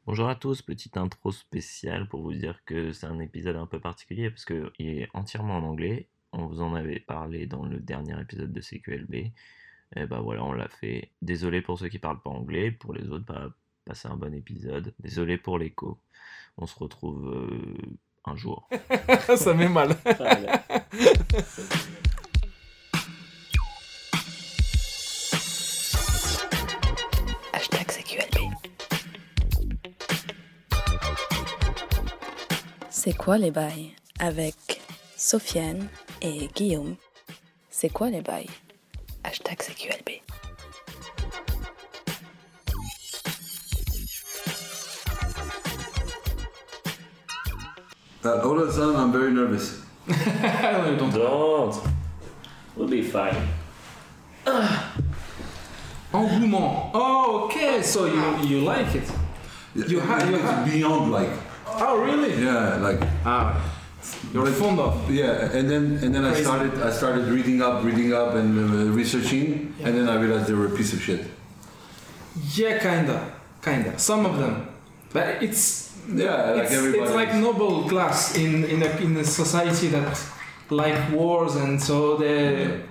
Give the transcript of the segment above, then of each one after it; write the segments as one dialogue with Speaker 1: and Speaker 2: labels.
Speaker 1: Bonjour à tous, petite intro spéciale pour vous dire que c'est un épisode un peu particulier parce qu'il est entièrement en anglais. On vous en avait parlé dans le dernier épisode de CQLB. Et bah voilà, on l'a fait. Désolé pour ceux qui parlent pas anglais, pour les autres, bah passez un bon épisode. Désolé pour l'écho. On se retrouve un jour.
Speaker 2: Ça met mal.
Speaker 1: Voilà.
Speaker 3: Hashtag CQLB. C'est quoi les bails avec Sofiane et Guillaume. C'est quoi les bails? Hashtag CQLB.
Speaker 4: All of a sudden, I'm very nervous.
Speaker 1: Don't. We'll be fine.
Speaker 2: Engouement. Oh, okay. So you like it? You have.
Speaker 4: Beyond like,
Speaker 2: Oh, really?
Speaker 4: yeah, like,
Speaker 2: You're
Speaker 4: but-
Speaker 2: fond of.
Speaker 4: yeah. And then I
Speaker 2: Crazy.
Speaker 4: started reading up and researching, and then I realized they were a piece of shit.
Speaker 2: Yeah, kinda. Some of them, but it's
Speaker 4: everybody.
Speaker 2: it's like noble class in a society that like wars, and so they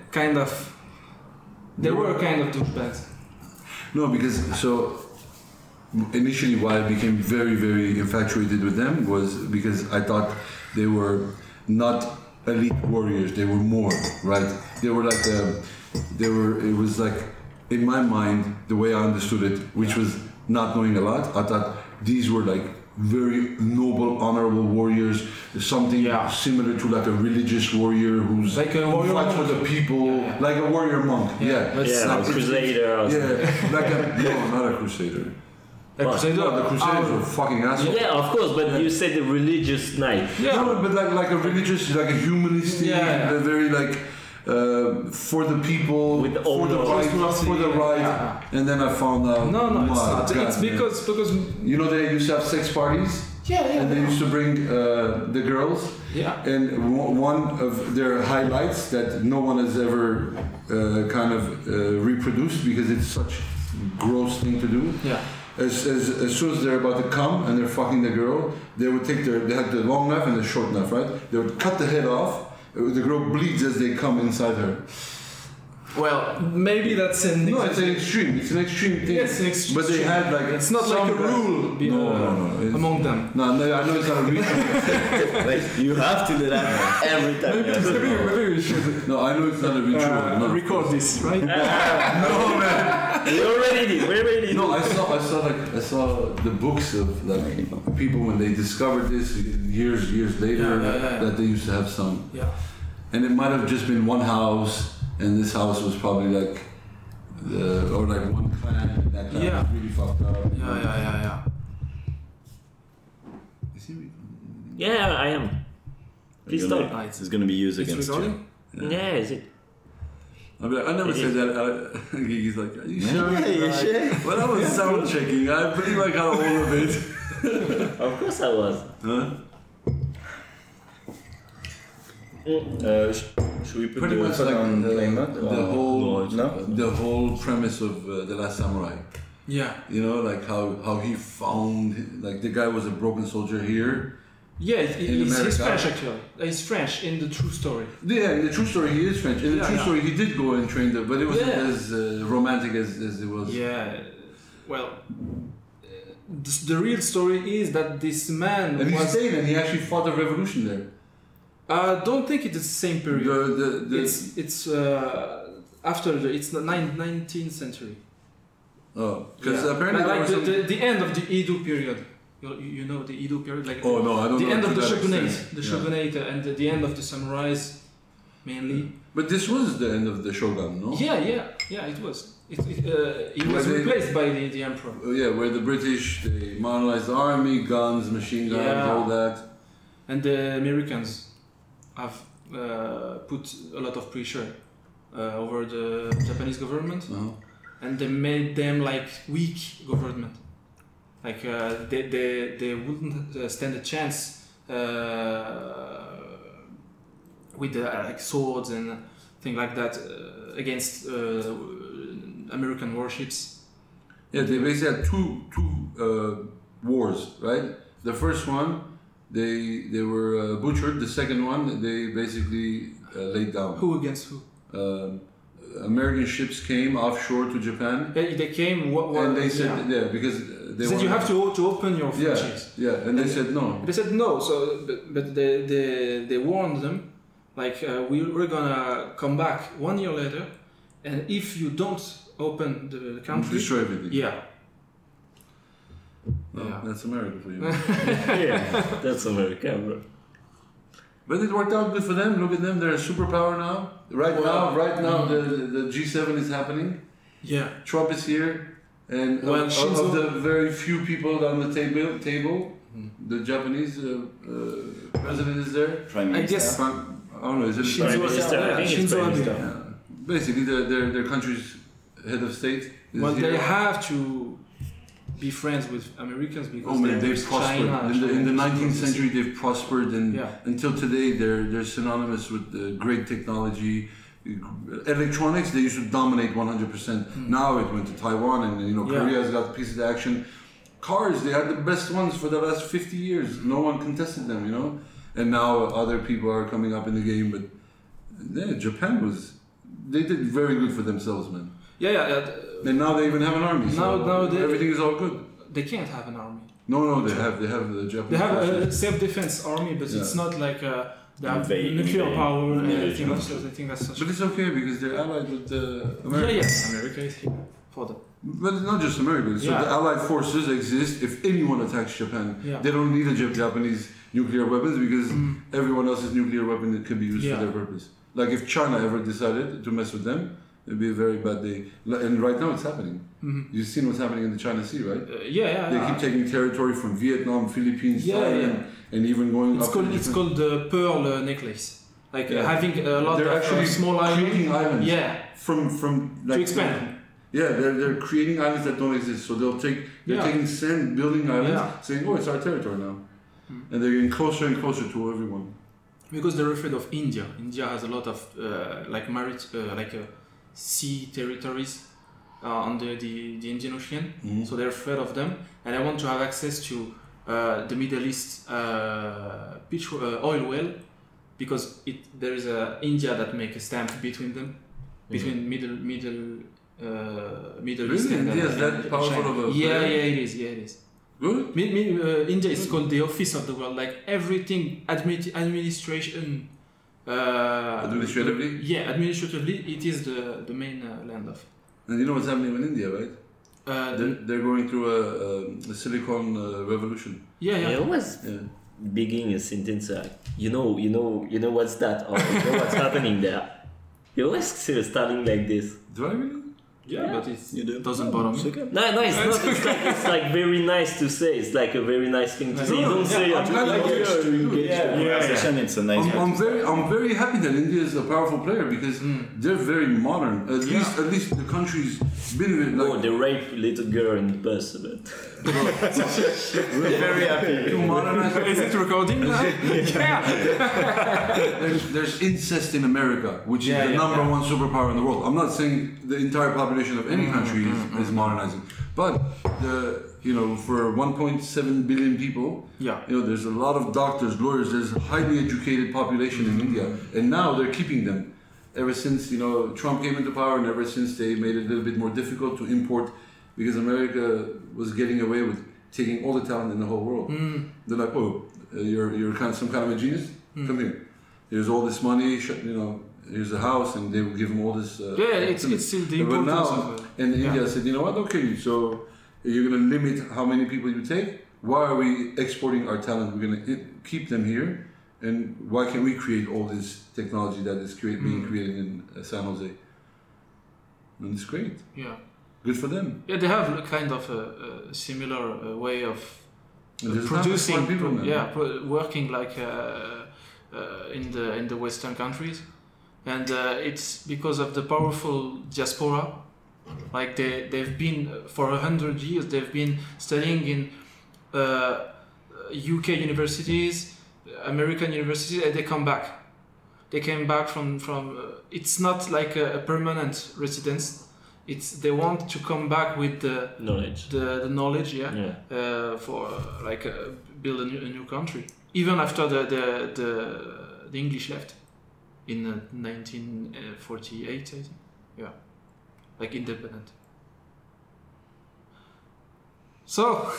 Speaker 2: were kind of douchebags.
Speaker 4: No, because so initially why I became very, very infatuated with them was because I thought they were not elite warriors. They were more, right? They were like it was like, in my mind, the way I understood it, which was not knowing a lot, I thought these were like very noble, honorable warriors, something
Speaker 2: Yeah.
Speaker 4: similar to like a religious warrior who's
Speaker 2: Like a
Speaker 4: who
Speaker 2: warrior
Speaker 4: fights for
Speaker 2: monk.
Speaker 4: the people,
Speaker 2: Yeah.
Speaker 4: like a warrior monk. Yeah,
Speaker 2: But
Speaker 1: Yeah,
Speaker 4: Like,
Speaker 1: Crusader or something.
Speaker 4: yeah, like a no, not a crusader.
Speaker 2: A crusader.
Speaker 4: No, the Crusaders were fucking assholes.
Speaker 1: Yeah, of course, but you said the religious knight.
Speaker 2: Yeah.
Speaker 4: No, but like a religious, like a humanistic,
Speaker 2: Yeah.
Speaker 4: very like for the people,
Speaker 1: With
Speaker 4: for
Speaker 1: all
Speaker 4: the
Speaker 1: the-
Speaker 4: right, for the right.
Speaker 2: Yeah.
Speaker 4: And then I found out.
Speaker 2: No, it's
Speaker 4: my
Speaker 2: not.
Speaker 4: God,
Speaker 2: It's
Speaker 4: man.
Speaker 2: because
Speaker 4: you know they used to have sex parties, and they used to bring the girls.
Speaker 2: yeah.
Speaker 4: And one of their highlights that no one has ever kind of reproduced because it's such a gross thing to do.
Speaker 2: Yeah.
Speaker 4: As soon as they're about to come and they're fucking the girl, they would take they had the long knife and the short knife, right? They would cut the head off. The girl bleeds as they come inside her.
Speaker 2: Well, maybe that's an
Speaker 4: No, it's an extreme. It's an extreme thing.
Speaker 2: Yes, an extreme.
Speaker 4: But they had like
Speaker 2: It's not like
Speaker 4: some
Speaker 2: a
Speaker 4: guy-
Speaker 2: rule
Speaker 4: No. It's-
Speaker 2: among them.
Speaker 4: No, I know it's not a real.
Speaker 1: Like, you have to do that every time. you have to do it.
Speaker 2: Maybe we should
Speaker 4: No, I know it's not a ritual. No.
Speaker 2: record this, right?
Speaker 4: No, man.
Speaker 1: We already did.
Speaker 4: No, I saw the books of like people when they discovered this years later
Speaker 2: Yeah.
Speaker 4: that they used to have some,
Speaker 2: Yeah.
Speaker 4: and it might have just been one house, and this house was probably like or like one clan, and that clan
Speaker 2: Yeah.
Speaker 4: was really fucked up.
Speaker 2: Yeah.
Speaker 4: Is he recording?
Speaker 1: Yeah, I am. Please
Speaker 5: You're
Speaker 1: stop.
Speaker 5: gonna- It's going to be used
Speaker 2: It's
Speaker 5: against
Speaker 2: recording?
Speaker 1: Yeah, is it?
Speaker 4: I mean, I never
Speaker 1: It
Speaker 4: said
Speaker 1: is.
Speaker 4: that. He's like, are you sure?
Speaker 5: Yeah, you're sure?
Speaker 4: Well, I was sound checking. I believe I got all of it.
Speaker 1: Of course I was.
Speaker 4: Huh?
Speaker 5: Should we put
Speaker 4: Pretty
Speaker 5: the
Speaker 4: much
Speaker 5: phone
Speaker 4: like
Speaker 5: on play mode?
Speaker 4: the
Speaker 5: or-
Speaker 4: whole
Speaker 5: No?
Speaker 4: the whole premise of The Last Samurai.
Speaker 2: Yeah.
Speaker 4: You know, like how he found, like the guy was a broken soldier here.
Speaker 2: Yeah, he's
Speaker 4: America.
Speaker 2: French actually. He's French in the true story.
Speaker 4: Yeah, in the true story he is French. In the
Speaker 2: Yeah,
Speaker 4: true
Speaker 2: yeah.
Speaker 4: story he did go and train there, but it wasn't
Speaker 2: Yeah.
Speaker 4: as romantic as it was.
Speaker 2: Yeah. Well, the real story is that this man
Speaker 4: And he
Speaker 2: was.
Speaker 4: stayed and he actually fought the revolution there.
Speaker 2: I don't think it's the same period.
Speaker 4: The
Speaker 2: It's after it's the 19th century.
Speaker 4: oh, because
Speaker 2: Yeah.
Speaker 4: apparently there
Speaker 2: like
Speaker 4: was some,
Speaker 2: the end of the Edo period. You know the Edo period, like
Speaker 4: oh no, I don't
Speaker 2: the
Speaker 4: know
Speaker 2: end
Speaker 4: to
Speaker 2: of the
Speaker 4: that
Speaker 2: shogunate,
Speaker 4: extent.
Speaker 2: the
Speaker 4: Yeah.
Speaker 2: shogunate, and the end of the samurais, mainly.
Speaker 4: But this was the end of the shogun, no?
Speaker 2: Yeah, it was. He was
Speaker 4: Were they-
Speaker 2: replaced by the emperor.
Speaker 4: Yeah, where the British they modernized the army, guns, machine guns,
Speaker 2: Yeah.
Speaker 4: all that.
Speaker 2: And the Americans have put a lot of pressure over the Japanese government,
Speaker 4: Uh-huh.
Speaker 2: and they made them like weak government. Like they wouldn't stand a chance with like swords and things like that against American warships.
Speaker 4: Yeah, they basically had two wars, right? The first one, they were butchered. The second one, they basically laid down.
Speaker 2: Who against who?
Speaker 4: American ships came offshore to Japan,
Speaker 2: They came.
Speaker 4: and they said, because they
Speaker 2: said you have to open your
Speaker 4: Yeah,
Speaker 2: franchise.
Speaker 4: yeah, and they said no.
Speaker 2: They said no. So, but they warned them, like we're gonna come back 1 year later, and if you don't open the country,
Speaker 4: Destroy everything.
Speaker 2: yeah.
Speaker 4: No,
Speaker 2: Yeah.
Speaker 4: that's America for you.
Speaker 1: Yeah, that's America, bro.
Speaker 4: But it worked out good for them. Look at them; they're a superpower now. Right now, the G7 is happening.
Speaker 2: Yeah.
Speaker 4: Trump is here, and
Speaker 2: Well,
Speaker 4: of the very few people on the table, the Japanese president is there.
Speaker 5: Prime
Speaker 2: I
Speaker 5: Minister.
Speaker 2: guess-
Speaker 4: I don't know. Is it
Speaker 1: Prime Minister, I think it's
Speaker 2: Shinzo
Speaker 1: Prime
Speaker 2: Abe.
Speaker 1: Minister.
Speaker 4: basically their country's head of state? Is
Speaker 2: Well, they
Speaker 4: here.
Speaker 2: have to be friends with Americans because
Speaker 4: Oh man,
Speaker 2: they're
Speaker 4: they've prospered.
Speaker 2: China.
Speaker 4: In the 19th century, they've prospered, and
Speaker 2: Yeah.
Speaker 4: until today, they're synonymous with great technology. Electronics, they used to dominate 100%. Now it went to Taiwan, and
Speaker 2: Yeah.
Speaker 4: Korea's got pieces of action. Cars, they had the best ones for the last 50 years. No one contested them, And now other people are coming up in the game, but yeah, Japan they did very good for themselves, man.
Speaker 2: Yeah.
Speaker 4: And now they even have an army. So
Speaker 2: Now
Speaker 4: everything is all good.
Speaker 2: They can't have an army.
Speaker 4: No, they have the Japanese.
Speaker 2: They have
Speaker 4: forces.
Speaker 2: a self-defense army, but it's
Speaker 4: Yeah.
Speaker 2: not like they have
Speaker 5: Invade-
Speaker 2: nuclear
Speaker 5: invade-
Speaker 2: power and
Speaker 5: invade
Speaker 2: everything
Speaker 5: Japan.
Speaker 2: else. I think that's such.
Speaker 4: But it's okay because they're allied with America.
Speaker 2: Yeah. America is here for them.
Speaker 4: But it's not just America. So
Speaker 2: Yeah.
Speaker 4: the allied forces exist if anyone attacks Japan.
Speaker 2: Yeah.
Speaker 4: They don't need Japanese nuclear weapons because everyone else's nuclear weapon can be used for
Speaker 2: Yeah.
Speaker 4: their purpose. Like if China ever decided to mess with them, it'd be a very bad day. And right now it's happening. You've seen what's happening in the China Sea, right? They keep taking territory from Vietnam, Philippines,
Speaker 2: Yeah,
Speaker 4: Thailand, and even going
Speaker 2: It's
Speaker 4: up
Speaker 2: called
Speaker 4: to
Speaker 2: it's
Speaker 4: Japan.
Speaker 2: called the Pearl Necklace. Like
Speaker 4: Yeah.
Speaker 2: having a lot
Speaker 4: They're
Speaker 2: of
Speaker 4: actually
Speaker 2: small
Speaker 4: creating
Speaker 2: islands.
Speaker 4: islands.
Speaker 2: Yeah.
Speaker 4: From like
Speaker 2: To expand.
Speaker 4: Yeah, they're creating islands that don't exist. So they're
Speaker 2: Yeah.
Speaker 4: taking sand, building islands,
Speaker 2: Yeah.
Speaker 4: saying, "Oh, it's our territory now," and they're getting closer and closer to everyone.
Speaker 2: Because they're afraid of India. India has a lot of sea territories under the Indian Ocean, so they're afraid of them, and they want to have access to the Middle East oil well, because there is India that make a stamp between them, between Middle
Speaker 4: Really?
Speaker 2: East and
Speaker 4: India is that powerful
Speaker 2: China.
Speaker 4: of a
Speaker 2: Yeah,
Speaker 4: player?
Speaker 2: it is.
Speaker 4: Good.
Speaker 2: India is called the office of the world. Like everything, administration.
Speaker 4: Administratively?
Speaker 2: Yeah, administratively, it is the main land of.
Speaker 4: And you know what's happening in India, right? They're going through a silicon revolution.
Speaker 2: Yeah.
Speaker 1: I always
Speaker 4: Yeah.
Speaker 1: begin a sentence like, you know what's that, or you know what's happening there. You always starting like this.
Speaker 4: Do I really?
Speaker 2: Yeah, but
Speaker 5: You do.
Speaker 2: it doesn't bother me.
Speaker 1: No, it's not. It's like very nice to say. It's like a very nice thing to say. You don't say
Speaker 4: I'm
Speaker 1: it.
Speaker 4: glad I get to do it.
Speaker 5: Conversation, it's a nice
Speaker 4: I'm very happy that India is a powerful player because they're very modern. At least the country's been
Speaker 1: Oh,
Speaker 4: like
Speaker 1: they rape little girl in the bus, but
Speaker 5: We're very happy.
Speaker 4: too modern.
Speaker 2: Is it recording now? Yeah.
Speaker 4: There's incest in America, which is the number one superpower in the world. I'm not saying the entire population of any country is modernizing, but for 1.7 billion people, there's a lot of doctors, lawyers. There's a highly educated population in India, and now they're keeping them. Ever since Trump came into power, and ever since they made it a little bit more difficult to import, because America was getting away with taking all the talent in the whole world. They're like, oh, you're some kind of a genius. Come here. Here's all this money. Here's a house, and they will give them all this.
Speaker 2: It's still the
Speaker 4: But
Speaker 2: importance
Speaker 4: now,
Speaker 2: of.
Speaker 4: and India said, you know what? Okay, so you're going to limit how many people you take. Why are we exporting our talent? We're going to keep them here, and why can't we create all this technology that is being created in San Jose? And it's great.
Speaker 2: Yeah.
Speaker 4: Good for them.
Speaker 2: Yeah, they have a kind of a similar way of
Speaker 4: And there's
Speaker 2: producing.
Speaker 4: not people, man.
Speaker 2: Working like in the Western countries, and it's because of the powerful diaspora. Like they've been for 100 years. They've been studying in UK universities, American universities, and they come back. They came back from. It's not like a permanent residence. they want to come back with the knowledge, for build a new country. Even after the English left in 1948, I think. Yeah, like independent. So,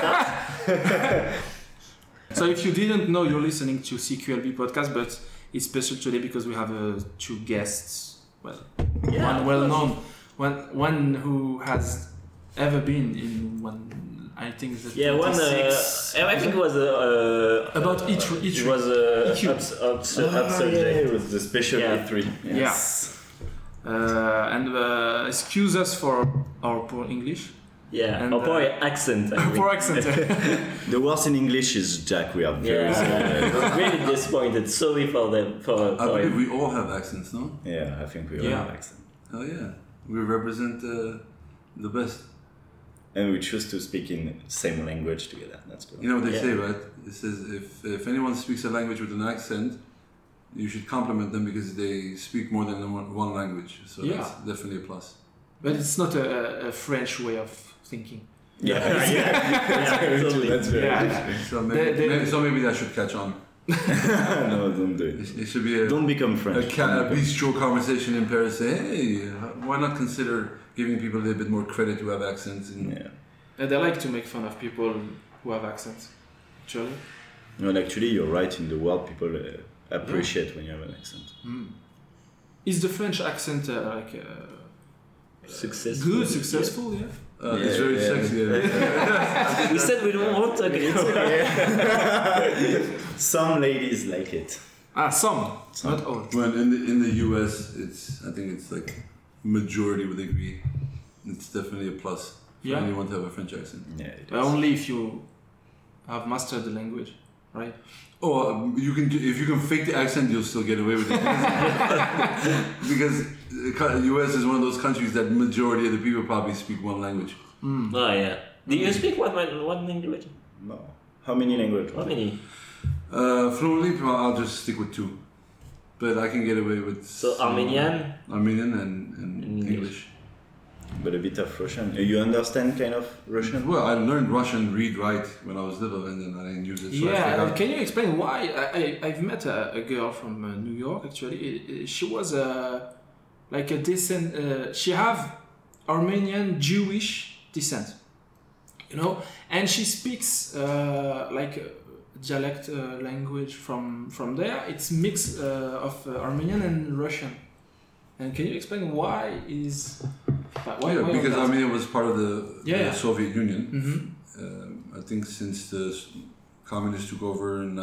Speaker 2: so if you didn't know, you're listening to CQLB podcast, but it's special today because we have two guests. Well, one well-known, one who has ever been in one. I think the
Speaker 1: I think it was
Speaker 2: about E3.
Speaker 1: It was up subject.
Speaker 5: It was the special E3.
Speaker 2: Yes. Yeah. And excuse us for our poor English.
Speaker 1: Yeah, and poor accent.
Speaker 2: Poor accent.
Speaker 5: The worst in English is Jack. We are very
Speaker 1: really disappointed. Sorry for them.
Speaker 4: I believe we all have accents, no?
Speaker 5: Yeah, I think we all have accents.
Speaker 4: Oh yeah, we represent the best.
Speaker 5: And we choose to speak in same language together. That's cool.
Speaker 4: You know what they say, right? It says if anyone speaks a language with an accent, you should compliment them because they speak more than one language. So that's definitely a plus.
Speaker 2: But it's not a French way of thinking.
Speaker 5: Totally. That's very
Speaker 4: So maybe that should catch on.
Speaker 5: No, don't do it.
Speaker 4: It should be
Speaker 5: don't become French.
Speaker 4: A bistro conversation in Paris. Say, hey, why not consider giving people a little bit more credit who have accents?
Speaker 2: And they like to make fun of people who have accents. Actually.
Speaker 5: No, actually, you're right. In the world, people appreciate when you have an accent.
Speaker 2: Is the French accent
Speaker 1: successful?
Speaker 2: Good, successful, yeah.
Speaker 4: It's very sexy.
Speaker 1: We said we don't want to.
Speaker 5: Some ladies like it.
Speaker 2: Some. Not all.
Speaker 4: Well, in the US, I think it's like majority would agree. It's definitely a plus for anyone to have a French accent.
Speaker 5: Yeah.
Speaker 2: Only if you have mastered the language, right?
Speaker 4: Oh, if you can fake the accent, you'll still get away with it. Because the US is one of those countries that majority of the people probably speak one language.
Speaker 1: Oh yeah. Do you speak one language?
Speaker 5: No. How many languages?
Speaker 1: How many?
Speaker 4: Fluently, I'll just stick with 2. But I can get away with
Speaker 1: Armenian
Speaker 4: and English.
Speaker 5: But a bit of Russian. You understand kind of Russian?
Speaker 4: Well, I learned Russian, read, write when I was little, and then I didn't use it. So
Speaker 2: can you explain why? I've met a girl from New York. Actually, she was like a descent. She have Armenian Jewish descent, you know, and she speaks like dialect language from there. It's mix of Armenian and Russian. And can you explain why is? Why
Speaker 4: because Armenia was part of the Soviet Union.
Speaker 2: Mm-hmm.
Speaker 4: I think since the communists took over in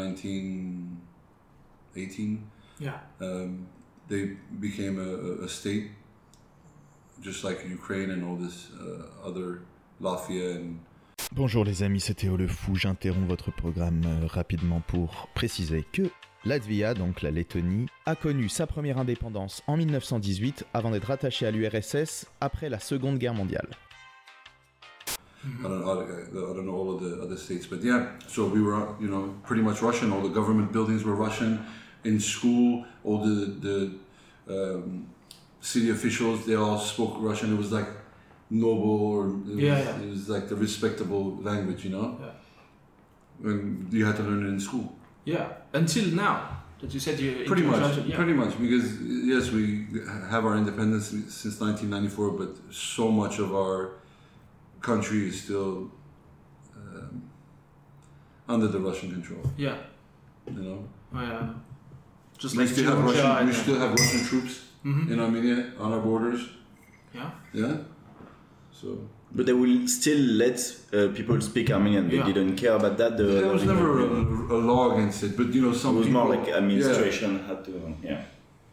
Speaker 4: 1918, they became a state, just like Ukraine and all this other Latvia and.
Speaker 6: Bonjour les amis, c'est Théo le Fou. J'interromps votre programme rapidement pour préciser que Latvia, donc la Lettonie, a connu sa première indépendance en 1918 avant d'être rattachée à l'URSS après la Seconde Guerre mondiale.
Speaker 4: I don't know all of the other states, but so we were, pretty much Russian. All the government buildings were Russian. In school, all the city officials, they all spoke Russian. It was like noble, it was like the respectable language, And you had to learn it in school.
Speaker 2: Yeah, until now. That you said you
Speaker 4: pretty much, because yes, we have our independence since 1994, but so much of our country is still under the Russian control.
Speaker 2: Yeah.
Speaker 4: Just like we still have Russian troops in Armenia on our borders.
Speaker 2: Yeah.
Speaker 4: Yeah. So.
Speaker 5: But they will still let people speak Armenian. They didn't care about that.
Speaker 4: There was never a law against it, but some people.
Speaker 5: It was more like administration had to. Yeah.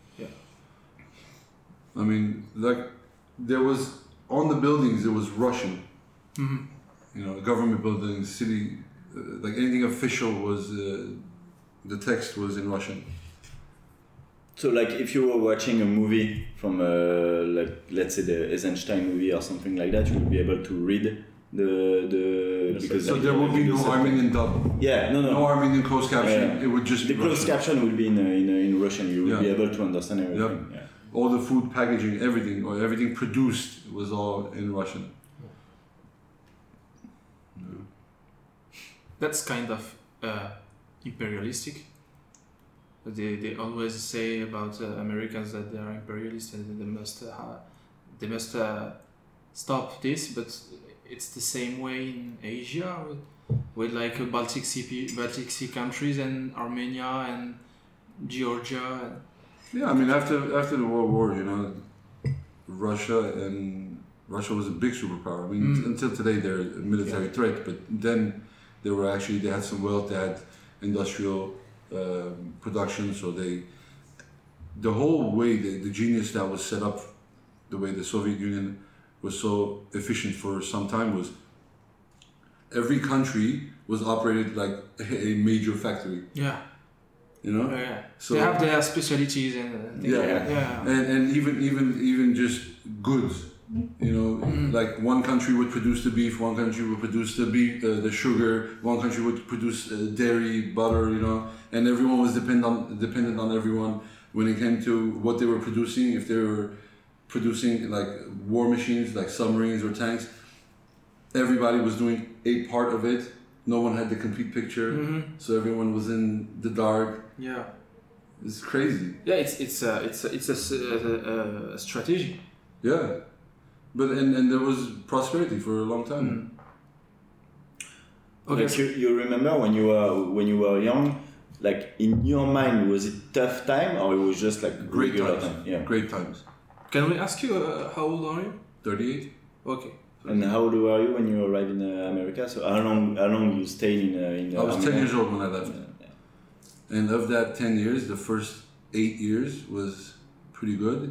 Speaker 4: I mean, like there was on the buildings there was Russian. Government buildings, city, like anything official was the text was in Russian.
Speaker 5: So, like, if you were watching a movie from, let's say the Eisenstein movie or something like that, you would be able to read because
Speaker 4: so there will be no Armenian dub.
Speaker 5: Yeah, no
Speaker 4: Armenian closed caption. It would just
Speaker 5: the
Speaker 4: be
Speaker 5: closed
Speaker 4: Russian.
Speaker 5: caption will be in Russian. You will be able to understand everything.
Speaker 4: Yep. all the food packaging, everything, or everything produced was all in Russian.
Speaker 2: That's kind of imperialistic. They always say about Americans that they are imperialist and they must stop this, but it's the same way in Asia with like Baltic Sea countries and Armenia and Georgia.
Speaker 4: Yeah, I mean after the World War, Russia was a big superpower. I mean until today they're a military threat, but then they had some wealth, they had industrial production, so the whole way the genius that was set up, the way the Soviet Union was so efficient for some time was every country was operated like a major factory.
Speaker 2: Yeah.
Speaker 4: Yeah. So
Speaker 2: they have their specialties and things like that.
Speaker 4: And even just goods. Like one country would produce the beef, one country would produce the sugar, one country would produce dairy, butter, and everyone was dependent on everyone when it came to what they were producing. If they were producing like war machines, like submarines or tanks, everybody was doing a part of it. No one had the complete picture, so everyone was in the dark.
Speaker 2: Yeah,
Speaker 4: it's crazy.
Speaker 2: Yeah, it's a strategy.
Speaker 4: Yeah. But and there was prosperity for a long time.
Speaker 5: Okay. Like you remember when you were young, like in your mind, was it tough time or it was just like
Speaker 4: great times?
Speaker 5: Time? Yeah,
Speaker 4: great times.
Speaker 2: Can we ask you how old are you?
Speaker 4: 38.
Speaker 2: Okay.
Speaker 5: And how old were you when you arrived in America? So how long you stayed in?
Speaker 4: I was 10 years old when I left. Yeah. And of that 10 years, the first 8 years was pretty good.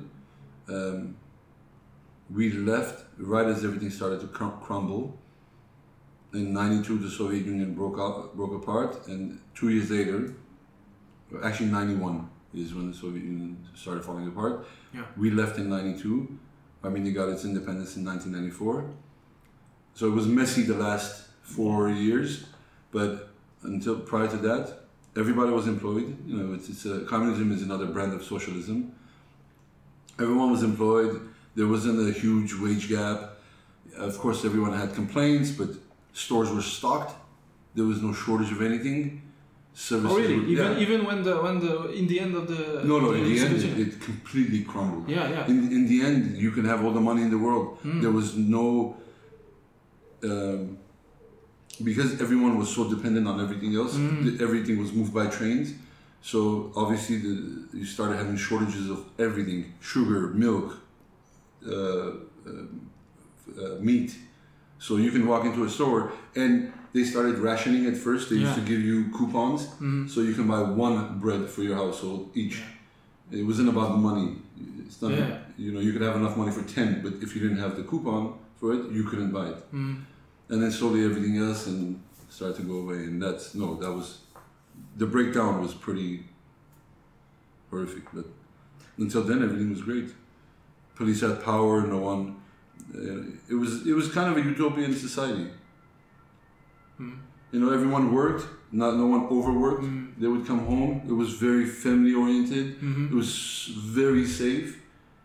Speaker 4: We left right as everything started to crumble. In '92, the Soviet Union broke apart, and 2 years later, actually '91 is when the Soviet Union started falling apart.
Speaker 2: Yeah.
Speaker 4: We left in '92. Armenia got its independence in 1994. So it was messy the last 4 years, but until prior to that, everybody was employed. Communism is another brand of socialism. Everyone was employed. There wasn't a huge wage gap. Of course, everyone had complaints, but stores were stocked. There was no shortage of anything. Services
Speaker 2: really?
Speaker 4: Were,
Speaker 2: even when in the end of the
Speaker 4: in the end it completely crumbled.
Speaker 2: Yeah.
Speaker 4: In the end, you can have all the money in the world. There was no because everyone was so dependent on everything else. Everything was moved by trains. So obviously, you started having shortages of everything: sugar, milk. Meat. So you can walk into a store and they started rationing at first. They used to give you coupons so you can buy one bread for your household each. It wasn't about the money. It's not, you could have enough money for 10, but if you didn't have the coupon for it, you couldn't buy it. And then slowly everything else and started to go away. And the breakdown was pretty horrific. But until then, everything was great. Police had power. No one. It was kind of a utopian society. Everyone worked. No one overworked. They would come home. It was very family oriented. It was very safe.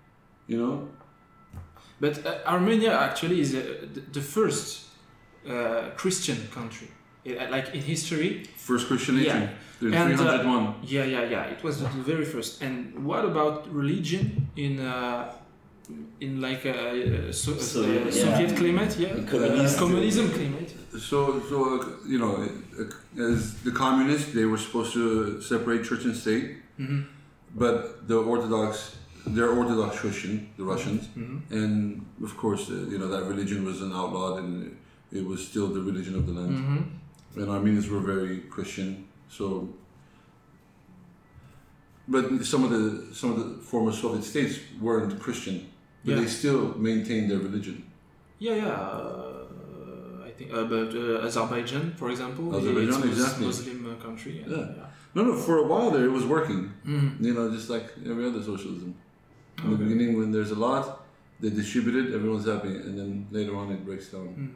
Speaker 2: But Armenia actually is the first Christian country, like in history.
Speaker 4: First Christian nation. In 301.
Speaker 2: Yeah. It was the very first. And what about religion in like a Soviet climate, communism climate.
Speaker 4: So as the communists, they were supposed to separate church and state, but they're Orthodox Christian, the Russians, and of course, that religion was an outlawed, and it was still the religion of the land. And Armenians were very Christian, so. But some of the former Soviet states weren't Christian, but they still maintained their religion.
Speaker 2: I think about Azerbaijan, for example.
Speaker 4: Azerbaijan, exactly.
Speaker 2: Muslim country.
Speaker 4: No. For a while there, it was working. Just like every other socialism. In the beginning, when there's a lot, they distribute it, everyone's happy, and then later on, it breaks down.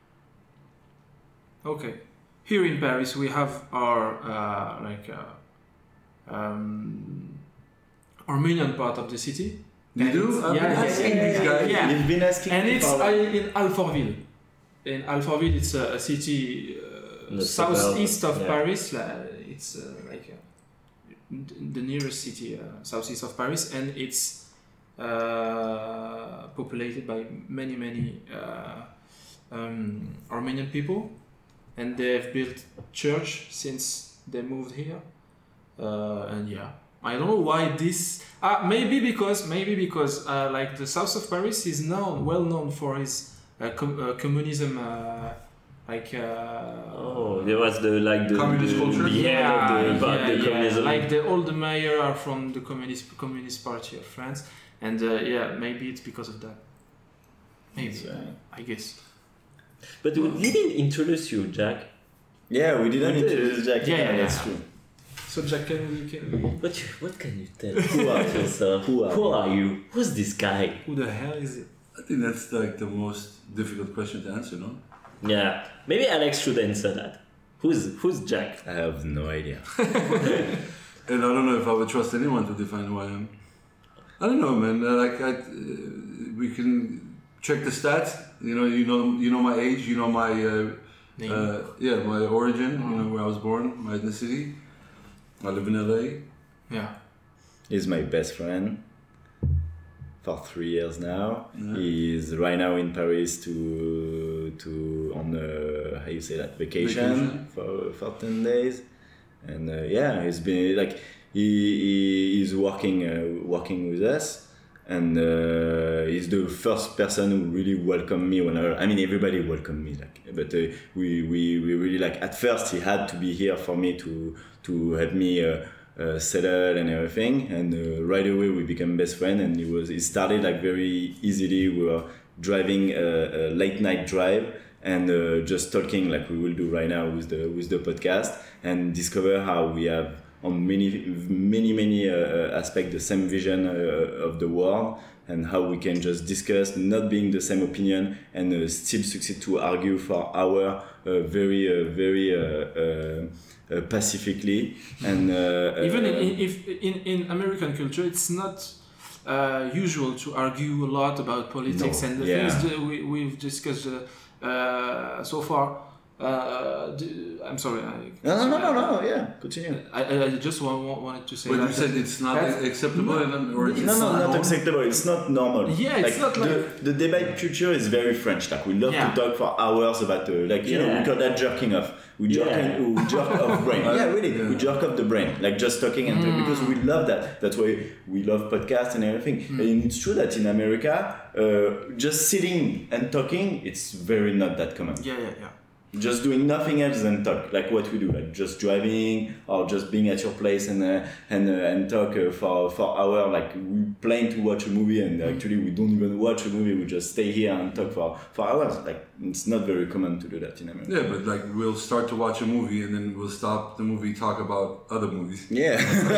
Speaker 2: Okay. Here in Paris, we have our Armenian part of the city,
Speaker 4: You do? I've been asking these guys.
Speaker 2: Yeah.
Speaker 5: You've been asking
Speaker 2: And
Speaker 5: me
Speaker 2: it's
Speaker 5: for-
Speaker 2: in Alfortville. In Alfortville, it's a city
Speaker 1: The
Speaker 2: southeast
Speaker 1: suburb,
Speaker 2: of
Speaker 1: yeah.
Speaker 2: Paris. It's the nearest city southeast of Paris, and it's populated by many Armenian people, and they've built church since they moved here. And yeah, I don't know why this. Maybe because like the south of Paris is well known for his communism.
Speaker 1: There was the
Speaker 4: Communist culture?
Speaker 1: the communism.
Speaker 2: Like all the mayor are from the Communist Party of France, and maybe it's because of that. Maybe I guess.
Speaker 1: But we didn't introduce you, Jack.
Speaker 5: Yeah, we didn't
Speaker 1: We did.
Speaker 5: introduce Jack.
Speaker 2: Yeah.
Speaker 5: That's true.
Speaker 2: So Jack, can
Speaker 1: What can you tell? Who are yourself? Who are you? Who's this guy?
Speaker 2: who the hell is it?
Speaker 4: I think that's like the most difficult question to answer, no?
Speaker 1: Yeah, maybe Alex should answer that. Who's Jack?
Speaker 5: I have no idea.
Speaker 4: And I don't know if I would trust anyone to define who I am. I don't know, man. We can check the stats. You know my age. You know my my origin. You know where I was born, my ethnicity. I live in LA.
Speaker 2: Yeah.
Speaker 5: He's my best friend for 3 years now.
Speaker 4: Yeah.
Speaker 5: He's right now in Paris on how you say that, vacation. For 10 days, and he's been like he's working with us, and he's the first person who really welcomed me everybody welcomed me, but we really at first he had to be here for me to help me settle and everything, and right away we became best friends, and he started very easily. We were driving a late night drive and just talking like we will do right now with the podcast, and discover how we have on many aspects the same vision of the world, and how we can just discuss, not being the same opinion, and still succeed to argue for our very pacifically. And
Speaker 2: Even in American culture, it's not usual to argue a lot about politics,
Speaker 5: No,
Speaker 2: and the
Speaker 5: yeah.
Speaker 2: things that we've discussed so far. I'm sorry.
Speaker 5: No, yeah, continue.
Speaker 2: I just wanted to say
Speaker 4: But
Speaker 2: that.
Speaker 4: you said it's not
Speaker 2: That's-
Speaker 4: acceptable, or it's
Speaker 5: No,
Speaker 4: not
Speaker 5: not
Speaker 4: normal?
Speaker 5: acceptable. It's not normal.
Speaker 2: Yeah, it's not like-
Speaker 5: the debate culture is very French. We love
Speaker 2: Yeah.
Speaker 5: to talk for hours about we call that jerking off. We jerk off brain. Yeah, really,
Speaker 4: Yeah.
Speaker 5: we jerk off the brain, just talking and because we love that. That's why we love podcasts and everything. And it's true that in America, just sitting and talking, it's very not that common.
Speaker 2: Yeah.
Speaker 5: Just doing nothing else than talk, like what we do, just driving or just being at your place and talk for hours. We plan to watch a movie, and actually we don't even watch a movie. We just stay here and talk for hours. It's not very common to do that in America.
Speaker 4: Yeah, but we'll start to watch a movie and then we'll stop the movie, talk about other movies.
Speaker 5: Yeah.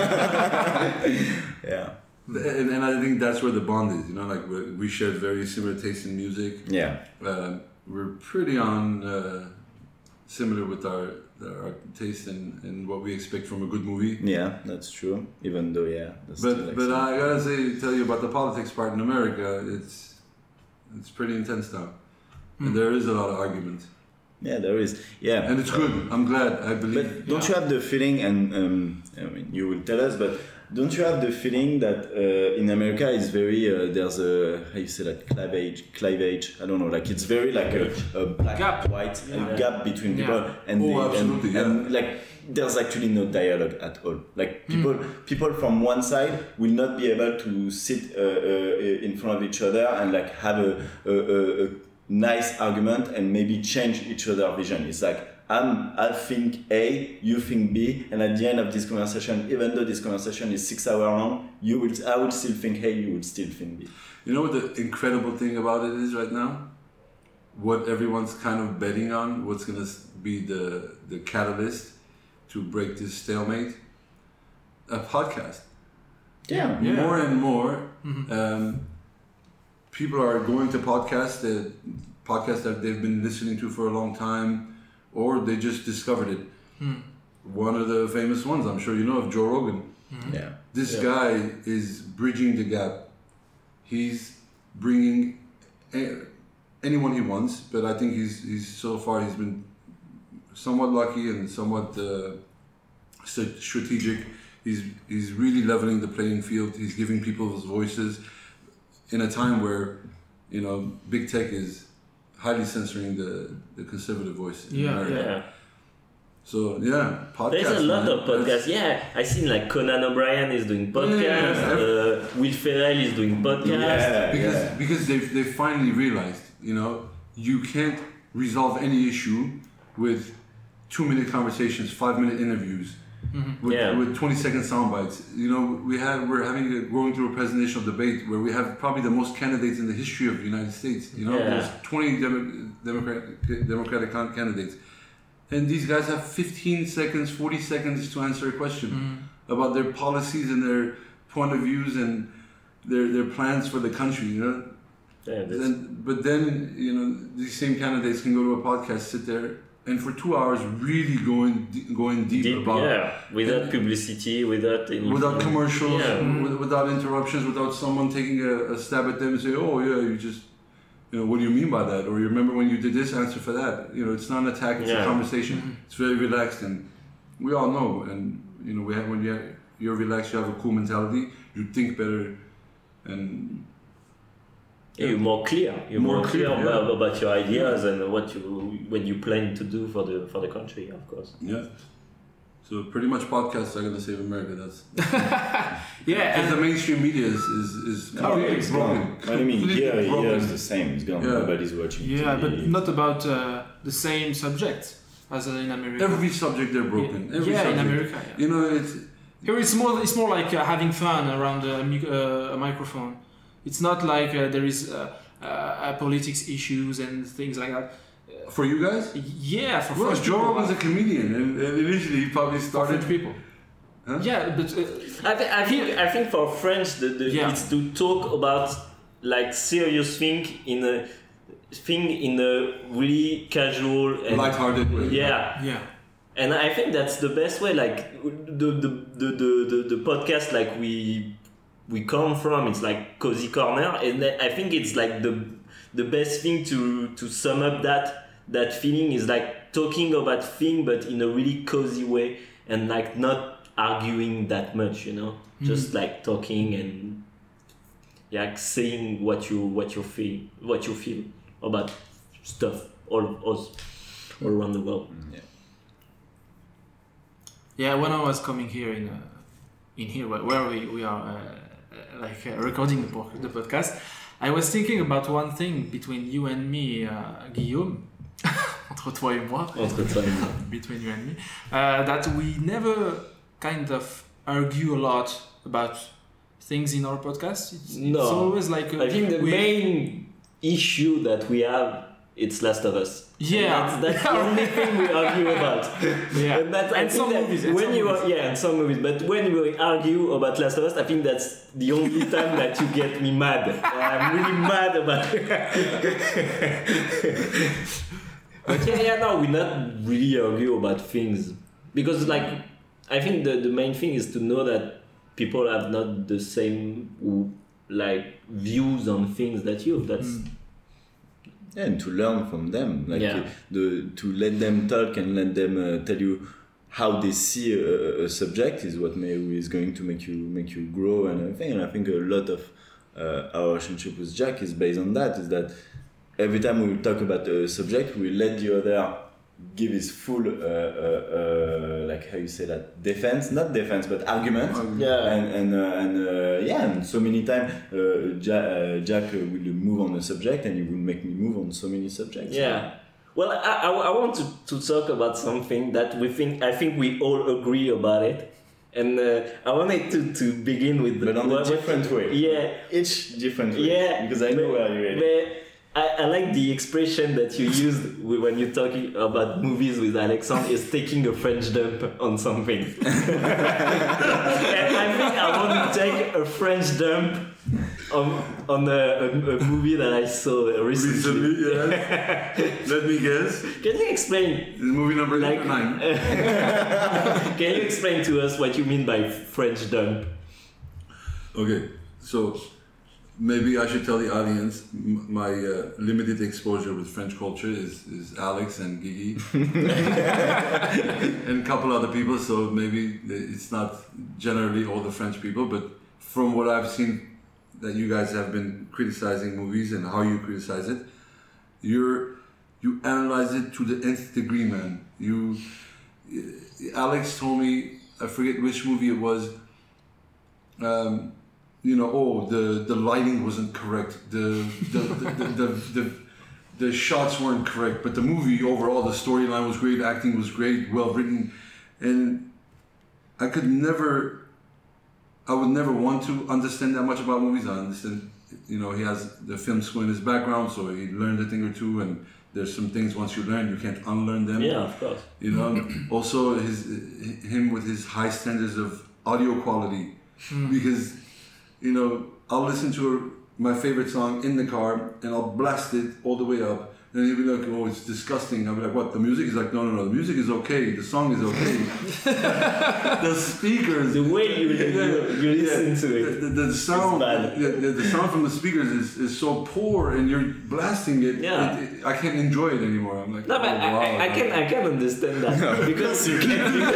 Speaker 5: Yeah.
Speaker 4: And I think that's where the bond is. We share very similar tastes in music.
Speaker 5: Yeah.
Speaker 4: We're pretty similar with our taste and what we expect from a good movie.
Speaker 5: Yeah, that's true. Even though, that's
Speaker 4: But
Speaker 5: still
Speaker 4: I gotta tell you about the politics part in America. It's pretty intense now, and there is a lot of argument.
Speaker 5: yeah, there is. Yeah.
Speaker 4: And it's good. I'm glad. I believe.
Speaker 5: But don't you have the feeling, and you will tell us, but don't you have the feeling that in America it's very there's a how you say that cleavage? I don't know. It's very a black
Speaker 2: Gap.
Speaker 5: white
Speaker 2: Yeah.
Speaker 5: gap between
Speaker 2: Yeah.
Speaker 5: people, and
Speaker 4: Absolutely,
Speaker 5: and there's actually no dialogue at all. People from one side will not be able to sit in front of each other and have a nice argument and maybe change each other's vision. It's I think A, you think B, and at the end of this conversation, even though this conversation is 6 hours long, I would still think A, you would still think B.
Speaker 4: You know what the incredible thing about it is right now? What everyone's kind of betting on, what's going to be the catalyst to break this stalemate? A podcast.
Speaker 5: Yeah.
Speaker 4: More and more, people are going to podcasts that they've been listening to for a long time, or they just discovered it. One of the famous ones, I'm sure you know of, Joe Rogan.
Speaker 5: Yeah.
Speaker 4: This guy is bridging the gap he's bringing anyone he wants, but I think he's so far he's been somewhat lucky and somewhat strategic. He's really leveling the playing field. He's giving people voices in a time where, you know, big tech is highly censoring the conservative voice in America.
Speaker 1: Yeah.
Speaker 4: So yeah, podcasts.
Speaker 1: There's a lot of podcasts. Yeah, I seen like Conan O'Brien is doing podcasts. Will Ferrell is doing podcasts.
Speaker 4: Because they finally realized, you know, you can't resolve any issue with 2-minute conversations, 5-minute interviews, with 20-second sound bites. You know, we're going through a presidential debate where we have probably the most candidates in the history of the United States. You know, there's 20 Democratic candidates. And these guys have 15 seconds, 40 seconds to answer a question about their policies and their point of views and their plans for the country, you know? But then, you know, these same candidates can go to a podcast, sit there, and for 2 hours really going deep about...
Speaker 1: without publicity, without
Speaker 4: commercials, without interruptions, without someone taking a stab at them and say, oh yeah, you just... You know, what do you mean by that? Or you remember when you did this, answer for that. You know, it's not an attack, it's a conversation. It's very relaxed, and we all know. And, you know, when you're relaxed, you have a cool mentality, you think better, and...
Speaker 1: You're more clear. You're more clear about your ideas and what you plan to do for the country, of course.
Speaker 4: Yeah. So pretty much podcasts are going to save America. That's
Speaker 2: because
Speaker 4: the mainstream media is completely broken.
Speaker 5: I mean, here it's the same. It's gone. Nobody's watching.
Speaker 2: Yeah,
Speaker 5: TV.
Speaker 2: but not about the same subject as in America.
Speaker 4: Every subject they're broken.
Speaker 2: Yeah,
Speaker 4: Every subject.
Speaker 2: in America. Yeah.
Speaker 4: You know, it's
Speaker 2: here. It's more like having fun around a microphone. It's not like there is politics issues and things like that.
Speaker 4: For you guys?
Speaker 2: Yeah, for French
Speaker 4: Joe
Speaker 2: people.
Speaker 4: Rogan's a comedian, and initially he probably started...
Speaker 2: French people.
Speaker 4: Huh?
Speaker 2: Yeah, but...
Speaker 1: I think for French, it's to talk about like serious thing in a really casual and
Speaker 4: lighthearted way.
Speaker 2: Yeah.
Speaker 1: And I think that's the best way. Like the podcast, like we come from, it's like Cozy Corner, and I think it's like the best thing to sum up that feeling is like talking about things but in a really cozy way and like not arguing that much, you know, just like talking and saying what you feel about stuff all around the world.
Speaker 2: When I was coming here in here where we are recording the podcast, I was thinking about one thing between you and me, Guillaume, entre toi et moi, between you and me, that we never kind of argue a lot about things in our podcast. It's always like...
Speaker 1: I think the main issue that we have, it's Last of Us.
Speaker 2: Yeah.
Speaker 1: That's the only thing we argue about.
Speaker 2: Yeah.
Speaker 1: And some movies. And some movies. But when we argue about Last of Us, I think that's the only time that you get me mad. I'm really mad about it. But we're not really argue about things. Because like, I think the main thing is to know that people have not the same like views on things that you. That's...
Speaker 5: and to learn from them, like to let them talk and let them tell you how they see a subject is what maybe is going to make you grow and everything. And I think a lot of our relationship with Jack is based on that. Is that every time we talk about a subject, we let the other give his full like how you say that, not defense but argument. And so many times Jack will move on a subject and he will make me move on so many subjects.
Speaker 1: Well, I want to talk about something that I think we all agree about it, and I wanted to begin with
Speaker 5: but on a different way. Each different way. Because I know where you're heading.
Speaker 1: I like the expression that you used when you're talking about movies with Alexandre is taking a French dump on something. And I think I want to take a French dump on a movie that I saw recently.
Speaker 4: Let me guess.
Speaker 1: Can you explain?
Speaker 4: This movie number 9.
Speaker 1: Can you explain to us what you mean by French dump?
Speaker 4: Okay, so maybe I should tell the audience my limited exposure with French culture is Alex and Gigi and a couple other people. So maybe it's not generally all the French people, but from what I've seen that you guys have been criticizing movies and how you criticize it, you analyze it to the nth degree, man. Alex told me, I forget which movie it was. The lighting wasn't correct. The shots weren't correct, but the movie overall, the storyline was great, acting was great, well written, and I would never want to understand that much about movies. I understand, he has the film school in his background, so he learned a thing or two, and there's some things once you learn, you can't unlearn them.
Speaker 1: Yeah, of course.
Speaker 4: Also him with his high standards of audio quality, because, I'll listen to my favorite song in the car and I'll blast it all the way up. And he'll be like, oh, it's disgusting. I'll be like, what? The music is like, no, the music is okay. The song is okay. The speakers.
Speaker 1: The way you listen to it.
Speaker 4: The sound. The sound from the speakers is so poor and you're blasting it.
Speaker 1: Yeah.
Speaker 4: I can't enjoy it anymore. I'm like,
Speaker 1: no, but I can understand that. Because I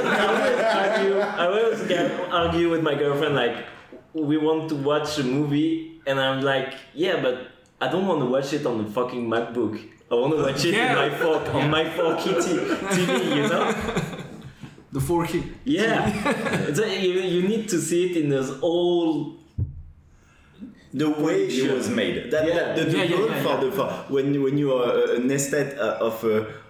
Speaker 1: always argue with my girlfriend, like, we want to watch a movie and I'm like, yeah, but I don't want to watch it on the fucking MacBook. I want to watch it on my 4K TV,
Speaker 2: The 4K.
Speaker 1: Yeah. You need to see it in this old...
Speaker 5: The way it was made. When you are an aesthete of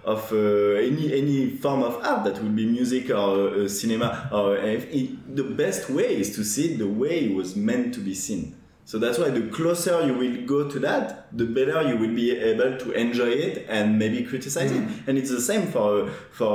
Speaker 5: any form of art, that will be music or cinema, or the best way is to see it the way it was meant to be seen. So that's why the closer you will go to that, the better you will be able to enjoy it and maybe criticize it. And it's the same for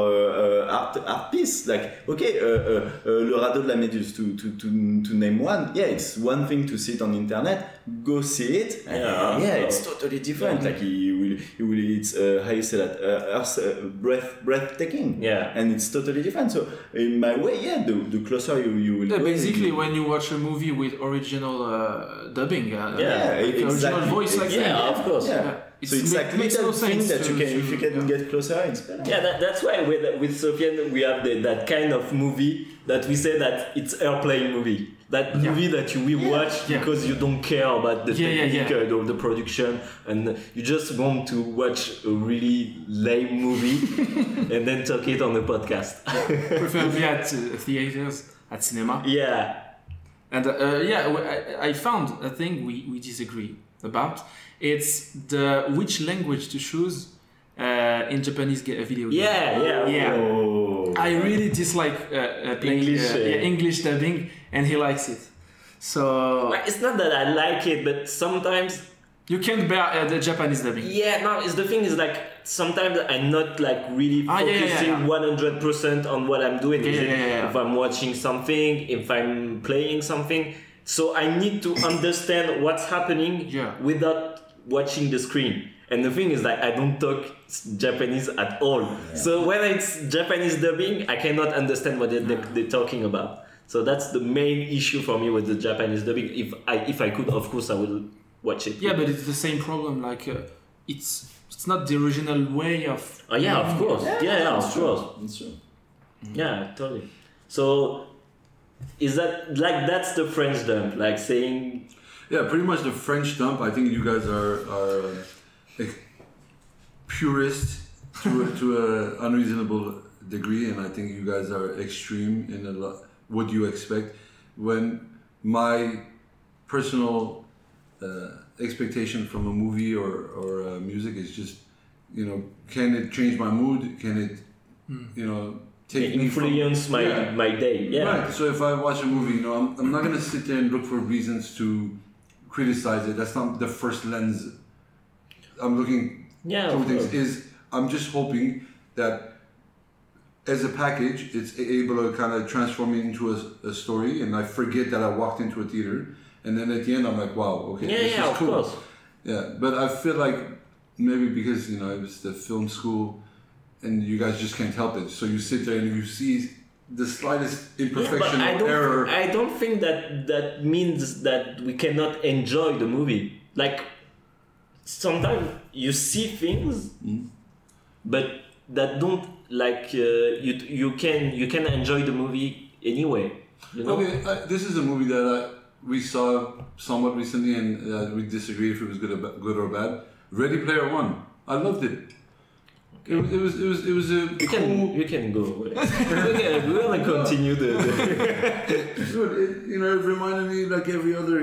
Speaker 5: art piece. Like, okay, Le Radeau de la Méduse, to name one. Yeah, it's one thing to see it on internet. Go see it. And it's totally different. Like it's how you say that? Breathtaking.
Speaker 1: Yeah.
Speaker 5: And it's totally different. So in my way, the closer you will.
Speaker 2: Yeah,
Speaker 5: go,
Speaker 2: basically, when you watch a movie with original dubbing,
Speaker 5: exactly.
Speaker 2: original voice like that.
Speaker 1: Yeah, of course.
Speaker 5: Yeah. So it's like little thing that if you can get closer, it's better.
Speaker 1: Yeah, that's why with Sofiane we have that kind of movie that we say that it's airplane movie. That movie that you will watch because you don't care about the technique or the production, and you just want to watch a really lame movie and then talk it on the podcast.
Speaker 2: Preferably at theaters, at cinema.
Speaker 1: Yeah.
Speaker 2: And I found a thing we disagree about. It's which language to choose in Japanese video game.
Speaker 1: Yeah.
Speaker 5: Oh.
Speaker 2: I really dislike playing English dubbing, and he likes it. So
Speaker 1: it's not that I like it, but sometimes
Speaker 2: you can't bear the Japanese dubbing.
Speaker 1: Yeah, no. The thing is, like, sometimes I'm not like really focusing 100% on what I'm doing. If I'm watching something, if I'm playing something, so I need to understand what's happening without watching the screen. And the thing is that I don't talk Japanese at all. Yeah. So when it's Japanese dubbing, I cannot understand what they're talking about. So that's the main issue for me with the Japanese dubbing. If I could, of course, I will watch it.
Speaker 2: Yeah, but it's the same problem. Like it's not the original way of.
Speaker 1: Oh yeah, of course. Yeah, of course.
Speaker 5: It's true.
Speaker 1: Yeah, totally. So is that like that's the French dump, like saying?
Speaker 4: Yeah, pretty much the French dump. I think you guys are purist to an unreasonable degree, and I think you guys are extreme in what you expect. When my personal expectation from a movie or music is just, can it change my mood? Can it, take me
Speaker 1: influence my day? Yeah.
Speaker 4: Right. So if I watch a movie, I'm not gonna sit there and look for reasons to criticize it. That's not the first lens I'm looking through things. I'm just hoping that as a package, it's able to kind of transform me into a story, and I forget that I walked into a theater, and then at the end I'm like, wow, okay, this is cool. Course. Yeah, but I feel like maybe because it was the film school, and you guys just can't help it. So you sit there and you see the slightest
Speaker 1: Yeah,
Speaker 4: imperfection
Speaker 1: but
Speaker 4: or error.
Speaker 1: I don't think that means that we cannot enjoy the movie. Like sometimes you see things, but that don't like you can enjoy the movie anyway. You know?
Speaker 4: Okay, this is a movie that we saw somewhat recently, and we disagreed if it was good or bad. Ready Player One. I loved it. It was a
Speaker 1: You can go. We're gonna continue the
Speaker 4: it reminded me like every other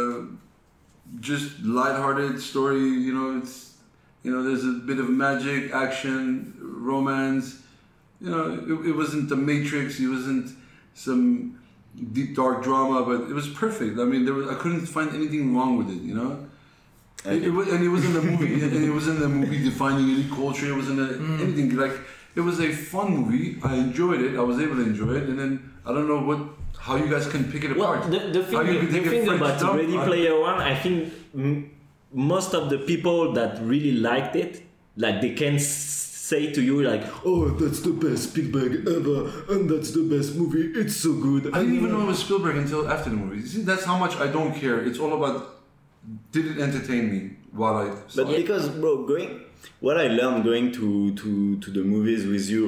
Speaker 4: just lighthearted story. There's a bit of magic, action, romance. It wasn't The Matrix. It wasn't some deep dark drama, but it was perfect. I mean, I couldn't find anything wrong with it. It wasn't a movie, and it wasn't a movie defining any culture. It wasn't anything like. It was a fun movie. I enjoyed it. I was able to enjoy it, and then I don't know how you guys can pick it apart.
Speaker 1: Well, the thing about Ready Player One, I think most of the people that really liked it, like they can say to you like, oh, that's the best Spielberg ever, and that's the best movie. It's so good.
Speaker 4: I didn't even know it was Spielberg until after the movie. See, that's how much I don't care. It's all about. Did it entertain me while I saw
Speaker 5: But because, bro, what I learned going to the movies with you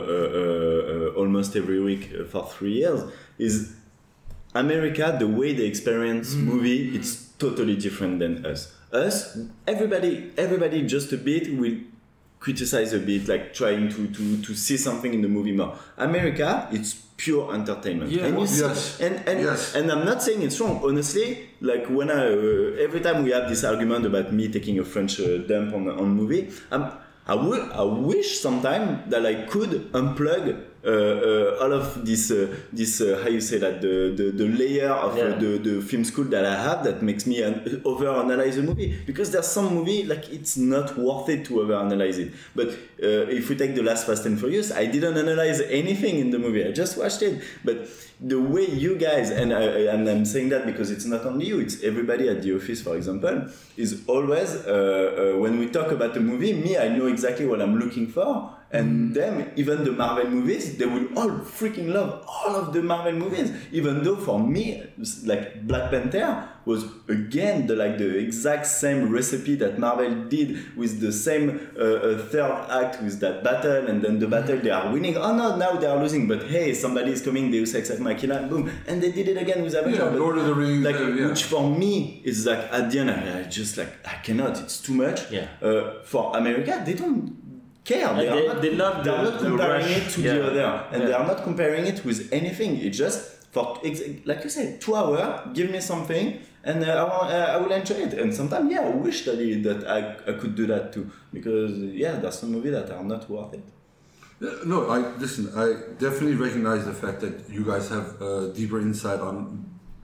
Speaker 5: almost every week for 3 years is America, the way they experience movie, it's totally different than us. Us, everybody just a bit will criticize a bit, like trying to see something in the movie more. America, it's pure entertainment.
Speaker 2: Yeah.
Speaker 5: And you see,
Speaker 4: Yes. Yes.
Speaker 5: and I'm not saying it's wrong. Honestly, like when every time we have this argument about me taking a French dump on movie, I wish sometime that I could unplug all of this how you say that the layer of the film school that I have that makes me overanalyze a movie, because there's some movie like it's not worth it to overanalyze it. But if we take the last Fast and Furious, I didn't analyze anything in the movie. I just watched it. But the way you guys, and I'm saying that because it's not only you, it's everybody at the office, for example, is always when we talk about a movie, me, I know exactly what I'm looking for. And them, even the Marvel movies, they will all freaking love all of the Marvel movies. Even though for me, like Black Panther was again the exact same recipe that Marvel did, with the same third act with that battle, and then the battle they are winning. Oh no, now they are losing. But hey, somebody is coming. Deus Ex Machina, boom, and they did it again with Avengers.
Speaker 4: Yeah, Lord of the Rings,
Speaker 5: which for me is like at the end, I just like I cannot. It's too much.
Speaker 1: Yeah.
Speaker 5: For America, they don't care.
Speaker 1: They love
Speaker 5: they are not comparing
Speaker 1: rush.
Speaker 5: it to the other, and they are not comparing it with anything. It's just for like you said, 2 hours. Give me something, and I will enjoy it. And sometimes, I wish that I could do that too, because there's some movies that are not worth it.
Speaker 4: No, I definitely recognize the fact that you guys have deeper insight on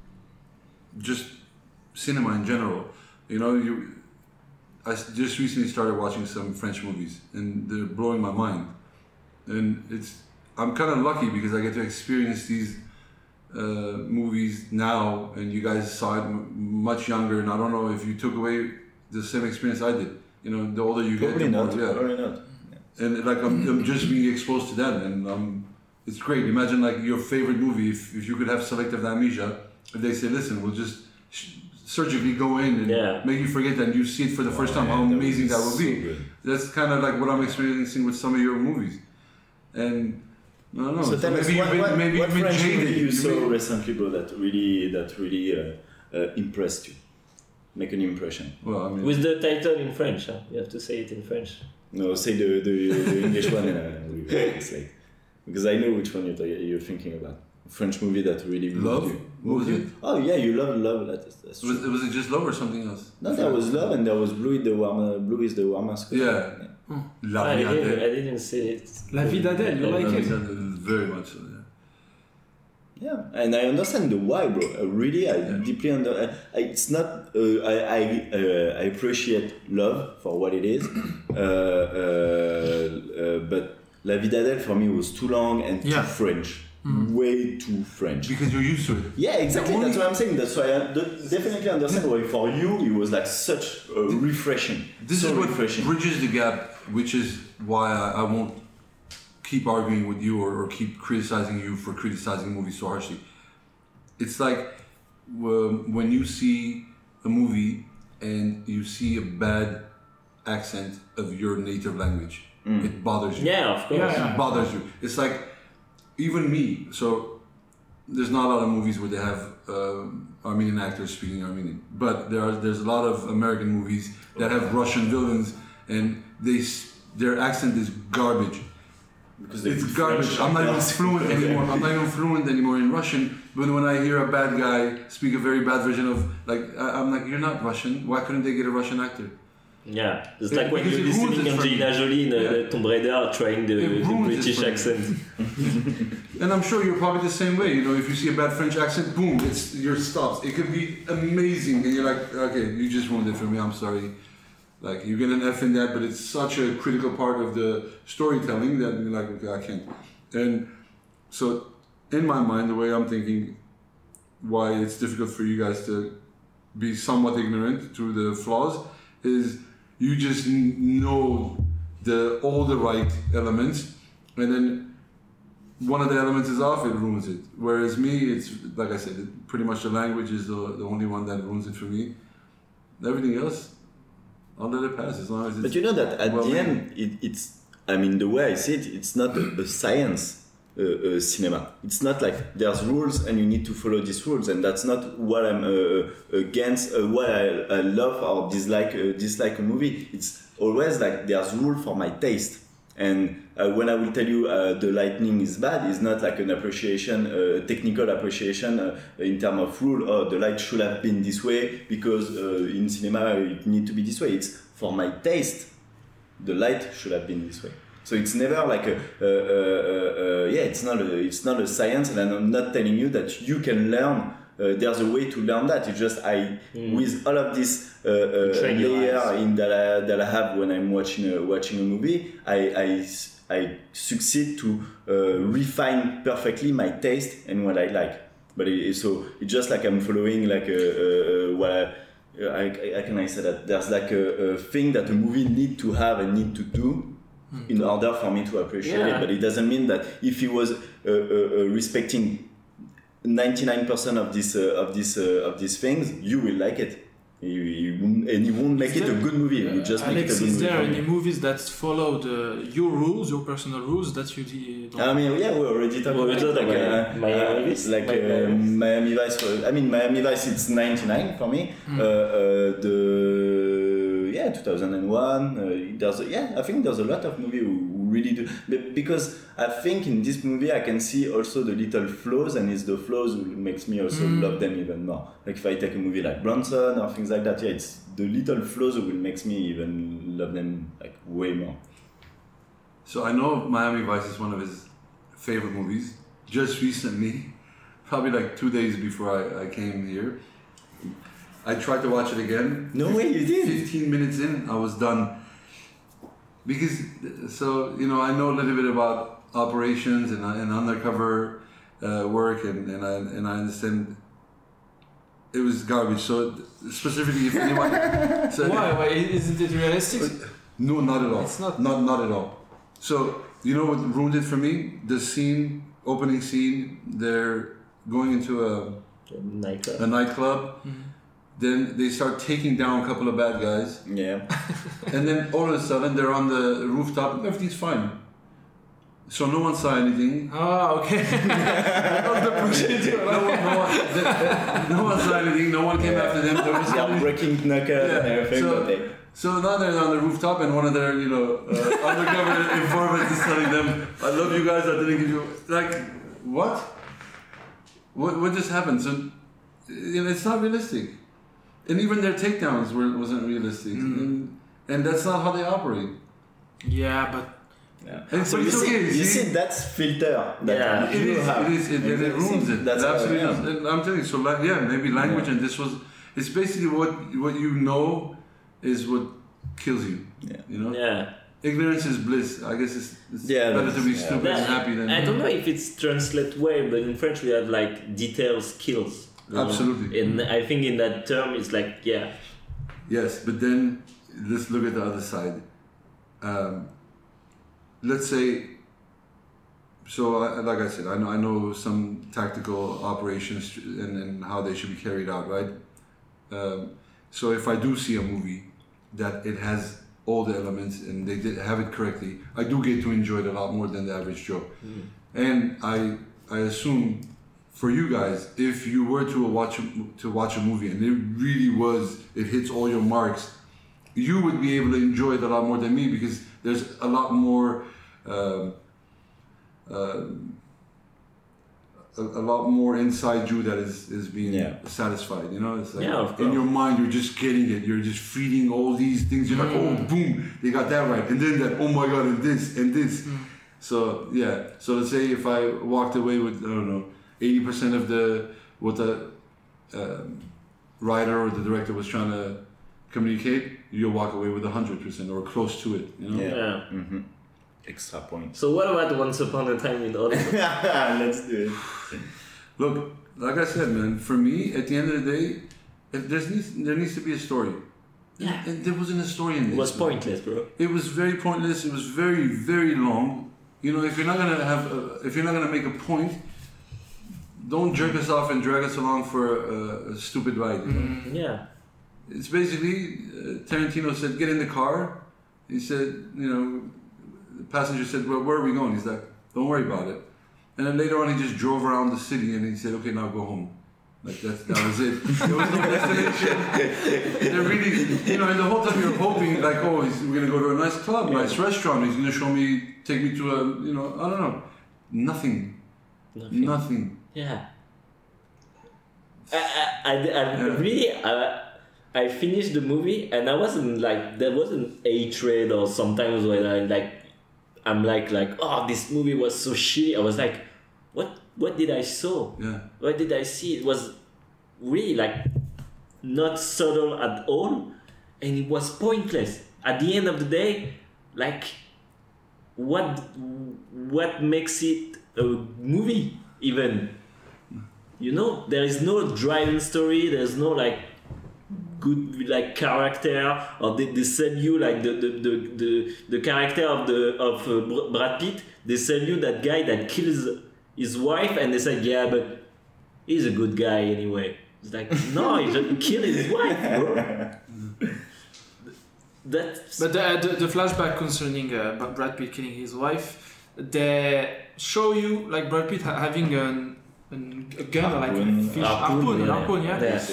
Speaker 4: just cinema in general. I just recently started watching some French movies, and they're blowing my mind. And I'm kind of lucky because I get to experience these movies now, and you guys saw it much younger. And I don't know if you took away the same experience I did. The older you get,
Speaker 5: Probably not. Yeah.
Speaker 4: And like I'm just being exposed to that, and it's great. Imagine like your favorite movie. If you could have selective amnesia, if they say, "Listen, we'll just surgically go in and make you forget that, and you see it for the first time, how amazing that would be."
Speaker 5: Good.
Speaker 4: That's kind of like what I'm experiencing with some of your movies, and I don't know.
Speaker 5: So tell us, what French
Speaker 4: jaded.
Speaker 5: movie you saw recently, bro, that really impressed you? Make an impression.
Speaker 4: Well, I mean,
Speaker 1: With the title in French, huh? You have to say it in French.
Speaker 5: No, say the English one, and it's like, because I know which one you're thinking about. French movie that really
Speaker 4: Love?
Speaker 5: moved you.
Speaker 4: What was it?
Speaker 5: Oh yeah, you love. That's true.
Speaker 4: was it just Love or something else?
Speaker 5: No, there was Love, and there was Blue is the warm mask.
Speaker 4: Yeah. La
Speaker 1: I
Speaker 4: Vie d'Adèle.
Speaker 1: didn't say it.
Speaker 2: La Vie d'Adèle, you like it?
Speaker 4: Very much so.
Speaker 5: Yeah, and I understand the why, bro. I deeply it's not. I appreciate Love for what it is, but La Vie d'Adèle for me was too long and too French. Way too French.
Speaker 4: Because you're used to it.
Speaker 5: Yeah, exactly. That's what I'm saying. That's why I definitely understand why for you it was like such refreshing.
Speaker 4: This is what bridges the gap, which is why I won't keep arguing with you or keep criticizing you for criticizing movies so harshly. It's like when you see a movie and you see a bad accent of your native language, it bothers you.
Speaker 1: Yeah, of course.
Speaker 4: It bothers you. It's like, even me, so there's not a lot of movies where they have Armenian actors speaking Armenian, but there's a lot of American movies that have Russian villains and their accent is garbage.
Speaker 5: Because
Speaker 4: It's garbage. I'm not even fluent anymore. I'm not even fluent anymore in Russian. But when I hear a bad guy speak a very bad version of, like, I'm like, you're not Russian. Why couldn't they get a Russian actor?
Speaker 1: Yeah, it's like when
Speaker 4: Because
Speaker 1: you're
Speaker 4: it ruins
Speaker 1: listening
Speaker 4: it for
Speaker 1: Angelina
Speaker 4: me.
Speaker 1: Jolie in Tomb Raider trying the
Speaker 4: ruins it
Speaker 1: British
Speaker 4: for me.
Speaker 1: accent.
Speaker 4: And I'm sure you're probably the same way. You know, if you see a bad French accent, boom, your stops. It could be amazing, and you're like, okay, you just ruined it for me. I'm sorry. Like, you get an F in that, but it's such a critical part of the storytelling that you're like, okay, I can't. And so, in my mind, the way I'm thinking, why it's difficult for you guys to be somewhat ignorant through the flaws, is you just know all the right elements, and then one of the elements is off, it ruins it. Whereas me, it's like I said, pretty much the language is the only one that ruins it for me. Everything else, I'll let it pass as long as it's.
Speaker 5: But you know that at
Speaker 4: well
Speaker 5: the
Speaker 4: made.
Speaker 5: end, it's. I mean, the way I see it, it's not a science cinema. It's not like there's rules and you need to follow these rules, and that's not what I'm against. What I love or dislike a movie. It's always like there's rule for my taste. And when I will tell you the lightning is bad, it's not like an appreciation, technical appreciation in terms of rule. Oh, the light should have been this way because in cinema it need to be this way. It's for my taste. The light should have been this way. So it's never like it's not a science, and I'm not telling you that you can learn. There's a way to learn that. It's just with all of this layer in that I have when I'm watching a movie, I succeed to refine perfectly my taste and what I like. But it's just like I'm following like what I can say that there's like a thing that a movie need to have and need to do in order for me to appreciate it. But it doesn't mean that if he was respecting 99% of these things, you will like it. You won't make it a good movie. You just make it a
Speaker 2: Alex,
Speaker 5: good
Speaker 2: is
Speaker 5: movie.
Speaker 2: there any movies that follow your rules, your personal rules that you don't?
Speaker 5: I mean, yeah, we already talked about
Speaker 1: Miami Vice.
Speaker 5: Miami Vice. Miami Vice, it's 99 for me. 2001. I think there's a lot of movies who really do, because I think in this movie I can see also the little flaws, and it's the flaws who makes me also love them even more. Like if I take a movie like Bronson or things like that, it's the little flaws who will makes me even love them like way more.
Speaker 4: So I know Miami Vice is one of his favorite movies. Just recently, probably like 2 days before I came here, I tried to watch it again.
Speaker 5: No way, you did?
Speaker 4: 15 minutes in, I was done. Because, I know a little bit about operations and undercover work, and I understand it was garbage. So specifically, if anyone...
Speaker 2: Why? Isn't it realistic?
Speaker 4: No, not at all.
Speaker 2: It's not.
Speaker 4: Not at all. So, you know what ruined it for me? The opening scene, they're going into a nightclub. Then they start taking down a couple of bad guys.
Speaker 5: Yeah.
Speaker 4: And then all of a sudden they're on the rooftop and everything's fine. So no one saw anything.
Speaker 2: Oh, okay.
Speaker 4: No one saw anything. No one came after them. There was
Speaker 5: They are breaking knuckles and everything.
Speaker 4: So now they're on the rooftop and one of their, undercover informants is telling them, I love you guys, I didn't give you... Like, what? What just happened? So, it's not realistic. And even their takedowns wasn't realistic. And that's not how they operate.
Speaker 2: Yeah, but...
Speaker 5: Yeah.
Speaker 4: And
Speaker 5: So
Speaker 4: but
Speaker 5: you
Speaker 4: it's okay,
Speaker 5: see that's filter that
Speaker 4: It
Speaker 5: you have.
Speaker 4: is. It ruins it.
Speaker 5: That's
Speaker 4: It absolutely
Speaker 5: how I
Speaker 4: is.
Speaker 5: am.
Speaker 4: And I'm telling you, so maybe language and this was... It's basically what you know is what kills you.
Speaker 5: Yeah.
Speaker 4: You know?
Speaker 1: Yeah.
Speaker 4: Ignorance is bliss. I guess it's better to be stupid and happy than...
Speaker 1: I don't know if it's translated well, but in French we have like details kills.
Speaker 4: Absolutely.
Speaker 1: And I think in that term it's like, yeah.
Speaker 4: Yes, but then let's look at the other side. Let's say like I said, I know some tactical operations and how they should be carried out, right? So if I do see a movie that it has all the elements and they did have it correctly, I do get to enjoy it a lot more than the average Joe. And I assume for you guys, if you were to watch a movie and it hits all your marks, you would be able to enjoy it a lot more than me, because there's a lot more a lot more inside you that is being satisfied, you know. It's like in your mind you're just getting it, you're just feeding all these things, you're like, oh boom, they got that right, and then that, oh my god, and this so let's say if I walked away with, I don't know, 80% of what the writer or the director was trying to communicate, you'll walk away with 100% or close to it, you know.
Speaker 5: Extra point.
Speaker 1: So what about Once Upon a Time in Hollywood?
Speaker 5: Let's do it.
Speaker 4: Look, like I said, man, for me, at the end of the day, there needs to be a story.
Speaker 1: Yeah.
Speaker 4: And there wasn't a story in this.
Speaker 1: It was pointless, bro.
Speaker 4: It was very pointless. It was very, very long. You know, if you're not gonna make a point, don't jerk us off and drag us along for a stupid ride. You know?
Speaker 1: Yeah.
Speaker 4: It's basically Tarantino said, "Get in the car." He said, you know, the passenger said, "Well, where are we going?" He's like, "Don't worry about it." And then later on, he just drove around the city and he said, "Okay, now go home." Like that was it. There was no destination. They're really, you know, and the whole time you're hoping, like, oh, we're gonna go to a nice club, nice restaurant. He's gonna take me to a, you know, I don't know, nothing.
Speaker 1: Yeah. I finished the movie and I wasn't like, there wasn't hatred or sometimes when I'm like, oh, this movie was so shitty. I was like, what did I saw?
Speaker 4: Yeah.
Speaker 1: What did I see? It was really like not subtle at all, and it was pointless. At the end of the day, like what makes it a movie even? You know, there is no driving story. There's no like good like character, or they sell you like the character of Brad Pitt. They sell you that guy that kills his wife, and they say, yeah, but he's a good guy anyway. It's like, no, he just killed his wife, bro.
Speaker 2: But the flashback concerning Brad Pitt killing his wife, they show you like Brad Pitt having a gun, like a fish harpoon,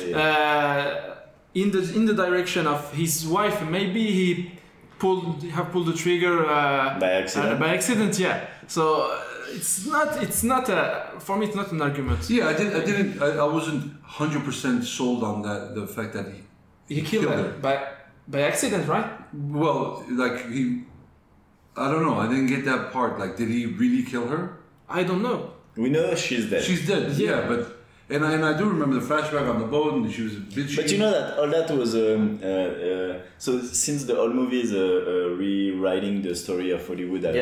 Speaker 2: in the direction of his wife. Maybe he pulled the trigger by accident. Yeah. So it's not for me. It's not an argument.
Speaker 4: Yeah, I wasn't 100% sold on that. The fact that
Speaker 2: he killed her by accident, right?
Speaker 4: Well, like I don't know. I didn't get that part. Like, did he really kill her?
Speaker 2: I don't know.
Speaker 5: We know she's dead.
Speaker 4: She's dead. Yeah, but. And I do remember the flashback on the boat, and she was a bitch.
Speaker 5: But you know that all that was so since the whole movie is rewriting the story of Hollywood. Is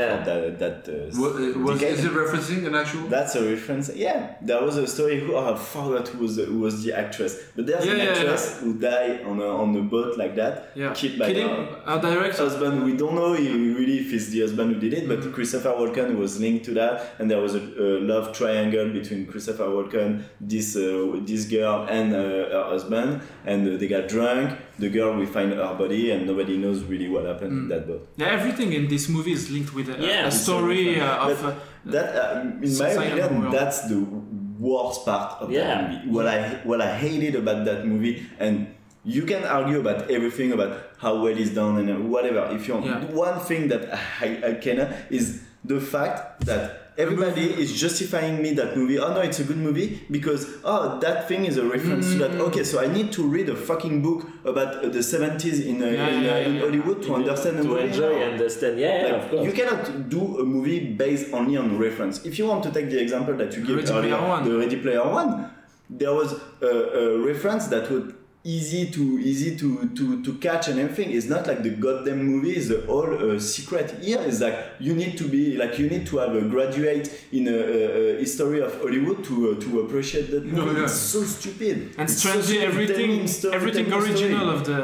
Speaker 4: it referencing an actual?
Speaker 5: That's a reference. Yeah, there was a story. I forgot who was the actress, but there's an actress who died on a boat like that, killed by
Speaker 2: a direct
Speaker 5: husband. We don't know really if it's the husband who did it, but Christopher Walken was linked to that, and there was a love triangle between Christopher Walken, this girl and her husband, and they got drunk. The girl will find her body, and nobody knows really what happened in that boat.
Speaker 2: Yeah, everything in this movie is linked with a story of
Speaker 5: that. In my opinion, that's the worst part of that movie. What I hated about that movie, and you can argue about everything about how well it's done and whatever. If you want, one thing that I cannot is the fact that everybody is justifying me that movie. Oh no, it's a good movie because that thing is a reference to that. Okay, so I need to read a fucking book about the 70s in Hollywood to understand the movie.
Speaker 1: To enjoy and understand. Of course.
Speaker 5: You cannot do a movie based only on reference. If you want to take the example that you gave earlier, the Ready Player One, there was a reference that would easy to catch and everything. It's not like the goddamn movie is the whole secret. Here is like you need to have a graduate in a history of Hollywood to appreciate that movie. It's so stupid.
Speaker 2: And strangely everything original of the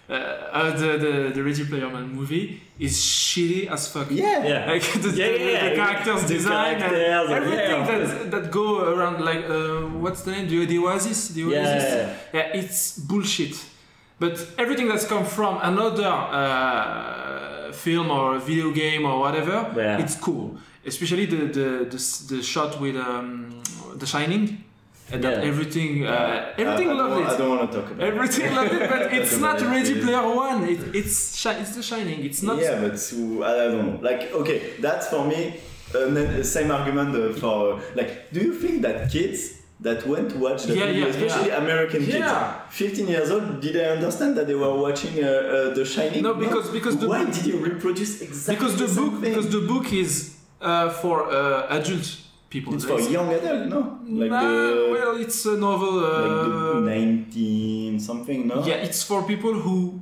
Speaker 2: the Ready Player One movie is shitty as fuck.
Speaker 5: Yeah.
Speaker 2: Like the characters design and everything that go around, like what's the name? The Oasis. The Oasis. Yeah, it's bullshit. But everything that's come from another film or video game or whatever, it's cool. Especially the shot with The Shining. And that everything loved it.
Speaker 5: I don't want to talk about
Speaker 2: everything loved it, but it's not Ready Player One. It's The Shining. It's not.
Speaker 5: Yeah, but I don't know. Like, okay, that's for me. Same argument for like. Do you think that kids that went to watch the movie, especially American kids, 15 years old, did they understand that they were watching The Shining?
Speaker 2: No, because
Speaker 5: why did you reproduce exactly
Speaker 2: because the book is for adults. People.
Speaker 5: It's for young adult, no?
Speaker 2: Well, it's a novel.
Speaker 5: Like the 19 something, no?
Speaker 2: Yeah, it's for people who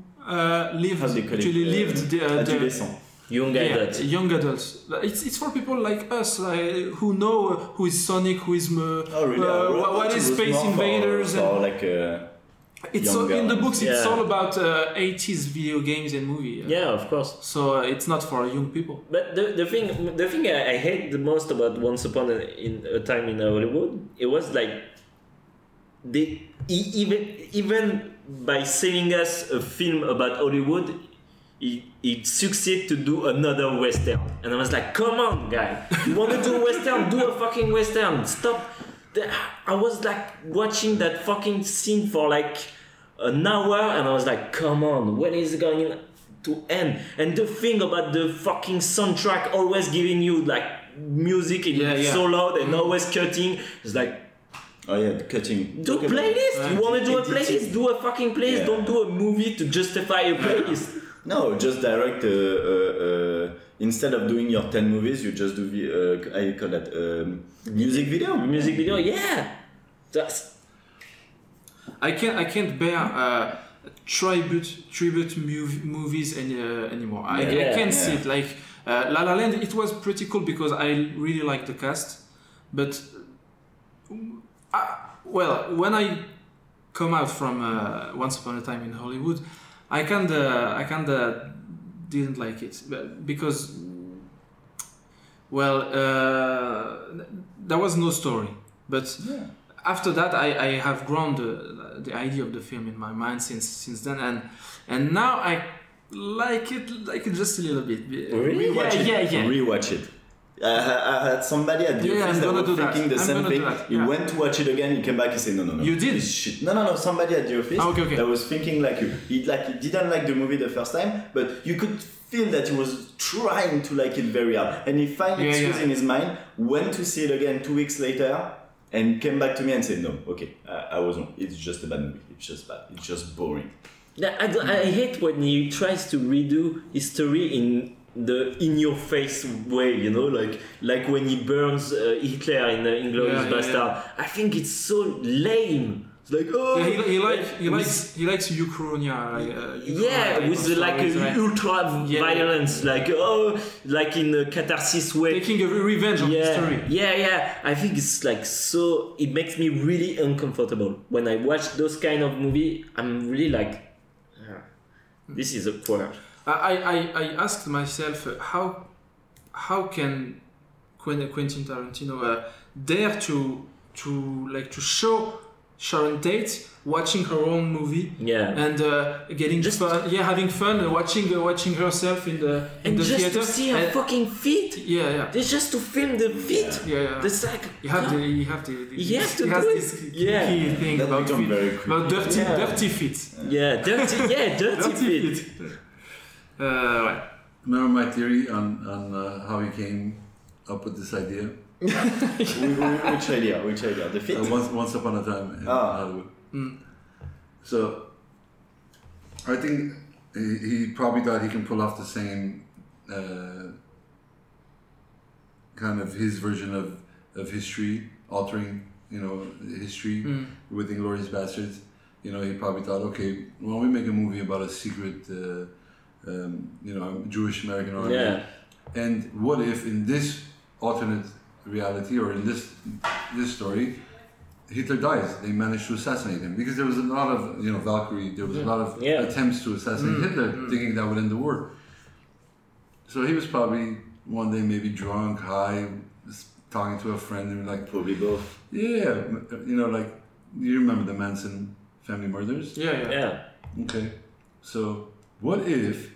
Speaker 2: lived
Speaker 1: young adults.
Speaker 2: Young adults. It's for people like us, who know who is Sonic, who is what is Space Invaders, it's all, in the books. It's all about 80s video games and movie.
Speaker 1: Yeah, of course.
Speaker 2: So it's not for young people.
Speaker 1: But the thing I hate the most about Once Upon a Time in Hollywood, it was like they even by selling us a film about Hollywood, it succeeded to do another western, and I was like, come on, guy, you want to do a western? Do a fucking western. Stop. I was like watching that fucking scene for like an hour, and I was like, come on, when is it going to end? And the thing about the fucking soundtrack always giving you like music so loud and always cutting, it's like,
Speaker 5: oh yeah, the cutting.
Speaker 1: Do a playlist. You want to do a playlist? Do a fucking playlist. Yeah. Don't do a movie to justify a playlist.
Speaker 5: No, just direct. Instead of doing your 10 movies, you just do I call that music video.
Speaker 1: Music video, yeah.
Speaker 2: I can't bear tribute movies anymore. I can't see it. Like La La Land, it was pretty cool because I really liked the cast, but when I come out from Once Upon a Time in Hollywood, I kinda didn't like it because there was no story. But after that, I have grown the idea of the film in my mind since then, and now I like it just a little bit.
Speaker 1: Really?
Speaker 5: Rewatch it. I had somebody at the office that was thinking the same thing. He went to watch it again. He came back. He said, "No.
Speaker 2: You did?
Speaker 5: Shit. No. Somebody at the office that was thinking like you. He didn't like the movie the first time, but you could feel that he was trying to like it very hard. And he found excuse in his mind. Went to see it again 2 weeks later, and came back to me and said, "No, okay, I was wrong. It's just a bad movie. It's just bad. It's just boring."
Speaker 1: I hate when he tries to redo history in your face way, you know, like when he burns Hitler in Inglourious Bastard. I think it's so lame. It's like
Speaker 2: he likes Uchronia.
Speaker 1: With like ultra violence, like in a catharsis way,
Speaker 2: taking a revenge on history.
Speaker 1: I think it's like so. It makes me really uncomfortable when I watch those kind of movie. I'm really like, this is awkward.
Speaker 2: I asked myself how can Quentin Tarantino dare to show Sharon Tate watching her own movie and getting just fun, having fun watching herself in the
Speaker 1: just
Speaker 2: theater
Speaker 1: to see her fucking feet. It's just to film the feet. It's like
Speaker 2: you have to do this key thing about dirty feet.
Speaker 1: Dirty feet.
Speaker 4: Remember my theory on how he came up with this idea?
Speaker 5: Which idea? The fit?
Speaker 4: Once Upon a Time in Hollywood. So I think he probably thought he can pull off the same kind of his version of history, altering history with Inglourious Basterds. He probably thought, okay, why don't we make a movie about a secret Jewish American army, and what if in this alternate reality or in this story Hitler dies. They manage to assassinate him because there was a lot of Valkyrie. There was a lot of attempts to assassinate Hitler, thinking that would end the war. So he was probably one day maybe drunk, high, talking to a friend, and like
Speaker 5: Probably both.
Speaker 4: yeah, like you remember the Manson family murders?
Speaker 2: Yeah.
Speaker 4: Okay, so what if?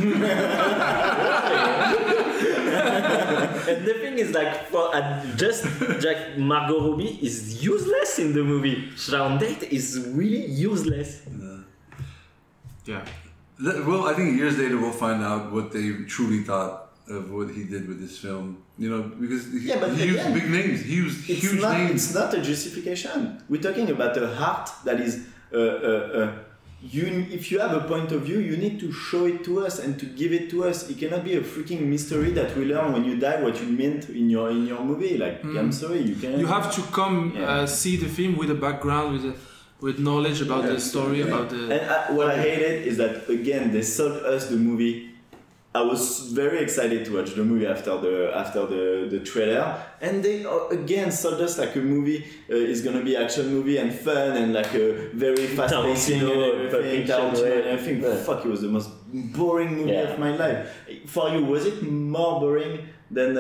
Speaker 1: And the thing is, like, just Jack Margot Robbie is useless in the movie. Sharon Tate is really useless.
Speaker 2: Yeah.
Speaker 4: Well, I think years later we'll find out what they truly thought of what he did with this film. Because he used big names. He used huge names.
Speaker 5: It's not a justification. We're talking about a heart that is. If you have a point of view, you need to show it to us and to give it to us. It cannot be a freaking mystery that we learn when you die what you meant in your movie. Like, I'm sorry, you can.
Speaker 2: You have to come see the film with a background, with knowledge about the story, about the.
Speaker 5: And what I hated is that again they sold us the movie. I was very excited to watch the movie after the trailer, and they again sold us like a movie is gonna be action movie and fun and like a very fast pacing and everything. Tarantino and everything. Fuck, it was the most boring movie of my life. For you, was it more boring than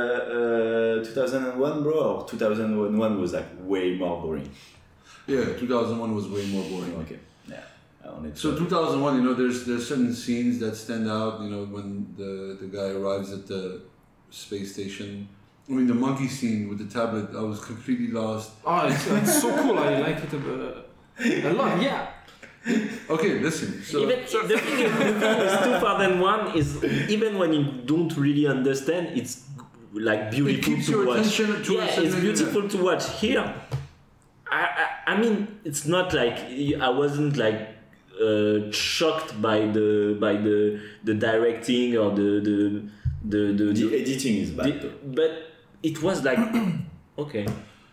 Speaker 5: 2001, bro? Or 2001 was like way more boring?
Speaker 4: Yeah, 2001 was way more boring.
Speaker 5: Okay.
Speaker 4: So 2001, there's certain scenes that stand out. When the guy arrives at the space station. I mean, the monkey scene with the tablet. I was completely lost.
Speaker 2: Oh, it's so cool. I like it a lot. Yeah.
Speaker 4: Okay, listen. So
Speaker 1: The thing with 2001 is even when you don't really understand, it's like beautiful
Speaker 4: it keeps
Speaker 1: to
Speaker 4: your
Speaker 1: watch.
Speaker 4: attention to
Speaker 1: It's beautiful to watch. Here, I mean, it's not like I wasn't like. Shocked by the directing or the
Speaker 5: editing is bad.
Speaker 1: But it was like okay.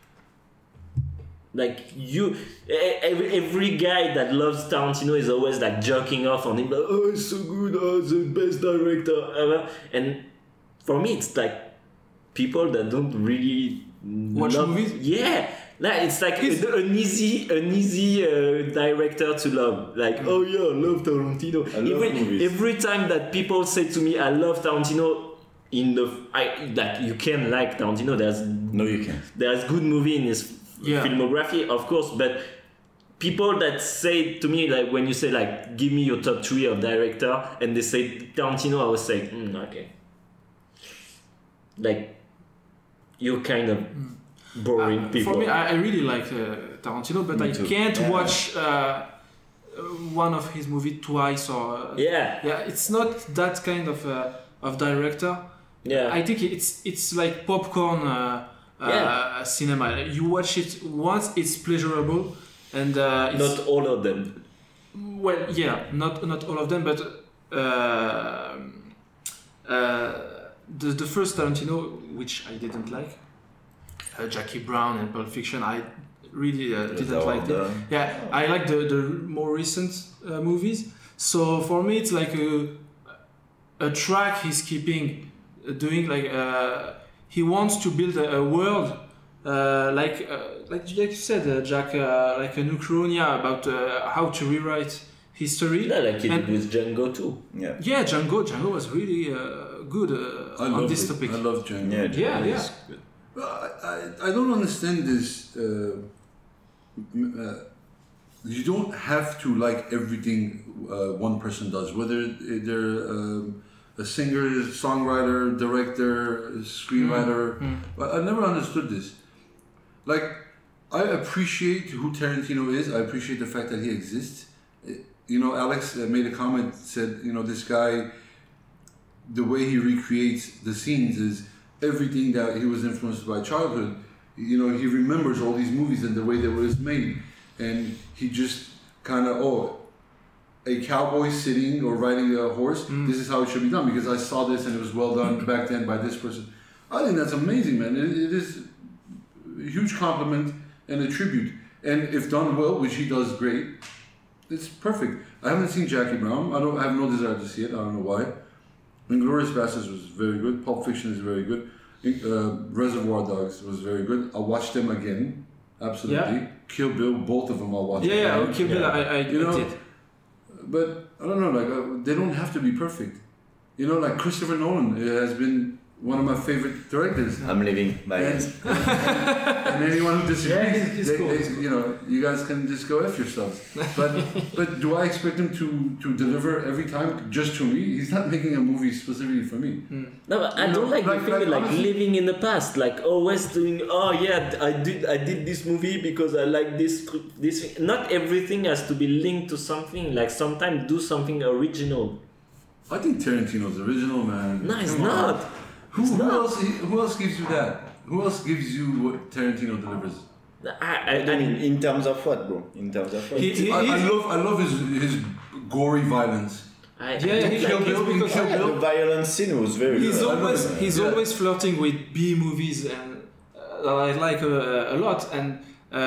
Speaker 1: Like every guy that loves Tarantino is always like jerking off on him. Like, oh, it's so good. Oh, the best director ever. And for me, it's like people that don't really
Speaker 2: watch movies.
Speaker 1: Yeah. Like, it's like an easy director to love. Like, oh yeah, I love Tarantino.
Speaker 5: I love movies.
Speaker 1: Every time that people say to me, I love Tarantino, you can like Tarantino.
Speaker 5: No, you can't.
Speaker 1: There's good movie in his filmography, of course, but people that say to me, like, when you say like, give me your top 3 of director, and they say Tarantino, I was say, okay. Like, you're kind of boring people.
Speaker 2: For me, I really like Tarantino, but I can't watch one of his movies twice or. It's not that kind of director.
Speaker 1: Yeah.
Speaker 2: I think it's like popcorn cinema. You watch it once, it's pleasurable, and
Speaker 1: not all of them.
Speaker 2: Well, yeah, not all of them, but the first Tarantino, which I didn't like. Jackie Brown and Pulp Fiction, I really didn't like them. Yeah, I like the more recent movies. So for me, it's like a track he's keeping doing. Like he wants to build a world like you said, Jack, like an Uchronia about how to rewrite history.
Speaker 1: Yeah, like he did with Django too.
Speaker 2: Yeah, Django was really good on this topic.
Speaker 4: I love Django.
Speaker 2: Yeah.
Speaker 5: Good.
Speaker 4: I don't understand this. You don't have to like everything one person does, whether they're a singer, songwriter, director, screenwriter. I never understood this. Like, I appreciate who Tarantino is. I appreciate the fact that he exists. Alex made a comment, said, this guy, the way he recreates the scenes is everything that he was influenced by childhood. He remembers all these movies and the way they were made, and he just kind of a cowboy sitting or riding a horse. This is how it should be done because I saw this and it was well done back then by this person. I think that's amazing, man. It is a huge compliment and a tribute, and if done well, which he does great, it's perfect. I haven't seen Jackie Brown. I have no desire to see it. I don't know why. Inglourious Basterds was very good. Pulp Fiction is very good. Reservoir Dogs was very good. I'll watch them again. absolutely. Kill Bill, both of them I'll watch.
Speaker 2: Yeah,
Speaker 4: again.
Speaker 2: Kill Bill, I
Speaker 4: You know,
Speaker 2: did.
Speaker 4: But I don't know, they don't have to be perfect. Like Christopher Nolan has been one of my favorite directors.
Speaker 5: I'm living by
Speaker 4: And,
Speaker 5: it.
Speaker 4: and anyone who disagrees,
Speaker 2: he's cool.
Speaker 4: you guys can just go F yourselves. But do I expect him to deliver every time just to me? He's not making a movie specifically for me.
Speaker 1: No, but I don't like the thing
Speaker 4: honestly,
Speaker 1: living in the past, like always doing. Oh yeah, I did this movie because I like this. Not everything has to be linked to something. Like sometimes do something original.
Speaker 4: I think Tarantino's original, man.
Speaker 1: No, it's
Speaker 4: Come on.
Speaker 1: not.
Speaker 4: Who else gives you that? Who else gives you what Tarantino delivers?
Speaker 1: I mean,
Speaker 5: In terms of what, bro? In terms of what?
Speaker 4: I love his gory violence.
Speaker 1: I
Speaker 2: Kill Bill because
Speaker 5: The violence scene was very
Speaker 2: he's
Speaker 5: good.
Speaker 2: always always flirting with B movies, and I like a lot. And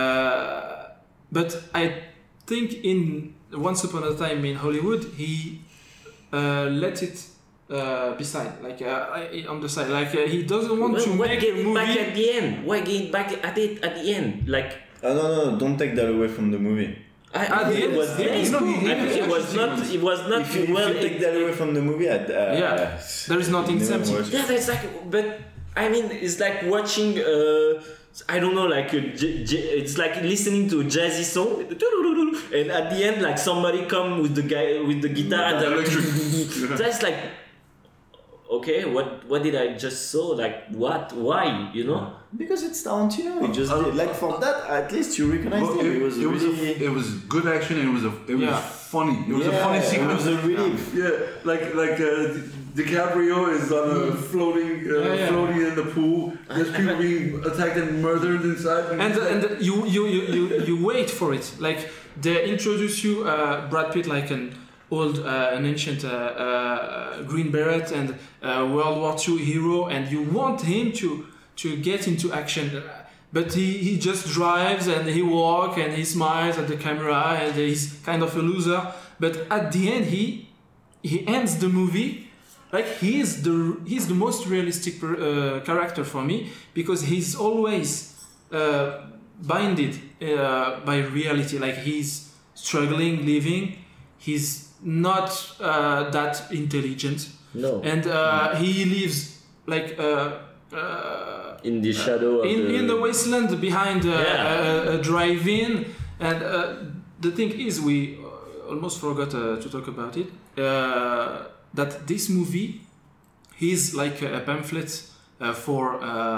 Speaker 2: but I think in Once Upon a Time in Hollywood, he let it beside, like on the side, like he doesn't want to
Speaker 1: why
Speaker 2: make
Speaker 1: get
Speaker 2: a
Speaker 1: it
Speaker 2: movie.
Speaker 1: back at the end? Why get it back at it at the end? Like
Speaker 5: No, don't take that away from the movie.
Speaker 1: I think it was
Speaker 2: the end is
Speaker 1: nice.
Speaker 2: cool.
Speaker 1: I think it was not. It was not
Speaker 5: If you
Speaker 1: well.
Speaker 5: take that away from the movie,
Speaker 2: Yeah, there is nothing
Speaker 5: never
Speaker 2: empty.
Speaker 5: watched it.
Speaker 1: Yeah, that's like, but I mean, it's like watching, I don't know, like it's like listening to a jazzy song, and at the end, like somebody come with the guy with the guitar, and
Speaker 4: Electric.
Speaker 1: that's like, okay, what did I just saw? Like what? Why? You know?
Speaker 5: Because it's Tarantino. He just did. Like for that, at least you recognize
Speaker 4: Well,
Speaker 5: him.
Speaker 4: it was good action and it was funny. It was a funny sequence.
Speaker 5: It was a relief.
Speaker 4: Yeah, like DiCaprio is on a floating in the pool. There's people being attacked and murdered inside.
Speaker 2: And you wait for it. Like they introduce you Brad Pitt like an ancient Green Beret and World War II hero, and you want him to get into action, but he just drives and he walks and he smiles at the camera and he's kind of a loser. But at the end, he ends the movie like he's the most realistic character for me, because he's always binded by reality. Like he's struggling, living. He's not that intelligent.
Speaker 1: No.
Speaker 2: And he lives like
Speaker 1: In the shadow of
Speaker 2: in the wasteland behind a drive-in. And the thing is, we almost forgot to talk about it, that this movie is like a pamphlet for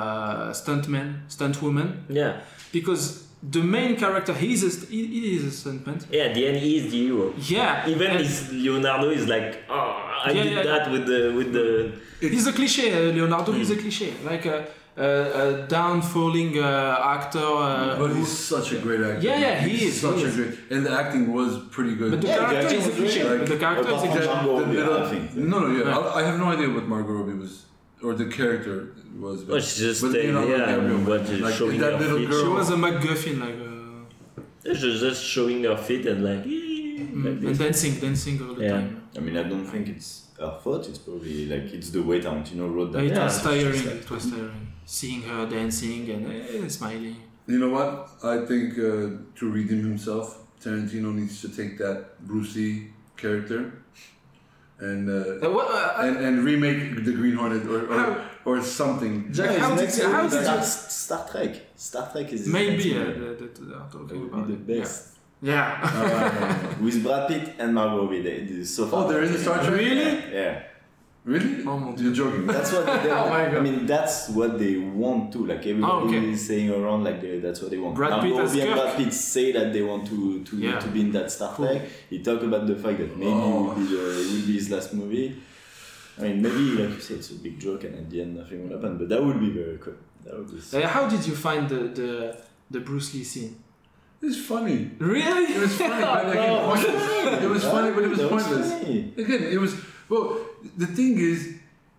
Speaker 2: stuntwomen.
Speaker 1: Yeah.
Speaker 2: Because the main character, he is a stuntman.
Speaker 1: Yeah, at the end he is the hero.
Speaker 2: Yeah.
Speaker 1: Even
Speaker 2: and
Speaker 1: Leonardo is like, oh, I did that with the.
Speaker 2: He's a cliche. Leonardo is a cliche, like a down-falling actor.
Speaker 4: But he's such a great actor.
Speaker 2: Yeah, he is.
Speaker 4: Such a great, and the acting was pretty good.
Speaker 2: But the
Speaker 5: Yeah,
Speaker 2: character
Speaker 5: the
Speaker 2: is a
Speaker 5: acting was
Speaker 2: cliche.
Speaker 5: great.
Speaker 2: But the character is a
Speaker 5: Apart from
Speaker 2: cliche.
Speaker 5: Margot Robbie,
Speaker 4: little-
Speaker 5: I think.
Speaker 4: No, I have no idea what Margot Robbie was, or the character was.
Speaker 1: Oh, she just
Speaker 4: but
Speaker 1: stayed
Speaker 4: Leonardo
Speaker 1: there and
Speaker 4: DiCaprio,
Speaker 1: what is
Speaker 4: like,
Speaker 1: showing
Speaker 4: that
Speaker 1: her
Speaker 4: little
Speaker 1: feet.
Speaker 4: girl.
Speaker 2: She was a MacGuffin, like.
Speaker 1: She's just showing her feet and like. Like
Speaker 2: And
Speaker 1: this.
Speaker 2: dancing all the
Speaker 1: Yeah.
Speaker 2: time.
Speaker 5: I mean, I don't think it's her fault. It's probably like it's the way Tarantino wrote that.
Speaker 2: It
Speaker 1: Yeah,
Speaker 2: was
Speaker 5: It's
Speaker 2: tiring.
Speaker 5: just like-
Speaker 2: It was tiring. Seeing her dancing and smiling.
Speaker 4: You know what? I think to redeem himself, Tarantino needs to take that Bruce Lee character and and remake the Green Hornet or something.
Speaker 2: Jack,
Speaker 5: No,
Speaker 2: how
Speaker 5: it's
Speaker 2: did
Speaker 5: next
Speaker 2: how
Speaker 5: to
Speaker 2: did you?
Speaker 5: Star Trek. Star Trek is his
Speaker 2: Maybe
Speaker 5: next movie.
Speaker 2: they are talking
Speaker 5: It
Speaker 2: about
Speaker 5: would be the
Speaker 2: it.
Speaker 5: best.
Speaker 2: Yeah.
Speaker 5: With Brad Pitt and Margot Robbie. They so far.
Speaker 4: Oh, they're in the Star Trek?
Speaker 2: Really?
Speaker 5: Yeah.
Speaker 4: Really?
Speaker 2: Oh my
Speaker 4: You're joking.
Speaker 5: That's what they
Speaker 2: Oh my God.
Speaker 5: I mean, that's what they want to. Like everybody
Speaker 2: okay.
Speaker 5: is saying around, like that's what they want.
Speaker 2: Brad Pitt
Speaker 5: Margot
Speaker 2: as
Speaker 5: Robbie and
Speaker 2: Kirk.
Speaker 5: Brad Pitt say that they want to be in that Star
Speaker 2: Cool.
Speaker 5: Trek. He talked about the fact that maybe it will be his last movie. I mean, maybe like you said, it's a big joke, and at the end nothing will happen. But that would be very cool. That would be.
Speaker 2: How did you find the Bruce Lee scene?
Speaker 4: It's funny.
Speaker 2: Really?
Speaker 4: It was funny, but like, it was funny, but it was
Speaker 5: That was
Speaker 4: pointless.
Speaker 5: funny.
Speaker 4: Again, it was. Well, the thing is,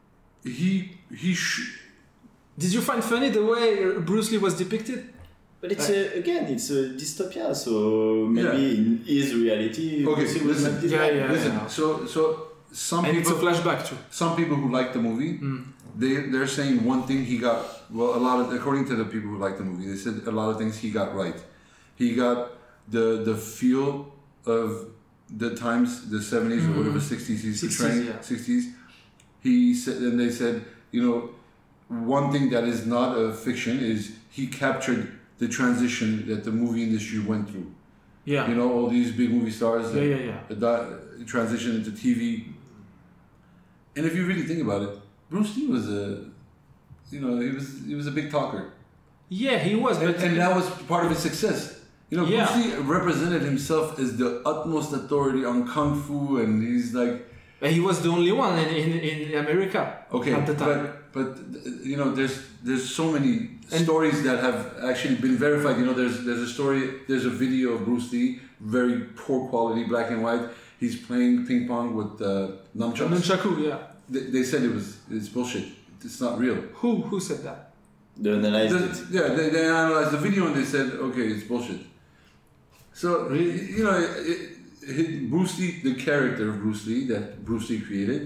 Speaker 2: Did you find funny the way Bruce Lee was depicted?
Speaker 5: But it's it's a dystopia, so maybe in his reality.
Speaker 4: Okay,
Speaker 5: Bruce Lee was
Speaker 4: listen.
Speaker 5: like this.
Speaker 2: Yeah.
Speaker 4: Listen, so some
Speaker 2: And it's a
Speaker 4: people,
Speaker 2: flashback too.
Speaker 4: some people who like the movie they're saying one thing he got. Well, according to the people who like the movie, they said a lot of things he got right. He got the feel of the times, the 70s or whatever 60s he's portraying. 60s. He said, and they said, one thing that is not a fiction is he captured the transition that the movie industry went through.
Speaker 2: Yeah.
Speaker 4: All these big movie stars. The transition into TV. And if you really think about it, Bruce Lee was he was a big talker.
Speaker 2: Yeah, he was.
Speaker 4: And that was part of his success. Bruce Lee represented himself as the utmost authority on kung fu, and he's like.
Speaker 2: He was the only one in America at the time.
Speaker 4: But there's so many stories that have actually been verified. There's a video of Bruce Lee, very poor quality, black and white. He's playing ping pong with nunchucks.
Speaker 2: Nunchaku, yeah.
Speaker 4: They said it's bullshit. It's not real.
Speaker 2: Who said that?
Speaker 5: They analyzed it.
Speaker 4: Yeah, they analyzed the video and they said, okay, it's bullshit. So, Bruce Lee, the character of Bruce Lee that Bruce Lee created,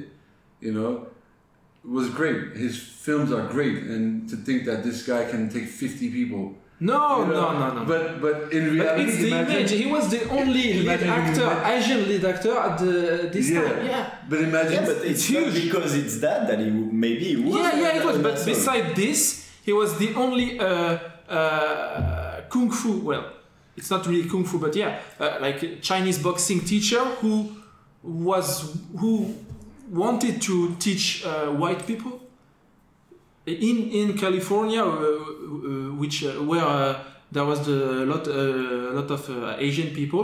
Speaker 4: was great. His films are great, and to think that this guy can take 50 people.
Speaker 2: No.
Speaker 4: But in reality,
Speaker 2: it's the image. He was the only Asian lead actor at this time. Yeah.
Speaker 4: But imagine.
Speaker 5: Yeah, but it's huge because it's that he maybe he was.
Speaker 2: Yeah, it was. But beside this, he was the only kung fu. Well, it's not really kung fu, but like a Chinese boxing teacher who wanted to teach white people in California, where there was a lot of Asian people.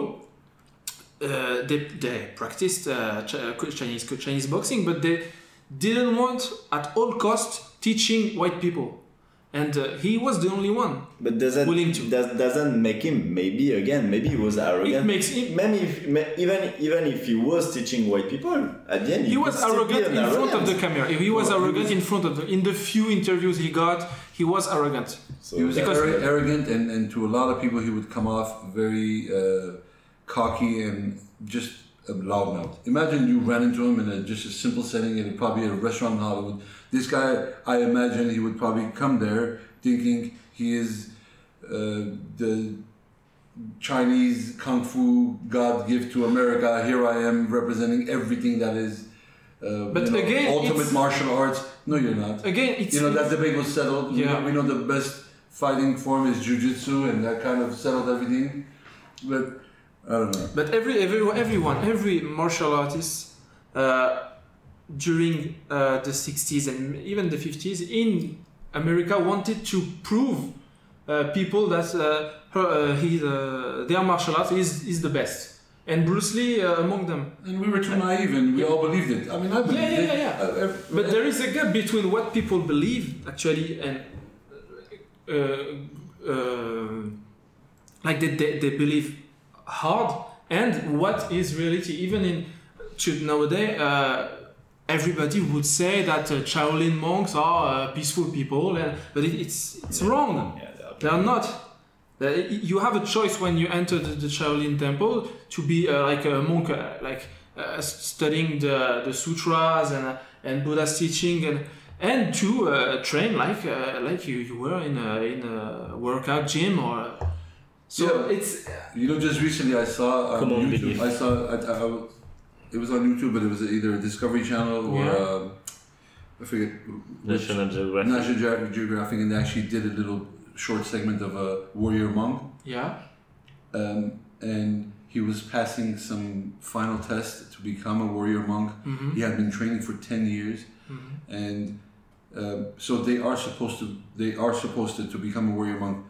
Speaker 2: They practiced Chinese boxing, but they didn't want at all costs teaching white people. And he was the only one.
Speaker 5: But
Speaker 2: willing to.
Speaker 5: Doesn't make him maybe he was arrogant.
Speaker 2: It makes him.
Speaker 5: Even if he was teaching white people, at the end
Speaker 2: he was arrogant in front of the camera. He was arrogant in front of in the few interviews he got. He was arrogant.
Speaker 4: So he was arrogant, and to a lot of people he would come off very cocky and just a loudmouth. Imagine you ran into him in just a simple setting, in probably a restaurant in Hollywood. This guy, I imagine he would probably come there thinking he is the Chinese kung fu God gift to America. Here I am representing everything that is ultimate martial arts. No, you're not.
Speaker 2: Again, it's
Speaker 4: that debate was settled.
Speaker 2: Yeah.
Speaker 4: We know the best fighting form is jiu-jitsu, and that kind of settled everything. But I don't know.
Speaker 2: But every martial artist during the 60s and even the 50s in America wanted to prove people that their martial art is the best. And Bruce Lee among them.
Speaker 4: And we were too naive and we all believed it. I mean, I believed it.
Speaker 2: Yeah. But there is a gap between what people believe actually and like they believe hard and what is reality. Even nowadays, everybody would say that Shaolin monks are peaceful people, but it's wrong.
Speaker 5: Yeah,
Speaker 2: they are not. You have a choice when you enter the Shaolin temple to be like a monk, studying the sutras and Buddha's teaching and to train like you were in a workout gym or. So it's.
Speaker 4: Just recently I saw on YouTube. It was on YouTube, but it was either a Discovery Channel or I forget.
Speaker 1: National
Speaker 4: Geographic, and they actually did a little short segment of a warrior monk.
Speaker 2: Yeah.
Speaker 4: And he was passing some final test to become a warrior monk.
Speaker 2: Mm-hmm.
Speaker 4: He had been training for 10 years, and so they are supposed to become a warrior monk.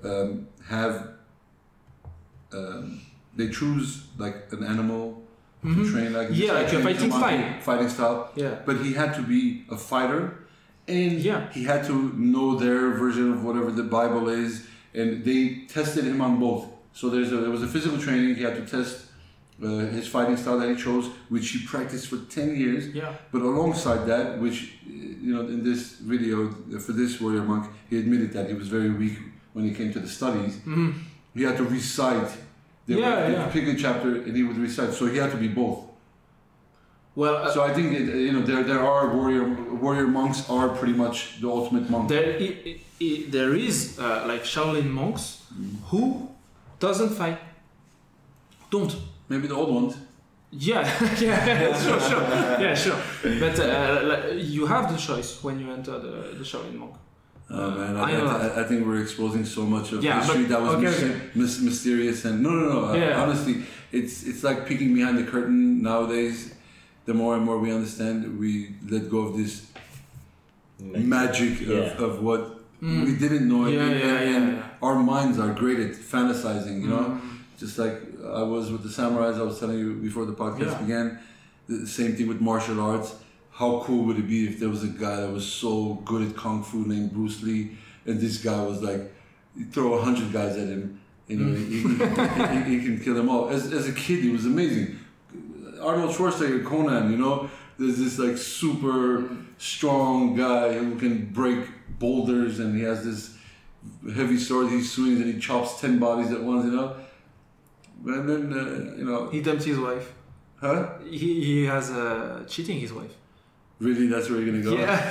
Speaker 4: They choose like an animal to train, like
Speaker 2: like a
Speaker 4: fighting style.
Speaker 2: Yeah.
Speaker 4: But he had to be a fighter. And he had to know their version of whatever the Bible is, and they tested him on both. So there was a physical training. He had to test his fighting style that he chose, which he practiced for 10 years.
Speaker 2: Yeah.
Speaker 4: But alongside that, which in this video for this warrior monk, he admitted that he was very weak when it came to the studies.
Speaker 2: Mm-hmm.
Speaker 4: He had to recite. They would pick a chapter and he would recite. So he had to be both.
Speaker 2: Well,
Speaker 4: So I think there are warrior monks are pretty much the ultimate monk.
Speaker 2: there is like Shaolin monks who doesn't fight. Don't.
Speaker 4: Maybe the old ones.
Speaker 2: Yeah, sure. Yeah, sure. But you have the choice when you enter the Shaolin monk.
Speaker 4: Oh man,
Speaker 2: I
Speaker 4: I think we're exposing so much of
Speaker 2: Yeah,
Speaker 4: history
Speaker 2: but-
Speaker 4: that was
Speaker 2: okay.
Speaker 4: mysterious and no.
Speaker 2: Yeah.
Speaker 4: Honestly, it's like peeking behind the curtain nowadays. The more and more we understand, we let go of this magic of what we didn't know. And our minds are great at fantasizing, you know? Just like I was with the samurais, I was telling you before the podcast began, the same thing with martial arts. How cool would it be if there was a guy that was so good at Kung Fu named Bruce Lee, and this guy was like, you throw 100 guys at him, you know, he can kill them all. As a kid, he was amazing. Arnold Schwarzenegger, Conan, you know, there's this like super strong guy who can break boulders, and he has this heavy sword he swings and he chops 10 bodies at once, you know. And then, you know.
Speaker 2: He dumped his wife.
Speaker 4: Huh?
Speaker 2: He has cheating his wife.
Speaker 4: Really? That's where you're gonna go?
Speaker 2: Yeah.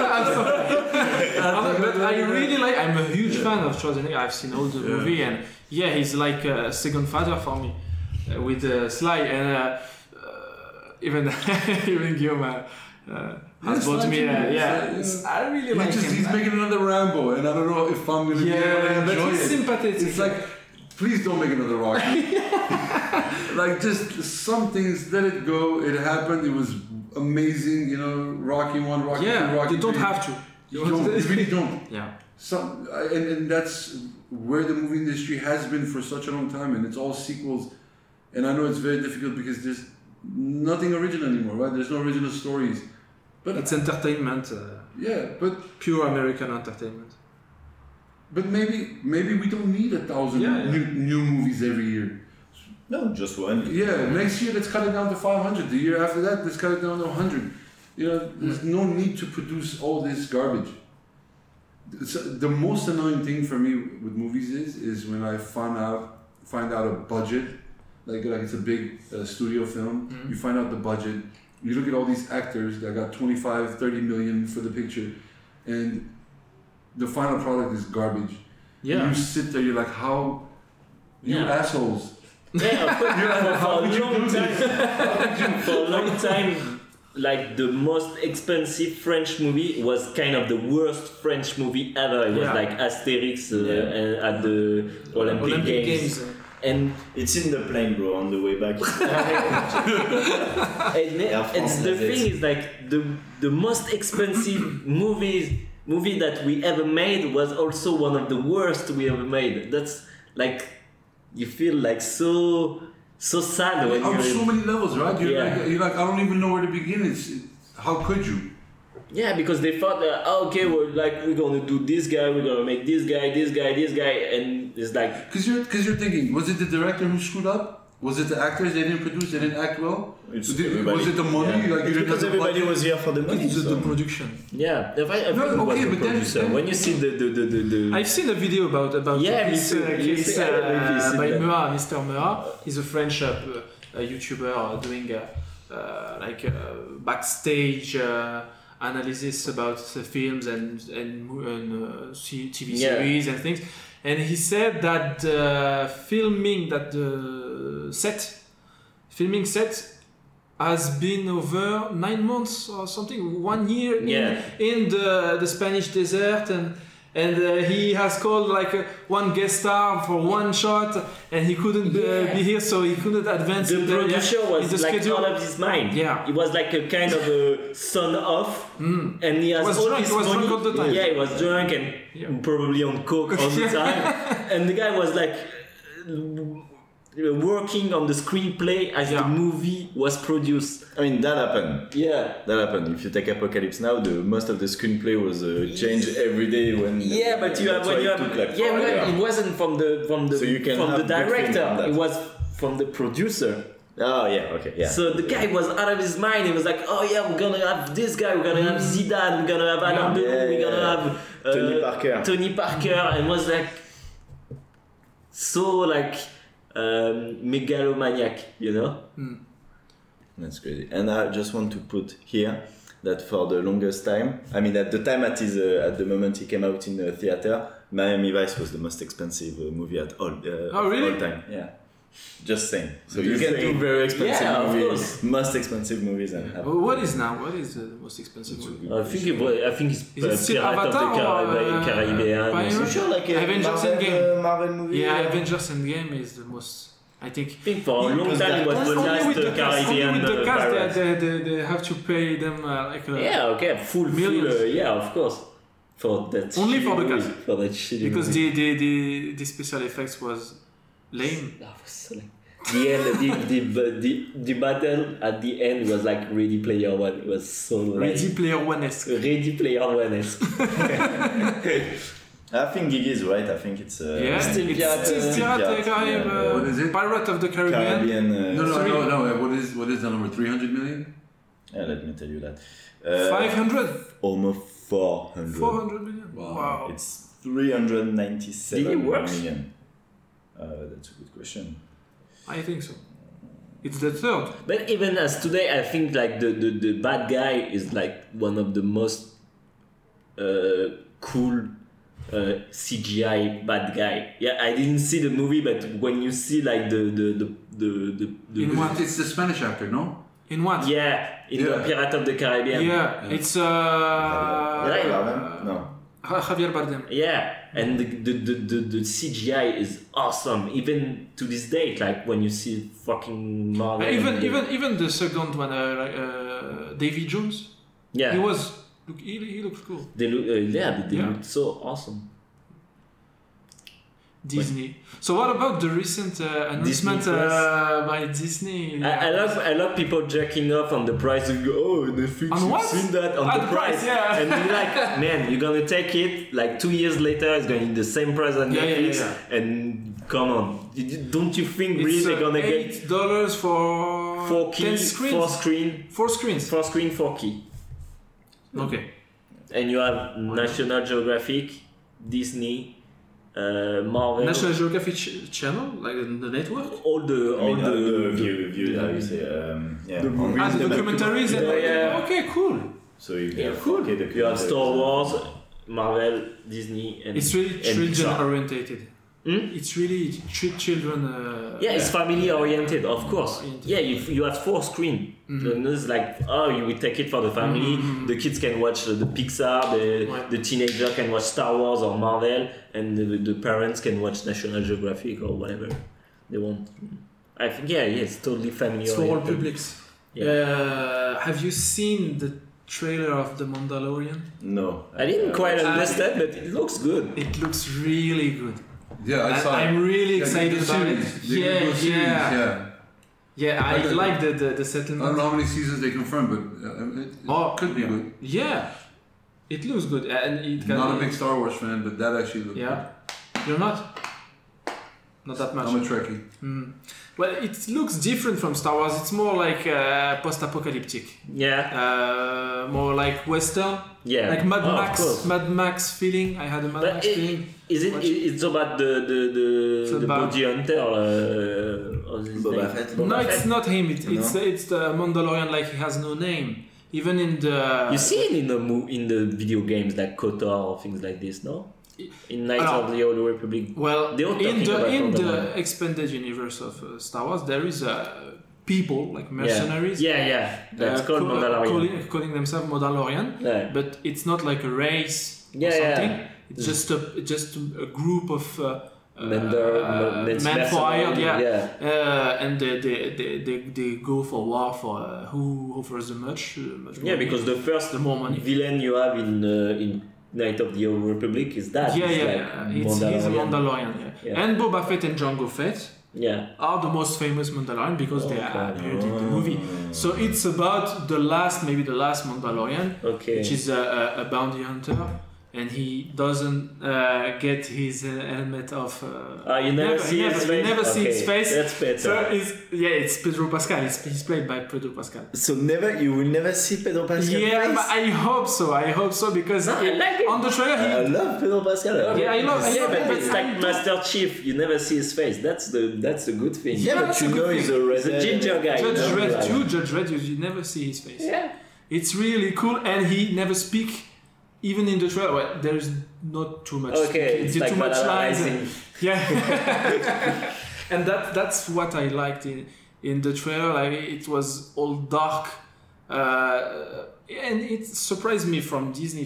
Speaker 2: But I really like. I'm a huge fan of Schwarzenegger. I've seen all the movie, and he's like a second father for me with Sly, and even Guillaume has bought me. I really like him.
Speaker 4: He's making another Rambo, and I don't know if I'm gonna be able to enjoy
Speaker 2: but he's
Speaker 4: it.
Speaker 2: sympathetic.
Speaker 4: It's like, please don't make another Rocky. Like just some things, let it go. It happened. It was amazing. You know, Rocky 1, Rocky 2, Rocky 3.
Speaker 2: You don't have to.
Speaker 4: You really don't.
Speaker 2: Yeah.
Speaker 4: And that's where the movie industry has been for such a long time, and it's all sequels. And I know it's very difficult because there's nothing original anymore, right? There's no original stories. But
Speaker 2: it's entertainment.
Speaker 4: But
Speaker 2: pure American entertainment.
Speaker 4: But maybe we don't need 1,000 new movies every year.
Speaker 5: No, just one.
Speaker 4: Yeah, next year let's cut it down to 500. The year after that, let's cut it down to 100. You know, there's no need to produce all this garbage. So the most annoying thing for me with movies is when I find out a budget, like it's a big studio film. You find out the budget. You look at all these actors that got 25, 30 million for the picture, and the final product is garbage. Yeah. You sit there, you're like, how? You assholes.
Speaker 1: Yeah, for a long time, like the most expensive French movie was kind of the worst French movie ever. It was like Asterix at the Olympic Games. And
Speaker 5: it's in the plane, bro, on the way back.
Speaker 1: It's the thing is like the most expensive movie that we ever made was also one of the worst we ever made. That's like you feel like so sad when
Speaker 4: on
Speaker 1: you're
Speaker 4: so many levels, right? You're like I don't even know where to begin. How could you?
Speaker 1: Yeah, because they thought that we're gonna do this guy, we're gonna make this guy, and it's like
Speaker 4: because you're thinking, was it the director who screwed up? Was it the actors they didn't produce, they didn't act well? Was it the money?
Speaker 5: Yeah. Like because everybody was here for the money.
Speaker 2: It's the production.
Speaker 1: Yeah, then when you see the
Speaker 2: I've seen a video about this case by Mea, Mr. Mea. He's a French YouTuber doing backstage analysis about the films and TV series and things. And he said that the filming set has been over 9 months or something, 1 year in the Spanish desert, and he has called one guest star for one shot, and he couldn't be here, so he couldn't advance.
Speaker 1: The producer was like out of his mind.
Speaker 2: Yeah,
Speaker 1: he was like a kind of a son off, and he has all this money.
Speaker 2: Drunk all the time.
Speaker 1: Yeah, he was drunk and probably on coke all the time, and the guy was like working on the screenplay as the movie was produced.
Speaker 5: I mean, that happened.
Speaker 1: Yeah,
Speaker 5: that happened. If you take Apocalypse Now, most of the screenplay was changed every day when.
Speaker 1: Yeah, but it wasn't from the director. It was from the producer.
Speaker 5: Oh yeah, okay, yeah.
Speaker 1: So the guy was out of his mind. He was like, "Oh yeah, we're gonna have this guy. We're gonna have Zidane. We're gonna have Alain Delon. We're gonna have Tony Parker." And was like so megalomaniac, you know.
Speaker 5: That's crazy. And I just want to put here that for the longest time, I mean, at the time at the moment he came out in the theater, Miami Vice was the most expensive movie at all.
Speaker 2: Oh, really?
Speaker 5: All time. Yeah. Just saying. So
Speaker 1: Just
Speaker 5: you can
Speaker 1: saying.
Speaker 5: do very expensive
Speaker 1: Yeah, of
Speaker 5: movies,
Speaker 1: course.
Speaker 5: most expensive movies, and have.
Speaker 2: What is now? What is the most expensive movie?
Speaker 1: I think it's
Speaker 2: Is it still
Speaker 1: Pirate of the
Speaker 2: Avatar or,
Speaker 1: Caribbean.
Speaker 2: Pirates?
Speaker 5: So sure, like a
Speaker 2: Avengers
Speaker 5: Marvel,
Speaker 2: Endgame.
Speaker 5: Marvel movie.
Speaker 2: Yeah, Avengers Endgame is the most. I think.
Speaker 1: I think for a long time it was the
Speaker 2: Only
Speaker 1: last
Speaker 2: with the cast,
Speaker 1: Caribbean
Speaker 2: only with the cast
Speaker 1: Pirates.
Speaker 2: they have to pay them like.
Speaker 1: Yeah, okay, full
Speaker 2: Millions.
Speaker 1: yeah, of course. For that
Speaker 2: Only
Speaker 1: shitty
Speaker 2: for the
Speaker 1: movie,
Speaker 2: cast.
Speaker 1: For that shitty
Speaker 2: Because
Speaker 1: movie.
Speaker 2: the special effects was lame.
Speaker 1: That was so lame. The end, the battle at the end was like Ready Player One. It was so lame.
Speaker 2: Ready Player One-esque.
Speaker 1: Ready Player One-esque.
Speaker 5: I think Gigi is right. I think it's
Speaker 2: Yeah,
Speaker 1: Still
Speaker 2: it's
Speaker 1: Pirates,
Speaker 2: Pirates of the Caribbean,
Speaker 5: yeah.
Speaker 4: What is it?
Speaker 2: Pirate of the Caribbean.
Speaker 5: Caribbean.
Speaker 4: No. What is the number? 300 million?
Speaker 5: Yeah, let me tell you that.
Speaker 2: 500?
Speaker 5: Almost 400.
Speaker 2: 400 million?
Speaker 4: Wow.
Speaker 2: Wow.
Speaker 5: It's 397
Speaker 1: Did it work?
Speaker 5: million. That's a good question.
Speaker 2: I think so. It's the third.
Speaker 1: But even as today, I think like the bad guy is like one of the most cool CGI bad guy. Yeah, I didn't see the movie, but when you see like the
Speaker 2: In what?
Speaker 4: It's the Spanish actor, no?
Speaker 2: In what?
Speaker 1: yeah, in
Speaker 4: Yeah.
Speaker 1: the Pirate of the Caribbean.
Speaker 2: Yeah, it's
Speaker 1: Right.
Speaker 5: No.
Speaker 2: Javier Bardem.
Speaker 1: Yeah, and the CGI is awesome. Even to this date, like when you see fucking Marvel.
Speaker 2: Even the second one, Davy Jones.
Speaker 1: yeah,
Speaker 2: He looks cool.
Speaker 1: they look they
Speaker 2: Yeah.
Speaker 1: look so awesome.
Speaker 2: Disney. So what about the recent announcement
Speaker 1: Plus.
Speaker 2: by Disney?
Speaker 1: I love people jerking off on the price and go, oh, Netflix,
Speaker 2: On
Speaker 1: you've
Speaker 2: what?
Speaker 1: seen that on
Speaker 2: Ah,
Speaker 1: the
Speaker 2: the price,
Speaker 1: price.
Speaker 2: yeah.
Speaker 1: And you're like, man, you're gonna take it, like 2 years later, it's going to be the same price on
Speaker 2: Yeah, yeah,
Speaker 1: Netflix.
Speaker 2: yeah.
Speaker 1: And come on, don't you think
Speaker 2: It's
Speaker 1: really they're gonna get
Speaker 2: $8 for
Speaker 1: 4
Speaker 2: 10
Speaker 1: key,
Speaker 2: screens.
Speaker 1: 4 screen,
Speaker 2: 4 screens.
Speaker 1: 4 key?
Speaker 2: Okay.
Speaker 1: And you have National Geographic, Disney, Marvel,
Speaker 2: National Geographic channel, like the network.
Speaker 1: all the
Speaker 5: view, how you say, yeah.
Speaker 1: the movies,
Speaker 2: The documentaries. and
Speaker 1: Yeah.
Speaker 2: Okay, cool.
Speaker 5: So you
Speaker 1: Yeah,
Speaker 5: have
Speaker 1: cool.
Speaker 5: okay, the
Speaker 1: You have Star
Speaker 5: documentaries.
Speaker 1: Wars, Marvel, Disney, and
Speaker 2: It's really
Speaker 1: and
Speaker 2: children
Speaker 1: Pixar.
Speaker 2: orientated.
Speaker 1: Hmm?
Speaker 2: It's really children.
Speaker 1: Yeah, it's family oriented, of course.
Speaker 2: Oriented.
Speaker 1: Yeah, you have 4 screen. And it's like, oh, you will take it for the family. The kids can watch the Pixar, the teenager can watch Star Wars or Marvel, and the parents can watch National Geographic or whatever they want. I think it's totally family
Speaker 2: It's for all
Speaker 1: oriented.
Speaker 2: publics.
Speaker 1: Yeah.
Speaker 2: Have you seen the trailer of The Mandalorian?
Speaker 5: No.
Speaker 1: I didn't quite understand, but it looks good.
Speaker 2: It looks really good.
Speaker 4: Yeah, I saw it.
Speaker 2: I'm really
Speaker 4: Yeah,
Speaker 2: excited
Speaker 4: the
Speaker 2: about it.
Speaker 4: series. They can do a series, yeah.
Speaker 2: Yeah, I
Speaker 4: Okay.
Speaker 2: like the
Speaker 4: I don't
Speaker 2: settlement.
Speaker 4: know how many seasons they confirmed, but it
Speaker 2: Oh,
Speaker 4: could be
Speaker 2: yeah.
Speaker 4: good.
Speaker 2: Yeah, it looks good, and it can.
Speaker 4: Not a big Star Wars fan, but that actually looked
Speaker 2: Yeah, you're not. Not that
Speaker 4: good.
Speaker 2: much.
Speaker 4: I'm a Trekkie.
Speaker 2: Well, it looks different from Star Wars. It's more like post-apocalyptic,
Speaker 1: Yeah,
Speaker 2: more like Western,
Speaker 1: yeah.
Speaker 2: like Mad
Speaker 1: Oh, of
Speaker 2: Max.
Speaker 1: course.
Speaker 2: Mad Max feeling. I had a Mad
Speaker 1: But
Speaker 2: Max feeling.
Speaker 1: is it?
Speaker 2: Watch.
Speaker 1: It's about the
Speaker 2: about-
Speaker 1: bounty hunter. What's his
Speaker 5: Boba
Speaker 1: name?
Speaker 5: Fett.
Speaker 2: No, it's not him.
Speaker 5: No?
Speaker 2: It's the Mandalorian. Like he has no name. Even in the.
Speaker 1: You see it in the video games like KOTOR or things like this, no? In Knights
Speaker 2: Alors,
Speaker 1: of the Old Republic.
Speaker 2: Well,
Speaker 1: They were
Speaker 2: in
Speaker 1: talking about
Speaker 2: the
Speaker 1: Mandalorian.
Speaker 2: expanded universe of Star Wars, there is people like mercenaries.
Speaker 1: Yeah. That's called Mandalorian.
Speaker 2: Calling themselves Mandalorian,
Speaker 1: Yeah.
Speaker 2: but it's not like a race or
Speaker 1: Yeah, yeah.
Speaker 2: something. It's just a group of men for hire,
Speaker 1: yeah.
Speaker 2: and they go for war for who offers the much more.
Speaker 1: Yeah, because the first
Speaker 2: the more money.
Speaker 1: villain you have in Knight of the Old Republic is that.
Speaker 2: Yeah,
Speaker 1: It's
Speaker 2: yeah,
Speaker 1: like
Speaker 2: yeah. He's a Mandalorian. Yeah. And Boba Fett and Jango Fett
Speaker 1: Yeah.
Speaker 2: are the most famous Mandalorian because they
Speaker 1: Okay.
Speaker 2: appeared in the movie. So it's about maybe the last Mandalorian,
Speaker 1: Okay.
Speaker 2: which is a bounty hunter, and he doesn't get his helmet off.
Speaker 5: You never see his face?
Speaker 2: You never see his
Speaker 5: Okay,
Speaker 2: face.
Speaker 5: that's better.
Speaker 2: So it's Pedro Pascal. He's played by Pedro Pascal.
Speaker 5: So you will never see Pedro Pascal
Speaker 2: Yeah,
Speaker 5: face?
Speaker 2: but I hope so because
Speaker 5: No, I like it.
Speaker 2: on the trailer
Speaker 5: I love Pedro Pascal.
Speaker 2: Yeah, I love-
Speaker 5: Yeah, but
Speaker 2: but
Speaker 5: it's
Speaker 2: I
Speaker 5: like
Speaker 2: don't-
Speaker 5: Master Chief. You never see his face. That's the good thing.
Speaker 2: Yeah, but
Speaker 5: you know he's a ginger guy.
Speaker 2: Judge
Speaker 5: you know,
Speaker 2: Dredd
Speaker 5: like-
Speaker 2: too. Judge Dredd, you never see his face.
Speaker 5: Yeah.
Speaker 2: It's really cool, and he never speak. Even in the trailer, well, there's not too much.
Speaker 5: Okay, it's
Speaker 2: too
Speaker 5: like
Speaker 2: much lines.
Speaker 5: banalizing.
Speaker 2: Yeah, and that's what I liked in the trailer. Like it was all dark, and it surprised me from Disney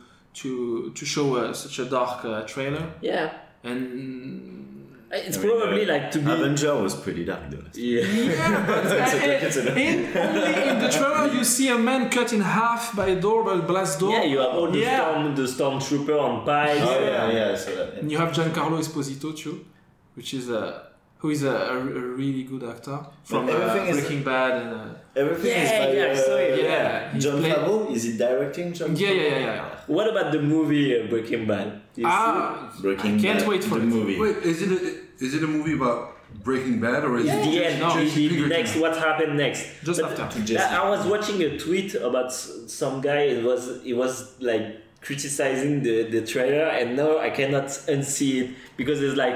Speaker 2: to show such a dark trailer.
Speaker 5: Yeah.
Speaker 2: And
Speaker 5: It's probably like to be.
Speaker 7: Avenger was pretty dark though.
Speaker 5: Yeah.
Speaker 2: yeah, but only in the trailer you see a man cut in half by a door, by a blast door.
Speaker 5: Yeah, you have all the stormtrooper on pikes.
Speaker 7: Oh yeah, I saw that.
Speaker 2: And you have Giancarlo Esposito too, which is who is a really good actor from
Speaker 7: everything is-
Speaker 2: Breaking Bad and
Speaker 7: Everything is
Speaker 5: Yeah,
Speaker 7: by
Speaker 5: yeah, I saw it.
Speaker 2: yeah, he's
Speaker 7: John
Speaker 2: played-
Speaker 7: Favreau. Is he directing John?
Speaker 2: Yeah,
Speaker 7: Favreau?
Speaker 2: yeah.
Speaker 5: What about the movie Breaking Bad? You
Speaker 7: Breaking
Speaker 2: I can't
Speaker 7: Bad,
Speaker 2: wait for
Speaker 7: the
Speaker 2: it.
Speaker 7: movie.
Speaker 4: Wait, is it a movie about Breaking Bad or is
Speaker 5: see?
Speaker 4: it
Speaker 5: The end.
Speaker 2: No,
Speaker 5: the next. What happened next?
Speaker 2: Just
Speaker 5: But
Speaker 2: after.
Speaker 7: To Jesse.
Speaker 5: I was watching a tweet about some guy. He was like criticizing the trailer, and now I cannot unsee it because it's like,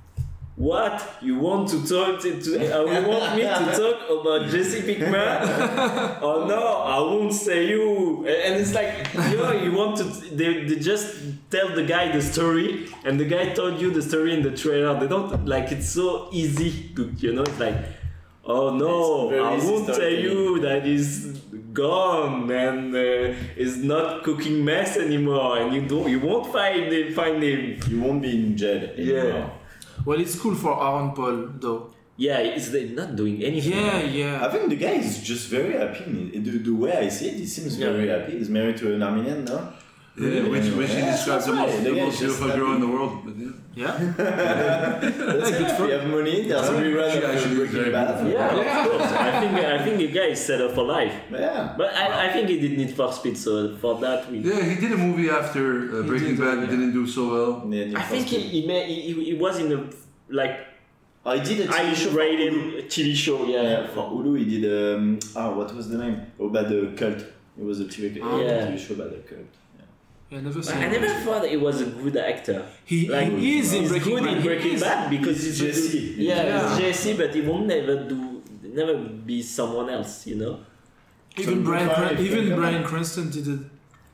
Speaker 5: what you want to talk to? You want me to talk about Jesse Pinkman? Oh no, I won't say you. And it's like, you want to? They just tell the guy the story, and the guy told you the story in the trailer. They don't like it's so easy to It's like, oh no,
Speaker 7: It's very
Speaker 5: I
Speaker 7: easy
Speaker 5: won't tell
Speaker 7: storytelling.
Speaker 5: you that he's gone and is not cooking mess anymore, and you won't find him.
Speaker 7: You won't be in jail anymore.
Speaker 5: Yeah.
Speaker 2: Well, it's cool for Aaron Paul though.
Speaker 5: Yeah, they're not doing anything.
Speaker 2: Yeah.
Speaker 7: I think the guy is just very happy. The way I see it, he seems
Speaker 5: Yeah.
Speaker 7: very happy. He's married to an Armenian now.
Speaker 4: Yeah, which he
Speaker 7: Yeah,
Speaker 4: describes the
Speaker 7: that's
Speaker 4: most,
Speaker 7: right.
Speaker 4: the
Speaker 7: The guy
Speaker 4: most
Speaker 7: is just
Speaker 4: beautiful girl
Speaker 7: happy.
Speaker 4: in the world. But yeah.
Speaker 2: Yeah.
Speaker 7: That's enough. We have money. There's a rerun
Speaker 4: She
Speaker 7: of
Speaker 4: actually is
Speaker 7: Breaking
Speaker 4: very
Speaker 7: Bad.
Speaker 4: beautiful.
Speaker 5: Yeah, of course. I think the guy is set up for life.
Speaker 7: Yeah.
Speaker 5: But I think he did Need for Speed, so for that we.
Speaker 4: Yeah, he did a movie after Breaking
Speaker 2: did,
Speaker 4: Bad.
Speaker 2: yeah.
Speaker 4: Didn't do so well.
Speaker 7: Yeah,
Speaker 5: I think he was in a like
Speaker 7: I did a TV
Speaker 5: Irish
Speaker 7: show for
Speaker 5: rated
Speaker 7: Hulu.
Speaker 5: TV show.
Speaker 7: Yeah, for Hulu he did what was the name? About the cult. It was a TV show about the cult.
Speaker 2: I never
Speaker 5: But
Speaker 2: seen
Speaker 5: I
Speaker 2: it.
Speaker 5: never thought he was a good actor.
Speaker 2: He is in
Speaker 5: He's
Speaker 2: Breaking
Speaker 5: good
Speaker 2: Bad.
Speaker 5: in
Speaker 2: He
Speaker 5: Breaking
Speaker 2: is.
Speaker 5: Bad because
Speaker 7: He's
Speaker 5: he's
Speaker 7: Jesse.
Speaker 2: Yeah.
Speaker 5: he's Jesse, but he won't never be someone else.
Speaker 2: Even
Speaker 7: So
Speaker 2: Bryan,
Speaker 7: Brian-
Speaker 2: even
Speaker 7: come
Speaker 2: Bryan
Speaker 7: on.
Speaker 2: Cranston didn't.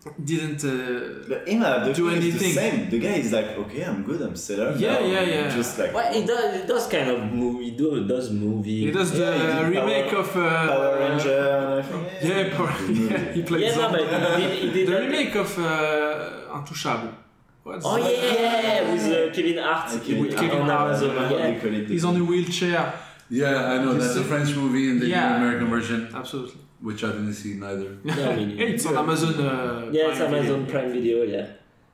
Speaker 7: But him, the
Speaker 2: Do
Speaker 7: thing is
Speaker 2: anything.
Speaker 7: the same. The guy is like, okay, I'm good, I'm stellar.
Speaker 2: Yeah,
Speaker 7: now.
Speaker 2: yeah.
Speaker 7: Just like
Speaker 5: Well, he does kind of movie. He does movie.
Speaker 2: He does the
Speaker 7: Yeah, he did
Speaker 2: remake
Speaker 7: Power-
Speaker 2: of
Speaker 7: Power Ranger and everything.
Speaker 2: Yeah, he plays
Speaker 5: Yeah, no, but he did
Speaker 2: the
Speaker 5: that-
Speaker 2: remake of Intouchable. What's
Speaker 5: Oh yeah, with Kevin Hart.
Speaker 7: With
Speaker 2: Kevin
Speaker 5: on
Speaker 2: Hart.
Speaker 5: Amazon.
Speaker 7: What
Speaker 5: Yeah.
Speaker 7: they call it?
Speaker 2: He's on a wheelchair.
Speaker 4: Yeah, I know. That's a French movie and they did
Speaker 2: Yeah.
Speaker 4: an American version,
Speaker 2: Absolutely.
Speaker 4: which I didn't see neither.
Speaker 5: No, I mean,
Speaker 2: Yeah, it's on Amazon.
Speaker 5: Yeah, it's
Speaker 2: Prime
Speaker 5: Amazon
Speaker 2: Video.
Speaker 5: Prime Video. Yeah.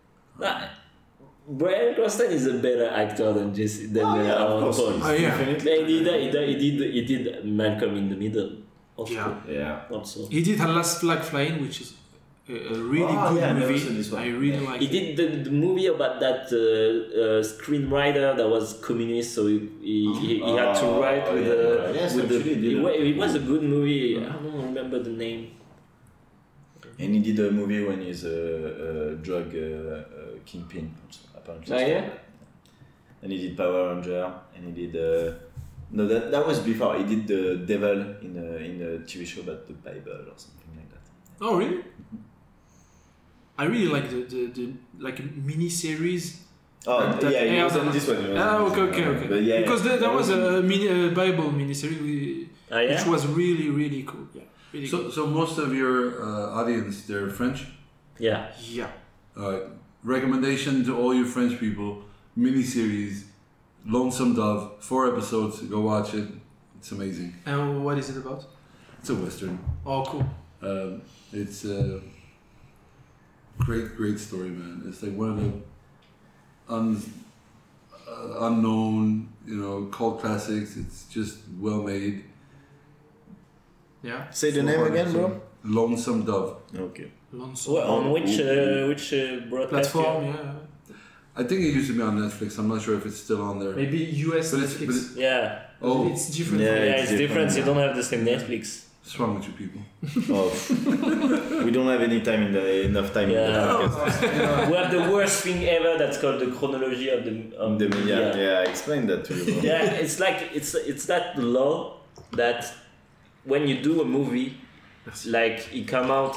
Speaker 5: Bryan Cranston is a better actor than Jesse than
Speaker 7: Oh, yeah, of
Speaker 5: Aaron
Speaker 7: course.
Speaker 5: Paul.
Speaker 2: Oh, yeah.
Speaker 7: Definitely.
Speaker 5: He did Malcolm in the Middle. Also.
Speaker 2: Yeah.
Speaker 7: Yeah.
Speaker 5: Also.
Speaker 2: He did A Last Flag Flying, which is a really
Speaker 7: Oh,
Speaker 2: good
Speaker 7: yeah, I never
Speaker 2: movie.
Speaker 7: saw this one.
Speaker 2: I really
Speaker 7: Yeah.
Speaker 2: like
Speaker 5: He
Speaker 2: it.
Speaker 5: did the movie about that screenwriter that was communist, so he had to
Speaker 7: Oh,
Speaker 5: write with
Speaker 7: yeah.
Speaker 5: the
Speaker 7: Yes,
Speaker 5: with the.
Speaker 7: actually, he did.
Speaker 5: It was a good movie. I don't remember the name.
Speaker 7: And he did a movie when he's a drug kingpin, also, apparently.
Speaker 5: Oh, yeah?
Speaker 7: And he did Power Ranger, and he did. No, that was before. He did the devil in a TV show about the Bible or something like that.
Speaker 2: Oh, really? I really like the like mini series.
Speaker 7: Oh,
Speaker 2: That
Speaker 7: yeah, he
Speaker 2: aired
Speaker 7: was on
Speaker 2: on-
Speaker 7: this one. he was
Speaker 2: Ah,
Speaker 7: on this
Speaker 2: okay.
Speaker 7: one. But yeah,
Speaker 2: Because
Speaker 7: yeah.
Speaker 2: there was a Bible miniseries
Speaker 5: Oh, yeah?
Speaker 2: which was really cool. Yeah, really cool.
Speaker 4: So most of your audience, they're French.
Speaker 5: Yeah.
Speaker 2: Yeah.
Speaker 4: All right. Recommendation to all you French people: miniseries, Lonesome Dove, 4 episodes. Go watch it. It's amazing.
Speaker 2: And what is it about?
Speaker 4: It's a western.
Speaker 2: Oh, cool.
Speaker 4: It's a great story, man. It's like one of the unknown, cult classics. It's just well made.
Speaker 2: Yeah.
Speaker 7: Say the name again, bro.
Speaker 4: Lonesome Dove.
Speaker 5: Okay.
Speaker 2: Lonesome.
Speaker 1: Well, on which broadcast?
Speaker 2: Platform, yeah.
Speaker 4: I think it used to be on Netflix. I'm not sure if it's still on there.
Speaker 2: Maybe US
Speaker 4: But it's-
Speaker 2: Netflix.
Speaker 4: but it's-
Speaker 1: Yeah,
Speaker 4: Oh,
Speaker 2: It's different.
Speaker 5: Yeah,
Speaker 1: yeah,
Speaker 5: it's
Speaker 1: it's different.
Speaker 5: different.
Speaker 1: You don't have the same Netflix.
Speaker 4: what's wrong with you people?
Speaker 5: Oh, we don't have enough time in the
Speaker 1: Yeah.
Speaker 5: podcast.
Speaker 1: We have the worst thing ever. That's called the chronology of the
Speaker 5: The media. Yeah, I explained that to you. Bro.
Speaker 1: Yeah, it's like it's that law that when you do a movie, like it come out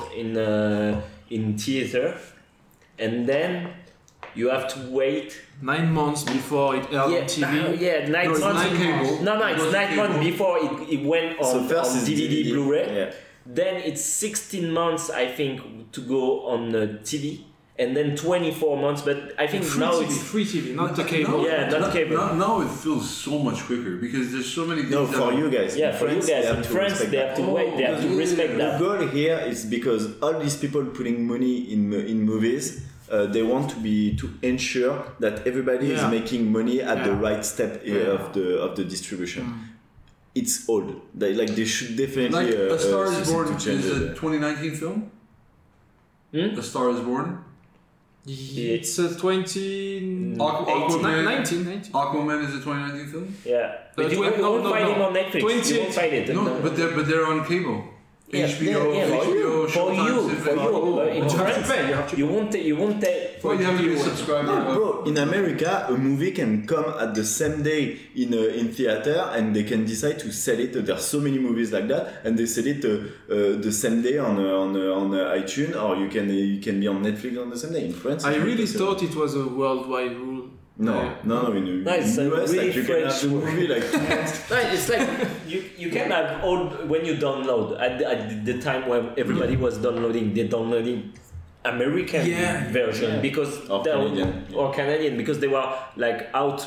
Speaker 1: in theater, and then you have to wait.
Speaker 2: 9 months before it aired on TV.
Speaker 1: Yeah, 9
Speaker 2: No, it's
Speaker 1: months.
Speaker 2: 9 cable.
Speaker 1: No, it's 9 months before it went
Speaker 5: So
Speaker 1: on,
Speaker 5: first
Speaker 1: on
Speaker 5: is
Speaker 1: DVD, Blu-ray.
Speaker 5: Yeah.
Speaker 1: Then it's 16 months, I think, to go on TV, and then 24 months. But I think
Speaker 2: Free
Speaker 1: now
Speaker 2: TV,
Speaker 1: it's
Speaker 2: free TV, not the cable.
Speaker 1: Yeah, not cable.
Speaker 4: Now it feels so much quicker because there's so many things.
Speaker 5: No,
Speaker 4: that-
Speaker 5: for you guys.
Speaker 1: yeah
Speaker 5: In
Speaker 1: for you
Speaker 5: France, they
Speaker 1: guys
Speaker 5: have
Speaker 1: in
Speaker 5: to
Speaker 1: France.
Speaker 5: respect
Speaker 1: They
Speaker 5: that.
Speaker 1: have to wait. They have to respect
Speaker 5: The
Speaker 1: that.
Speaker 5: goal here is because all these people putting money in movies, they want to ensure that everybody is
Speaker 2: Yeah.
Speaker 5: making money at the
Speaker 2: Yeah.
Speaker 5: right step of the distribution. It's old. They should definitely
Speaker 4: Like A Star Is
Speaker 5: succeed
Speaker 4: Born
Speaker 5: to change
Speaker 4: is a
Speaker 5: it.
Speaker 4: 2019 film.
Speaker 1: Hmm?
Speaker 4: A Star Is Born.
Speaker 2: It's a 20...
Speaker 4: Aquaman.
Speaker 2: 19.
Speaker 4: Aquaman is a 2019 film.
Speaker 1: Yeah, but you
Speaker 2: twen-
Speaker 1: won't
Speaker 2: no,
Speaker 1: find
Speaker 2: no.
Speaker 1: it on Netflix. You
Speaker 2: 28.
Speaker 1: won't find it.
Speaker 4: No, but they're on cable.
Speaker 1: Yeah,
Speaker 4: HBO,
Speaker 1: yeah, for you,
Speaker 4: Showtime,
Speaker 1: for you. In
Speaker 2: You have to
Speaker 1: France,
Speaker 2: pay. You have to
Speaker 1: you won't take.
Speaker 4: Well, you have to be a subscriber.
Speaker 5: No, bro, in America, a movie can come at the same day in theater, and they can decide to sell it. There's so many movies like that, and they sell it the same day on iTunes, or you can be on Netflix on the same day. In France,
Speaker 2: I
Speaker 5: it's
Speaker 2: really
Speaker 5: not the same.
Speaker 2: thought it was a worldwide rule.
Speaker 5: No. In
Speaker 1: it's a
Speaker 5: US,
Speaker 1: really
Speaker 5: like, you can have
Speaker 1: French
Speaker 5: the movie like 2 months.
Speaker 1: No, it's like you can have all when you download at the time when everybody was downloading, they're downloading American
Speaker 2: Yeah,
Speaker 1: version
Speaker 5: yeah.
Speaker 1: because
Speaker 5: Or
Speaker 1: they were-
Speaker 5: Canadian, yeah.
Speaker 1: or Canadian because they were like out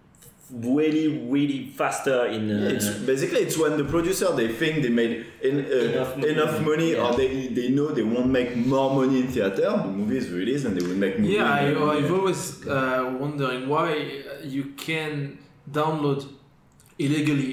Speaker 1: really faster in.
Speaker 5: It's when the producer they think they made enough money
Speaker 1: Yeah.
Speaker 5: or they know they won't make more money in theater, the movie is released and they will make more
Speaker 2: Yeah,
Speaker 5: money.
Speaker 2: I've always wondering why you can download illegally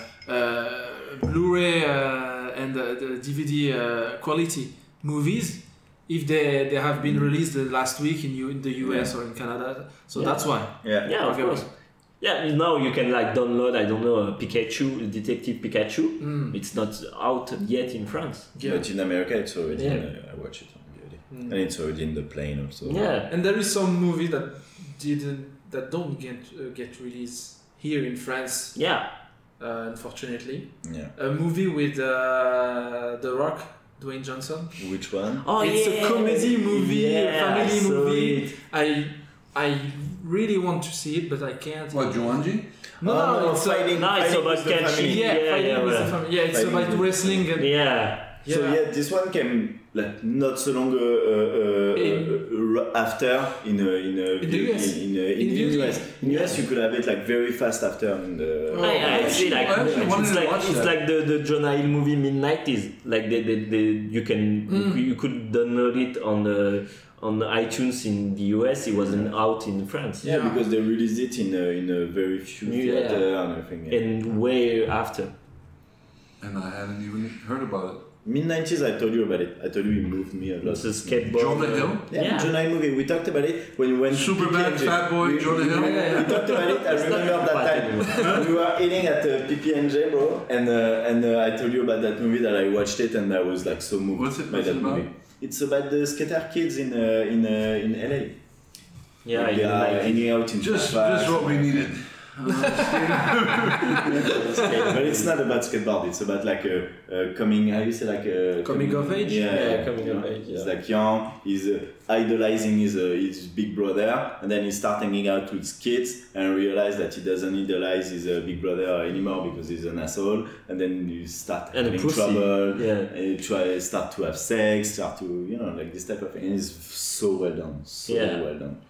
Speaker 2: Blu-ray and the DVD quality movies if they have been released the last week in the US or in Canada. So
Speaker 1: Yeah.
Speaker 2: that's why.
Speaker 5: Yeah.
Speaker 1: Yeah, of
Speaker 2: Okay.
Speaker 1: course. Yeah, now you can like download, I don't know, Pikachu, Detective Pikachu. It's not out yet in France.
Speaker 5: But in America it's already
Speaker 1: Yeah.
Speaker 5: I watch it on DVD. And it's already in the plane also.
Speaker 1: Yeah.
Speaker 2: And there is some movie that don't get released here in France,
Speaker 1: Yeah.
Speaker 2: unfortunately.
Speaker 5: Yeah.
Speaker 2: A movie with The Rock, Dwayne Johnson.
Speaker 5: Which one?
Speaker 1: Oh,
Speaker 2: It's a comedy movie, a family
Speaker 1: I saw
Speaker 2: movie.
Speaker 1: it.
Speaker 2: I really want to see it, but I can't.
Speaker 4: What, Jumanji?
Speaker 2: No, it's
Speaker 5: fighting.
Speaker 1: No, it's
Speaker 5: fighting
Speaker 1: about
Speaker 5: with the
Speaker 1: catching.
Speaker 5: family.
Speaker 2: yeah, fighting
Speaker 1: yeah,
Speaker 2: with
Speaker 1: yeah.
Speaker 2: the family. Yeah, it's
Speaker 5: Fighting
Speaker 2: about
Speaker 5: with-
Speaker 2: wrestling and
Speaker 1: Yeah.
Speaker 5: So yeah, this one came like not so long after in the
Speaker 2: US.
Speaker 5: In
Speaker 2: the
Speaker 5: US. In US you could have it like very fast after in the.
Speaker 2: Oh.
Speaker 1: I see like
Speaker 4: I actually wanted
Speaker 1: it's
Speaker 4: to
Speaker 1: like
Speaker 4: watch
Speaker 1: it's
Speaker 4: that.
Speaker 1: like the Jonah Hill movie mid-90s. Like they you can you could download it on the iTunes in the US. It wasn't out in France.
Speaker 5: Yeah,
Speaker 2: Yeah.
Speaker 5: because they released it in a very few
Speaker 1: Yeah.
Speaker 5: theater and everything. Yeah.
Speaker 1: And way after.
Speaker 4: And I hadn't even heard about it.
Speaker 5: Mid-90s, I told you about it. I told you it moved me a lot.
Speaker 1: It's a skateboard.
Speaker 4: Jonah Hill?
Speaker 5: Yeah,
Speaker 1: Yeah.
Speaker 5: Jonah Hill movie. We talked about it when we went to
Speaker 4: Superbad,
Speaker 5: PPNJ.
Speaker 4: Fat Boy, Jonah Hill?
Speaker 5: We talked about it. I
Speaker 1: It's not
Speaker 5: remember that
Speaker 1: bad
Speaker 5: time. We were eating at PPNJ, bro, and I told you about that movie that I watched it and I was like so moved
Speaker 4: What's it-
Speaker 5: by
Speaker 4: what's
Speaker 5: that
Speaker 4: it about?
Speaker 5: movie. It's about the skater kids in LA.
Speaker 1: Yeah,
Speaker 5: Like, they are hanging out in
Speaker 4: Just
Speaker 5: Fairfax.
Speaker 4: what we needed.
Speaker 5: But it's not about skateboard. It's about like a coming. How you say like a
Speaker 2: Coming of age?
Speaker 1: Yeah, coming of age,
Speaker 5: He's
Speaker 1: yeah.
Speaker 5: like young. He's idolizing his big brother, and then he starts hanging out with kids and realize that he doesn't idolize his big brother anymore because he's an asshole. And then you start
Speaker 1: And a
Speaker 5: having
Speaker 1: pussy.
Speaker 5: trouble.
Speaker 1: Yeah.
Speaker 5: And you start to have sex. Start to like this type of thing. And it's so well done. So
Speaker 1: Yeah.
Speaker 5: well done.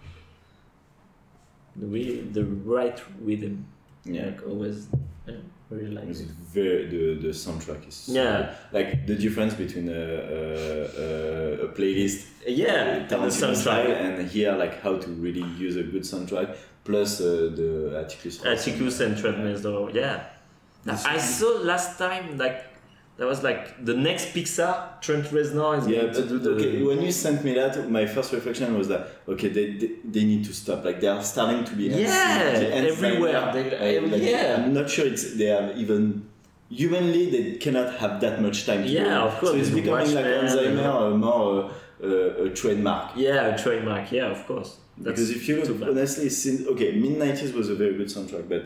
Speaker 1: The right rhythm.
Speaker 5: Yeah.
Speaker 1: Like always. Yeah, really like
Speaker 5: It's
Speaker 1: it.
Speaker 5: very the soundtrack is so
Speaker 1: Yeah.
Speaker 5: good. Like the difference between a playlist
Speaker 1: Yeah, and the
Speaker 5: Tarantino style
Speaker 1: soundtrack.
Speaker 5: and here like how to really use a good soundtrack plus the Atticus Ross.
Speaker 1: Atticus and Trent Reznor. Yeah. I saw last time like That was like the next Pixar. Trent Reznor is
Speaker 5: Yeah,
Speaker 1: going to do the.
Speaker 5: okay. When you sent me that, my first reflection was that okay, they need to stop. Like they are starting to be
Speaker 1: everywhere.
Speaker 5: I'm not sure they have even humanly they cannot have that much time.
Speaker 1: Of course.
Speaker 5: So it's becoming like Alzheimer, more a trademark.
Speaker 1: Yeah, a trademark. Yeah, of course.
Speaker 5: Because if you look honestly, since mid-90s was a very good soundtrack, but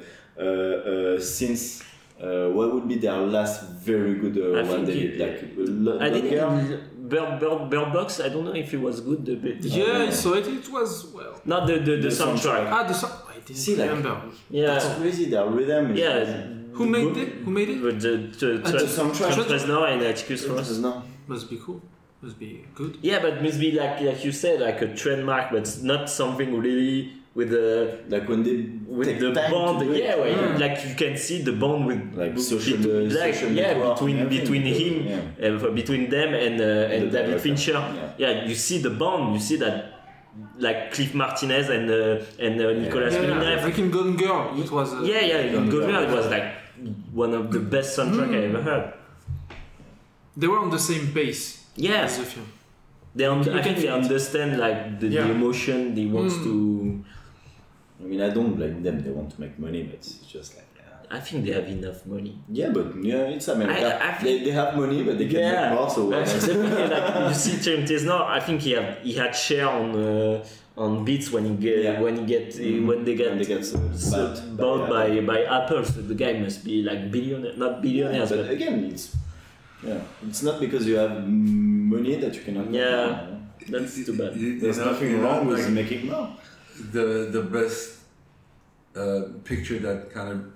Speaker 5: since what would be their last very good one they did? Like
Speaker 1: I didn't Bird Box. I don't know if it was good.
Speaker 2: I saw it. It was well.
Speaker 1: Not the soundtrack.
Speaker 2: The soundtrack. I didn't remember.
Speaker 5: That's crazy. Their rhythm.
Speaker 2: Who made it?
Speaker 1: With the
Speaker 5: soundtrack.
Speaker 1: Trent Reznor and Atticus Ross.
Speaker 2: Must be cool. Must be good.
Speaker 1: Yeah, but must be like you said, like a trademark, but it's not something really with the
Speaker 5: like when they
Speaker 1: with the bond. Like you can see the bond with
Speaker 5: like social
Speaker 1: between him, between them and David Fincher. You see the bond. You see that. Like Cliff Martinez and Nicolas Winding Refn.
Speaker 2: Like in Golden Girl, it was.
Speaker 1: In Golden Girl, it was like one of the best soundtrack I ever heard.
Speaker 2: They were on the same pace.
Speaker 1: Yes.
Speaker 2: As the film.
Speaker 1: I think they understand like the emotion they want to.
Speaker 5: I mean, I don't blame them. They want to make money, but it's just like.
Speaker 1: I think they have enough money.
Speaker 5: Yeah, but it's America. They have money, but they can make more. So
Speaker 1: like you see, Trent Reznor. I think he had share on Beats when they get bought by Apple. So the guy must be like billionaire, not billionaires.
Speaker 5: But again, it's not because you have money that you cannot.
Speaker 1: That's too bad.
Speaker 5: There's nothing wrong with making more.
Speaker 4: The best picture that kind of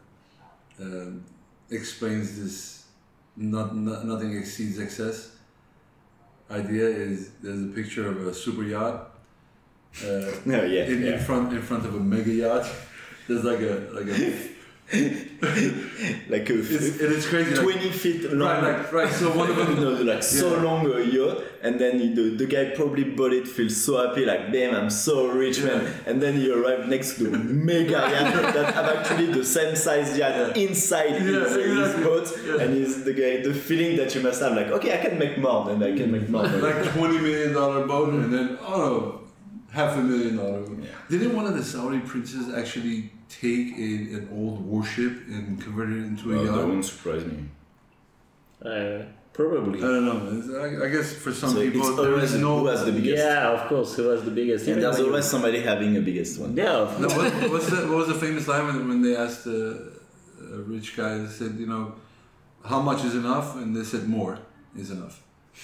Speaker 4: explains this nothing exceeds excess idea is there's a picture of a super yacht in front of a mega yacht. There's like a it's crazy
Speaker 5: 20 feet long
Speaker 4: right so one of them
Speaker 5: so long a yacht, and then the guy probably bought it, feels so happy like damn I'm so rich man, and then you arrive next to the mega yacht that have actually the same size yacht inside his boat, and he's the guy, the feeling that you must have like okay I can make more and I can make more
Speaker 4: like $20 million boat and then $500,000. Didn't one of the Saudi princes actually take an old warship and convert it into a yacht?
Speaker 5: That wouldn't surprise me.
Speaker 1: Probably.
Speaker 4: I don't know. I guess for some people
Speaker 5: there is who has the biggest.
Speaker 1: Yeah, of course, who has the biggest.
Speaker 5: And there's always somebody having a biggest one.
Speaker 1: Yeah.
Speaker 4: What was the famous line when they asked a rich guy? They said, how much is enough? And they said more is enough.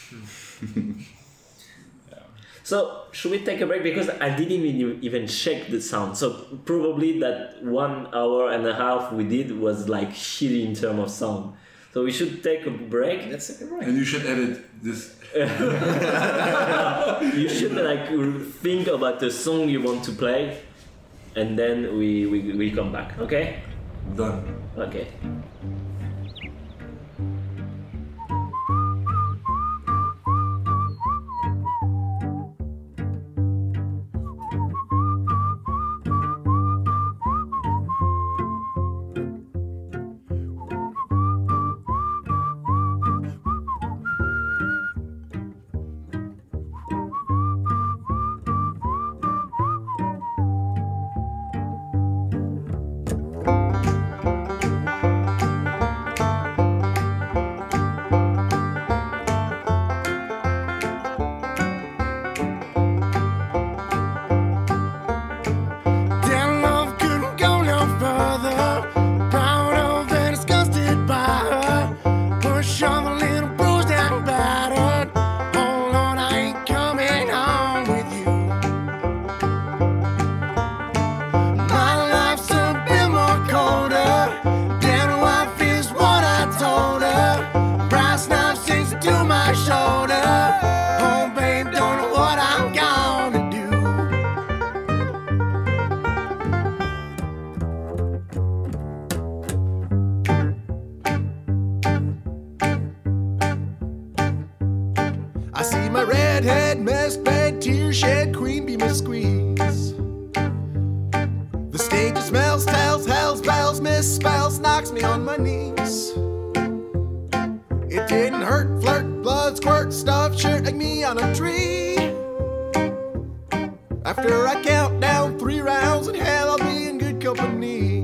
Speaker 1: So, should we take a break? Because I didn't even check the sound. So, probably that 1 hour and a half we did was like shitty in terms of sound. So, we should take a break.
Speaker 5: Let's take a break.
Speaker 4: And you should edit this.
Speaker 1: You should like think about the song you want to play. And then we come back. Okay?
Speaker 4: Done.
Speaker 1: Okay.
Speaker 8: It didn't hurt, flirt, blood, squirt, stuff, shirt like me on a tree. After I count down 3 rounds, in hell I'll be in good company.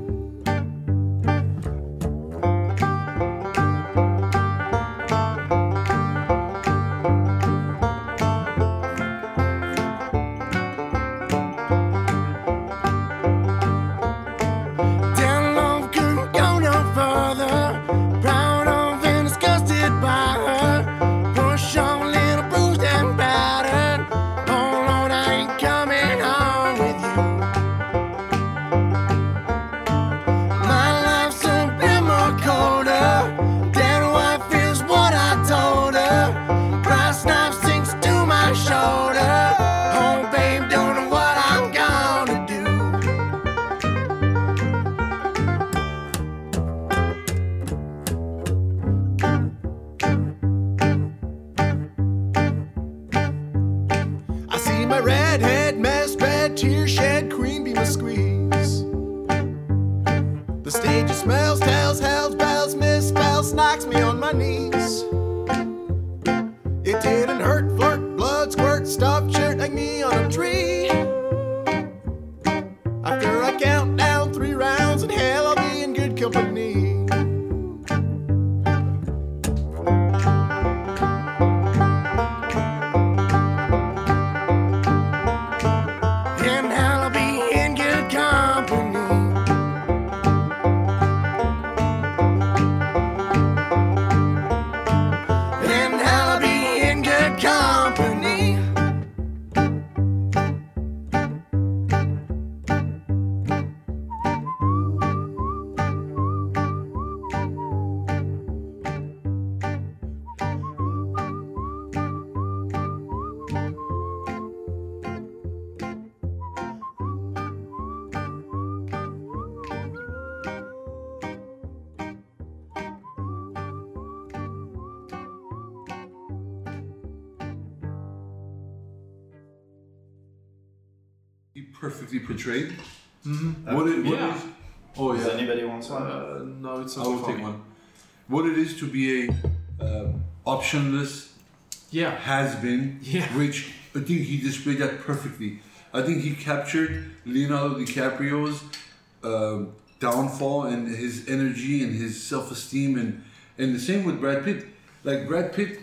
Speaker 4: Perfectly portrayed.
Speaker 2: Mm-hmm.
Speaker 4: What it
Speaker 2: Yeah.
Speaker 4: is? Oh
Speaker 7: Does
Speaker 4: yeah.
Speaker 7: anybody want one?
Speaker 2: No, it's
Speaker 4: I
Speaker 2: not
Speaker 4: will
Speaker 2: for
Speaker 4: take
Speaker 2: me.
Speaker 4: one. What it is to be a optionless
Speaker 2: Yeah.
Speaker 4: has been,
Speaker 2: Yeah.
Speaker 4: which I think he displayed that perfectly. I think he captured Leonardo DiCaprio's downfall and his energy and his self-esteem, and the same with Brad Pitt. Like Brad Pitt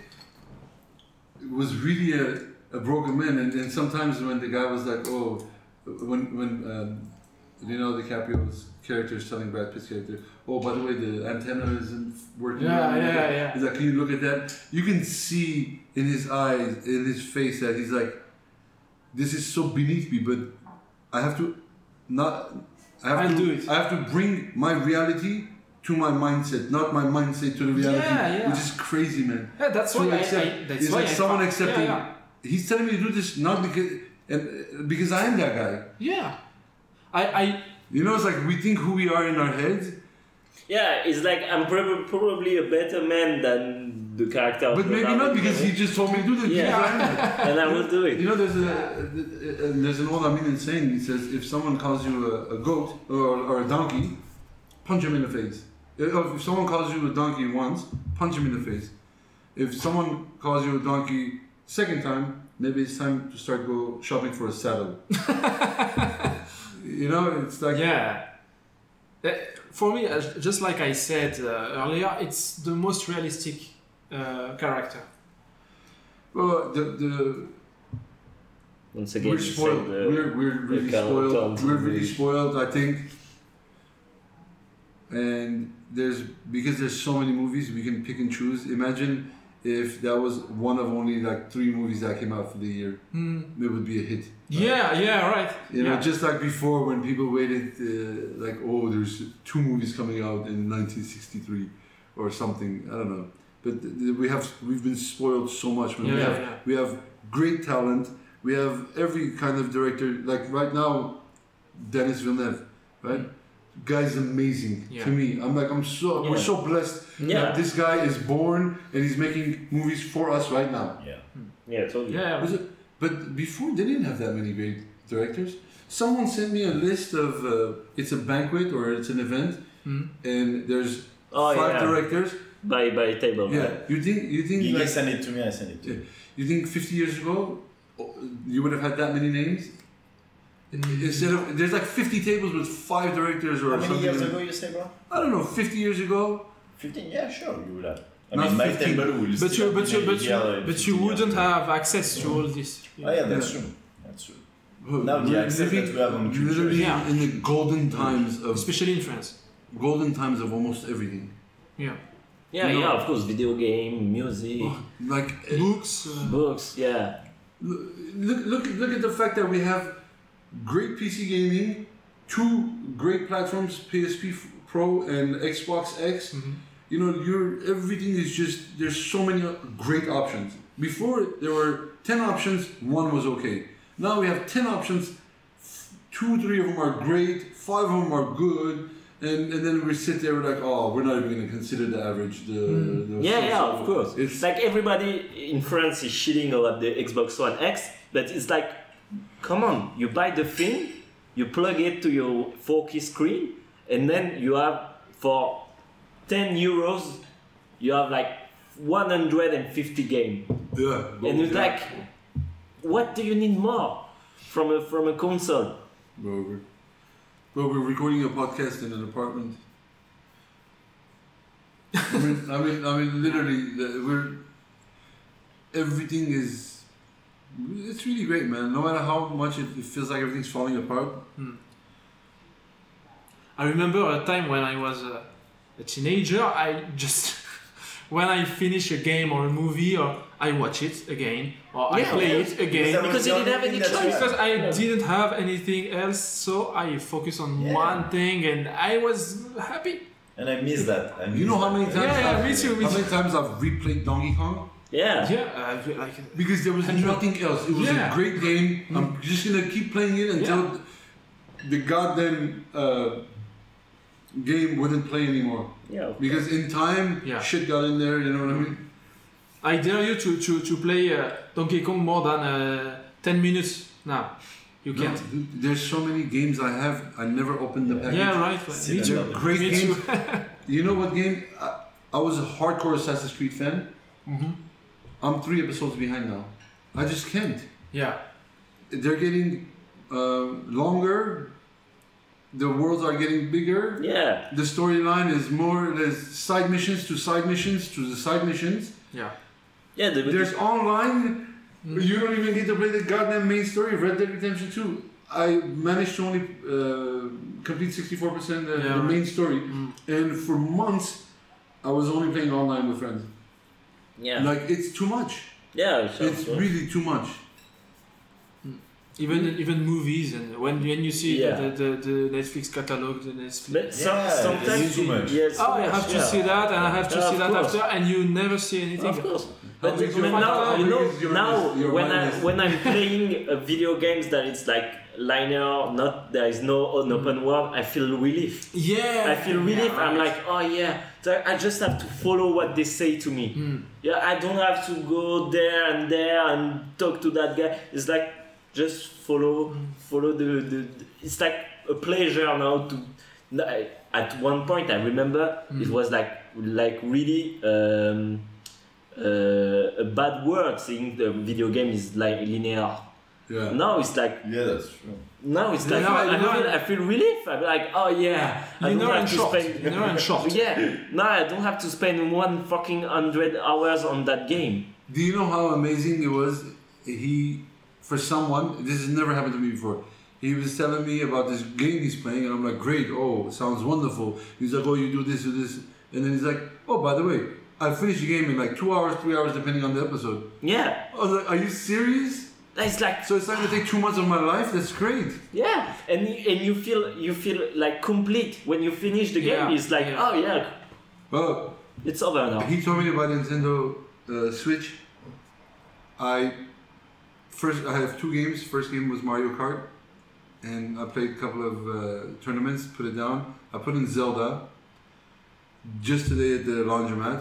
Speaker 4: was really a broken man, and sometimes when the guy was like, oh, when Leonardo DiCaprio's character is telling Brad Pitt's character, oh, by the way, the antenna isn't working.
Speaker 2: Yeah.
Speaker 4: He's like, can you look at that? You can see in his eyes, in his face, that he's like, this is so beneath me, but I have to not.
Speaker 2: I'll do it.
Speaker 4: I have to bring my reality to my mindset, not my mindset to the reality,
Speaker 2: Yeah.
Speaker 4: which is crazy, man.
Speaker 2: Yeah, that's
Speaker 4: So
Speaker 2: why
Speaker 4: accept-
Speaker 2: that's
Speaker 4: it's
Speaker 2: why
Speaker 4: like
Speaker 2: I
Speaker 4: someone
Speaker 2: found-
Speaker 4: accepting.
Speaker 2: Yeah,
Speaker 4: He's telling me to do this not because I am that guy.
Speaker 2: yeah. I
Speaker 4: You know, it's like we think who we are in our heads,
Speaker 1: Yeah, it's like I'm probably a better man than the character. of
Speaker 4: but maybe
Speaker 1: Leonardo
Speaker 4: not because he
Speaker 1: DiCaprio.
Speaker 4: just told me to do this.
Speaker 1: Yeah.
Speaker 4: Because I am that.
Speaker 1: And I will do it.
Speaker 4: You know, there's an old Armenian saying. He says, if someone calls you a goat or a donkey, punch him in the face. If someone calls you a donkey once, punch him in the face. If someone calls you a donkey second time, maybe it's time to start go shopping for a saddle. You know, it's like
Speaker 2: yeah. For me, just like I said earlier, it's the most realistic character.
Speaker 4: well, the
Speaker 1: Once again,
Speaker 4: we're
Speaker 1: you
Speaker 4: spoiled.
Speaker 1: said,
Speaker 4: We're really
Speaker 1: character
Speaker 4: spoiled.
Speaker 1: of the
Speaker 4: We're really
Speaker 1: movie.
Speaker 4: spoiled, I think. And because there's so many movies, we can pick and choose. Imagine if that was one of only like 3 movies that came out for the year, it would be a hit.
Speaker 2: Yeah, right.
Speaker 4: You know,
Speaker 2: Yeah.
Speaker 4: just like before when people waited, like, oh, there's 2 movies coming out in 1963 or something. I don't know, but we've been spoiled so much. Man. We have great talent. We have every kind of director. Like right now, Denis Villeneuve, right? Guy's amazing to me. We're so blessed that this guy is born and he's making movies for us right now.
Speaker 1: Yeah, totally.
Speaker 2: Yeah.
Speaker 4: But before they didn't have that many great directors. Someone sent me a list of it's a banquet or it's an event, and there's 5 directors.
Speaker 1: by table.
Speaker 4: Yeah. You think
Speaker 5: Gigi
Speaker 4: like,
Speaker 5: sent it to me, I sent it to you.
Speaker 4: you think 50 years ago you would have had that many names? Instead of there's like 50 tables with 5 directors or
Speaker 5: How many
Speaker 4: something.
Speaker 5: years ago you say, bro?
Speaker 4: I don't know, 50 years ago.
Speaker 5: 15? Yeah, sure, you would have. I
Speaker 4: Not
Speaker 5: mean, my
Speaker 4: 15.
Speaker 5: table will
Speaker 2: But
Speaker 5: still
Speaker 2: you, but you,
Speaker 5: be
Speaker 2: but
Speaker 5: here
Speaker 2: you,
Speaker 5: in
Speaker 2: but
Speaker 5: 15
Speaker 2: you
Speaker 5: years.
Speaker 2: wouldn't have access to all this.
Speaker 5: Oh yeah, that's
Speaker 4: Yeah.
Speaker 5: true. That's true. Now the
Speaker 4: We're
Speaker 5: access
Speaker 4: living
Speaker 5: that we have on culture.
Speaker 4: literally
Speaker 2: Yeah.
Speaker 4: in the golden times of
Speaker 2: Especially in France.
Speaker 4: almost everything.
Speaker 2: Yeah.
Speaker 1: Yeah,
Speaker 4: You know-
Speaker 1: of course, video game, music,
Speaker 4: Like
Speaker 2: Books.
Speaker 1: books, yeah.
Speaker 4: look at the fact that we have great PC gaming, 2 great platforms, PSP Pro and Xbox X.
Speaker 2: Mhm.
Speaker 4: You know, everything is just there's so many great options. Before there were 10 options, 1 was okay. Now we have 10 options, 2, 3 of them are great, 5 of them are good, and then we sit there we're like, oh, we're not even gonna consider the average.
Speaker 1: Yeah, of course.
Speaker 4: It's
Speaker 1: Like everybody in France is shitting about the Xbox One X, but it's like, come on, you buy the thing, you plug it to your 4K screen, and then you have for 10 euros, you have like 150 games.
Speaker 4: yeah.
Speaker 1: And it's like, what do you need more from a console?
Speaker 4: Bro, we're recording a podcast in an apartment. I mean, literally, everything is. It's really great, man. No matter how much it feels like everything's falling apart.
Speaker 2: I remember a time when I was a teenager. I just when I finish a game or a movie, or I watch it again, or I
Speaker 1: Yeah,
Speaker 2: play
Speaker 1: yeah.
Speaker 2: it again.
Speaker 1: Because you didn't have any choice.
Speaker 2: Because I didn't have anything else, so I focused on
Speaker 5: Yeah.
Speaker 2: one thing, and I was happy.
Speaker 5: And I miss that.
Speaker 4: You know how many times?
Speaker 2: Yeah, me too, me
Speaker 4: How
Speaker 2: too.
Speaker 4: many times I've replayed Donkey Kong?
Speaker 1: Yeah.
Speaker 2: Yeah, like
Speaker 4: Because there was nothing else. It was
Speaker 2: Yeah.
Speaker 4: a great game. I'm just gonna keep playing it until the goddamn game wouldn't play anymore.
Speaker 1: Yeah.
Speaker 4: Because in time,
Speaker 2: Yeah.
Speaker 4: shit got in there. You know what I mean?
Speaker 2: I dare you to play Donkey Kong more than 10 minutes now. You
Speaker 4: No,
Speaker 2: can't.
Speaker 4: dude, there's so many games I have. I never opened the package.
Speaker 2: Yeah, right. Me
Speaker 5: Similar.
Speaker 2: too.
Speaker 4: Great
Speaker 2: Me
Speaker 4: games.
Speaker 2: too.
Speaker 4: You know what game? I was a hardcore Assassin's Creed fan.
Speaker 2: Mhm.
Speaker 4: I'm 3 episodes behind now. I just can't.
Speaker 2: Yeah.
Speaker 4: They're getting longer. The worlds are getting bigger.
Speaker 1: Yeah.
Speaker 4: The storyline is more. There's side missions to side missions to the side missions.
Speaker 2: Yeah.
Speaker 1: Yeah.
Speaker 4: There's online. You don't even get to play the goddamn main story of Red Dead Redemption 2. I managed to only complete 64% the
Speaker 2: Yeah,
Speaker 4: main
Speaker 2: right.
Speaker 4: story, and for months I was only playing online with friends.
Speaker 1: Yeah.
Speaker 4: Like it's too much.
Speaker 1: Yeah.
Speaker 4: It's really too much.
Speaker 2: Even movies, and when you see
Speaker 1: Yeah.
Speaker 2: the Netflix catalog, the Netflix.
Speaker 1: But sometimes
Speaker 5: it's too much.
Speaker 1: Yes.
Speaker 2: Oh, I have to see that, and I have to
Speaker 1: Yeah,
Speaker 2: see
Speaker 1: of
Speaker 2: that
Speaker 1: course.
Speaker 2: after, and you never see anything.
Speaker 1: Of course.
Speaker 4: How
Speaker 1: But
Speaker 4: big is your-
Speaker 1: now,
Speaker 4: how
Speaker 1: you
Speaker 4: big
Speaker 1: know,
Speaker 4: is your
Speaker 1: now
Speaker 4: your
Speaker 1: when
Speaker 4: mind is?
Speaker 1: when I'm playing video games that it's like linear, not there is no an open world, I feel relief.
Speaker 2: Yeah.
Speaker 1: I feel relief.
Speaker 2: Yeah,
Speaker 1: I'm
Speaker 2: right.
Speaker 1: like, oh yeah, so I just have to follow what they say to me. Yeah, I don't have to go there and talk to that guy. It's like just follow the. It's like a pleasure now to. At one point, I remember it was like really a bad word saying the video game is like linear.
Speaker 4: Yeah.
Speaker 1: Now it's like.
Speaker 5: Yeah, that's true.
Speaker 1: Now it's like I feel relief. I'm like, oh yeah, I don't have to spend.
Speaker 2: Linear and short.
Speaker 1: Yeah, now I don't have to spend 100 hours on that game.
Speaker 4: Do you know how amazing it was? For someone, this has never happened to me before. He was telling me about this game he's playing, and I'm like, great, oh, sounds wonderful. He's like, oh, you do this, and then he's like, oh, by the way, I finished the game in like 2 hours, 3 hours, depending on the episode.
Speaker 1: Yeah,
Speaker 4: I was like, are you serious?
Speaker 1: it's like
Speaker 4: So it's not gonna take 2 months of my life? That's great.
Speaker 1: yeah, and you feel like complete when you finish the game.
Speaker 2: Yeah,
Speaker 1: It's like
Speaker 2: yeah.
Speaker 1: oh yeah,
Speaker 4: Well,
Speaker 1: it's over now.
Speaker 4: he told me about Nintendo Switch. I have 2 games. First game was Mario Kart, and I played a couple of tournaments. Put it down. I put in Zelda. Just today at the laundromat,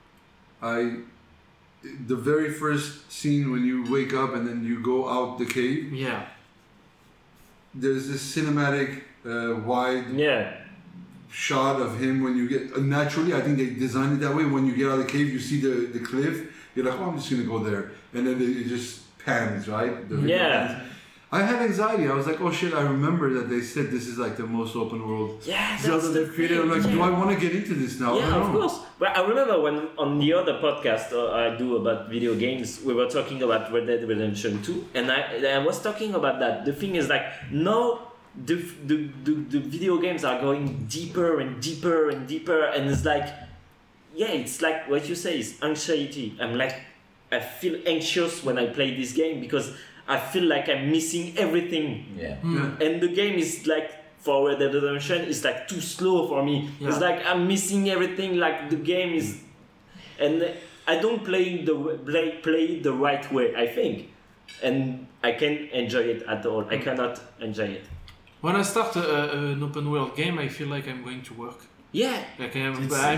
Speaker 4: the very first scene when you wake up and then you go out the cave.
Speaker 2: Yeah.
Speaker 4: There's this cinematic, wide
Speaker 1: Yeah,
Speaker 4: shot of him when you get naturally. I think they designed it that way. When you get out of the cave, you see the cliff. You're like, oh, I'm just gonna go there, and then it just pans, right? The video pans. I had anxiety. I was like, oh shit, I remember that they said this is like the most open world Zelda they've created. I'm like, do I want to get into this now?
Speaker 1: Yeah, of course. But I remember when on the other podcast I do about video games, we were talking about Red Dead Redemption 2, and I was talking about that. The thing is like, now the video games are going deeper and deeper and deeper, and it's like, it's like what you say is anxiety. I feel anxious when I play this game because I feel like I'm missing everything.
Speaker 5: Yeah.
Speaker 1: And the game is like, for Red Dead Redemption, it's like too slow for me. Yeah. It's like I'm missing everything. Like the game is, and I don't play it the right way, I think, and I can't enjoy it at all. I cannot enjoy it.
Speaker 2: When I start an open world game, I feel like I'm going to work.
Speaker 1: Yeah.
Speaker 2: Like
Speaker 5: I'm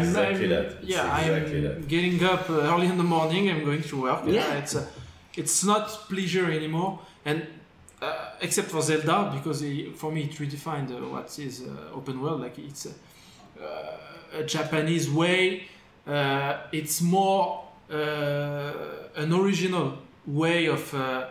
Speaker 2: getting up early in the morning. I'm going to work.
Speaker 1: Yeah.
Speaker 2: It's not pleasure anymore, and except for Zelda, because for me it redefined what is open world. Like it's a Japanese way. It's more an original way of.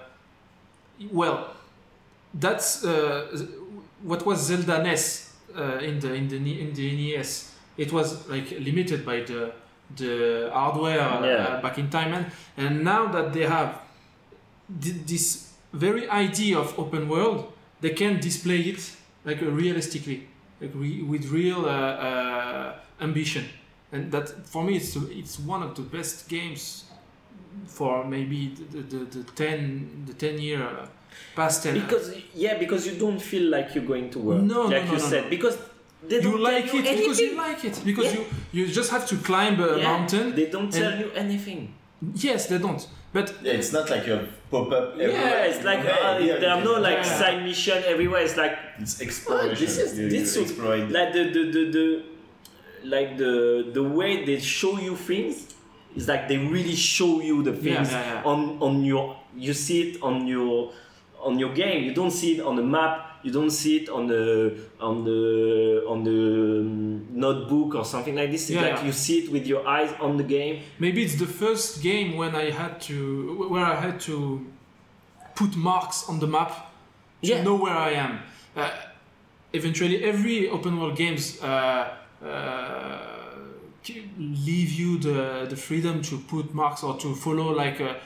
Speaker 2: That's what was Zelda NES in the NES. It was like limited by the hardware back in time, and now that they have this very idea of open world, they can display it like realistically, like with real ambition, and that for me it's one of the best games for maybe the 10 year past 10.
Speaker 1: Because you don't feel like you're going to work.
Speaker 2: No,
Speaker 1: said, because they don't
Speaker 2: like
Speaker 1: tell
Speaker 2: it
Speaker 1: anything.
Speaker 2: because you like it, because you just have to climb a mountain.
Speaker 1: They don't tell you anything.
Speaker 2: Yes, they don't. But
Speaker 5: it's not like you pop up everywhere.
Speaker 1: Yeah, it's like there are no like side mission everywhere. It's like
Speaker 5: it's exploration.
Speaker 1: This
Speaker 5: exploring.
Speaker 1: Like the way they show you things is like they really show you the things on your. You see it on your game. You don't see it on the map. You don't see it on the notebook or something like this. You see it with your eyes on the game.
Speaker 2: Maybe it's the first game where I had to put marks on the map to know where I am. Eventually, every open world games leave you the freedom to put marks or to follow like a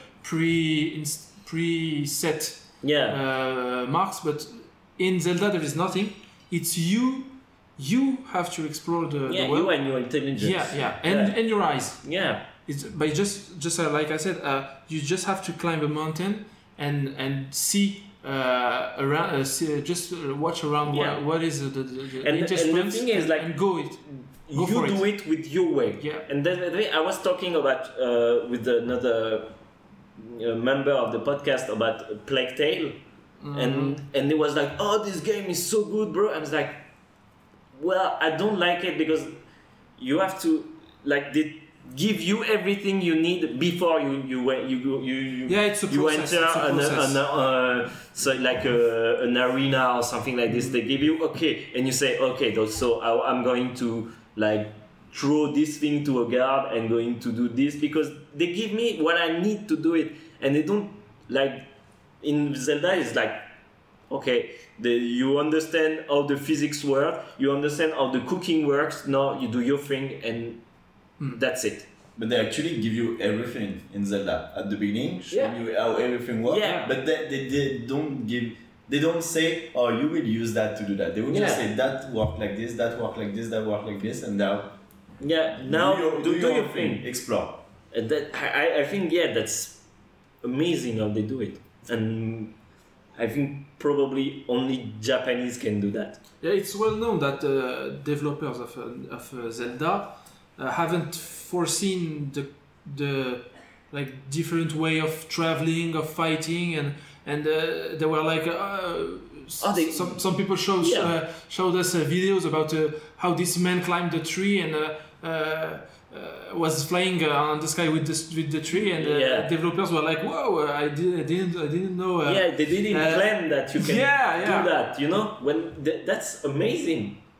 Speaker 2: preset marks, but in Zelda there is nothing. It's you have to explore the world.
Speaker 1: You and your intelligence.
Speaker 2: And your eyes.
Speaker 1: Yeah.
Speaker 2: It's by just like I said, you just have to climb a mountain and see around. Just watch around. What is the interest points?
Speaker 1: And the thing is, like,
Speaker 2: and go
Speaker 1: you do it with your way.
Speaker 2: Yeah.
Speaker 1: And then I was talking about with another member of the podcast about Plague Tale. And it was like, oh, this game is so good, bro. I was like, well, I don't like it because you have to like they give you everything you need before you
Speaker 2: it's a process.
Speaker 1: You enter an arena or something like this. They give you and you say so I'm going to like throw this thing to a guard and going to do this because they give me what I need to do it, and they don't like. In Zelda, it's like, you understand how the physics work, you understand how the cooking works, now you do your thing and that's it.
Speaker 5: But they actually give you everything in Zelda at the beginning, showing you how everything works, but they don't say, oh, you will use that to do that. They will just say, that work like this, that work like this, that work like this, and now...
Speaker 1: do your thing.
Speaker 5: Explore.
Speaker 1: And that, I think, that's amazing how they do it. And I think probably only Japanese can do that.
Speaker 2: Yeah, it's well known that developers of Zelda haven't foreseen the like different way of traveling, of fighting, and they were like some people showed us videos about how this man climbed the tree and was flying on the sky with the tree, and developers were like, "Whoa! I didn't know."
Speaker 1: They didn't plan that you can do that. You know, when that's amazing.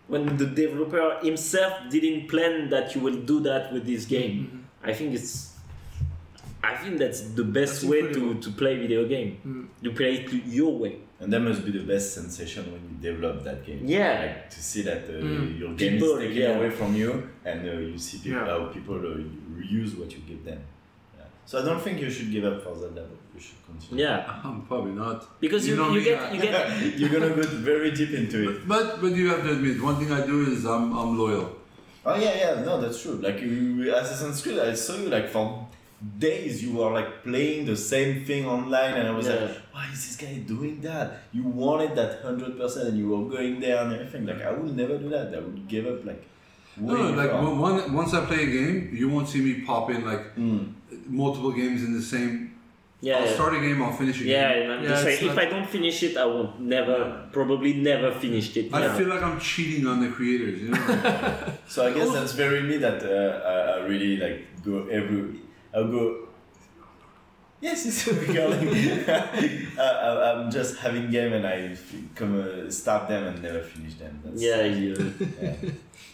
Speaker 1: when the developer himself didn't plan that you will do that with this game. I think that's the best way to play video game. You play it your way.
Speaker 5: And that must be the best sensation when you develop that game.
Speaker 1: Yeah.
Speaker 5: Like to see that your game is taken away from you, and you see people, how people use what you give them. Yeah. So I don't think you should give up for that level. You should continue.
Speaker 1: Yeah.
Speaker 4: Probably not.
Speaker 1: Because you get
Speaker 5: You're gonna go very deep into it.
Speaker 4: But you have to admit, one thing I do is I'm loyal.
Speaker 5: Oh yeah, no, that's true. Like Assassin's Creed, I saw you like for days you were like playing the same thing online, and I was like, why is this guy doing that? You wanted that 100%, and you were going there and everything. Like I would never do that. I would give up like.
Speaker 4: Once I play a game, you won't see me pop in like multiple games in the same. I'll start a game, I'll finish a game.
Speaker 1: If I don't finish it, I will probably never finish it.
Speaker 4: I feel like I'm cheating on the creators, you know.
Speaker 5: So I guess that's very me that I really like I'll go. Yes, it's recording. I'm just having game and I start them and never finish them. That's,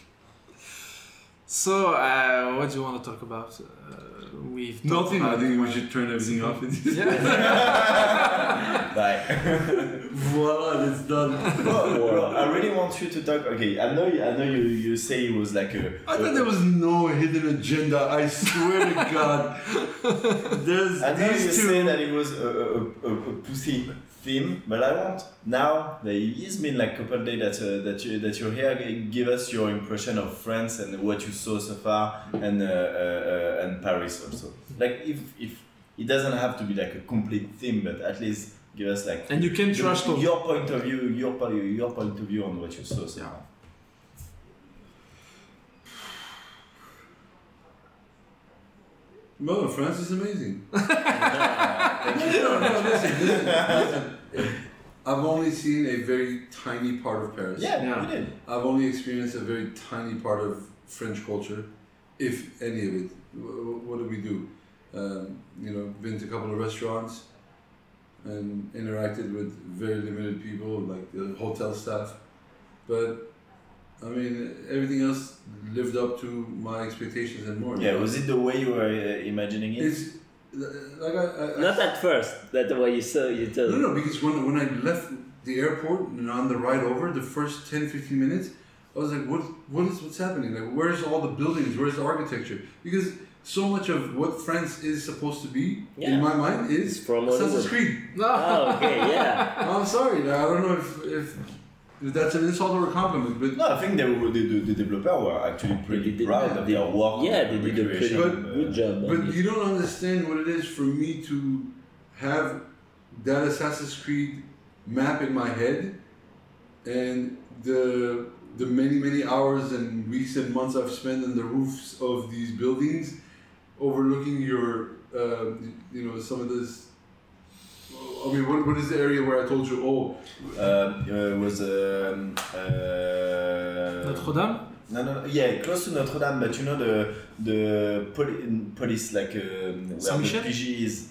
Speaker 2: So, what do you want to talk about? We've
Speaker 4: nothing. I think we should turn everything off.
Speaker 5: Bye.
Speaker 4: Voila, it's done.
Speaker 5: Well, I really want you to talk. Okay, I know you say it was like a.
Speaker 4: I thought there was no hidden agenda. I swear to God.
Speaker 5: I know you say that it was a pussy theme, but I want now that it's been like a couple of days that you're here. Give us your impression of France and what you saw so far, and Paris also. Like if it doesn't have to be like a complete theme, but at least give us like.
Speaker 2: And you can trust
Speaker 5: your point of view, your point of view on what you saw so far.
Speaker 4: Well, France is amazing. Listen. I've only seen a very tiny part of Paris.
Speaker 5: Yeah, we did.
Speaker 4: I've only experienced a very tiny part of French culture, if any of it. What do we do? Been to a couple of restaurants and interacted with very limited people, like the hotel staff. But I mean, everything else lived up to my expectations and more.
Speaker 5: Yeah, was it the way you were imagining it?
Speaker 4: It's like
Speaker 1: not at first. That's the way you saw it.
Speaker 4: No, because when I left the airport and on the ride over, the first 10-15 minutes, I was like, what's happening? Like, where's all the buildings? Where's the architecture? Because so much of what France is supposed to be, in my mind, is
Speaker 1: from
Speaker 4: Assassin's Creed.
Speaker 1: Oh, okay, yeah.
Speaker 4: I'm sorry. I don't know if that's an insult or a compliment, but
Speaker 5: no, I think the developer were actually pretty proud of their work.
Speaker 1: Yeah, they did a pretty good job.
Speaker 4: But you don't understand what it is for me to have that Assassin's Creed map in my head, and the many hours and weeks and months I've spent on the roofs of these buildings, overlooking your some of this. I mean, what is the area where I told you?
Speaker 5: It was
Speaker 2: Notre Dame.
Speaker 5: No, yeah, close to Notre Dame, but you know the police like where the PG is.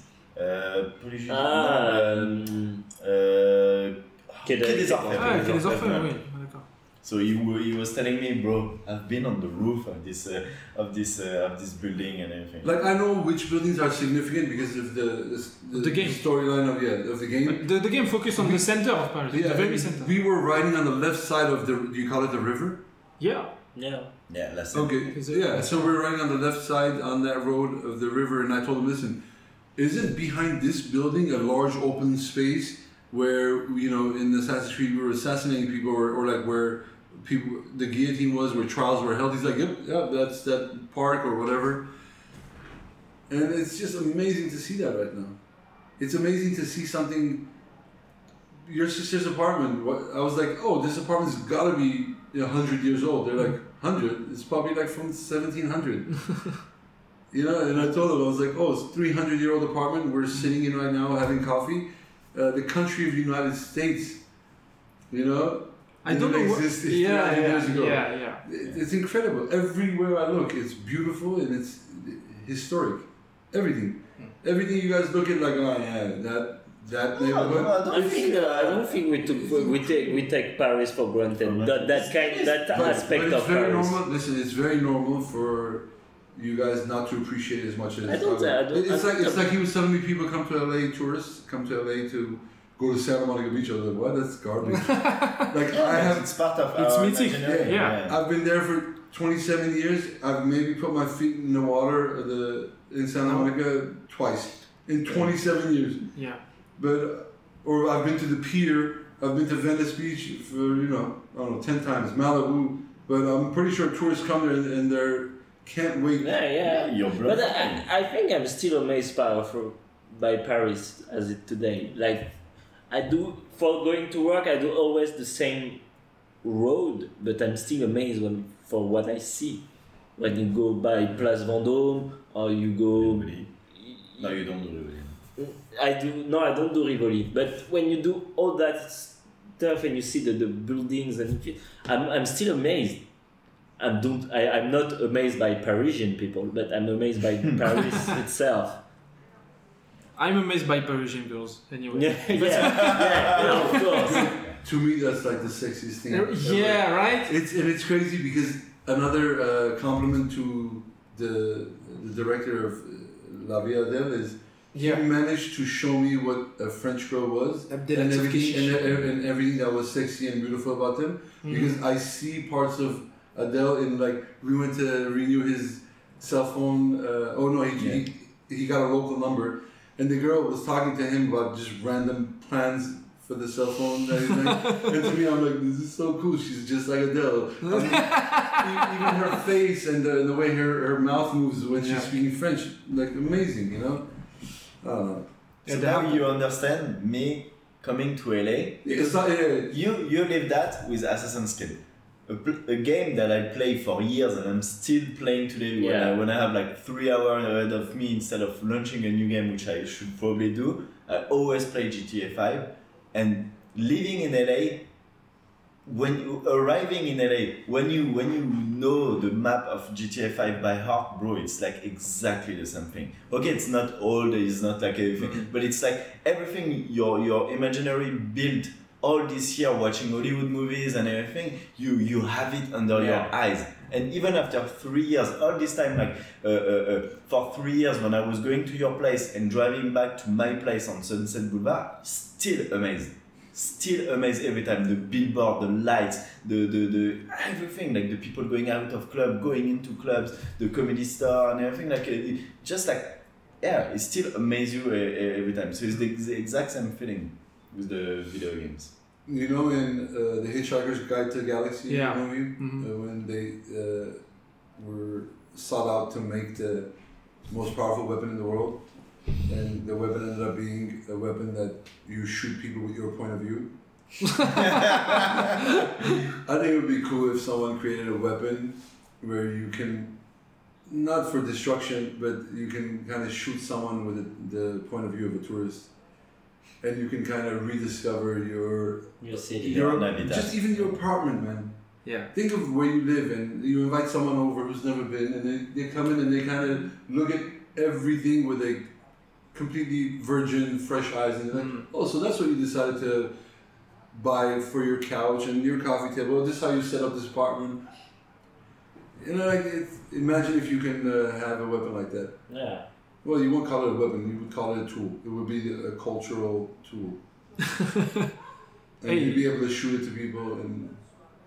Speaker 2: Quai des Orfèvres, oui.
Speaker 5: So he was telling me, bro, I've been on the roof of this building and everything.
Speaker 4: Like, I know which buildings are significant because of the
Speaker 2: game
Speaker 4: storyline of the game.
Speaker 2: The game focused on the center of Paris, the very center.
Speaker 4: We were riding on the left side of do you call it the river?
Speaker 2: Yeah.
Speaker 5: That's
Speaker 4: okay. So we're riding on the left side on that road of the river, and I told him, listen, isn't behind this building a large open space where, in Assassin's Creed we were assassinating people, or like where the guillotine was, where trials were held? He's like, yep, that's that park or whatever. And it's just amazing to see that right now. It's amazing to see something. Your sister's apartment. I was like, oh, this apartment's got to be 100 years old. They're like, 100? It's probably like from 1700. And I told them, I was like, oh, it's a 300-year-old apartment. We're sitting in right now having coffee. The country of the United States,
Speaker 2: I don't know what.
Speaker 4: Years ago.
Speaker 2: Yeah.
Speaker 4: It's incredible. Everywhere I look, it's beautiful and it's historic. Everything you guys look at, like, oh yeah, that
Speaker 5: No,
Speaker 4: neighborhood.
Speaker 1: I don't think we take Paris for granted. That aspect
Speaker 4: But it's
Speaker 1: of
Speaker 4: very
Speaker 1: Paris.
Speaker 4: normal. Listen, it's very normal for you guys not to appreciate it as much as it's like he was telling me people come to LA, tourists come to LA to go to Santa Monica Beach. I was like, what? That's garbage.
Speaker 5: It's part of
Speaker 2: It's
Speaker 5: our
Speaker 2: mythic.
Speaker 5: imaginary.
Speaker 2: Yeah.
Speaker 4: I've been there for 27 years. I've maybe put my feet in the water in Santa Monica twice in 27 years.
Speaker 2: Yeah.
Speaker 4: Or I've been to the pier. I've been to Venice Beach for I don't know 10 times. Malibu, but I'm pretty sure tourists come there and they're can't wait.
Speaker 1: Yeah.
Speaker 5: You're
Speaker 1: But
Speaker 5: bloody.
Speaker 1: I think I'm still amazed by Paris as it today. Like, I do, for going to work, I do always the same road, but I'm still amazed for what I see. When you go by Place Vendôme, or you go...
Speaker 5: Rivoli. No, you don't do Rivoli.
Speaker 1: I don't do Rivoli, but when you do all that stuff and you see the buildings, and I'm still amazed. I'm not amazed by Parisian people, but I'm amazed by Paris itself.
Speaker 2: I'm amazed by Parisian girls, anyway.
Speaker 1: Yeah, of course.
Speaker 4: To me, that's like the sexiest thing.
Speaker 2: Yeah, right?
Speaker 4: It's crazy because another compliment to the director of La Vie Adèle is he managed to show me what a French girl was and everything that was sexy and beautiful about them. Because I see parts of Adele in we went to renew his cell phone. He got a local number, and the girl was talking to him about just random plans for the cell phone. And to me, I'm like, this is so cool. She's just like Adele. Even her face and the way her mouth moves when she's speaking French, amazing. I don't know.
Speaker 5: So now you understand me coming to LA.
Speaker 4: It's not,
Speaker 5: You live that with Assassin's Creed. A game that I play for years and I'm still playing today when I have 3 hours ahead of me instead of launching a new game, which I should probably do. I always play GTA 5. And living in LA, arriving in LA, when you know the map of GTA 5 by heart, bro, it's exactly the same thing. Okay, it's not old, it's not everything, but it's everything your imaginary built all this year watching Hollywood movies and everything, you have it under your eyes. And even after 3 years, all this time, for 3 years when I was going to your place and driving back to my place on Sunset Boulevard, still amazed. Still amazed every time. The billboard, the lights, the everything, the people going out of club, going into clubs, the comedy store and everything, it still amazes you every time. So it's the exact same feeling with the video games.
Speaker 4: In The Hitchhiker's Guide to the Galaxy movie, when they were sought out to make the most powerful weapon in the world, and the weapon ended up being a weapon that you shoot people with your point of view. I think it would be cool if someone created a weapon where you can, not for destruction, but you can kind of shoot someone with the point of view of a tourist. And you can kind of rediscover your
Speaker 1: city,
Speaker 4: just even your apartment, man.
Speaker 2: Yeah.
Speaker 4: Think of where you live, and you invite someone over who's never been, and they come in and they kind of look at everything with a completely virgin, fresh eyes, and they're like, oh, so that's what you decided to buy for your couch and your coffee table. This is how you set up this apartment. Imagine if you can have a weapon like that.
Speaker 1: Yeah.
Speaker 4: Well, you won't call it a weapon, you would call it a tool. It would be a cultural tool. And you'd be able to shoot it to people, and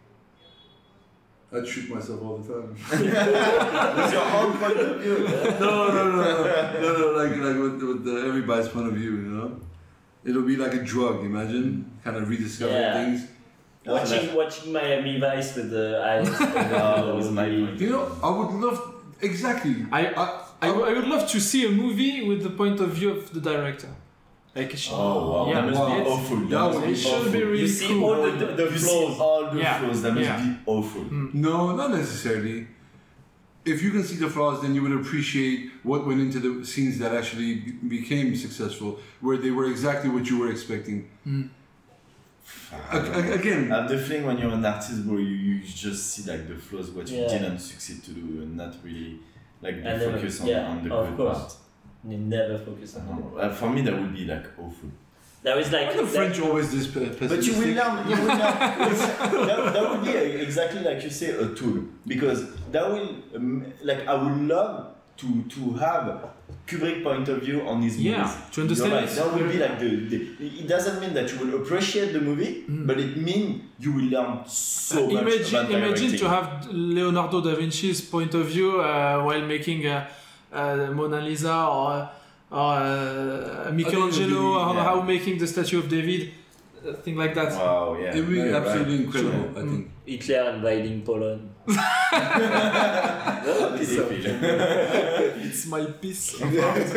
Speaker 4: I'd shoot myself all the time.
Speaker 5: With your own point of view.
Speaker 4: No, with everybody's point of view, It'll be like a drug, imagine? Kind of rediscovering things.
Speaker 1: Watching Miami Vice with the eyes.
Speaker 4: I would love... Exactly.
Speaker 2: I would love to see a movie with the point of view of the director.
Speaker 5: Wow. That must be awful.
Speaker 2: It should be really
Speaker 1: You see
Speaker 2: cool.
Speaker 1: all the flaws.
Speaker 5: All the flaws. That must be awful.
Speaker 4: No, not necessarily. If you can see the flaws, then you would appreciate what went into the scenes that actually became successful, where they were exactly what you were expecting. Again,
Speaker 5: I have the feeling when you're an artist, bro, you just see the flaws, what you didn't succeed to do, and not really focus on the good part.
Speaker 1: You never focus on it.
Speaker 5: For me, that would be awful.
Speaker 9: There is like
Speaker 4: Why the French always this pessimistic?
Speaker 7: But you will learn. That would be exactly like you say, a tool, because that will like I would love to have Kubrick point of view on his movies.
Speaker 2: Yeah, to understand
Speaker 7: You're right.
Speaker 2: it.
Speaker 7: That would be like it doesn't mean that you will appreciate the movie, but it means you will learn so much about
Speaker 2: Imagine
Speaker 7: directing.
Speaker 2: to have Leonardo da Vinci's point of view while making Mona Lisa or Michelangelo, or
Speaker 7: yeah.
Speaker 2: how making the statue of David, thing like that.
Speaker 7: Wow, yeah.
Speaker 4: It would be
Speaker 7: Right,
Speaker 4: absolutely
Speaker 7: right.
Speaker 4: incredible, I think.
Speaker 9: Hitler invading Poland.
Speaker 2: It's my piece of art.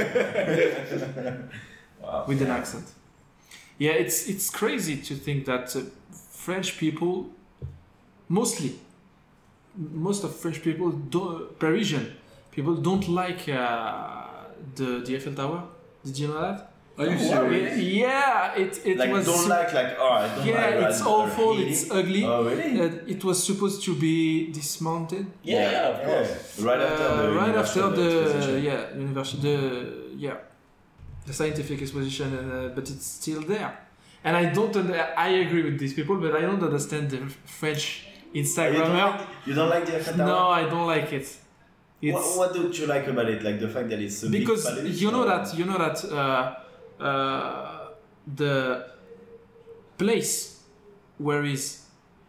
Speaker 7: Wow.
Speaker 2: With an accent. Yeah, it's crazy to think that French people, most of French people, Parisian people don't like the Eiffel Tower. Did you know that?
Speaker 4: Are you serious?
Speaker 2: Yeah, it
Speaker 7: Like
Speaker 2: was.
Speaker 7: don't like oh I don't
Speaker 2: Yeah,
Speaker 7: like
Speaker 2: it's
Speaker 7: that.
Speaker 2: awful.
Speaker 7: Really?
Speaker 2: It's ugly.
Speaker 7: Oh really?
Speaker 2: It was supposed to be dismounted.
Speaker 9: Yeah, of course.
Speaker 7: Right after the
Speaker 2: The scientific exposition, but it's still there. And I don't. I agree with these people, but I don't understand the French Instagrammer.
Speaker 7: You don't like the Eiffel Tower?
Speaker 2: No, I don't like it. It's
Speaker 7: What don't you like about it? Like the fact that it's a big
Speaker 2: because
Speaker 7: palace,
Speaker 2: you know
Speaker 7: or-
Speaker 2: that the place where is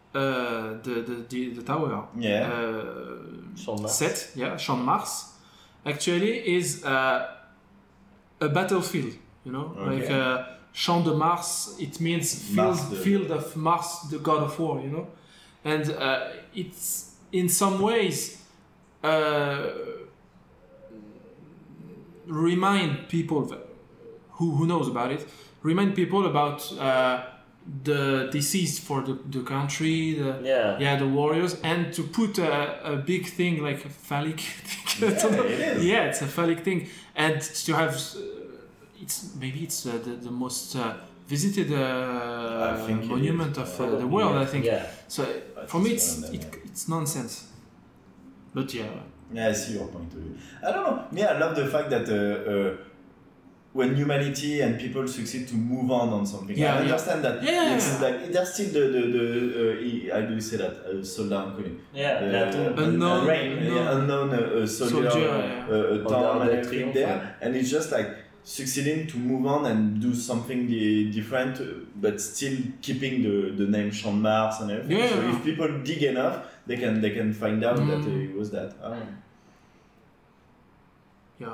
Speaker 2: the tower
Speaker 7: Yeah.
Speaker 9: Champ de Mars.
Speaker 2: set, Champ de Mars, actually is a battlefield, you know,
Speaker 7: Okay.
Speaker 2: like Champ de Mars, it means field of Mars, the god of war, you know, and it's in some ways remind people who knows about it, remind people about the deceased for the country, the warriors, and to put a big thing like a phallic thing.
Speaker 7: Yeah, it is.
Speaker 2: Yeah, it's a phallic thing, and to have it's the most visited
Speaker 7: I think it
Speaker 2: monument
Speaker 7: is.
Speaker 2: of the world. I think
Speaker 9: Yeah.
Speaker 2: so.
Speaker 7: But
Speaker 2: For me,
Speaker 7: it's one of them,
Speaker 2: it's nonsense. But yeah.
Speaker 7: Yeah, I see your point of view. I don't know. Me, I love the fact that when humanity and people succeed to move on something,
Speaker 2: Yeah,
Speaker 7: I
Speaker 2: yeah.
Speaker 7: understand that.
Speaker 2: Yeah.
Speaker 7: It's like there's still the how do you say that? Soldat inconnu.
Speaker 2: Unknown-
Speaker 7: Unknown soldier,
Speaker 2: yeah.
Speaker 7: town and
Speaker 9: Order
Speaker 7: everything
Speaker 9: Triumph,
Speaker 7: there, and it's just like succeeding to move on and do something different, but still keeping the name Champ de Mars and everything.
Speaker 2: Yeah.
Speaker 7: So if people dig enough, they can find out that it was that. I don't know.
Speaker 2: Yeah.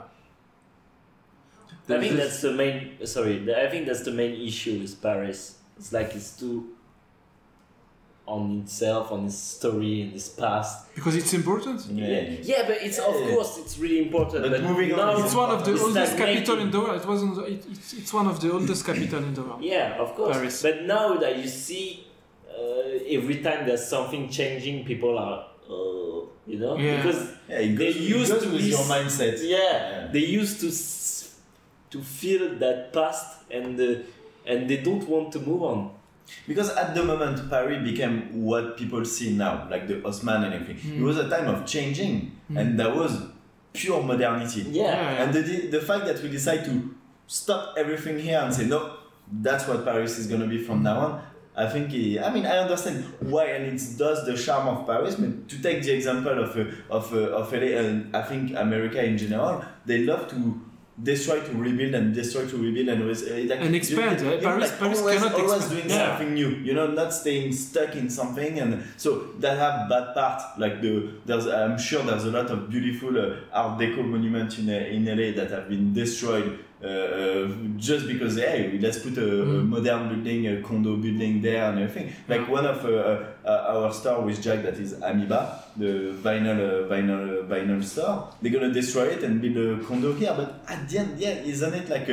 Speaker 9: I think that's the main. I think that's the main issue with Paris. It's like it's too on itself, on its story, and its past.
Speaker 2: Because it's important.
Speaker 9: Yeah, but it's of course it's really important.
Speaker 7: But moving on,
Speaker 9: now
Speaker 2: It's one of the
Speaker 9: it's
Speaker 2: oldest
Speaker 9: stagnating.
Speaker 2: capital in the world. It's one of the oldest capital in the world.
Speaker 9: Yeah, of course.
Speaker 2: Paris.
Speaker 9: But now that you see, every time there's something changing, people are, you know,
Speaker 2: Yeah.
Speaker 9: because
Speaker 7: Yeah, it
Speaker 9: they
Speaker 7: goes,
Speaker 9: used
Speaker 7: it goes
Speaker 9: to
Speaker 7: with
Speaker 9: be
Speaker 7: your mindset.
Speaker 9: Yeah, they used to feel that past, and they don't want to move on.
Speaker 7: Because at the moment, Paris became what people see now, like the Haussmann and everything. It was a time of changing, and that was pure modernity.
Speaker 9: Yeah.
Speaker 7: And the fact that we decide to stop everything here and say, no, that's what Paris is going to be from now on, I think, I understand why, and it does the charm of Paris, but to take the example of LA, and I think America in general, they love to destroy to rebuild and destroy to rebuild and always
Speaker 2: And expand. Paris
Speaker 7: always
Speaker 2: cannot
Speaker 7: always
Speaker 2: expand.
Speaker 7: doing
Speaker 2: Yeah.
Speaker 7: something new, not staying stuck in something. And so that have bad part, like I'm sure there's a lot of beautiful art deco monuments in LA that have been destroyed just because let's put a modern building, a condo building there and everything. Like one of our store with Jack, that is Amoeba, the vinyl store. They're gonna destroy it and build a condo here, but at the end, isn't it like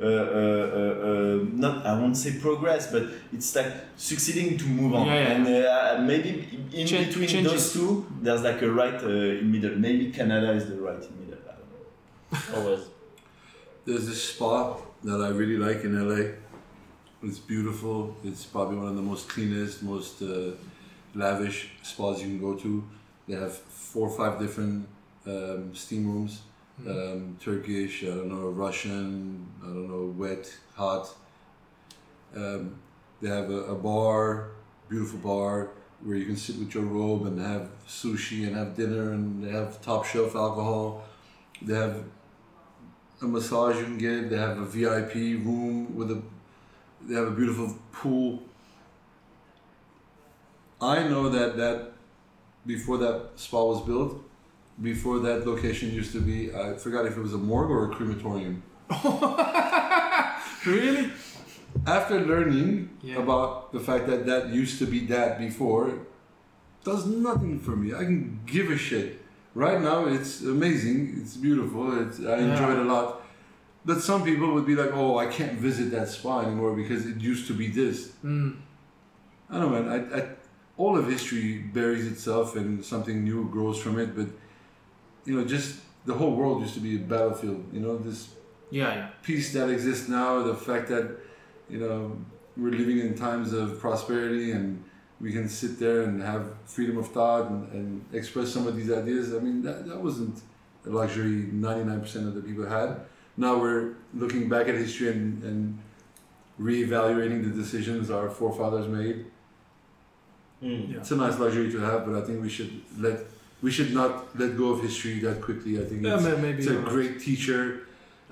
Speaker 7: not, I won't say progress, but it's like succeeding to move on. And maybe in between
Speaker 2: changes.
Speaker 7: those two, there's like a right in middle. Maybe Canada is the right in middle. I don't know.
Speaker 9: Always.
Speaker 4: There's this spa that I really like in LA. It's beautiful. It's probably one of the most cleanest, most lavish spas you can go to. They have 4 or 5 different steam rooms. Turkish, I don't know, Russian, I don't know, wet, hot. They have a bar, beautiful bar, where you can sit with your robe and have sushi and have dinner, and they have top shelf alcohol. They have a massage you can get. They have a VIP room they have a beautiful pool. I know that before that spa was built, before that location used to be, I forgot if it was a morgue or a crematorium.
Speaker 2: Really?
Speaker 4: After learning about the fact that used to be that before, does nothing for me. I can give a shit. Right now, it's amazing. It's beautiful. I enjoy it a lot. But some people would be like, "Oh, I can't visit that spa anymore because it used to be this." I don't know, man. All of history buries itself and something new grows from it. But just the whole world used to be a battlefield. This peace that exists now, the fact that we're living in times of prosperity and we can sit there and have freedom of thought and express some of these ideas. I mean, that wasn't a luxury 99% of the people had. Now we're looking back at history and reevaluating the decisions our forefathers made. It's a nice luxury to have, but I think we should not let go of history that quickly. I think it's a great teacher.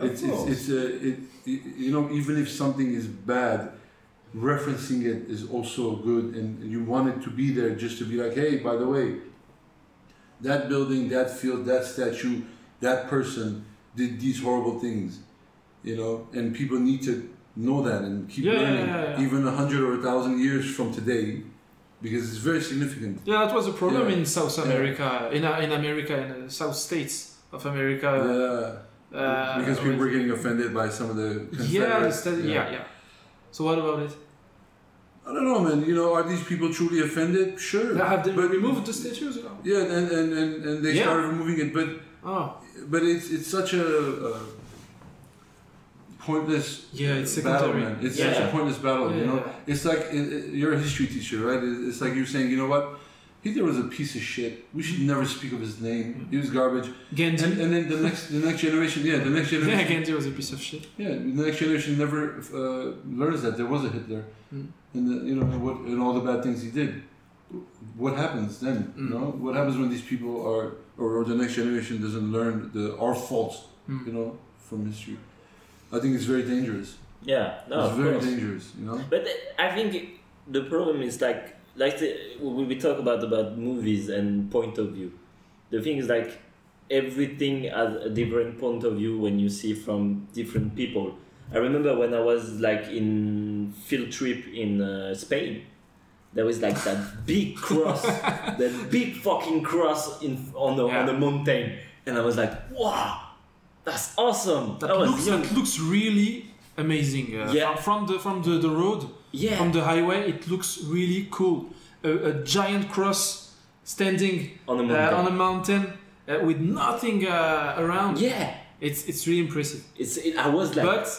Speaker 4: Even if something is bad, referencing it is also good, and you want it to be there just to be like, hey, by the way, that building, that field, that statue, that person did these horrible things, and people need to know that and keep learning, even 100 or 1,000 years from today, because it's very significant.
Speaker 2: Yeah, that was a problem in South America, in America, in the South States of America.
Speaker 4: Because we were getting offended by some of the Confederates.
Speaker 2: So what about it?
Speaker 4: I don't know, man. Are these people truly offended? Sure.
Speaker 2: Have they removed the statues?
Speaker 4: Yeah, and they started removing it, but it's such a pointless battle, man. It's such a pointless battle. It's like you're a history teacher, right? It's like you're saying, you know what? Hitler was a piece of shit. We should never speak of his name. He was garbage.
Speaker 2: Gandhi.
Speaker 4: And then the next generation. Yeah,
Speaker 2: Gandhi was a piece of shit.
Speaker 4: Yeah, the next generation never learns that there was a Hitler, and all the bad things he did. What happens then? What happens when these people are, or the next generation doesn't learn our faults, from history? I think it's very dangerous.
Speaker 9: Yeah, no,
Speaker 4: it's very dangerous.
Speaker 9: But I think the problem is we talk about movies and point of view. The thing is everything has a different point of view when you see from different people. I remember when I was in field trip in Spain, there was that big cross, that big fucking cross on a mountain, and I was like, wow, that's awesome.
Speaker 2: That looks really amazing. From the road. Yeah. From the highway, it looks really cool. A giant cross standing on a mountain with nothing around.
Speaker 9: Yeah.
Speaker 2: It's really impressive.
Speaker 9: I was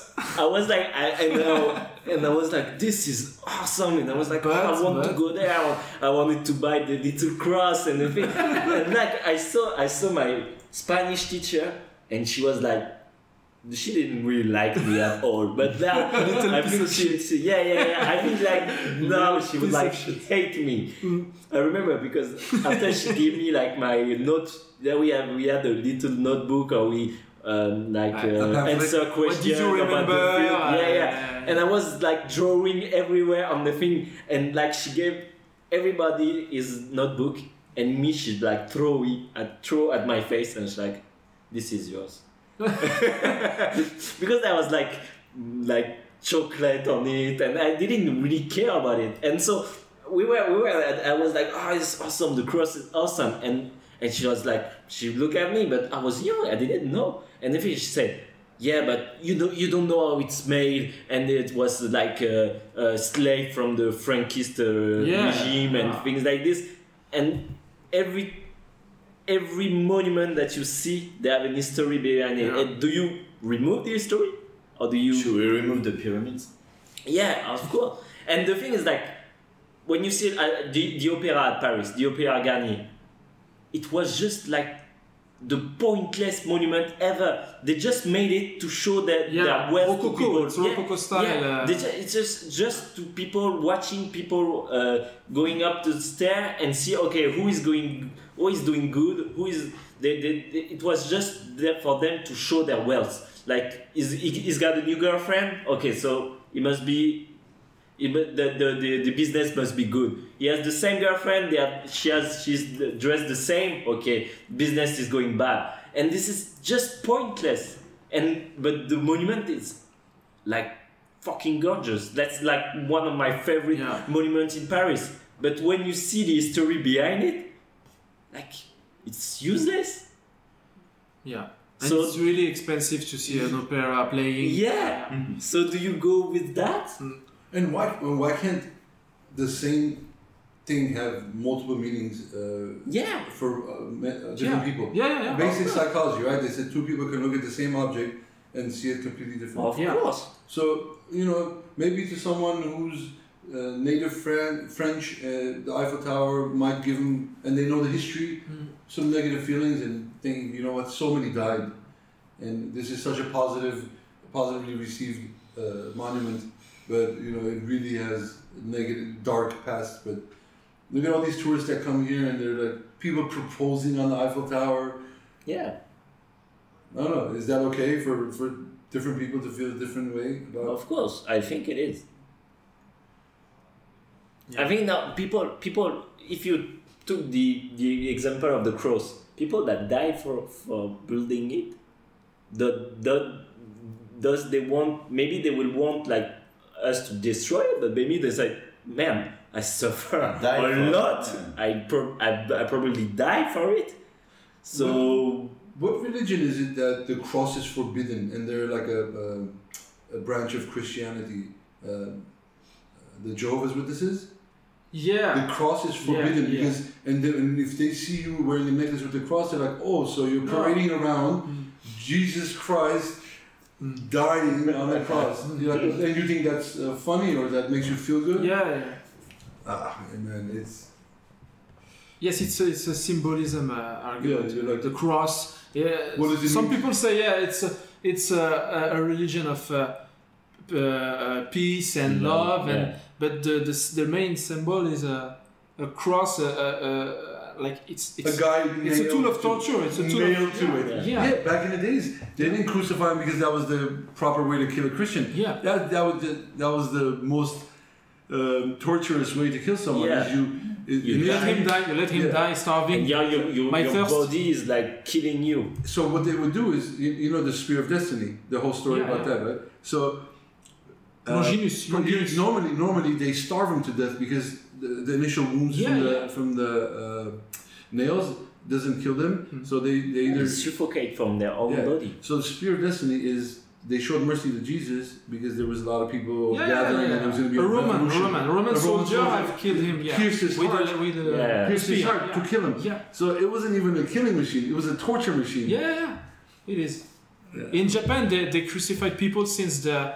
Speaker 9: like, this is awesome, and I was like, I want to go there. I wanted to buy the little cross and the thing. And I saw my Spanish teacher, and she was like, she didn't really like me at all, but now I think she I think now she would hate me. I remember because after she gave me my note, we had a little notebook, or we answer questions about the film. And I was drawing everywhere on the thing, and she gave everybody his notebook, and me she throw at my face, and she's like, this is yours. Because I was like chocolate on it, and I didn't really care about it, and so we were I was like, oh, it's awesome, the cross is awesome, and she was like, she looked at me, but I was young, I didn't know, and then she said, yeah, but you don't know how it's made, and it was a slave from the Frankist regime and things like this, and every monument that you see, they have an history behind it. And do you remove the history, or do you?
Speaker 5: Should we remove the pyramids?
Speaker 9: Yeah, of course. And the thing is, when you see the opera at Paris, the Opéra Garnier, it was just the pointless monument ever. They just made it to show that their wealth to people.
Speaker 2: It's Rococo style.
Speaker 9: It's just to people watching people going up the stair and see who is doing good, it was just there for them to show their wealth. Like he's got a new girlfriend. Okay, so it must be. The business must be good. He has the same girlfriend. She's dressed the same. Okay, business is going bad, and this is just pointless. But the monument is like fucking gorgeous. That's like one of my favorite monuments in Paris. But when you see the history behind it, like it's useless.
Speaker 2: Yeah. And so it's really expensive to see an opera playing.
Speaker 9: Yeah. Mm-hmm. So do you go with that?
Speaker 4: And why can't the same thing have multiple meanings for different people?
Speaker 2: Yeah.
Speaker 4: Basic psychology, right? They said two people can look at the same object and see it completely different.
Speaker 9: Of course.
Speaker 4: So, maybe to someone who's native French, the Eiffel Tower might give them, and they know the history, some negative feelings and think, so many died. And this is such a positively received monument. But it really has negative, dark past. But look at all these tourists that come here, and they're like people proposing on the Eiffel Tower.
Speaker 9: Yeah.
Speaker 4: I don't know. Is that okay for different people to feel a different way about?
Speaker 9: Of course, I think it is. Yeah. I think now people. If you took the example of the cross, people that die for building it, does they want? Maybe they will want like us to destroy it, but maybe they say, man, I suffer a lot. I probably die for it. So
Speaker 4: what religion is it that the cross is forbidden and they're like a branch of Christianity? The Jehovah's Witnesses?
Speaker 2: Yeah.
Speaker 4: The cross is forbidden because and if they see you wearing a necklace with the cross, they're like, oh, so you're parading around Jesus Christ dying on the cross. And you think that's funny or that makes you feel good?
Speaker 2: Yeah.
Speaker 4: Man, it's...
Speaker 2: Yes, it's a symbolism argument.
Speaker 4: Yeah, like
Speaker 2: the cross. Yeah.
Speaker 4: What does it
Speaker 2: Some
Speaker 4: mean?
Speaker 2: people say, it's a religion of peace and love, but the main symbol is a cross. Like it's
Speaker 4: a guy.
Speaker 2: It's a tool of torture. It's a tool
Speaker 4: nailed to it. Yeah. Back in the days, they didn't crucify him because that was the proper way to kill a Christian.
Speaker 2: Yeah.
Speaker 4: That was the most torturous way to kill someone.
Speaker 2: Yeah. You let him die. You let him die starving.
Speaker 9: And your body is like killing you.
Speaker 4: So what they would do is, the Spear of Destiny, the whole story about that, right? So
Speaker 2: Longinus.
Speaker 4: Normally they starve him to death because the initial wounds from the nails doesn't kill them. So they either
Speaker 9: suffocate from their own body.
Speaker 4: So the Spear of Destiny is they showed mercy to Jesus because there was a lot of people gathering and there was going to be a
Speaker 2: Roman soldier have killed him.
Speaker 4: Pierced his heart. Pierced his heart to kill him.
Speaker 2: Yeah.
Speaker 4: So it wasn't even a killing machine; it was a torture machine.
Speaker 2: Yeah, it is. Yeah. In Japan, they crucified people since the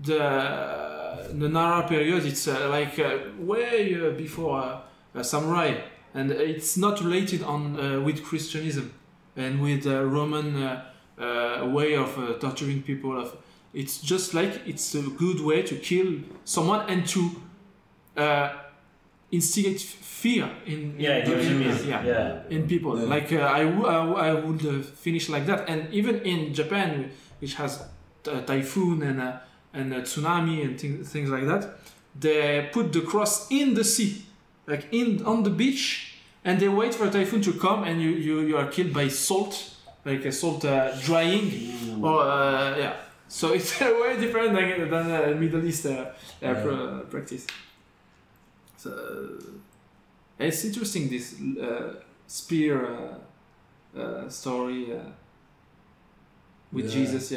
Speaker 2: Nara period. It's way before samurai, and it's not related with Christianism and with Roman way of torturing people. It's just like it's a good way to kill someone and to instigate fear in people.
Speaker 4: Yeah.
Speaker 2: Like I would finish like that, and even in Japan, which has typhoon and tsunami and things like that, they put the cross in the sea, like on the beach, and they wait for a typhoon to come, and you are killed by salt, like a salt drying, or So it's way different than Middle East practice. So it's interesting, this spear story with Jesus,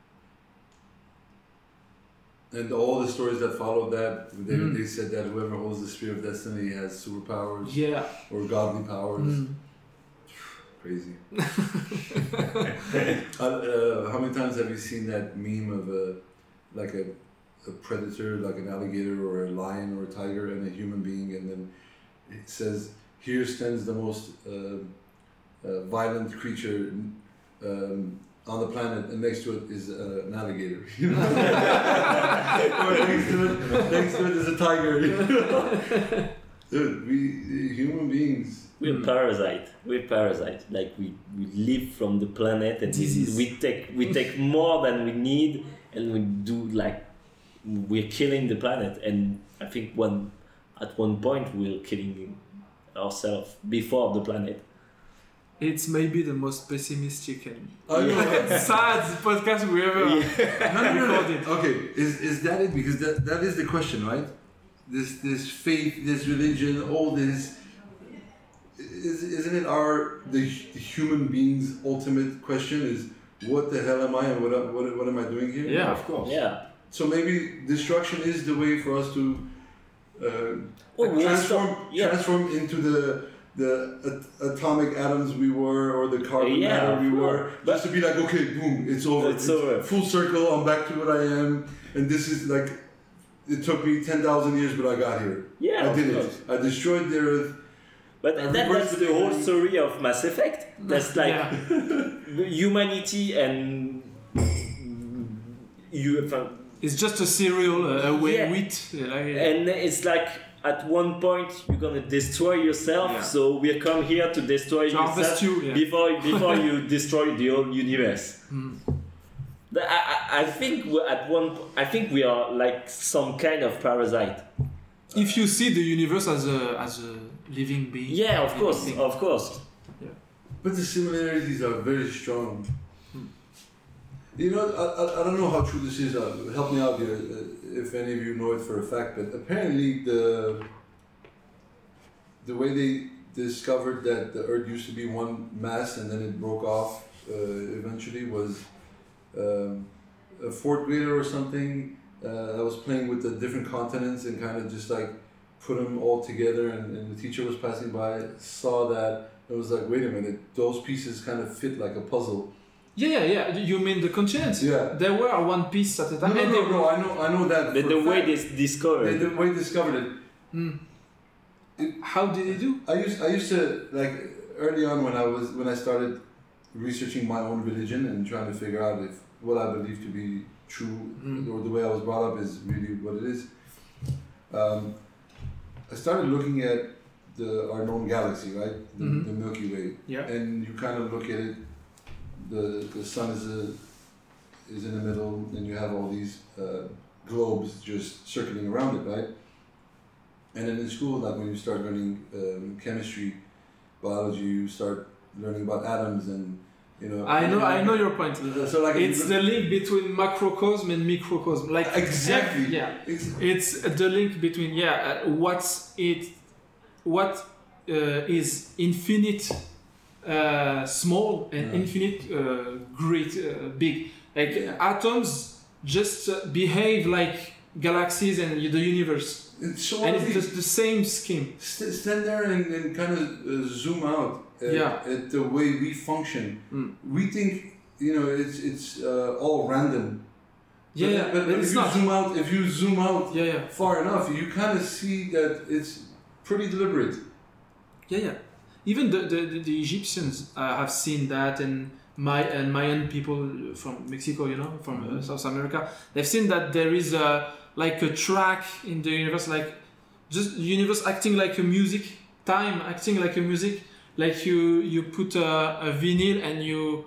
Speaker 4: And all the stories that followed that, they said that whoever holds the Spear of Destiny has superpowers, or godly powers. Crazy. How many times have you seen that meme of a predator, like an alligator or a lion or a tiger, and a human being, and then it says, "Here stands the most violent creature on the planet, and next to it is an alligator. You know? Or next to it is a tiger. You know? Dude, we human beings.
Speaker 9: We're parasite. Like we live from the planet, and we take more than we need, and we do like we're killing the planet. And I think at one point we're killing ourselves before the planet.
Speaker 2: It's maybe the most pessimistic and
Speaker 4: Yeah.
Speaker 2: sad podcast we ever recorded.
Speaker 4: Okay, is that it? Because that is the question, right? This faith, this religion, all this. Isn't it the human being's ultimate question? Is what the hell am I and what am I doing here?
Speaker 2: Yeah, of course.
Speaker 9: Yeah.
Speaker 4: So maybe destruction is the way for us to transform into the atomic atoms we were, or the carbon matter we were, just to be like, okay, boom, it's over.
Speaker 9: It's over.
Speaker 4: Full circle. I'm back to what I am, and this is like, it took me 10,000 years, but I got here.
Speaker 9: Yeah,
Speaker 4: I did
Speaker 9: of
Speaker 4: it.
Speaker 9: course.
Speaker 4: I destroyed the Earth.
Speaker 9: But that's the whole story of Mass Effect. That's like humanity and
Speaker 2: it's just a cereal, wheat.
Speaker 9: And it's like at one point you're gonna destroy yourself.
Speaker 2: Yeah.
Speaker 9: So we come here to destroy yourself before you destroy the whole universe. I think we are like some kind of parasite.
Speaker 2: If you see the universe as a living being.
Speaker 9: Yeah, of course.
Speaker 2: Yeah.
Speaker 4: But the similarities are very strong. You know, I don't know how true this is. Help me out here, if any of you know it for a fact. But apparently, the way they discovered that the Earth used to be one mass and then it broke off eventually was a fourth grader or something that was playing with the different continents and kind of just like put them all together, and the teacher was passing by, saw that, and was like, wait a minute, those pieces kind of fit like a puzzle.
Speaker 2: Yeah. You mean the continents?
Speaker 4: Yeah.
Speaker 2: They were one piece at a time.
Speaker 4: No, I know that.
Speaker 9: The way they discovered.
Speaker 4: The way they discovered it.
Speaker 2: How did they do?
Speaker 4: I used to, like, early on when I started researching my own religion and trying to figure out if what I believe to be true or the way I was brought up is really what it is. I started looking at our known galaxy, right? The Milky Way.
Speaker 2: Yeah.
Speaker 4: And you kind of look at it. The sun is in the middle, and you have all these globes just circling around it, right? And then in school, like when you start learning chemistry, biology, you start learning about atoms and, you know.
Speaker 2: I know your point.
Speaker 4: So like
Speaker 2: it's the link between macrocosm and microcosm. Like
Speaker 4: exactly.
Speaker 2: Yeah. It's the link between what is infinite small and infinite great big. Like atoms just behave like galaxies and the universe.
Speaker 4: It's so
Speaker 2: and it's just the same scheme.
Speaker 4: Stand there and kind of zoom out at the way we function. We think, you know, it's all random. But it's not. If you zoom out far enough, you kind of see that it's pretty deliberate.
Speaker 2: Yeah. Even the Egyptians have seen that, and Mayan people from Mexico, you know, from South America, they've seen that there is like a track in the universe, like just the universe acting like a music, time acting like a music, like you put a vinyl and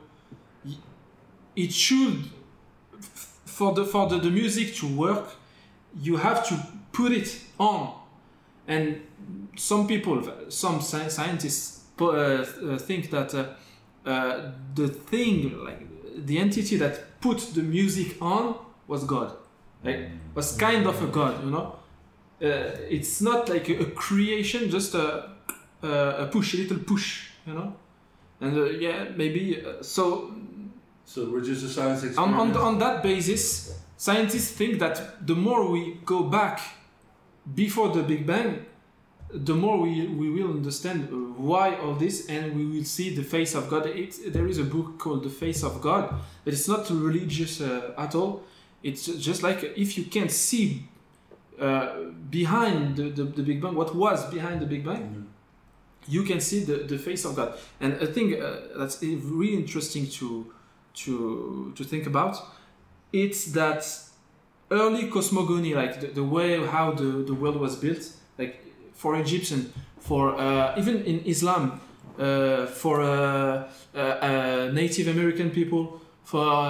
Speaker 2: it should for the music to work, you have to put it on, and some scientists think that the thing, like the entity that put the music on was God. Like was kind of a god, you know. It's not like a creation, just a little push, you know. And maybe so.
Speaker 4: So we're just a science experiment.
Speaker 2: On that basis, scientists think that the more we go back before the Big Bang, the more we will understand why all this, and we will see the face of God. There is a book called The Face of God, but it's not religious at all. It's just like if you can't see behind the Big Bang, what was behind the Big Bang, you can see the face of God. And I think that's really interesting to think about. It's that early cosmogony, like the way how the world was built, like for Egyptian, for even in Islam, for Native American people, for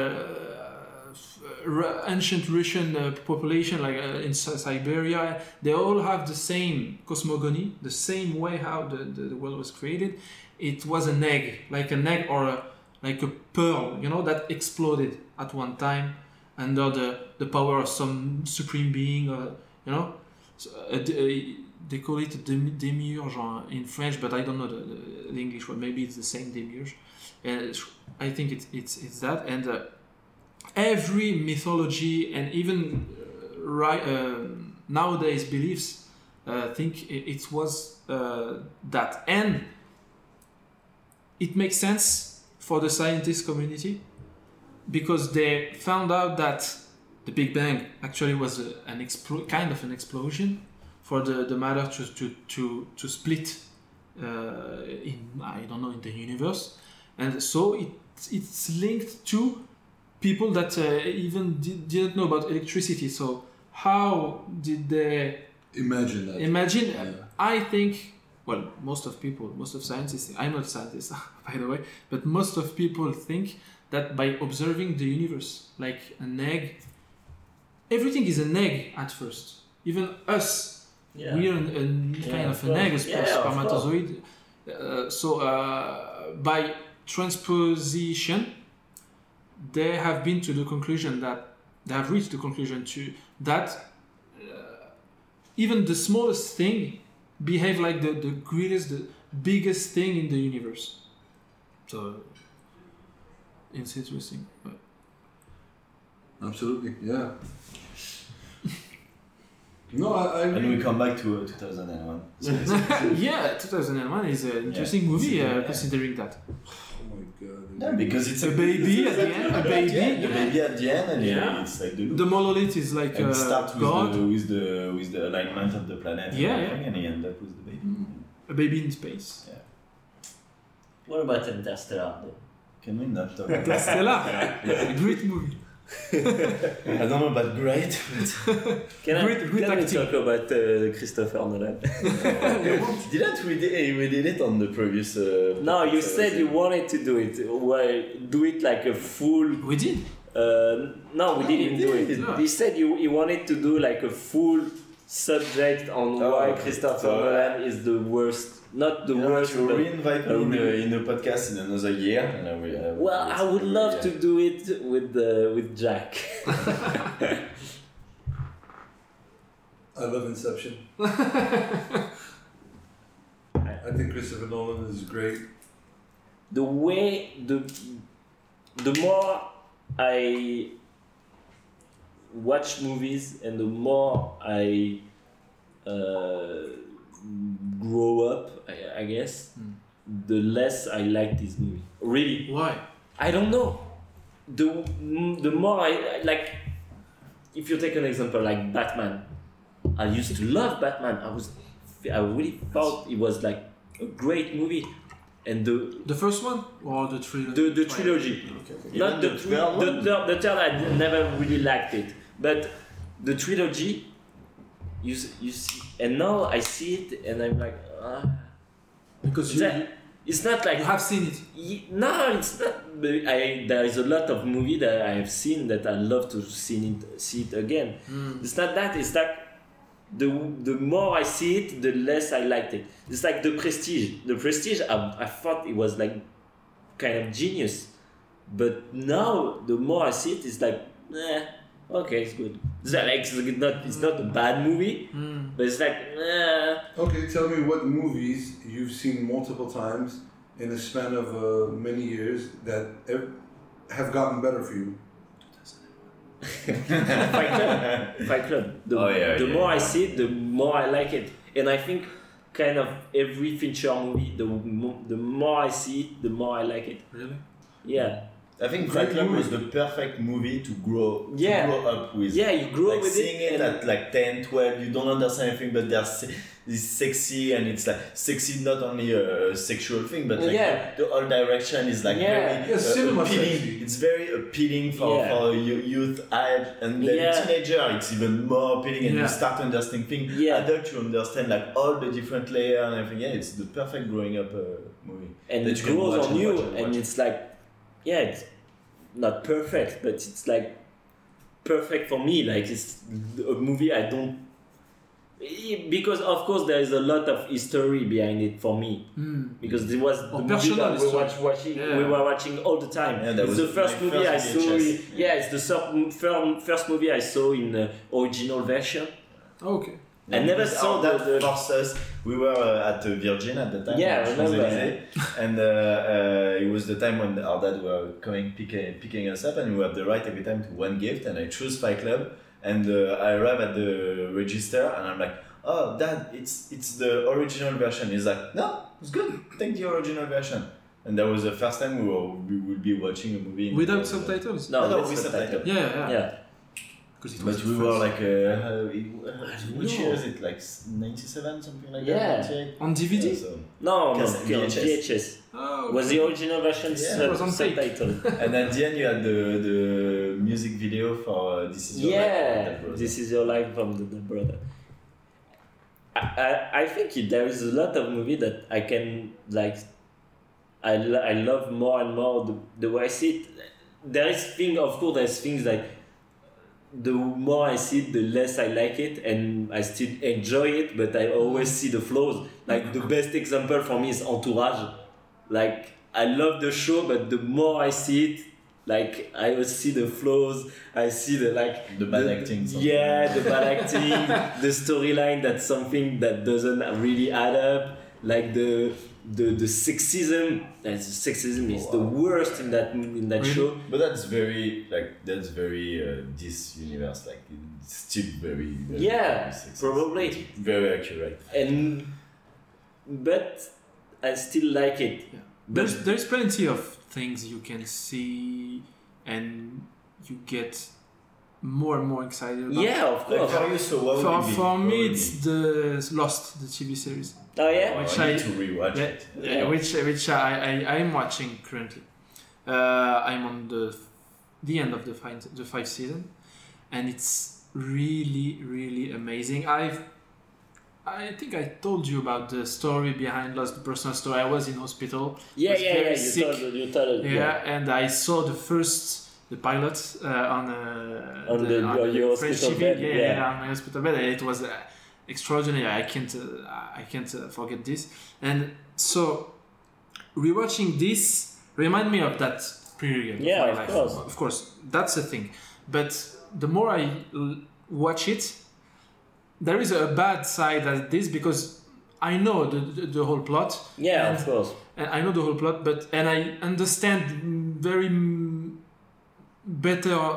Speaker 2: ancient Russian population, like in Siberia, they all have the same cosmogony, the same way how the world was created. It was an egg or like a pearl, that exploded at one time under the power of some supreme being, So, they call it demiurge in French, but I don't know the English word. Maybe it's the same demiurge. I think it's that. And every mythology and even nowadays beliefs think it was that. And it makes sense for the scientist community because they found out that the Big Bang actually was kind of an explosion for the matter to split in the universe, and so it's linked to people that even didn't know about electricity. So how did they
Speaker 4: imagine that?
Speaker 2: Yeah. I think, well, most of scientists, I'm not a scientist by the way, but most of people think that by observing the universe like an egg, everything is an egg at first. Even us, we are kind of an egg, a spermatozoid. So by transposition, they have reached the conclusion that even the smallest thing behave like the greatest, the biggest thing in the universe. So it's interesting.
Speaker 4: Absolutely, yeah. No, I
Speaker 7: and we come back to 2001.
Speaker 2: Yeah, 2001 is an interesting movie considering that.
Speaker 4: Oh my god.
Speaker 7: Yeah, because it's
Speaker 2: a baby at the end.
Speaker 7: The baby at the end, and it's like
Speaker 2: the monolith is like
Speaker 7: and start
Speaker 2: God.
Speaker 7: with the alignment of the planet. And he end up with the baby.
Speaker 2: A baby in space.
Speaker 7: Yeah.
Speaker 9: What about Interstellar?
Speaker 7: Can we not talk about
Speaker 2: Interstellar? A great movie.
Speaker 7: I don't know about great.
Speaker 9: Can we talk about Christopher Nolan?
Speaker 7: Didn't we did it on the previous?
Speaker 9: No, you said you wanted to do it. Well, do it like a full.
Speaker 2: We did.
Speaker 9: No, we didn't do it.
Speaker 2: No.
Speaker 9: He said you wanted to do like a full subject on why Christopher Nolan is the worst. Not the worst.
Speaker 7: You re-invite me in the podcast in another year. And
Speaker 9: I would love to do it with Jack.
Speaker 4: I love Inception. I think Christopher Nolan is great.
Speaker 9: The more I watch movies and the more I grow up, I guess, the less I like this movie. Really.
Speaker 2: Why?
Speaker 9: I don't know. The more I like, if you take an example like Batman, I used to love Batman. I really thought it was like a great movie, and the
Speaker 2: first one or the trilogy.
Speaker 9: The trilogy,
Speaker 7: Okay.
Speaker 9: not the third. I never really liked it, but the trilogy. You see, and now I see it, and I'm like,
Speaker 2: because
Speaker 9: it's not like
Speaker 2: you have seen it.
Speaker 9: No, it's not. There is a lot of movie that I have seen that I love to see it again. It's not that. It's like the more I see it, the less I liked it. It's like The Prestige. The Prestige, I thought it was like kind of genius, but now the more I see it, it's like, okay, it's good. It's not a bad movie, but it's like,
Speaker 4: Okay, tell me what movies you've seen multiple times in a span of many years that have gotten better for you.
Speaker 9: Fight Club. The more I see it, the more I like it, and I think kind of every Fincher movie, the more I see it, the more I like it.
Speaker 2: Really?
Speaker 9: Yeah.
Speaker 7: I think Fight Club was the perfect movie to grow up with.
Speaker 9: Yeah, you grow
Speaker 7: like
Speaker 9: with
Speaker 7: seeing it at like 10, 12, you don't understand anything, but sexy, and it's like sexy not only a sexual thing, but like
Speaker 9: Yeah.
Speaker 7: the whole direction is like
Speaker 9: Yeah.
Speaker 7: very
Speaker 2: cinema
Speaker 7: appealing.
Speaker 2: sexy.
Speaker 7: It's very appealing for youth age, and then
Speaker 9: Yeah.
Speaker 7: teenager it's even more appealing, and
Speaker 2: Yeah.
Speaker 7: you start to understand things.
Speaker 9: Yeah.
Speaker 7: Adult you understand like all the different layers and everything. Yeah, it's the perfect growing up movie.
Speaker 9: And
Speaker 7: that
Speaker 9: it
Speaker 7: you can
Speaker 9: grows
Speaker 7: watch
Speaker 9: on
Speaker 7: and
Speaker 9: you,
Speaker 7: watch and
Speaker 9: and
Speaker 7: watch.
Speaker 9: it's like, yeah, it's not perfect, but it's like perfect for me. Like it's a movie I don't, because of course there is a lot of history behind it for me, because it was the movie
Speaker 2: personal
Speaker 9: that we
Speaker 2: history.
Speaker 9: watching,
Speaker 2: Yeah.
Speaker 9: we were watching all the time.
Speaker 7: Yeah, that
Speaker 9: It's
Speaker 7: was
Speaker 9: the first
Speaker 7: my
Speaker 9: movie
Speaker 7: first
Speaker 9: I saw.
Speaker 7: VHS.
Speaker 9: It's the first movie I saw in the original version.
Speaker 2: Okay.
Speaker 9: I never
Speaker 7: Because
Speaker 9: saw
Speaker 7: that
Speaker 9: the
Speaker 7: forced us. We were at Virgin at the time.
Speaker 9: Yeah, I remember.
Speaker 7: Champs-Élysées. And it was the time when our dad were coming picking us up, and we had the right every time to one gift. And I chose Fight Club, and I arrive at the register, and I'm like, "Oh, Dad, it's the original version." He's like, "No, it's good. Take the original version." And that was the first time we would be watching a movie
Speaker 2: Without subtitles?
Speaker 9: No,
Speaker 7: with subtitles.
Speaker 2: Yeah.
Speaker 9: Yeah.
Speaker 2: Because it
Speaker 7: But
Speaker 2: was
Speaker 7: we
Speaker 2: the
Speaker 7: were
Speaker 2: first.
Speaker 7: like, which year is it? Like 97, something like
Speaker 9: Yeah.
Speaker 7: that? 98?
Speaker 2: On DVD?
Speaker 7: Yeah, so.
Speaker 9: No,
Speaker 7: VHS.
Speaker 9: VHS.
Speaker 2: Oh,
Speaker 9: Was the original version
Speaker 7: Yeah,
Speaker 2: it was on tape.
Speaker 9: subtitle?
Speaker 7: And at the end, you had the music video for This Is Your Life.
Speaker 9: Yeah, This Is Your Life from the brother. I think there is a lot of movie that I can like. I love more and more the way I see it. There is there's things like the more I see it, the less I like it, and I still enjoy it, but I always see the flaws. Like the best example for me is Entourage. Like I love the show, but the more I see it, like I always see the flaws. I see the
Speaker 7: bad acting.
Speaker 9: Yeah, the bad acting, the storyline that's something that doesn't really add up. Like the sexism. Sexism is the worst in that show.
Speaker 7: But that's very this universe. Like it's still very, very
Speaker 9: Yeah,
Speaker 7: sexist.
Speaker 9: probably.
Speaker 7: It's very accurate.
Speaker 9: But I still like it.
Speaker 2: Yeah. There's plenty of things you can see and you get more and more excited about.
Speaker 9: Yeah, of
Speaker 7: Like
Speaker 9: course.
Speaker 7: for you, so what would it be?
Speaker 2: For
Speaker 7: What
Speaker 2: me,
Speaker 7: would it
Speaker 2: it's
Speaker 7: be?
Speaker 2: the Lost, the TV series.
Speaker 9: Oh yeah.
Speaker 2: Which
Speaker 7: I need
Speaker 2: I-
Speaker 7: to rewatch it.
Speaker 2: Yeah, which I am watching currently. I'm on the end of the fifth season, and it's really amazing. I think I told you about the story behind Lost, the personal story. I was in hospital.
Speaker 9: Yeah,
Speaker 2: was
Speaker 9: yeah,
Speaker 2: very
Speaker 9: yeah.
Speaker 2: sick.
Speaker 9: You told it.
Speaker 2: Yeah, and I saw the pilot on
Speaker 9: your
Speaker 2: French
Speaker 9: hospital
Speaker 2: TV.
Speaker 9: bed,
Speaker 2: Yeah,
Speaker 9: yeah.
Speaker 2: on my hospital bed. And it was extraordinary. I can't forget this. And so rewatching this remind me of that period
Speaker 9: Yeah,
Speaker 2: of
Speaker 9: of
Speaker 2: my life.
Speaker 9: course.
Speaker 2: Of course, that's the thing. But the more I watch it, there is a bad side at this because I know the whole plot.
Speaker 9: Yeah,
Speaker 2: and,
Speaker 9: of course.
Speaker 2: And I know the whole plot, and I understand very better.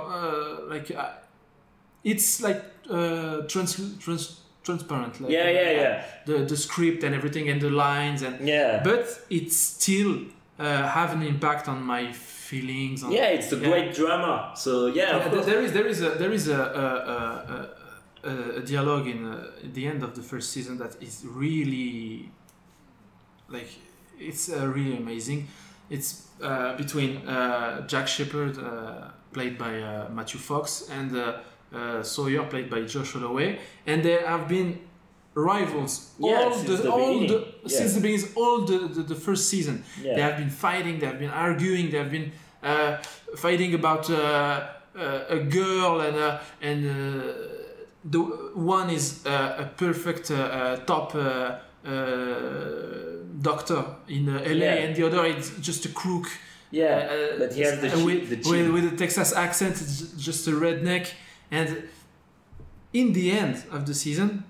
Speaker 2: It's like transparent. Like,
Speaker 9: Yeah.
Speaker 2: The script and everything and the lines
Speaker 9: Yeah.
Speaker 2: but it still have an impact on my feelings.
Speaker 9: Yeah, it's a great drama. So yeah, of course.
Speaker 2: There is a dialogue at the end of the first season that is really like it's really amazing. It's between Jack Shepherd, played by Matthew Fox, and Sawyer, played by Josh Holloway, and they have been rivals since the beginning, all the first season.
Speaker 9: Yeah.
Speaker 2: They have been fighting, they have been arguing, they have been fighting about a girl, and the one is a perfect top doctor in LA, and the other is just a crook.
Speaker 9: Yeah, but he has the chin.
Speaker 2: With a Texas accent, it's just a redneck. And in the end of the season,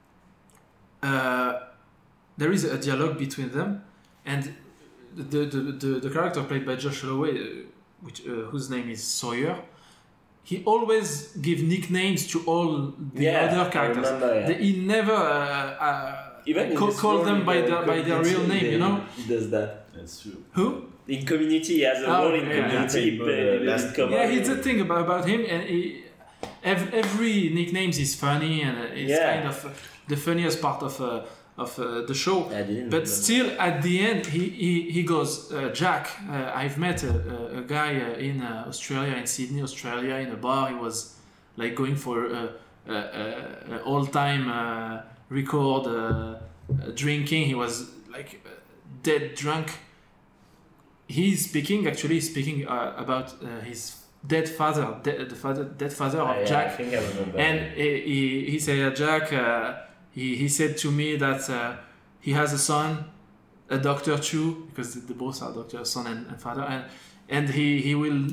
Speaker 2: there is a dialogue between them, and the character played by Josh Holloway, whose name is Sawyer, he always give nicknames to all the other characters.
Speaker 9: I remember,
Speaker 2: He never
Speaker 9: even
Speaker 2: call them by their real name, you know?
Speaker 9: He does that.
Speaker 7: That's true.
Speaker 2: Who?
Speaker 9: In Community, he has a role in Community.
Speaker 7: Yeah.
Speaker 2: Yeah, it's a thing about him, and every nicknames is funny and it's kind of the funniest part of the show. But still, at the end, he goes, Jack, I've met a guy in Australia, in Sydney, Australia, in a bar. He was like going for an all-time record drinking. He was like dead drunk. He's speaking about his dead father, dead father of Jack.
Speaker 9: I think I remember.
Speaker 2: And he said, Jack, he said to me that he has a son, a doctor too, because they both are doctors, son and father, and he will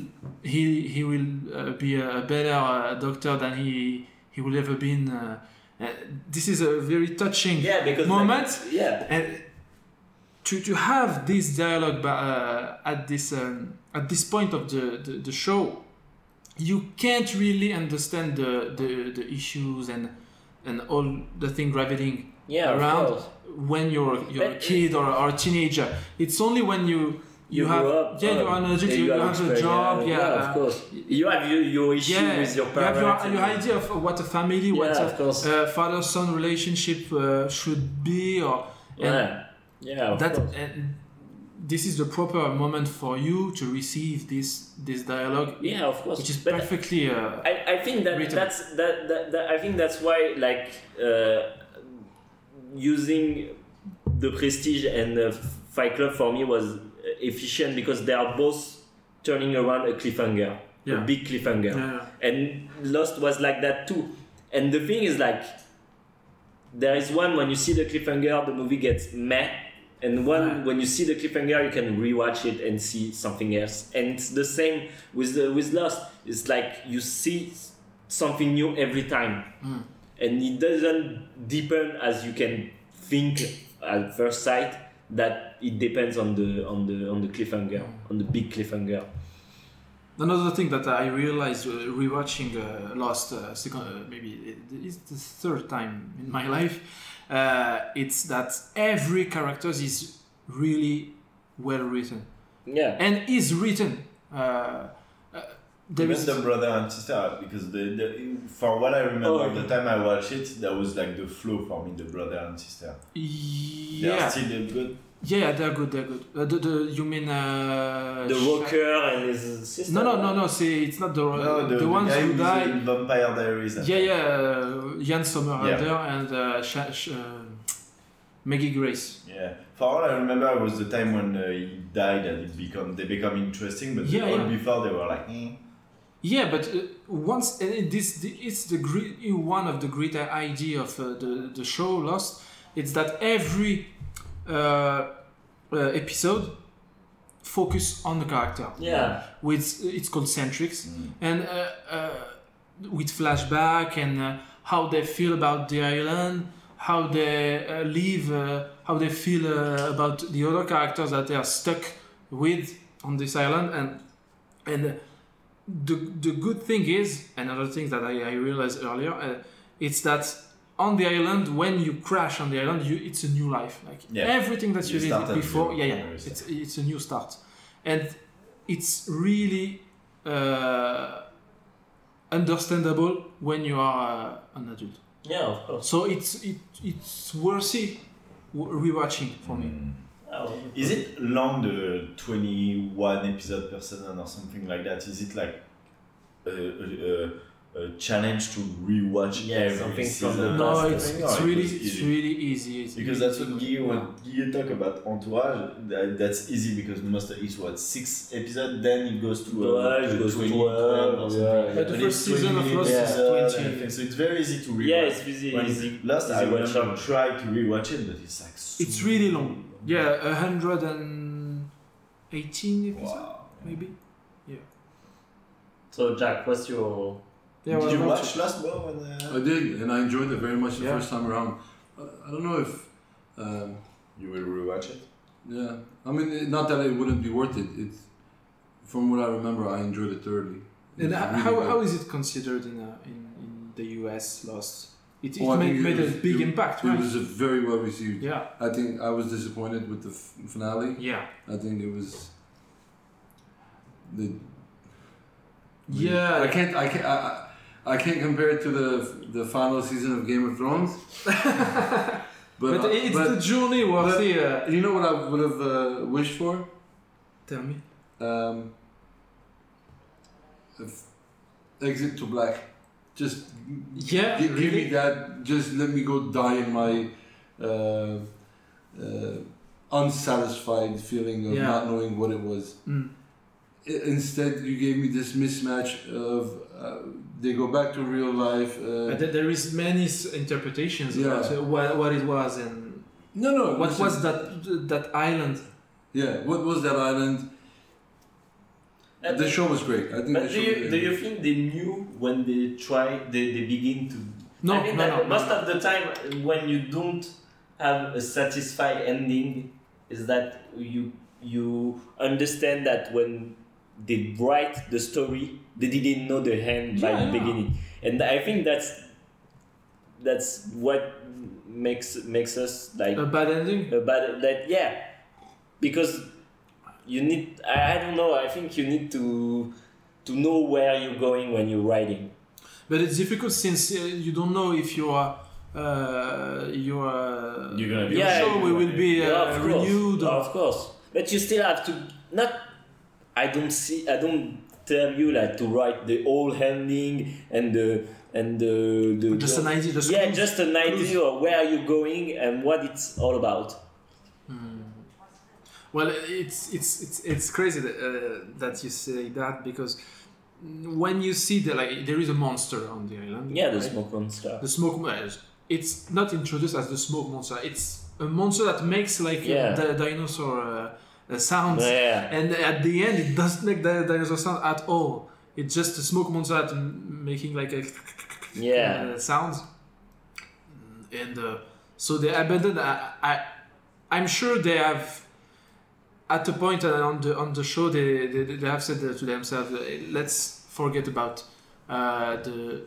Speaker 2: be a better doctor than he will ever been. This is a very touching moment. And to have this dialogue at this point of the show, you can't really understand the issues and all the thing gravitating around when you're a kid or a teenager. It's only when you have up, you're an adult, you have a job,
Speaker 9: of course. You have your issue with your parents.
Speaker 2: You have your idea of what a family, what a father-son relationship should be, of course. And this is the proper moment for you to receive this dialogue.
Speaker 9: Yeah, of course.
Speaker 2: Which is perfectly.
Speaker 9: I think I think that's why using the Prestige and Fight Club for me was efficient because they are both turning around a cliffhanger, a big cliffhanger, and Lost was like that too. And the thing is, like, there is one when you see the cliffhanger, the movie gets meh. And when you see the cliffhanger, you can rewatch it and see something else. And it's the same with Lost. It's like you see something new every time, and it doesn't deepen as you can think at first sight. That it depends on the cliffhanger, on the big cliffhanger.
Speaker 2: Another thing that I realized rewatching Lost, maybe it's the third time in my life. It's that every character is really well written.
Speaker 9: Yeah.
Speaker 2: And is written.
Speaker 7: Even the brother and sister, because for what I remember, the time I watched it, that was like the flow for me, the brother and sister.
Speaker 2: Yeah.
Speaker 7: They are still good?
Speaker 2: Yeah, they're good. You mean...
Speaker 9: the Walker and his sister?
Speaker 2: No, see, it's not the ones
Speaker 7: guy
Speaker 2: who died.
Speaker 7: In Vampire Diaries.
Speaker 2: Jan Somerhalder and Maggie Grace.
Speaker 7: Yeah, for all I remember, it was the time when he died and they become interesting, but before they were like...
Speaker 2: Yeah, but once it's one of the great idea of the show Lost. It's that every episode focus on the character.
Speaker 9: Yeah.
Speaker 2: It's called Centrics, and with flashback and how they feel about the island, how they live, how they feel about the other characters that they are stuck with on this island, and the good thing is, another thing that I realized earlier, it's that on the island, when you crash on the island, it's a new life. Like everything that you did before, it's a new start, and it's really understandable when you are an adult.
Speaker 9: Yeah, of course.
Speaker 2: So it's worthy rewatching for me.
Speaker 7: Is it long, the 21 episode per season or something like that? Is it like a challenge to rewatch every season?
Speaker 2: No, it's really easy.
Speaker 7: Because that's what Guy talk about Entourage. That's easy because most of it's 6 episodes, then it goes to 12 or something.
Speaker 2: But the first season of Lost is 20.
Speaker 7: So it's very easy to rewatch.
Speaker 9: Yeah, it's easy.
Speaker 7: Lost, I will try to rewatch it, but it's like
Speaker 2: it's really long. Yeah, 118 episodes, maybe. Yeah.
Speaker 9: So Jack, what's your...
Speaker 7: Did you watch Lost, Bo?
Speaker 4: I did, and I enjoyed it very much the first time around. I don't know if...
Speaker 7: you will rewatch it?
Speaker 4: Yeah. I mean, not that it wouldn't be worth it. It's, from what I remember, I enjoyed it thoroughly.
Speaker 2: And how is it considered in the US, Lost? It made a big impact, right?
Speaker 4: It was very well received.
Speaker 2: Yeah.
Speaker 4: I think I was disappointed with the finale.
Speaker 2: Yeah.
Speaker 4: I think it was... I can't compare it to the final season of Game of Thrones.
Speaker 2: But it's the journey worthy.
Speaker 4: You know what I would have wished for?
Speaker 2: Tell me.
Speaker 4: Exit to Black. Just give
Speaker 2: really?
Speaker 4: me that. Just let me go die in my unsatisfied feeling of not knowing what it was. Instead, you gave me this mismatch of they go back to real life.
Speaker 2: There is many interpretations about what it was and what was that island.
Speaker 4: Yeah, what was that island? The show was great. I think.
Speaker 9: But do you think they knew when they tried? They begin to.
Speaker 2: No,
Speaker 9: I think most of the time when you don't have a satisfied ending, is that you understand that when they write the story, they didn't know the end by the beginning, and I think that's what makes us like
Speaker 2: a bad ending.
Speaker 9: Because you need. I don't know. I think you need to know where you're going when you're writing.
Speaker 2: But it's difficult since you don't know if your show will be renewed.
Speaker 9: Of course, but you still have to not. I don't tell you like to write the whole ending and the
Speaker 2: just an idea.
Speaker 9: Just an idea of where you're going and what it's all about.
Speaker 2: Well, it's crazy that you say that, because when you see there is a monster on the island.
Speaker 9: Yeah, the smoke monster.
Speaker 2: The smoke monster. It's not introduced as the smoke monster. It's a monster that makes the dinosaur sounds.
Speaker 9: Yeah.
Speaker 2: And at the end, it doesn't make the dinosaur sound at all. It's just a smoke monster that making like a sounds. And so they abandoned. I'm sure they have. At a point on the show, they have said to themselves, let's forget about the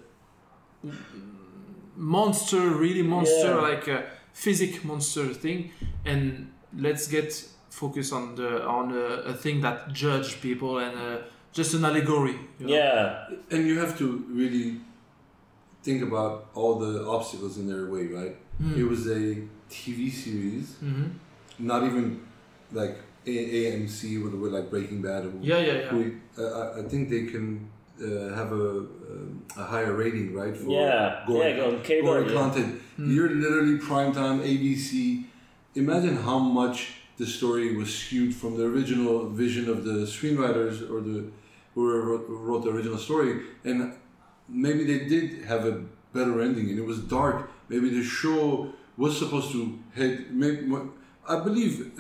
Speaker 2: monster, like a physic monster thing, and let's get focused on a thing that judge people and just an allegory. You know?
Speaker 9: Yeah,
Speaker 4: and you have to really think about all the obstacles in their way, right? It was a TV series, not even like AMC with like Breaking Bad. I think they can have a higher rating, right? For
Speaker 9: on cable.
Speaker 4: Gory content. You're literally primetime ABC. Imagine how much the story was skewed from the original vision of the screenwriters or whoever wrote the original story, and maybe they did have a better ending, and it was dark. Maybe the show was supposed to hit. I believe.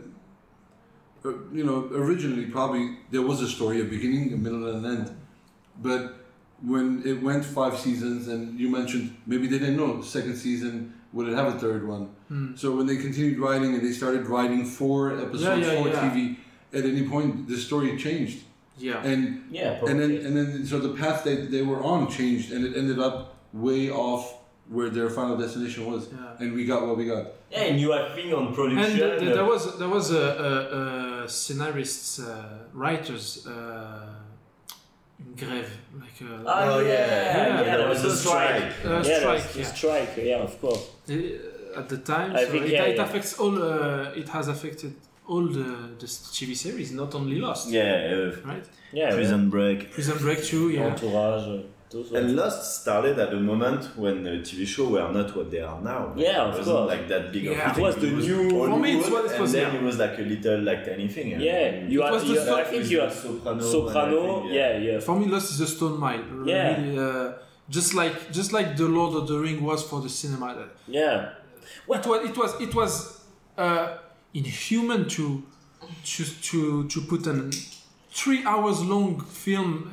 Speaker 4: Originally probably there was a story, a beginning, a middle, and an end. But when it went 5 seasons, and you mentioned maybe they didn't know the second season would it have a third one. So when they continued writing and they started writing 4 episodes for TV, at any point the story changed. And then so the path they were on changed, and it ended up way off where their final destination was, and we got what we got.
Speaker 9: Yeah, and you are thinking on production.
Speaker 2: And there was a scenarists, writers in grève, like.
Speaker 9: There was a strike.
Speaker 2: Strike.
Speaker 9: Yeah, of course.
Speaker 2: At the time, it affects all. It has affected all the TV series, not only Lost. Right.
Speaker 9: Yeah.
Speaker 5: Prison Break
Speaker 2: too. Yeah.
Speaker 9: Entourage.
Speaker 5: And Lost started at a moment when TV shows were not what they are now.
Speaker 9: Yeah, of
Speaker 5: course. It wasn't like that big of a thing.
Speaker 9: It was the new.
Speaker 2: For me, it was.
Speaker 5: And then it was like a little like tiny thing.
Speaker 9: Yeah, I think you are Soprano. Yeah.
Speaker 2: For me, Lost is a stone mile.
Speaker 9: Yeah.
Speaker 2: Really, just like the Lord of the Ring was for the cinema.
Speaker 9: Yeah.
Speaker 2: It was inhuman to put a 3 hours long film.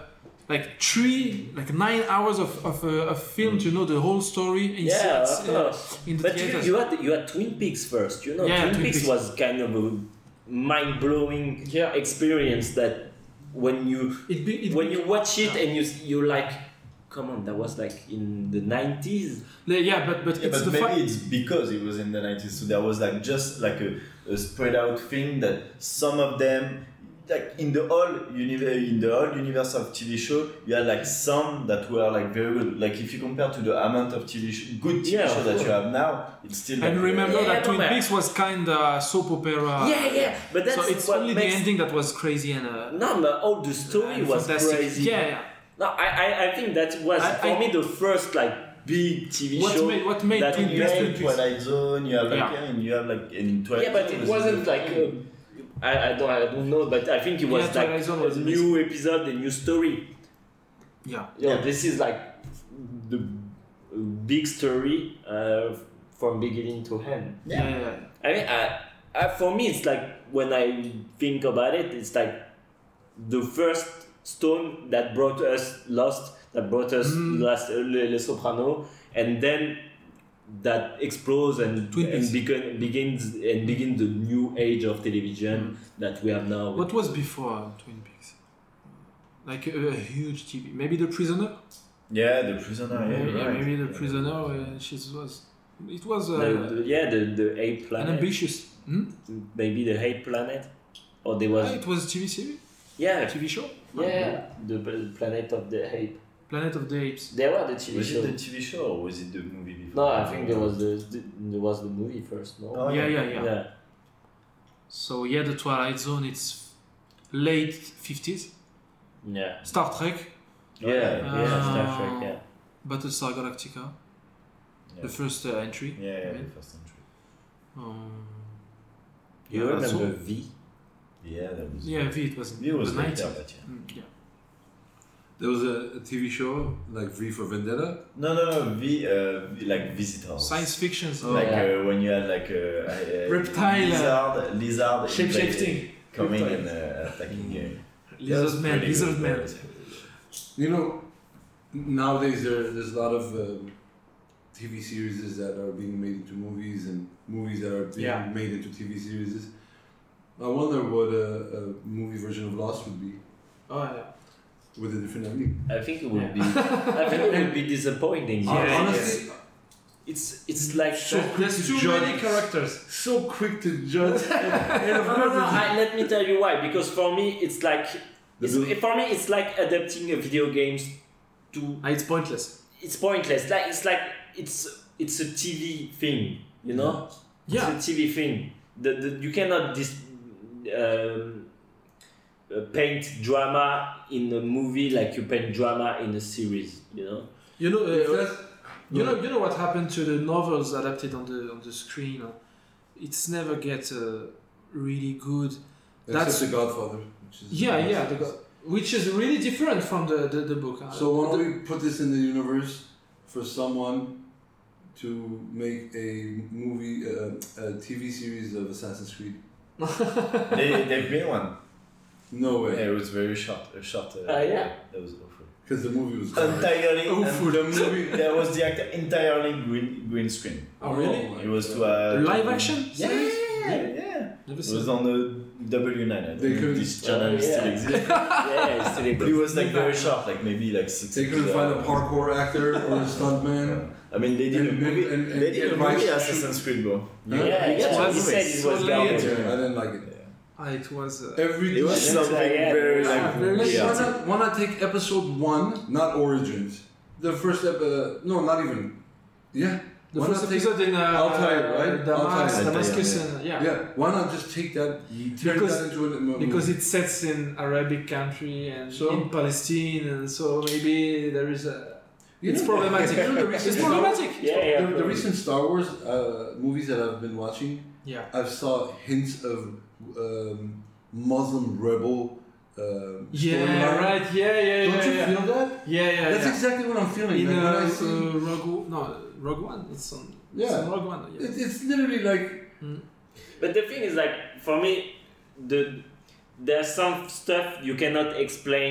Speaker 2: 9 hours of film to know the whole story in the
Speaker 9: but
Speaker 2: theaters.
Speaker 9: you had Twin Peaks first, Twin Peaks was kind of a mind-blowing experience that when you watch it and you're like, come on, that was like in the 90s.
Speaker 5: It's because it was in the 90s, so there was like just like a spread out thing that some of them
Speaker 7: like in the whole universe of TV show, you had like some that were like very good. Like if you compare to the amount of good TV show that you have now, it's still.
Speaker 2: And
Speaker 7: like,
Speaker 2: remember that Twin
Speaker 9: but-
Speaker 2: Peaks was kind of soap opera.
Speaker 9: but that's
Speaker 2: So it's
Speaker 9: what
Speaker 2: only
Speaker 9: makes
Speaker 2: the ending that was crazy and.
Speaker 9: No, but all the story
Speaker 2: and
Speaker 9: was
Speaker 2: fantastic.
Speaker 9: crazy.
Speaker 2: Yeah.
Speaker 9: No, I think that was for me the first like big TV show.
Speaker 2: What made
Speaker 9: that
Speaker 2: Twin
Speaker 7: you
Speaker 2: Peaks
Speaker 7: have
Speaker 2: Twin Peaks?
Speaker 7: Twilight Zone, you have like
Speaker 2: Yeah.
Speaker 7: and you have like in Twilight.
Speaker 9: Yeah, but
Speaker 7: Zone
Speaker 9: it
Speaker 7: was
Speaker 9: wasn't like I don't know, but I think it was
Speaker 2: Yeah, Twilight Zone
Speaker 9: like
Speaker 2: was
Speaker 9: a new episode, a new story.
Speaker 2: Yeah.
Speaker 9: Yeah, this is like the big story from beginning to end.
Speaker 2: Yeah.
Speaker 9: I mean, for me, it's like when I think about it, it's like the first stone that brought us Lost, that brought us Les Sopranos, and then that explodes and
Speaker 2: Twin Peaks.
Speaker 9: begins the new age of television that we have now.
Speaker 2: What was before Twin Peaks? Like a huge TV. Maybe The Prisoner?
Speaker 7: Yeah, The Prisoner. Yeah, right.
Speaker 2: Maybe The Prisoner. It was
Speaker 9: the Ape
Speaker 2: an
Speaker 9: Planet.
Speaker 2: ambitious.
Speaker 9: Maybe the Ape Planet, or there was
Speaker 2: It was a TV series?
Speaker 9: yeah
Speaker 2: TV show?
Speaker 9: yeah the Planet of the Ape.
Speaker 2: Planet of the Apes.
Speaker 9: There were the TV
Speaker 7: Was
Speaker 9: show.
Speaker 7: it the TV show or was it the movie before?
Speaker 9: No, I think there was the movie first. No.
Speaker 7: Oh,
Speaker 2: Yeah. So yeah, the Twilight Zone. It's late 50s.
Speaker 9: Yeah.
Speaker 2: Star Trek.
Speaker 9: Star Trek. Yeah.
Speaker 2: Battlestar Galactica. The first entry.
Speaker 7: Yeah, the first entry.
Speaker 9: You
Speaker 2: Yeah, that's
Speaker 9: remember
Speaker 2: all.
Speaker 9: V?
Speaker 7: Yeah, that was.
Speaker 2: Yeah, V. It was
Speaker 7: It was
Speaker 2: the
Speaker 7: later,
Speaker 2: 90s.
Speaker 7: but yeah.
Speaker 2: Yeah.
Speaker 4: There was a TV show like V for Vendetta.
Speaker 7: No, like Visitors.
Speaker 2: Science fiction.
Speaker 7: Like
Speaker 9: Yeah.
Speaker 7: when you had like a
Speaker 2: Reptile,
Speaker 7: lizard
Speaker 2: shape-shifting.
Speaker 7: coming
Speaker 2: Reptile.
Speaker 7: and attacking.
Speaker 2: Lizard Man.
Speaker 7: Pretty
Speaker 2: Lizard
Speaker 7: good.
Speaker 2: Man.
Speaker 4: You know, nowadays there's a lot of TV series that are being made into movies and movies that are being made into TV series. I wonder what a movie version of Lost would be
Speaker 2: Oh yeah.
Speaker 4: with a different ending.
Speaker 9: I think it would be. I think it would be disappointing.
Speaker 4: Honestly,
Speaker 9: It's like
Speaker 4: so quick
Speaker 2: There's
Speaker 4: to
Speaker 2: too
Speaker 4: judge.
Speaker 2: many characters.
Speaker 4: So quick to judge. And of course,
Speaker 9: Let me tell you why. Because for me, it's like it's like adapting a video games to.
Speaker 2: It's pointless.
Speaker 9: It's pointless. It's a TV thing, you know.
Speaker 2: Yeah.
Speaker 9: It's a TV thing. You cannot paint drama in a movie like you paint drama in a series, you know.
Speaker 2: You know.
Speaker 4: If that's-
Speaker 2: You know what happened to the novels adapted on the screen? It's never get really good.
Speaker 4: Except The Godfather. Which is
Speaker 2: Which is really different from the book.
Speaker 4: So why don't we put this in the universe for someone to make a movie, a TV series of Assassin's Creed?
Speaker 7: They've been one.
Speaker 4: No way.
Speaker 7: Yeah, it was very short.
Speaker 9: Yeah.
Speaker 7: That was awful.
Speaker 4: Because the movie was
Speaker 7: Entirely.
Speaker 4: Awful.
Speaker 7: The movie. There was the actor entirely green screen.
Speaker 2: Oh really?
Speaker 7: It was to
Speaker 2: Live action?
Speaker 7: Yeah.
Speaker 2: Never
Speaker 7: It
Speaker 2: seen.
Speaker 7: was on the W9. I don't
Speaker 4: They
Speaker 7: know if
Speaker 4: couldn't-
Speaker 7: this channel still exists.
Speaker 9: Yeah, it's still
Speaker 7: But it was like very short, like maybe like 6.
Speaker 4: They couldn't find a parkour actor or a stuntman.
Speaker 7: I mean, they did a
Speaker 4: And-
Speaker 7: movie.
Speaker 4: and-
Speaker 7: They did a
Speaker 4: and
Speaker 7: movie
Speaker 4: Rice-
Speaker 7: Assassin's Creed, bro.
Speaker 9: Yeah, he said it was
Speaker 2: So
Speaker 9: garbage.
Speaker 2: late.
Speaker 4: I didn't like it.
Speaker 2: It was.
Speaker 4: Every
Speaker 7: It was something very like
Speaker 2: very
Speaker 7: weird.
Speaker 4: why not take episode 1, not Origins? The first no, not even. Yeah.
Speaker 2: The
Speaker 4: Why
Speaker 2: first
Speaker 4: not take-
Speaker 2: episode in
Speaker 4: Altair, right? Altair.
Speaker 2: Damascus,
Speaker 7: Yeah.
Speaker 2: and
Speaker 4: Yeah. Why not just take that? Turn
Speaker 2: Because-
Speaker 4: that into a movie?
Speaker 2: because it sets in Arabic country and
Speaker 4: So?
Speaker 2: in Palestine, and so maybe there is a.
Speaker 4: You
Speaker 2: It's
Speaker 4: know,
Speaker 2: problematic.
Speaker 4: you know the recent
Speaker 2: It's
Speaker 4: Star-
Speaker 2: problematic.
Speaker 4: The recent Star Wars movies that I've been watching,
Speaker 2: Yeah.
Speaker 4: I've saw hints of Muslim rebel.
Speaker 2: Yeah.
Speaker 4: storyline.
Speaker 2: Right. Yeah.
Speaker 4: Don't you feel that?
Speaker 2: Yeah.
Speaker 4: That's exactly what I'm feeling.
Speaker 2: In
Speaker 4: Like, when I see,
Speaker 2: Rogue One. It's on.
Speaker 4: Yeah.
Speaker 2: It's on Rogue One. Yeah.
Speaker 4: it's literally like
Speaker 9: But the thing is, like, for me, there's some stuff you cannot explain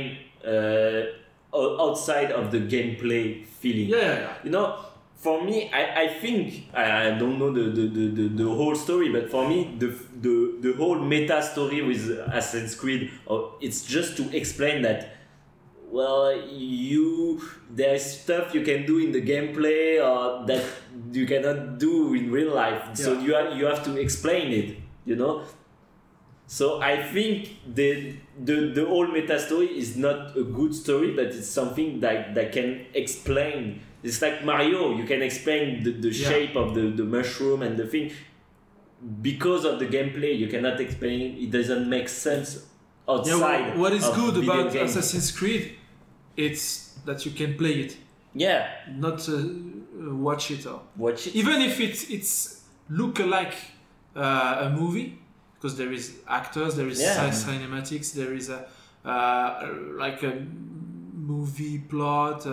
Speaker 9: outside of the gameplay feeling.
Speaker 2: Yeah.
Speaker 9: You know, for me, I think I don't know the whole story, but for me, the whole meta story with Assassin's Creed, it's just to explain that. Well, there's stuff you can do in the gameplay or that you cannot do in real life. So you have to explain it, you know. So I think the whole meta story is not a good story, but it's something that can explain. It's like Mario, you can explain the shape of the mushroom and the thing. Because of the gameplay, you cannot explain it. It doesn't make sense outside.
Speaker 2: What is
Speaker 9: of
Speaker 2: good
Speaker 9: video
Speaker 2: about
Speaker 9: games.
Speaker 2: Assassin's Creed, it's that you can play it,
Speaker 9: Yeah,
Speaker 2: not watch it. Or
Speaker 9: watch it.
Speaker 2: even if it's look like a movie, because there is actors, there is cinematics, there is a like a movie plot,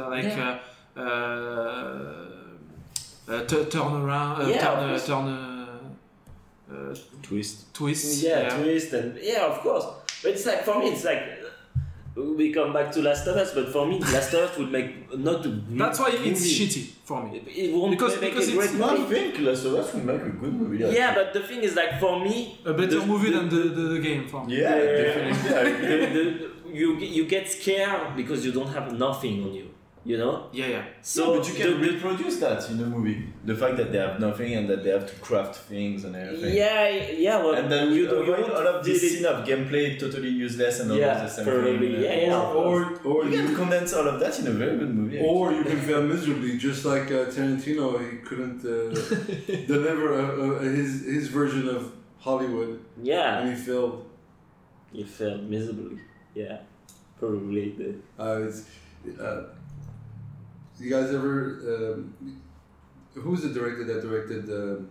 Speaker 5: Twist.
Speaker 2: twist.
Speaker 9: Twist and of course. But it's like, for me, it's like we come back to Last of Us, but for me, Last of Us would make not a great
Speaker 2: That's why it's
Speaker 9: movie.
Speaker 2: shitty for me.
Speaker 9: It won't
Speaker 2: Because
Speaker 9: make a
Speaker 2: it's
Speaker 9: great
Speaker 7: I
Speaker 9: movie.
Speaker 7: think Last of Us will make a good movie.
Speaker 9: Yeah, but the thing is, like, for me,
Speaker 2: A better movie than the game for me.
Speaker 7: Yeah, definitely. I agree.
Speaker 9: you get scared because you don't have nothing on you. You know?
Speaker 2: Yeah.
Speaker 9: So
Speaker 7: but you can reproduce that in a movie. The fact that they have nothing and that they have to craft things and everything.
Speaker 9: Well,
Speaker 7: And then you avoid
Speaker 9: won't
Speaker 7: all of this
Speaker 9: did it-
Speaker 7: scene of gameplay totally useless and all of the same
Speaker 9: probably.
Speaker 7: thing.
Speaker 4: Or
Speaker 7: You can condense all of that in a very good movie.
Speaker 4: Or you can fail miserably, just like Tarantino. He couldn't deliver his version of Hollywood,
Speaker 9: Yeah,
Speaker 4: and he failed.
Speaker 9: you failed miserably. Yeah, probably.
Speaker 4: You guys ever? Who's the director that directed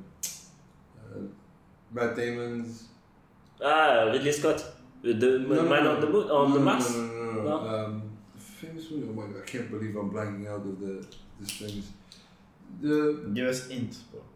Speaker 4: Matt Damon's?
Speaker 9: Ridley Scott, the Man on the Moon, on the Mars.
Speaker 4: No. Famous movie. Oh my god! I can't believe I'm blanking out of this famous.
Speaker 7: Give us hint.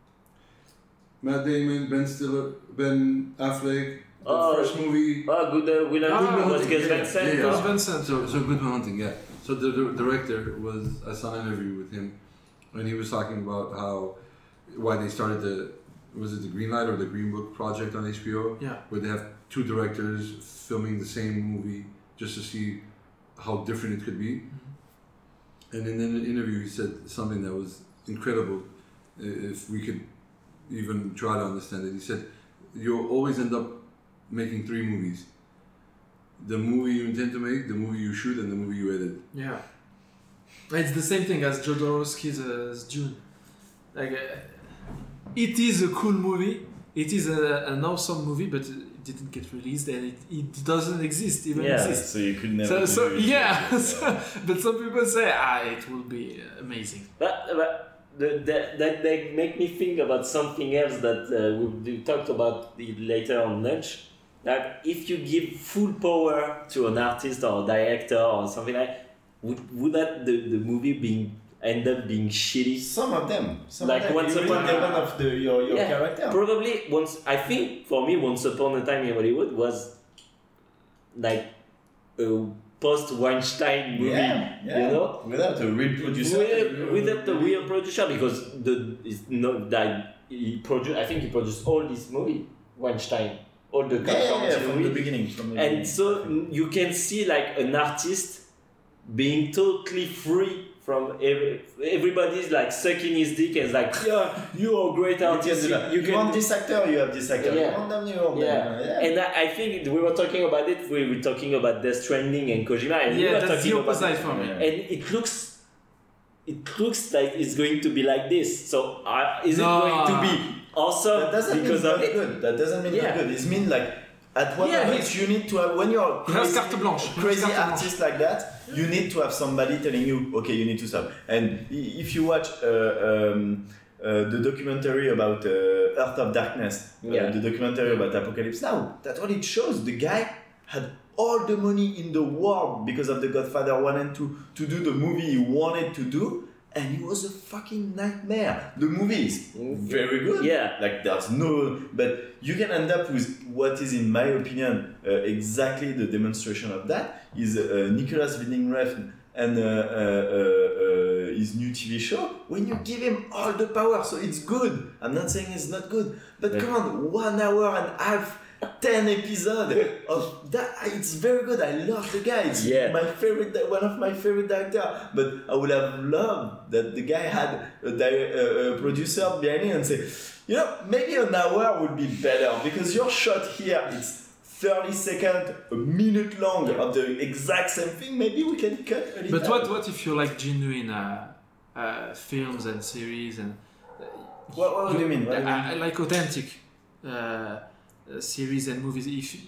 Speaker 4: Matt Damon, Ben Stiller, Ben Affleck. The first movie.
Speaker 9: Good William was Gus Van Sant.
Speaker 4: Yeah,
Speaker 2: Gus
Speaker 9: no?
Speaker 2: Van Sant.
Speaker 4: So Good Will Hunting, yeah. So the director I saw an interview with him, and he was talking about why they started was it the Green Light or the Green Book project on HBO?
Speaker 2: Yeah.
Speaker 4: Where they have two directors filming the same movie just to see how different it could be. Mm-hmm. And in the interview, he said something that was incredible. If we could even try to understand it, he said, "You'll always end up making three movies. The movie you intend to make, the movie you shoot, and the movie you edit."
Speaker 2: Yeah. It's the same thing as Jodorowsky's Dune. Like, it is a cool movie. It is an awesome movie, but it didn't get released and it doesn't exist.
Speaker 7: So you could never.
Speaker 2: But some people say, it will be amazing.
Speaker 9: But that they make me think about something else that we talked about it later on lunch. Like, if you give full power to an artist or a director or something like, would that the movie end up being shitty?
Speaker 7: Some of them.
Speaker 9: Like Once Upon a
Speaker 7: Time of your character.
Speaker 9: Probably I think for me, Once Upon a Time in Hollywood was like a post-Weinstein movie.
Speaker 7: Yeah.
Speaker 9: You know,
Speaker 7: Without a real producer.
Speaker 9: Without the real producer, because it's not that he produced. I think he produced all this movie, Weinstein. All the
Speaker 7: from the beginning.
Speaker 9: And so you can see like an artist being totally free from everybody's like sucking his dick and like, yeah, you're a great artist.
Speaker 7: You want this actor, you have this actor.
Speaker 9: Yeah.
Speaker 7: You want them, you want them.
Speaker 9: And I think we were talking about it. We were talking about Death Stranding and Kojima. And we were
Speaker 2: that's
Speaker 9: talking
Speaker 2: the opposite
Speaker 9: about
Speaker 2: for me.
Speaker 9: And it looks like it's going to be like this. So is it going to be awesome?
Speaker 7: That doesn't
Speaker 9: because
Speaker 7: mean
Speaker 9: of
Speaker 7: not
Speaker 9: it?
Speaker 7: good. That doesn't mean not good. It means like at one moment you need to have, when you're crazy artist like that, you need to have somebody telling you, okay, you need to stop. And if you watch the documentary about Earth of Darkness, the documentary about Apocalypse Now, that's what it shows. The guy had all the money in the world because of The Godfather 1 and 2 to do the movie he wanted to do, and it was a fucking nightmare. The movie is very good.
Speaker 9: Yeah.
Speaker 7: Like there's no, but you can end up with what is, in my opinion, exactly the demonstration of that is Nicolas Winding Refn and his new TV show. When you give him all the power, so it's good. I'm not saying it's not good, but come on, 1 hour and a half. 10 episodes of that. It's very good. I love the guy. It's my favorite, one of my favorite directors. But I would have loved that the guy had a producer behind him and say, maybe an hour would be better because your shot here is 30 seconds, a minute long of the exact same thing, maybe we can cut a little.
Speaker 2: But what if you like genuine films and series and
Speaker 7: what do you mean?
Speaker 2: Like authentic series and movies?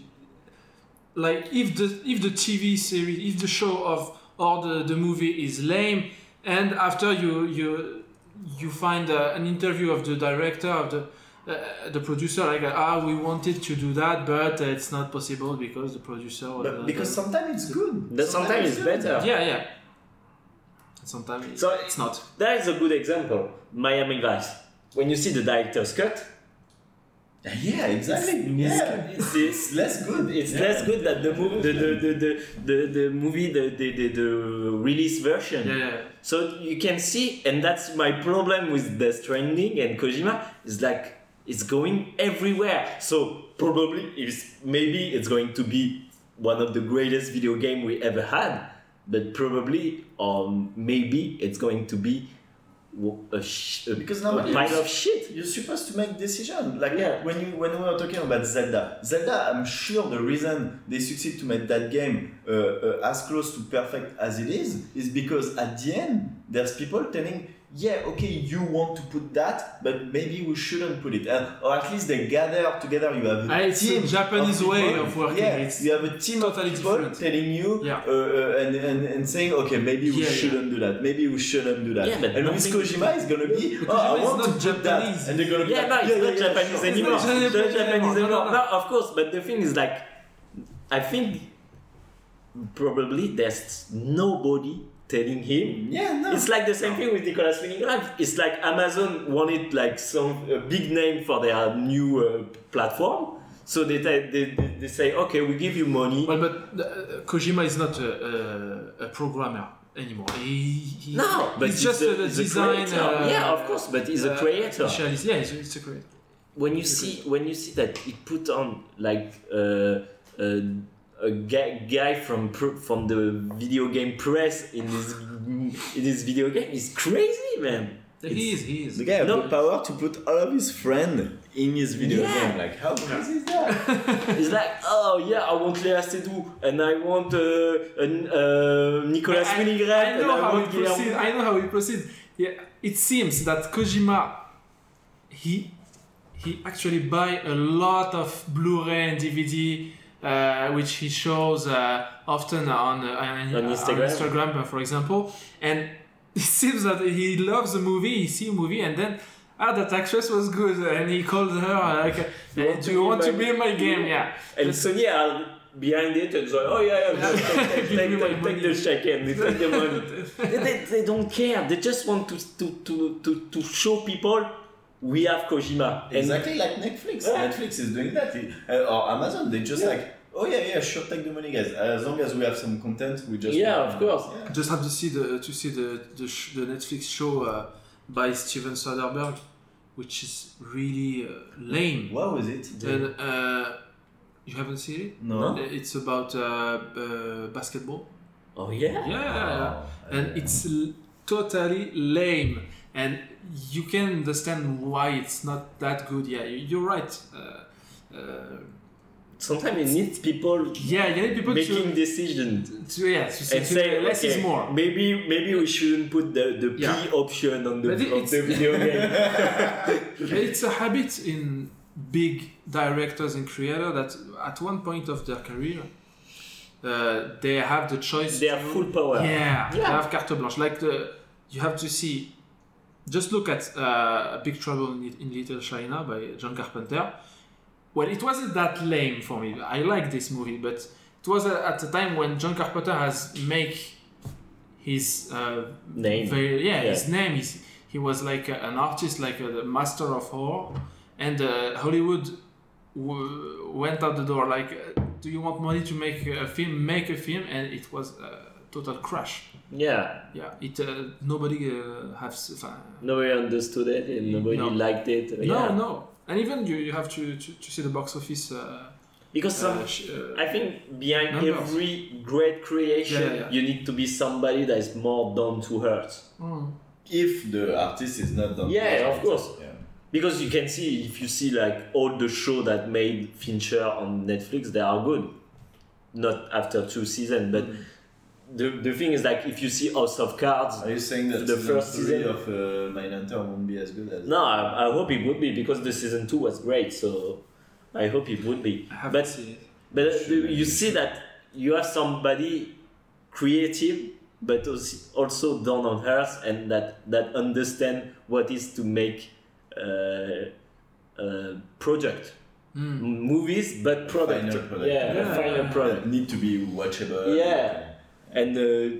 Speaker 2: If the TV series, if the show or the movie is lame, and after you find an interview of the director of the producer, like we wanted to do that, but it's not possible because the producer.
Speaker 7: Because sometimes it's good.
Speaker 9: Sometimes it's better.
Speaker 2: Yeah. Sometimes it's not.
Speaker 9: That is a good example. Miami Vice. When you see the director's cut.
Speaker 7: Yeah, exactly. It's less good.
Speaker 9: It's less good than the movie, the release version.
Speaker 2: Yeah.
Speaker 9: So you can see, and that's my problem with Death Stranding and Kojima, is like it's going everywhere. So probably maybe it's going to be one of the greatest video game we ever had, but probably maybe it's going to be
Speaker 7: because
Speaker 9: a pile of shit.
Speaker 7: You're supposed to make decisions. Like when we were talking about Zelda, I'm sure the reason they succeed to make that game as close to perfect as it is because at the end there's people telling, okay, you want to put that, but maybe we shouldn't put it, or at least they gather together. You have a team.
Speaker 2: It's a Japanese way of working.
Speaker 7: You have a team of people telling you and saying, okay, maybe we shouldn't do that. Maybe we shouldn't do that. And with Kojima, it's gonna be, I want to put that, and they're gonna be
Speaker 9: it's not Japanese anymore. It's not Japanese anymore. No, of course, but the thing is, like, I think probably there's nobody telling him. It's like the same thing with Nicolas Winding Refn. It's like Amazon wanted like a big name for their new platform, so they say, okay, we give you money.
Speaker 2: Well, but Kojima is not a programmer anymore.
Speaker 9: But
Speaker 2: he's just a designer.
Speaker 9: Of course, but he's a creator.
Speaker 2: He's a creator.
Speaker 9: When you see that he put on like a guy from the video game press in his video game is crazy, man.
Speaker 2: He is.
Speaker 7: The guy has the power to put all of his friends in his video game. Like, how crazy is that?
Speaker 9: It's like, I want Léa Seydoux, and I want Nicolas Winding Refn.
Speaker 2: I know how he proceeds. Yeah, it seems that Kojima, he actually buy a lot of Blu-ray and DVD. Which he shows often on Instagram, for example, and it seems that he loves the movie. He sees a movie, and then that actress was good, and he called her like, "Do you want to be in my game?" Yeah,
Speaker 9: and Sony are behind it and like, take the check and they take the money. They don't care. They just want to show people. We have Kojima.
Speaker 7: Exactly like Netflix. Netflix is doing that. Or Amazon, they just sure, take the money, guys. As long as we have some content, we just...
Speaker 9: of course.
Speaker 2: Just have to see the Netflix show by Steven Soderbergh, which is really lame.
Speaker 7: What was it?
Speaker 2: And, you haven't seen it?
Speaker 7: No.
Speaker 2: It's about basketball.
Speaker 9: Oh, yeah?
Speaker 2: Yeah. And it's totally lame. And you can understand why it's not that good. Yeah, you're right.
Speaker 9: Sometimes you need people.
Speaker 2: You need people
Speaker 9: making decisions.
Speaker 2: To say less is more.
Speaker 9: Maybe we shouldn't put the P option on the video game.
Speaker 2: It's a habit in big directors and creators that at one point of their career, they have the choice.
Speaker 9: They have full power.
Speaker 2: Yeah. They have carte blanche. Like you have to see. Just look at Big Trouble in Little China by John Carpenter. Well, it wasn't that lame for me. I like this movie, but it was at a time when John Carpenter has make his
Speaker 9: name.
Speaker 2: His name. He was like an artist, like a master of horror, and Hollywood went out the door. Like, do you want money to make a film? Make a film, and it was a total crash.
Speaker 9: Yeah.
Speaker 2: It nobody
Speaker 9: nobody understood it and nobody liked it.
Speaker 2: No. And even you have to see the box office.
Speaker 9: Because I think behind numbers. Every great creation, you need to be somebody that is more down to earth.
Speaker 7: If the artist is not down to earth.
Speaker 9: Yeah, of course. because you can see, if you see like all the show that made Fincher on Netflix, they are good. Not after 2 seasons, but the thing is like if you see House of Cards.
Speaker 7: Are you saying that
Speaker 9: the
Speaker 7: season
Speaker 9: first
Speaker 7: 3
Speaker 9: season
Speaker 7: of Mindhunter won't be as good as?
Speaker 9: No, I hope it would be, because the season 2 was great, so I hope it would be.
Speaker 2: I haven't
Speaker 9: But
Speaker 2: seen it.
Speaker 9: But you see that you have somebody creative, but also down on earth, and that understand what is to make product. Movies, but product.
Speaker 7: Final product.
Speaker 9: Yeah, a final product.
Speaker 7: Need to be watchable.
Speaker 9: Yeah, and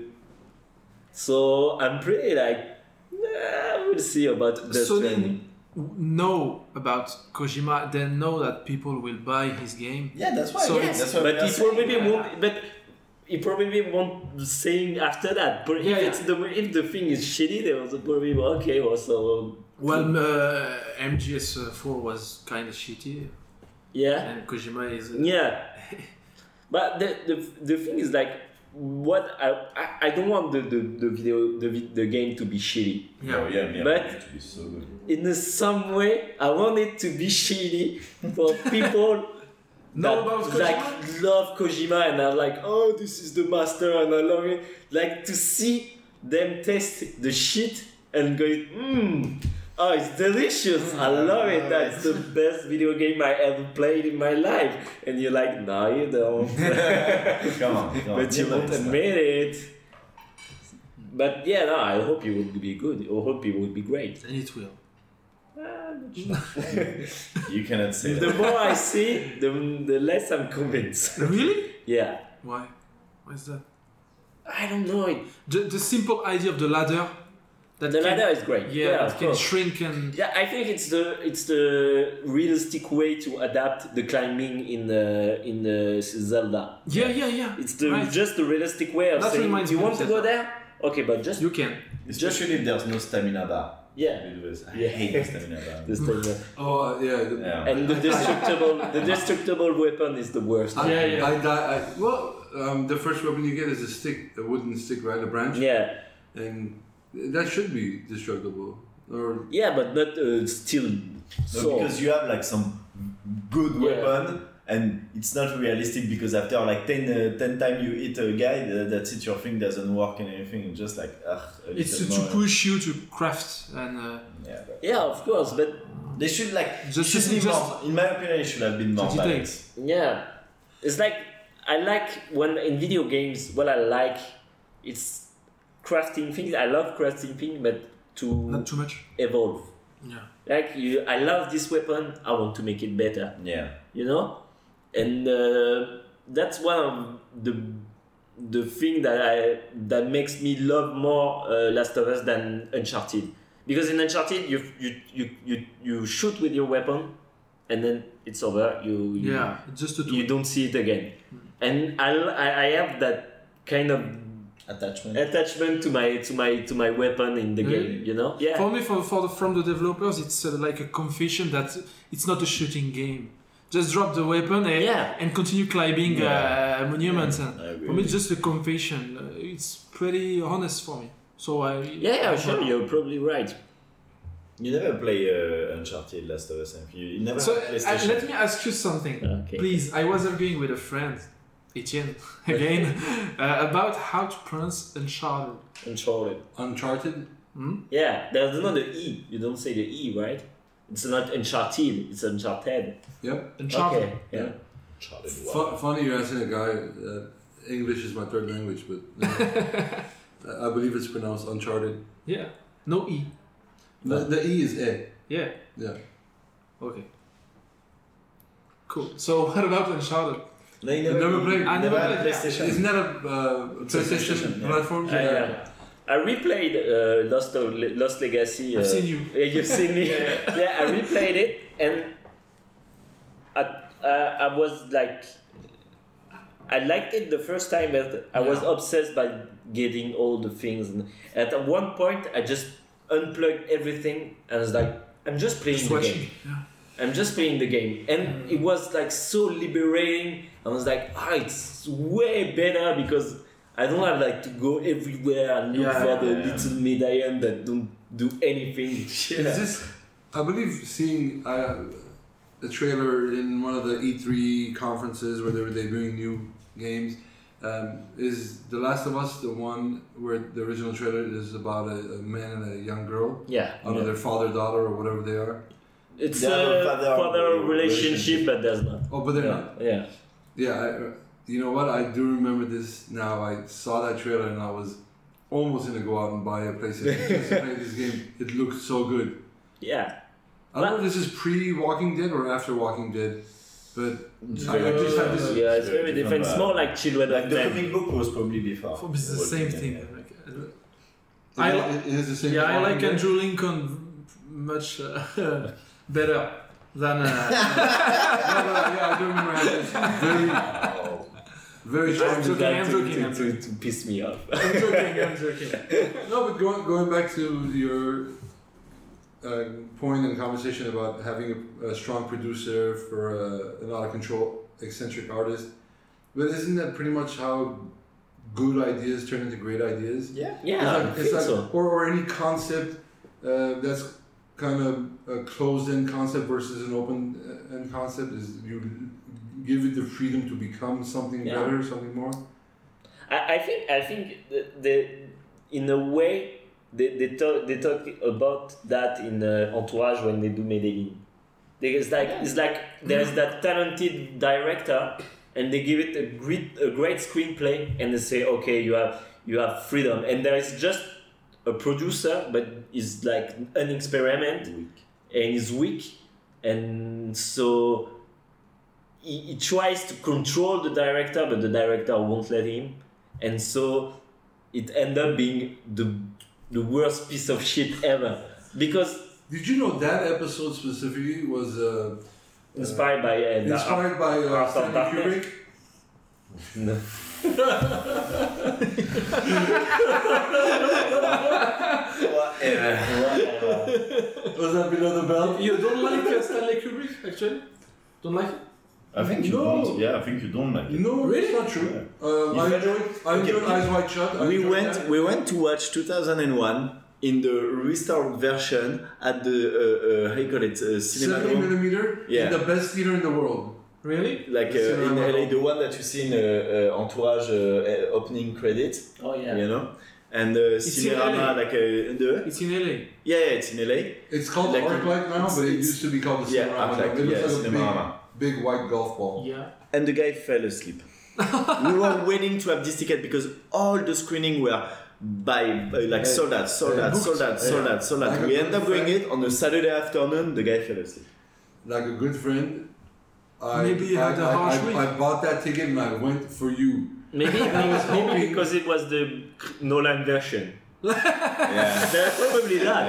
Speaker 9: so I'm pretty like, we'll see about the
Speaker 2: Sony
Speaker 9: trending.
Speaker 2: know about Kojima. They know that people will buy his game.
Speaker 7: Yeah, that's why.
Speaker 2: So
Speaker 7: yeah,
Speaker 2: it's-
Speaker 7: that's why
Speaker 9: But
Speaker 7: we are
Speaker 9: he
Speaker 7: saying,
Speaker 9: probably won't. But he probably won't saying after that. But
Speaker 2: Yeah,
Speaker 9: if the thing is shitty, they will probably okay. Also,
Speaker 2: Well, MGS4 was kind of shitty,
Speaker 9: yeah,
Speaker 2: and Kojima is.
Speaker 9: yeah. But the thing is like, what I don't want the game to be shitty.
Speaker 7: Oh, yeah, yeah,
Speaker 9: But-
Speaker 7: it will be so good.
Speaker 9: In some way, I want it to be shitty for people.
Speaker 2: Know
Speaker 9: that,
Speaker 2: about Kojima?
Speaker 9: like love Kojima and are like, oh, this is the master and I love it. Like to see them taste the shit and go, oh, it's delicious. I love it. That's the best video game I ever played in my life. And you're like, no, you don't.
Speaker 7: Come on.
Speaker 9: But you won't admit it. But yeah, no, I hope it would be good. I hope it would be great.
Speaker 2: And it will.
Speaker 7: You cannot say
Speaker 9: The
Speaker 7: that.
Speaker 9: more I see, the less I'm convinced.
Speaker 2: Really?
Speaker 9: Yeah.
Speaker 2: Why? Why is that?
Speaker 9: I don't know it.
Speaker 2: The simple idea of the ladder. That
Speaker 9: The
Speaker 2: can-
Speaker 9: ladder is great.
Speaker 2: Yeah,
Speaker 9: of
Speaker 2: it can
Speaker 9: course.
Speaker 2: shrink and.
Speaker 9: Yeah, I think it's the realistic way to adapt the climbing in Zelda.
Speaker 2: Yeah.
Speaker 9: It's the
Speaker 2: Right.
Speaker 9: just the realistic way of
Speaker 2: That
Speaker 9: saying,
Speaker 2: reminds
Speaker 9: you
Speaker 2: me
Speaker 9: want
Speaker 2: of
Speaker 9: to
Speaker 2: that.
Speaker 9: go there? Okay, but just
Speaker 2: You can.
Speaker 7: Especially if there's no stamina bar.
Speaker 9: yeah.
Speaker 7: Because I
Speaker 9: Yeah.
Speaker 7: hate the stamina bar.
Speaker 9: This thing,
Speaker 4: Oh yeah.
Speaker 7: Yeah.
Speaker 9: and the destructible weapon is the worst.
Speaker 4: I die. The first weapon you get is a stick, a wooden stick, right? A branch.
Speaker 9: Yeah,
Speaker 4: And that should be destructible. Or
Speaker 9: yeah, but not still.
Speaker 7: No,
Speaker 9: So
Speaker 7: because you have like some good
Speaker 9: Yeah.
Speaker 7: weapon and it's not realistic because after like 10 times you hit a guy, that's it, your thing doesn't work and everything. It's just like,
Speaker 2: It's to push you to craft and.
Speaker 7: Yeah, but
Speaker 9: yeah, of course, but
Speaker 7: they should like,
Speaker 2: Just-
Speaker 7: should be
Speaker 2: just-
Speaker 7: more, in my opinion, it should have been more
Speaker 2: to
Speaker 7: balanced.
Speaker 9: yeah, it's like I like when in video games. What I like, it's crafting things. I love crafting things, but to
Speaker 2: Not too much.
Speaker 9: evolve.
Speaker 2: Yeah.
Speaker 9: Like I love this weapon. I want to make it better.
Speaker 7: Yeah.
Speaker 9: You know, and that's one of the thing that makes me love more Last of Us than Uncharted. Because in Uncharted, you shoot with your weapon, and then it's over. You
Speaker 2: Yeah, just a tool.
Speaker 9: you don't see it again. And I have that kind of attachment to my weapon in the
Speaker 2: Really?
Speaker 9: game. You know? Yeah.
Speaker 2: For me, from the developers, it's like a confession that it's not a shooting game. Just drop the weapon and,
Speaker 9: Yeah.
Speaker 2: and continue climbing monuments. And
Speaker 7: I agree
Speaker 2: for me,
Speaker 7: with
Speaker 2: it's just a confession. It's pretty honest for me. So
Speaker 9: Yeah, sure. You're probably right.
Speaker 7: You never play Uncharted Last of Us. You never
Speaker 2: So
Speaker 7: have PlayStation.
Speaker 2: let me ask you something,
Speaker 9: Okay.
Speaker 2: please. I was arguing with a friend, Etienne, again, about how to pronounce Uncharted.
Speaker 9: Uncharted.
Speaker 4: Uncharted.
Speaker 9: Yeah, there's not the E. You don't say the E, right? It's not Uncharted. It's Uncharted.
Speaker 4: Yep.
Speaker 2: Uncharted.
Speaker 9: Okay. Yeah.
Speaker 7: Uncharted 1.
Speaker 4: Funny you're asking a guy. English is my third language, but I believe it's pronounced Uncharted.
Speaker 2: Yeah. No E.
Speaker 4: The E is A.
Speaker 2: Yeah.
Speaker 4: Yeah.
Speaker 2: Okay. Cool. So what about Uncharted?
Speaker 7: No, you
Speaker 4: never played?
Speaker 2: I never
Speaker 7: had
Speaker 2: played, yeah.
Speaker 7: PlayStation.
Speaker 4: Isn't that a PlayStation
Speaker 7: PlayStation, yeah.
Speaker 4: platform?
Speaker 9: Yeah. I replayed Lost Legacy.
Speaker 2: I've seen you.
Speaker 9: Yeah, you've seen me. Yeah, I replayed it, and I was like, I liked it the first time, but I was obsessed by getting all the things. And at one point, I just unplugged everything, and I was like, I'm just playing
Speaker 2: Just
Speaker 9: the
Speaker 2: watching.
Speaker 9: game.
Speaker 2: Yeah.
Speaker 9: I'm just playing the game, and it was like so liberating. I was like, it's way better because I don't have like to go everywhere and look for the little medallion that don't do anything.
Speaker 4: Is this I believe seeing the trailer in one of the E3 conferences where they were debuting new games. Is The Last of Us the one where the original trailer is about a man and a young girl?
Speaker 9: Yeah.
Speaker 4: Their father-daughter or whatever they are?
Speaker 9: It's a father relationship, but there's not.
Speaker 4: Oh, but they're not?
Speaker 9: Yeah.
Speaker 4: Yeah, you know what? I do remember this now. I saw that trailer and I was almost going to go out and buy a PlayStation just to play this game. It looked so good.
Speaker 9: Yeah.
Speaker 4: I don't know if this is pre-Walking Dead or after Walking Dead. But I just had this.
Speaker 9: Yeah, it's very different. It's more like Children of
Speaker 5: The
Speaker 9: Men.
Speaker 5: comic book was probably before.
Speaker 2: It's the same thing.
Speaker 4: It is the same.
Speaker 2: Yeah, I like
Speaker 4: Dead?
Speaker 2: Andrew Lincoln much better than.
Speaker 4: Yeah, I do remember this. Very strong.
Speaker 2: I'm joking.
Speaker 9: To piss me off.
Speaker 2: I'm joking.
Speaker 4: No, but going back to your point in conversation about having a strong producer for an out-of-control eccentric artist, but isn't that pretty much how good ideas turn into great ideas?
Speaker 9: Yeah,
Speaker 4: I think
Speaker 9: so.
Speaker 4: Or any concept that's kind of a closed-end concept versus an open-end concept is you give it the freedom to become something better, something more.
Speaker 9: I think in a way they talk about that in Entourage when they do Medellin. It's like there's that talented director and they give it a great screenplay and they say, okay, you have freedom, and there is just a producer but is like an experiment and is weak, and so he tries to control the director but the director won't let him, and so it ends up being the worst piece of shit ever. Because
Speaker 4: did you know that episode specifically was
Speaker 9: inspired by
Speaker 4: Stanley Kubrick?
Speaker 9: No.
Speaker 5: Whatever.
Speaker 4: Was that below the belt?
Speaker 2: You don't like Stanley Kubrick, actually? Don't like it?
Speaker 5: I think you don't. Yeah, I think you don't like it.
Speaker 4: No, really? It's not true. I enjoyed Eyes Wide Shut.
Speaker 5: We went to watch 2001 in the restored version at the how you call it, cinema.
Speaker 4: 70mm.
Speaker 5: Yeah.
Speaker 4: In the best theater in the world.
Speaker 2: Really?
Speaker 5: Like in LA, the one that you see in Entourage opening credit.
Speaker 9: Oh yeah.
Speaker 5: You know, and
Speaker 2: It's
Speaker 5: Cinerama, like
Speaker 2: It's in LA.
Speaker 5: Yeah, it's in LA.
Speaker 4: It's called
Speaker 5: Like,
Speaker 4: ArcLight now, but it used to be called the Cinerama.
Speaker 5: ArcLight,
Speaker 4: It looks like
Speaker 5: Cinerama.
Speaker 4: a big white golf ball.
Speaker 2: Yeah.
Speaker 5: And the guy fell asleep. We were waiting to have this ticket because all the screening were sold out.
Speaker 4: Like
Speaker 5: We
Speaker 4: a
Speaker 5: ended up
Speaker 4: good
Speaker 5: going
Speaker 4: friend.
Speaker 5: it on a Saturday afternoon. The guy fell asleep.
Speaker 4: Like a good friend,
Speaker 2: Maybe you had a harsh week.
Speaker 4: I bought that ticket and I went for you.
Speaker 9: Maybe because it was the Nolan version.
Speaker 5: Yeah.
Speaker 9: There's probably that.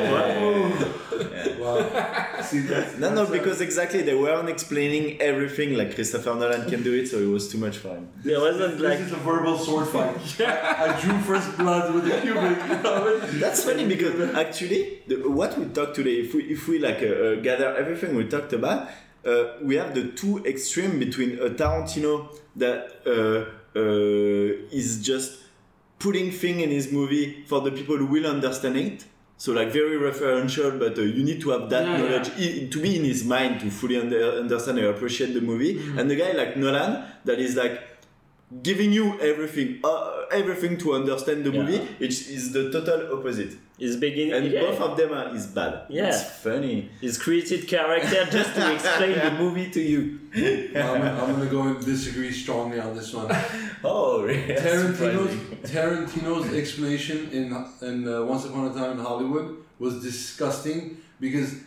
Speaker 4: Wow. See,
Speaker 5: No, because exactly they weren't explaining everything like Christopher Nolan can do it, so it was too much fun.
Speaker 9: There wasn't like.
Speaker 4: This is a verbal sword fight. I drew first blood with the Kubrick.
Speaker 5: That's funny because actually, what we talked today, if we gather everything we talked about, we have the two extreme between a Tarantino that is just putting things in his movie for the people who will understand it. So like very referential, but you need to have that knowledge to be in his mind to fully understand and appreciate the movie. Mm-hmm. And the guy like Nolan that is like giving you everything to understand the movie, which is the total opposite.
Speaker 9: His beginning,
Speaker 5: and both of them is bad.
Speaker 9: Yeah,
Speaker 5: it's funny.
Speaker 9: He's created character just to explain the movie to you.
Speaker 4: I'm gonna go and disagree strongly on this one.
Speaker 5: Oh, really?
Speaker 4: Tarantino's explanation in Once Upon a Time in Hollywood was disgusting because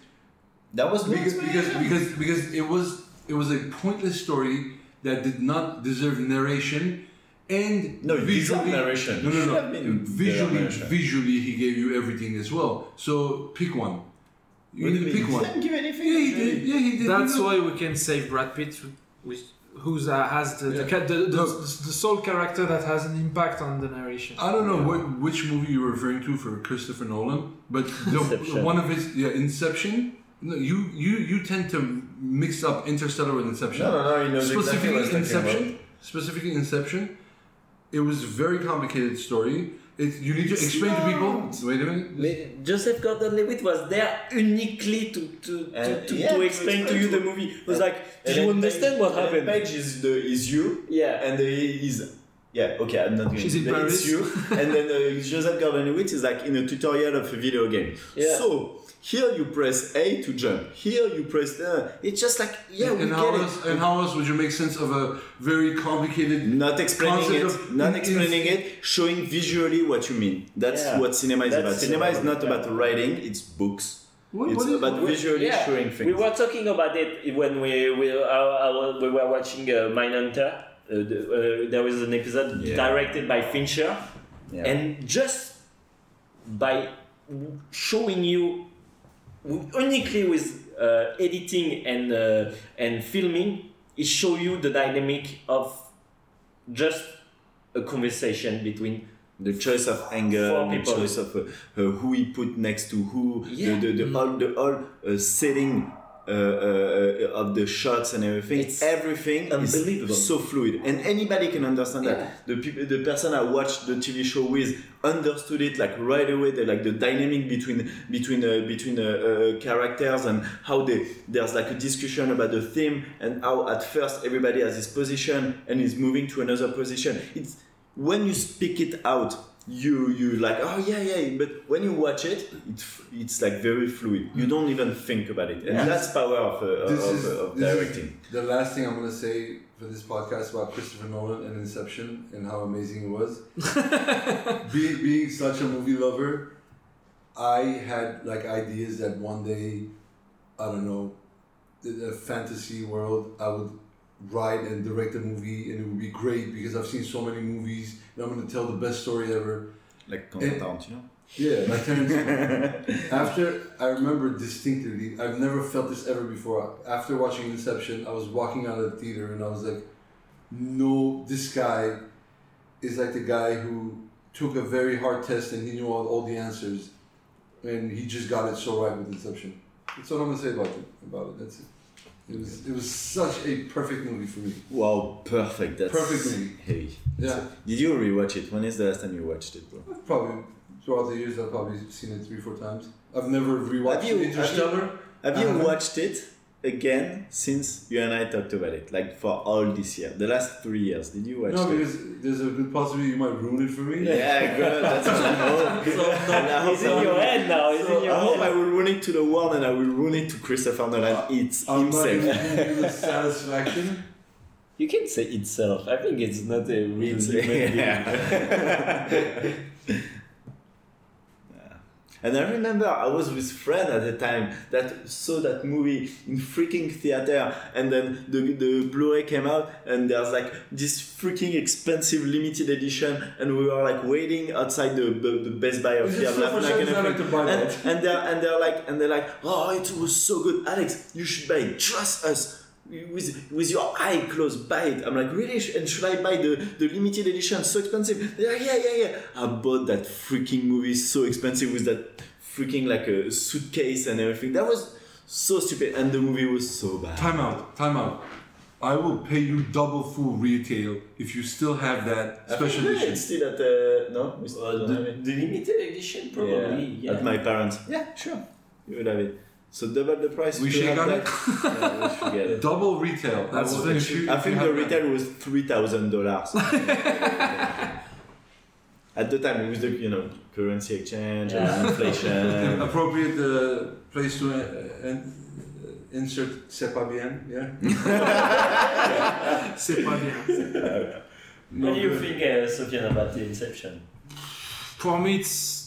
Speaker 4: because it was a pointless story that did not deserve narration. And visually,
Speaker 5: narration.
Speaker 4: No. Visually, he gave you everything as well. So pick one. You need to pick one.
Speaker 5: He didn't give anything.
Speaker 4: Yeah, he did.
Speaker 2: That's why we can save Brad Pitt, who has the sole character that has an impact on the narration.
Speaker 4: I don't know which movie you're referring to for Christopher Nolan, but one of his Inception. No, you tend to mix up Interstellar with Inception.
Speaker 5: No, he knows exactly what he's talking about.
Speaker 4: Specifically Inception. It was a very complicated story, You need to explain to people. Wait a minute.
Speaker 9: Joseph Gordon-Levitt was there uniquely to explain to you the movie. It was like, did you understand what happened?
Speaker 7: Page is you.
Speaker 9: Yeah.
Speaker 7: And he's. Yeah, okay, I'm not going
Speaker 2: She's
Speaker 7: to
Speaker 2: in
Speaker 7: say
Speaker 2: Paris.
Speaker 7: it's you. And then Joseph Gordon-Levitt is like in a tutorial of a video game.
Speaker 9: Yeah.
Speaker 7: So, here you press A to jump. Here you press... it's just like, yeah, we
Speaker 4: And
Speaker 7: get it.
Speaker 4: And how else would you make sense of a very complicated...
Speaker 7: Not explaining
Speaker 4: concept
Speaker 7: it, showing visually what you mean. That's what cinema is about. Cinema is not about writing, it's books. It's about visually showing things.
Speaker 9: We were talking about it when we were watching Mindhunter. There was an episode directed by Fincher, and just by showing you uniquely with editing and filming, it shows you the dynamic of just a conversation between
Speaker 7: the choice of angle, the choice of who he put next to who, the whole setting of the shots and everything.
Speaker 9: It's
Speaker 7: everything
Speaker 9: unbelievable.
Speaker 7: Is so fluid, and anybody can understand that. The person I watched the TV show with understood it like right away. The dynamic between characters and how there's like a discussion about the theme and how at first everybody has his position and is moving to another position. It's when you speak it out, you like, oh yeah, but when you watch it, it's like very fluid. You don't even think about it, and that's power of directing.
Speaker 4: The last thing I'm gonna say for this podcast about Christopher Nolan and Inception and how amazing it was. being such a movie lover, I had like ideas that one day, I don't know, in a fantasy world, I would write and direct a movie and it would be great because I've seen so many movies and I'm going to tell the best story ever.
Speaker 7: Like Tarantino?
Speaker 4: Yeah, like Tarantino. After, I remember distinctly, I've never felt this ever before. After watching Inception, I was walking out of the theater and I was like, no, this guy is like the guy who took a very hard test and he knew all the answers and he just got it so right with Inception. That's what I'm going to say about it. That's it. It was such a perfect movie for me.
Speaker 7: Wow, perfect. That's
Speaker 4: perfect movie.
Speaker 7: Heavy.
Speaker 4: Yeah.
Speaker 7: So, did you rewatch it? When is the last time you watched it, bro?
Speaker 4: Probably throughout the years, I've probably seen it 3-4 times. I've never rewatched Interstellar.
Speaker 7: Have you watched it again since you and I talked about it? Like for all this year, the last 3 years, did you watch it?
Speaker 4: No, because there's a good possibility you might ruin it for me.
Speaker 7: Yeah, good. That's what I hope.
Speaker 9: It's in your head now.
Speaker 7: I hope I will ruin it to the world and I will ruin it to Christopher Nolan himself.
Speaker 4: I'm not even giving you the satisfaction.
Speaker 9: You can say itself. I think it's not a real human being.
Speaker 7: And I remember I was with a friend at the time that saw that movie in freaking theater, and then the Blu-ray came out and there's like this freaking expensive limited edition, and we were like waiting outside the Best Buy of here, and they're like, oh, it was so good, Alex, you should buy it, trust us. With your eye closed, buy it. I'm like, really? And should I buy the limited edition? So expensive. They're like, yeah. I bought that freaking movie so expensive with that freaking like a suitcase and everything. That was so stupid, and the movie was so bad.
Speaker 4: Time out. I will pay you double full retail if you still have that special edition.
Speaker 7: It's still at no?
Speaker 9: The limited edition, probably. Yeah.
Speaker 7: At my parents. Yeah, sure. You will have it. So double the price.
Speaker 4: We should get it.
Speaker 7: Yeah, we should get it.
Speaker 4: Double retail.
Speaker 7: I think the retail was $3,000. At the time, with the currency exchange and inflation.
Speaker 4: Appropriate place to insert c'est pas bien. Yeah.
Speaker 2: C'est pas bien.
Speaker 9: What do you think, Sofiane, about the Inception?
Speaker 2: For me,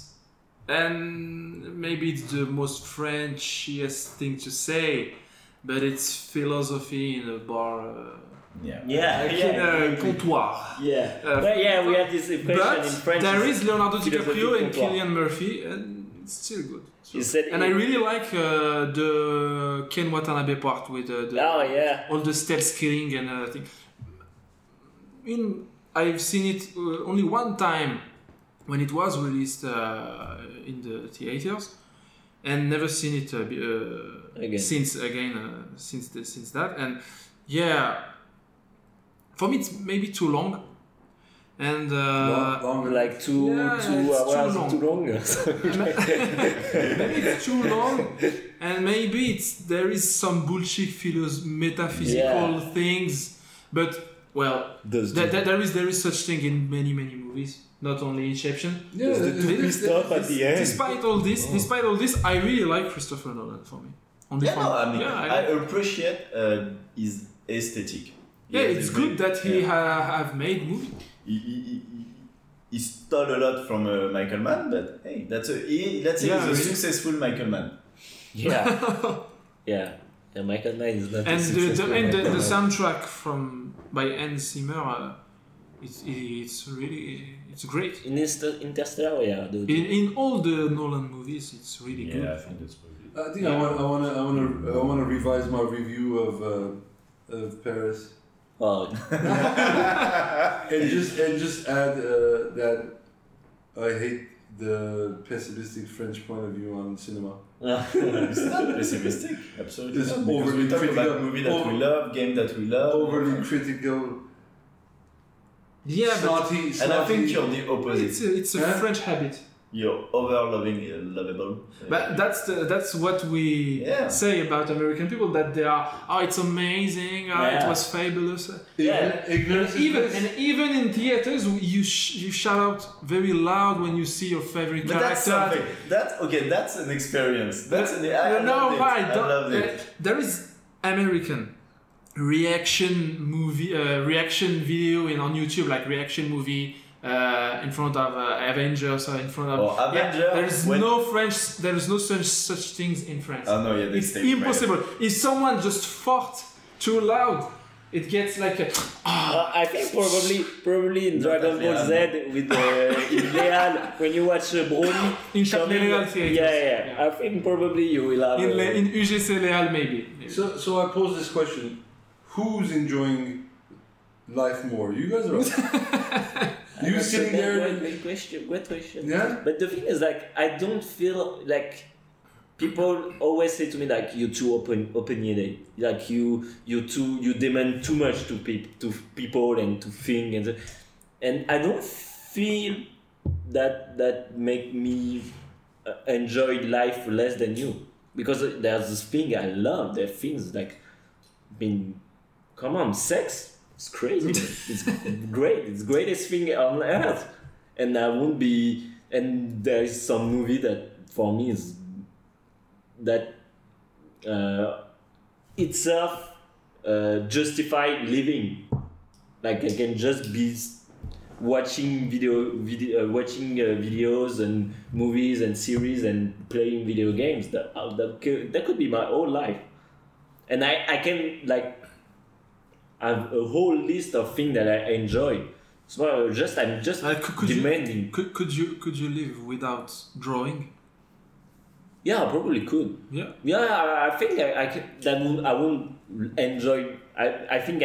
Speaker 2: and maybe it's the most Frenchiest thing to say, but it's philosophy in a bar. In a comptoir.
Speaker 9: Yeah. We have this impression in French.
Speaker 2: There is Leonardo DiCaprio and Cillian Murphy, and it's still good. So, I really like the Ken Watanabe part with all the stealth killing and everything. I've seen it only one time when it was released in the theaters, and never seen it since that. And yeah, for me it's maybe too long, and
Speaker 4: Longer.
Speaker 9: Like two
Speaker 2: it's
Speaker 9: hours
Speaker 2: too long.
Speaker 9: too long.
Speaker 2: maybe it's too long, and maybe there is some bullshit metaphysical things, but well, there is such thing in many movies, not only Inception.
Speaker 4: Yeah,
Speaker 5: Stop at the end.
Speaker 2: Despite all this, I really like Christopher Nolan for me.
Speaker 7: I appreciate his aesthetic.
Speaker 2: Yeah, it's good that he have made movies.
Speaker 7: He stole a lot from Michael Mann, but hey, let's say he's a successful Michael Mann.
Speaker 9: Yeah. Michael Mann is not.
Speaker 2: And the soundtrack by Hans Zimmer, it's great.
Speaker 9: In Interstellar, yeah.
Speaker 2: In all the Nolan movies, it's really good.
Speaker 7: Yeah, I think that's pretty good.
Speaker 4: I think I want to revise my review of Paris.
Speaker 9: Oh.
Speaker 4: and just add that I hate the pessimistic French point of view on cinema.
Speaker 7: It's not pessimistic, absolutely.
Speaker 4: It's
Speaker 7: not,
Speaker 4: overly
Speaker 7: we talk
Speaker 4: critical.
Speaker 7: about movie that we love, game that we love.
Speaker 4: Overly critical.
Speaker 2: Yeah,
Speaker 4: snotty.
Speaker 7: And I think you're the opposite.
Speaker 2: It's a French habit.
Speaker 7: You're lovable.
Speaker 2: But that's what we say about American people, that they are, it's amazing, it was fabulous. Even in theaters, you shout out very loud when you see your favorite character.
Speaker 7: That's something. That's an experience. I love it.
Speaker 2: There is American reaction video on YouTube, like reaction movie. In front of Avengers or in front of there is no such things in France.
Speaker 7: Oh no,
Speaker 2: it's impossible. If someone just fought too loud, it gets like a.
Speaker 9: I think probably in Dragon Ball Z with in Leal when you watch Broly
Speaker 2: in Châtelet Theatre.
Speaker 9: Yeah. I think probably you will have
Speaker 2: in UGC Leal maybe.
Speaker 4: So I pose this question: who's enjoying life more? You guys are. You sitting there?
Speaker 9: Great question.
Speaker 4: Yeah.
Speaker 9: But the thing is, like, I don't feel like people always say to me like you're too opinionated, like you demand too much to people and to things, and I don't feel that make me enjoy life less than you, because there's this thing I love. There are things like, come on, sex. It's crazy. It's great. It's the greatest thing on earth. And I won't be. And there is some movie that for me is that itself justify living. Like I can just be watching videos and movies and series and playing video games. That could be my whole life. And I can like. I have a whole list of things that I enjoy. So I'm just demanding.
Speaker 2: Could you live without drawing?
Speaker 9: Yeah, I probably could.
Speaker 2: Yeah.
Speaker 9: Yeah, I think I could. I won't enjoy. I think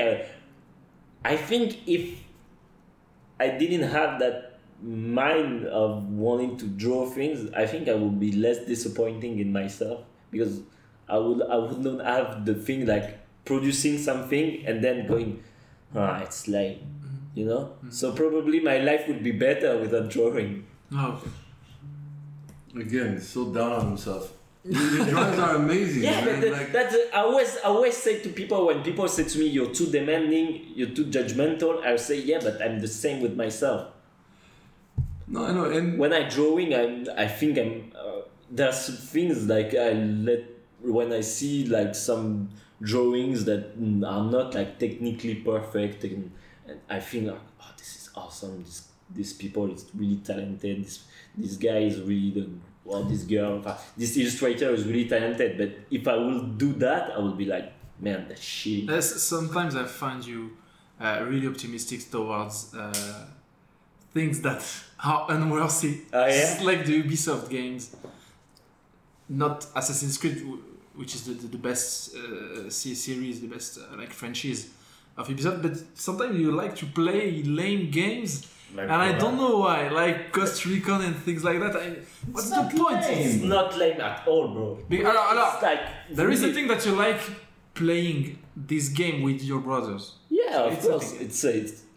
Speaker 9: if I didn't have that mind of wanting to draw things, I think I would be less disappointing in myself, because I would not have the thing like producing something and then going, it's lame, you know? Mm-hmm. So probably my life would be better without drawing.
Speaker 2: Oh, okay.
Speaker 4: Again, so down on himself. Your drawings are amazing.
Speaker 9: Yeah,
Speaker 4: man.
Speaker 9: but I always say to people, when people say to me, you're too demanding, you're too judgmental, I'll say, yeah, but I'm the same with myself.
Speaker 4: No, I know. And
Speaker 9: when I'm drawing, I think there's things like when I see like some drawings that are not like technically perfect, and I think like, this is awesome, these people is really talented, this guy is really this girl, this illustrator is really talented, but if I will do that, I will be like, man, that's shit.
Speaker 2: Sometimes I find you really optimistic towards things that are unworthy. It's like the Ubisoft games, not Assassin's Creed, which is the best series, the best like franchise of Ubisoft. But sometimes you like to play lame games, like, and I don't know why, like Ghost Recon and things like that. What's the point?
Speaker 9: It's not lame at all, bro.
Speaker 2: It's like there is a thing that you like playing this game with your brothers.
Speaker 9: Yeah, of course. It's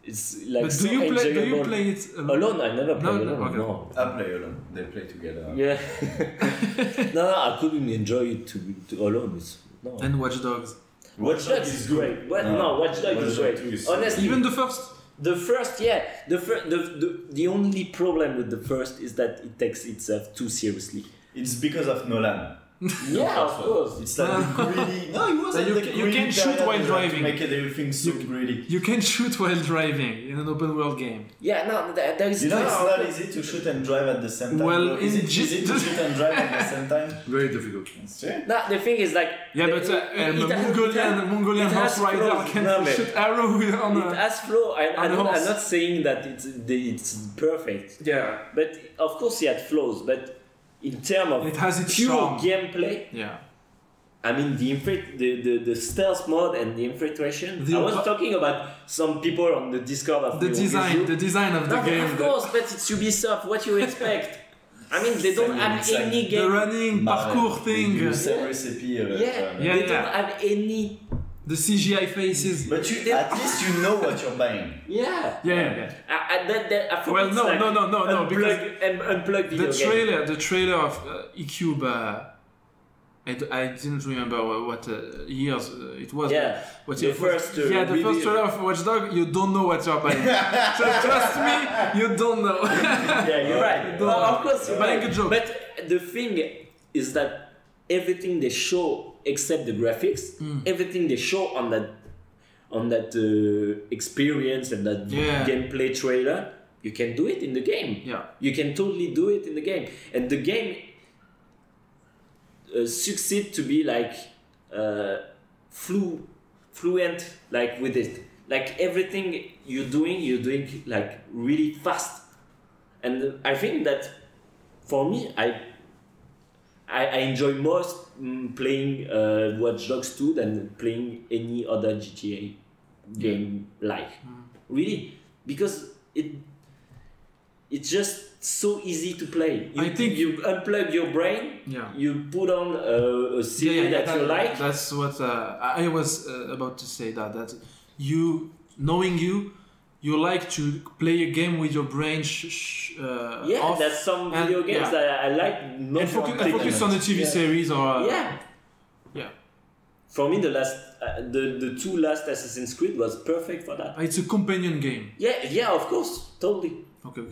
Speaker 9: it's like
Speaker 2: But
Speaker 9: so
Speaker 2: do you
Speaker 9: enjoyable.
Speaker 2: play it
Speaker 9: Alone? I never play
Speaker 2: No,
Speaker 9: alone.
Speaker 2: okay.
Speaker 9: No.
Speaker 5: I play alone. They play together.
Speaker 9: Yeah. no, I couldn't enjoy it to alone. No.
Speaker 2: And Watch Dogs.
Speaker 9: Watch Dogs is great. Watch Dogs is great. Honestly,
Speaker 2: Even the first.
Speaker 9: the first, yeah, the only problem with the first is that it takes itself too seriously.
Speaker 5: It's because of Nolan.
Speaker 9: Yeah, of course.
Speaker 5: It's like the greedy. No, it wasn't
Speaker 2: You
Speaker 5: the
Speaker 2: can-
Speaker 5: greedy
Speaker 2: you can shoot
Speaker 5: period
Speaker 2: while
Speaker 5: to
Speaker 2: driving.
Speaker 5: make everything so greedy.
Speaker 2: You can shoot while driving in an open world game.
Speaker 9: Yeah, no, there is.
Speaker 5: You know, it's
Speaker 9: no,
Speaker 5: not easy to shoot and drive at the same time.
Speaker 2: Well,
Speaker 5: No, is
Speaker 2: in
Speaker 5: it easy to shoot and drive at the same time?
Speaker 4: Very difficult.
Speaker 5: It's true.
Speaker 9: No, the thing is like.
Speaker 2: Yeah, but Mongolian
Speaker 9: it has
Speaker 2: horse rider
Speaker 9: flaws.
Speaker 2: can
Speaker 9: No, but
Speaker 2: shoot arrow on
Speaker 9: it
Speaker 2: a...
Speaker 9: has flow.
Speaker 2: on a horse.
Speaker 9: I'm not saying that it's perfect,
Speaker 2: Yeah.
Speaker 9: but of course it had flaws. But in terms of
Speaker 2: It has its
Speaker 9: pure
Speaker 2: charm.
Speaker 9: gameplay,
Speaker 2: Yeah.
Speaker 9: I mean the stealth mode and the infiltration.
Speaker 2: The
Speaker 9: I was
Speaker 2: op-
Speaker 9: talking about some people on the Discord of
Speaker 2: The design of the
Speaker 9: No,
Speaker 2: game.
Speaker 9: of course, but it's Ubisoft. What you expect? I mean, they don't have
Speaker 5: It's like
Speaker 9: any
Speaker 2: The
Speaker 9: game.
Speaker 2: running parkour thing.
Speaker 5: You same recipe.
Speaker 9: Yeah,
Speaker 2: Yeah,
Speaker 9: they
Speaker 2: yeah.
Speaker 9: don't have any.
Speaker 2: The CGI faces.
Speaker 5: But at least you know what you're buying.
Speaker 9: Yeah.
Speaker 2: Yeah.
Speaker 9: I thought
Speaker 2: Well,
Speaker 9: it's
Speaker 2: no,
Speaker 9: like
Speaker 2: no, because
Speaker 9: unplug video game.
Speaker 2: the trailer of E-Cube, I didn't remember what years it was.
Speaker 9: Yeah,
Speaker 2: What
Speaker 9: the
Speaker 2: year it was.
Speaker 9: first,
Speaker 2: Yeah, the first
Speaker 9: review.
Speaker 2: trailer of Watch Dogs, you don't know what you're buying. So trust me, you don't know.
Speaker 9: Yeah, you're right.
Speaker 2: Don't
Speaker 9: Well,
Speaker 2: know.
Speaker 9: of course, you're
Speaker 2: Buying
Speaker 9: right.
Speaker 2: a joke.
Speaker 9: But the thing is that everything they show, except the graphics, everything they show on that experience and that
Speaker 2: Yeah.
Speaker 9: gameplay trailer, you can do it in the game.
Speaker 2: Yeah.
Speaker 9: You can totally do it in the game, and the game succeed to be like fluent, like with it. Like everything you're doing like really fast, and I think that for me, I enjoy most playing Watch Dogs 2 than playing any other GTA game really, because it's just so easy to play.
Speaker 2: I think
Speaker 9: you unplug your brain,
Speaker 2: Yeah.
Speaker 9: you put on a series that you like.
Speaker 2: That's what I was about to say. That you, knowing you like to play a game with your brain off.
Speaker 9: There's some
Speaker 2: and-
Speaker 9: video games
Speaker 2: yeah.
Speaker 9: that I like not
Speaker 2: and focus,
Speaker 9: taking
Speaker 2: focus on a TV
Speaker 9: Yeah.
Speaker 2: series or
Speaker 9: Yeah.
Speaker 2: yeah.
Speaker 9: For me, the last, the two last Assassin's Creed was perfect for that.
Speaker 2: It's a companion game.
Speaker 9: Yeah, of course, totally.
Speaker 2: Okay.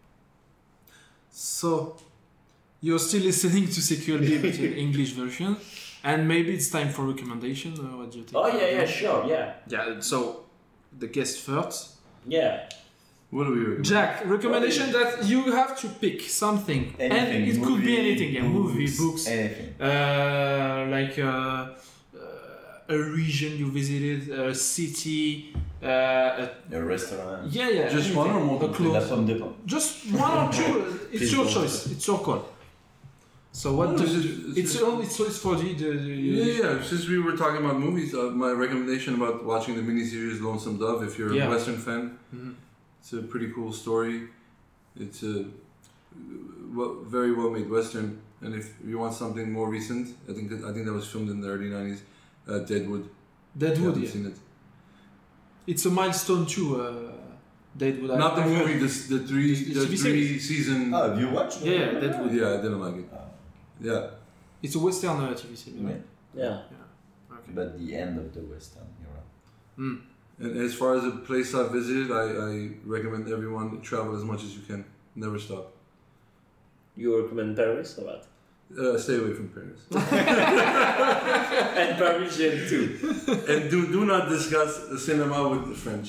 Speaker 2: So you're still listening to CQLB but in English version, and maybe it's time for recommendation. What do you think?
Speaker 9: Oh yeah, sure, yeah.
Speaker 2: Yeah. So the guest first.
Speaker 9: Yeah.
Speaker 4: What do we recommend?
Speaker 2: Jack, recommendation that you have to pick something, and
Speaker 5: Anything.
Speaker 2: it could be
Speaker 5: Movie,
Speaker 2: anything. Yeah, movie, books,
Speaker 5: Anything.
Speaker 2: like a region you visited, a city,
Speaker 5: A restaurant.
Speaker 2: yeah.
Speaker 4: Just
Speaker 2: anything.
Speaker 4: one or
Speaker 2: A
Speaker 4: multiple?
Speaker 5: La
Speaker 2: clothes.
Speaker 5: pomme de pain.
Speaker 2: Just one or two. It's
Speaker 9: Please
Speaker 2: your
Speaker 9: don't.
Speaker 2: choice. It's your call. So what?
Speaker 4: No,
Speaker 2: do
Speaker 4: it's
Speaker 2: it's for the
Speaker 4: Yeah. Since we were talking about movies, my recommendation about watching the miniseries Lonesome Dove, if you're
Speaker 2: Yeah.
Speaker 4: a Western fan,
Speaker 2: Mhm.
Speaker 4: it's a pretty cool story. It's a very well made Western, and if you want something more recent, I think that was filmed in the early '90s. Deadwood.
Speaker 2: Deadwood.
Speaker 4: Haven't
Speaker 2: Yeah.
Speaker 4: seen it.
Speaker 2: It's a milestone too. Deadwood.
Speaker 4: Not the
Speaker 2: I've heard.
Speaker 4: movie. The three
Speaker 2: The TV series.
Speaker 4: season.
Speaker 5: Oh, have you watched?
Speaker 2: Yeah, Deadwood.
Speaker 4: Yeah, I didn't like it. Yeah.
Speaker 2: It's a Western TV series.
Speaker 5: Yeah.
Speaker 2: Right?
Speaker 9: Yeah.
Speaker 2: Okay.
Speaker 5: But the end of the Western, you're right.
Speaker 4: And as far as a place I've visited, I recommend everyone travel as much as you can. Never stop.
Speaker 9: You recommend Paris or what?
Speaker 4: Stay away from Paris.
Speaker 9: And Parisian too.
Speaker 4: And do not discuss the cinema with the French.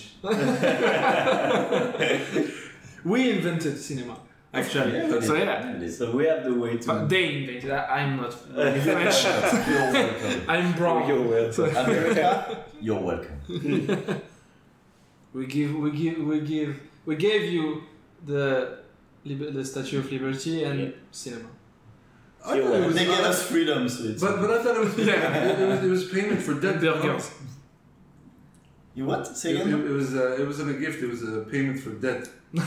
Speaker 2: We invented cinema, actually. So yeah.
Speaker 9: So we have the way to.
Speaker 2: But they invented. I'm not French.
Speaker 5: You're welcome.
Speaker 2: I'm brown.
Speaker 9: You're welcome.
Speaker 5: America, you're welcome.
Speaker 2: We gave you the Statue of Liberty and cinema.
Speaker 4: I thought it was
Speaker 5: They gave
Speaker 4: not-
Speaker 5: us freedom, so it's.
Speaker 4: but I thought it was it was payment for debt.
Speaker 2: Burgers.
Speaker 5: You what? Say
Speaker 4: It,
Speaker 5: again?
Speaker 4: it wasn't a gift. It was a payment for debt.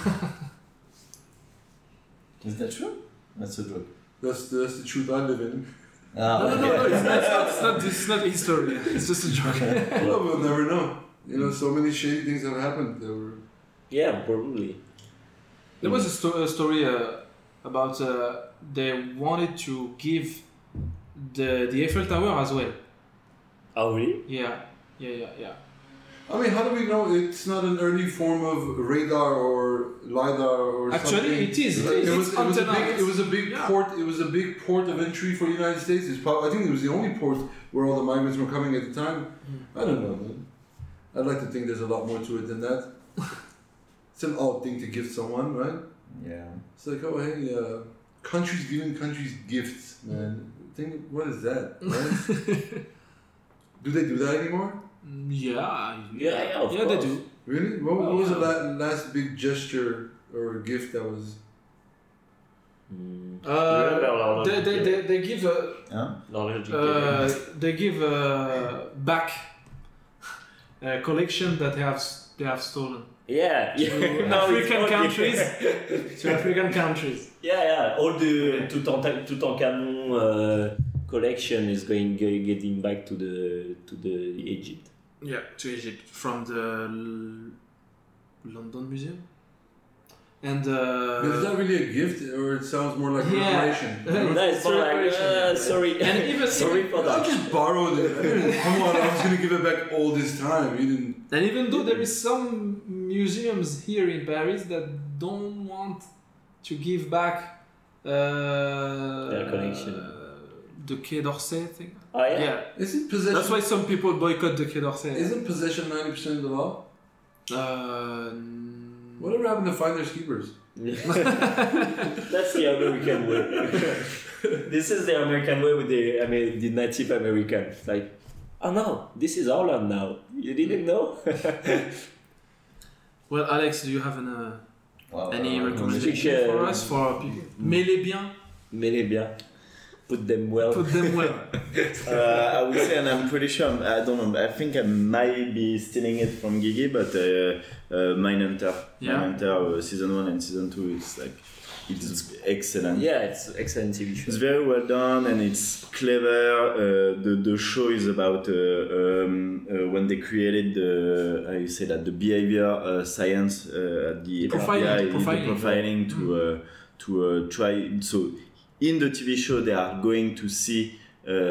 Speaker 5: Is that true? That's a joke.
Speaker 4: That's the truth I live in.
Speaker 5: Ah,
Speaker 2: No, it's not history. It's just a joke.
Speaker 4: Well, we'll never know. You know, so many shady things have happened. That were
Speaker 9: Yeah, probably.
Speaker 2: There was a story about they wanted to give the Eiffel Tower as well.
Speaker 9: Oh, really?
Speaker 2: Yeah.
Speaker 4: I mean, how do we know it's not an early form of radar or lidar or
Speaker 2: Actually,
Speaker 4: something?
Speaker 2: it is.
Speaker 4: It was a big port. It was a big port of entry for the United States. I think it was the only port where all the migrants were coming at the time. I don't know, man. I'd like to think there's a lot more to it than that. It's an odd thing to give someone, right?
Speaker 5: Yeah.
Speaker 4: It's like, oh hey, countries giving countries gifts, man. Think, what is that? Right? Do they do that anymore?
Speaker 2: Yeah,
Speaker 9: of course.
Speaker 2: they do.
Speaker 4: Really? What was the last big gesture or gift that was?
Speaker 2: They give they give back a collection that they have stolen.
Speaker 9: Yeah,
Speaker 2: to African countries. To African countries.
Speaker 9: Yeah. All the Tutankhamun collection is getting back to the Egypt.
Speaker 2: Yeah, to Egypt from the London Museum. And
Speaker 4: but is that really a gift, or it sounds more like reparation?
Speaker 9: No, it's more like sorry.
Speaker 2: And even
Speaker 9: sorry for that.
Speaker 4: I just borrowed it. Come on, I was gonna give it back all this time. You didn't.
Speaker 2: And even though there is some museums here in Paris that don't want to give back
Speaker 9: their collection.
Speaker 2: The Quai d'Orsay thing.
Speaker 9: Oh yeah.
Speaker 4: Isn't possession?
Speaker 2: That's why some people boycott the Quai d'Orsay.
Speaker 4: Isn't possession 90% of the law? Whatever happened to finders keepers?
Speaker 9: That's the American way. This is the American way with the Native American. It's like, oh no, this is our land now. You didn't know?
Speaker 2: Well, Alex, do you have any recommendation for us for people? Mets-les bien.
Speaker 9: Mets-les bien. Put them well.
Speaker 5: I would say, and I'm pretty sure, I don't know, I think I might be stealing it from Gigi, but Mindhunter.
Speaker 2: Yeah.
Speaker 5: Mindhunter season 1 and season 2, it's excellent.
Speaker 9: Yeah, it's excellent TV show.
Speaker 5: It's very well done and it's clever. The show is about when they created the behavior science at the profiling to try. So in the TV show, they are going to see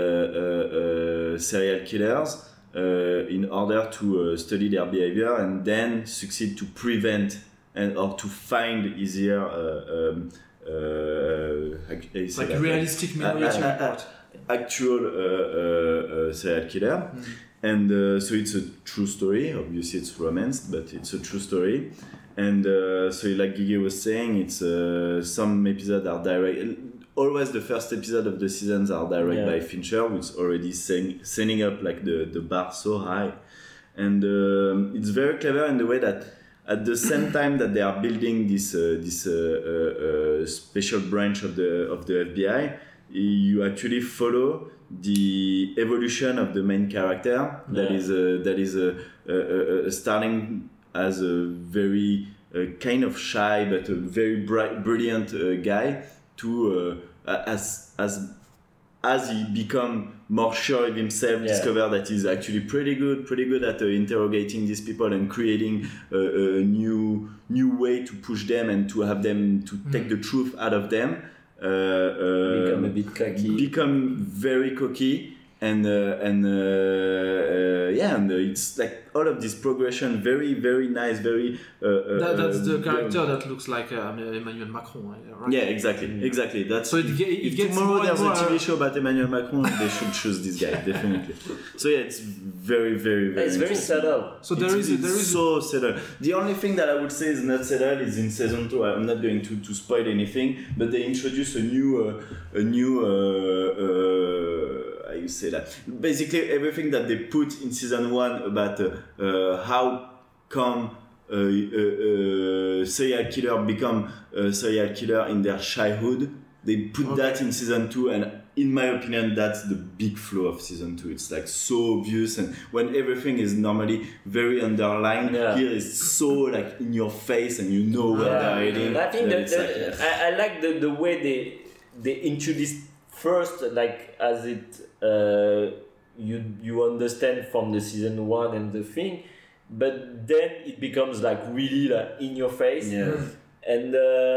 Speaker 5: serial killers in order to study their behavior and then succeed to prevent or to find easier
Speaker 2: like realistic minority report.
Speaker 5: Actual serial killer. And so it's a true story. Obviously it's romanced, but it's a true story. And so like Gigi was saying, it's some episodes are direct. Always the first episode of the seasons are direct by Fincher, who's already setting up like the bar so high. And it's very clever in the way that at the same time that they are building this special branch of the FBI, you actually follow the evolution of the main character that is starting as a very kind of shy but a very brilliant guy to as he become more sure of himself, discover that he's actually pretty good at interrogating these people and creating a new way to push them and to have them to take the truth out of them.
Speaker 9: Become a bit cocky.
Speaker 5: Become very cocky. And it's like all of this progression, very, very nice, very.
Speaker 2: That's the character that looks like Emmanuel Macron, right?
Speaker 5: Yeah, exactly. That's
Speaker 2: so
Speaker 5: if
Speaker 2: gets
Speaker 5: tomorrow there's a TV show about Emmanuel Macron, they should choose this guy definitely. So yeah, it's very, very, very.
Speaker 9: It's very subtle.
Speaker 2: So there is
Speaker 5: so subtle. The only thing that I would say is not subtle is in season 2. I'm not going to spoil anything, but they introduce a new. You say that basically everything that they put in season 1 about how come serial killer become a serial killer in their childhood, they put that in season 2, and in my opinion that's the big flaw of season 2. It's like so obvious, and when everything is normally very underlined, here is so like in your face and you know where they're heading.
Speaker 9: I think I like the way they introduced first, like as it you understand from the season 1 and the thing, but then it becomes like really like in your face.
Speaker 5: Yeah.
Speaker 9: And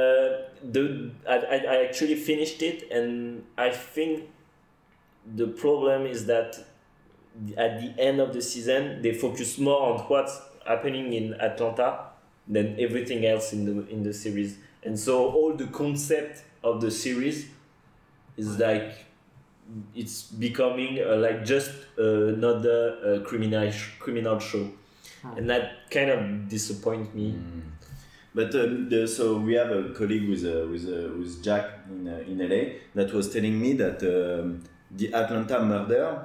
Speaker 9: I actually finished it, and I think the problem is that at the end of the season they focus more on what's happening in Atlanta than everything else in the series, and so all the concept of the series is like it's becoming like just another criminal show, and that kind of disappoints me.
Speaker 5: But so we have a colleague with Jack in LA that was telling me that the Atlanta murder,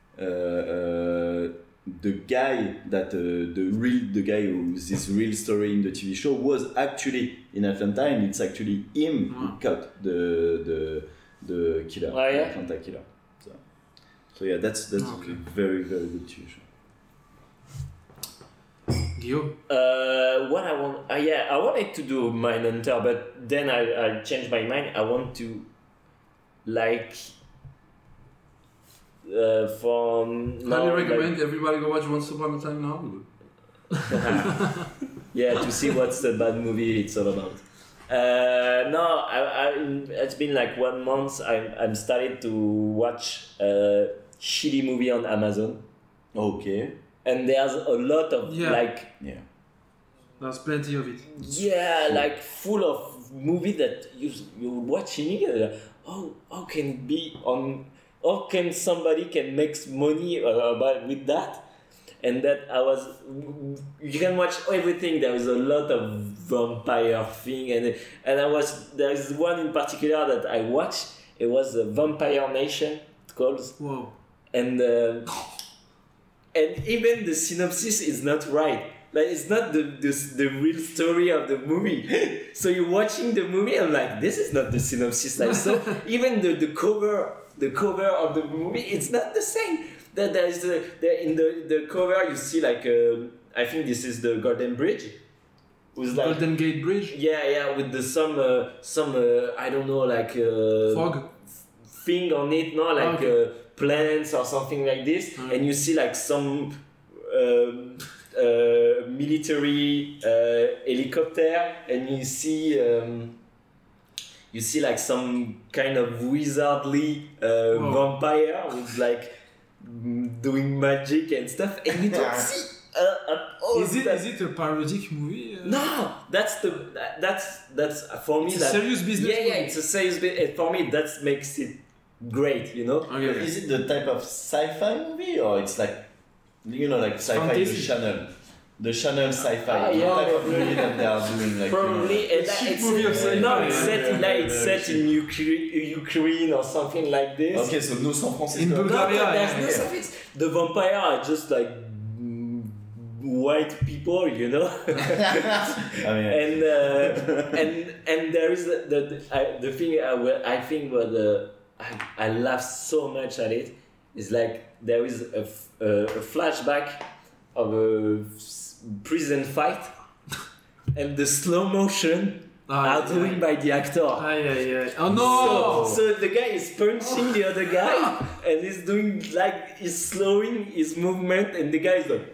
Speaker 5: the guy that the guy who's this real story in the TV show was actually in Atlanta, and it's actually him who caught the killer, the Atlanta killer. So yeah, that's
Speaker 2: Okay.
Speaker 5: very very good TV show.
Speaker 2: Guillaume?
Speaker 9: What I want, I wanted to do Mindhunter, but then I changed my mind. I want to like from now.
Speaker 2: Highly recommend everybody go watch Once Upon a Time in Hollywood.
Speaker 9: Yeah, to see what's the bad movie it's all about. No, it's been like 1 month. I'm started to watch a shitty movie on Amazon.
Speaker 5: Okay.
Speaker 9: And there's a lot of
Speaker 2: There's plenty of it.
Speaker 9: Yeah, like full of movie that you're watching it. How can somebody can make money with that? And that you can watch everything. There is a lot of vampire thing, and there's one in particular that I watched. It was Vampire Nation. It's called.
Speaker 2: Whoa.
Speaker 9: And even the synopsis is not right. Like it's not the real story of the movie. So you're watching the movie and like this is not the synopsis. Like so even the cover of the movie it's not the same. That there is in the cover you see like I think this is the Golden Bridge. With like,
Speaker 2: Golden Gate Bridge?
Speaker 9: Yeah, with the some I don't know like
Speaker 2: fog
Speaker 9: thing on it, no, like plants or something like this, and you see like some military helicopter, and you see like some kind of wizardly vampire who's like doing magic and stuff, and you don't see
Speaker 2: is it a parodic movie?
Speaker 9: No, that's for me.
Speaker 2: It's a serious business movie.
Speaker 9: Yeah, it's a serious business. For me, that makes it great, you know.
Speaker 2: Okay.
Speaker 5: Is it the type of sci-fi movie, or it's like, you know, like sci-fi
Speaker 2: Fantasy.
Speaker 5: the channel sci-fi,
Speaker 9: yeah,
Speaker 5: type of movie that they are doing, like
Speaker 9: probably it's
Speaker 2: movie of sci-fi.
Speaker 9: no, it's set in Ukraine or something like this.
Speaker 5: Okay, so no San Francisco.
Speaker 2: In Bulgaria,
Speaker 9: No, there's
Speaker 2: yeah.
Speaker 9: no suffix. The vampire are just like white people, you know.
Speaker 5: I mean,
Speaker 9: and there is the thing I think I laugh so much at it is like there is a flashback of a prison fight and the slow motion are doing by the actor.
Speaker 2: Oh no!
Speaker 9: So the guy is punching the other guy and he's doing like he's slowing his movement and the guy is like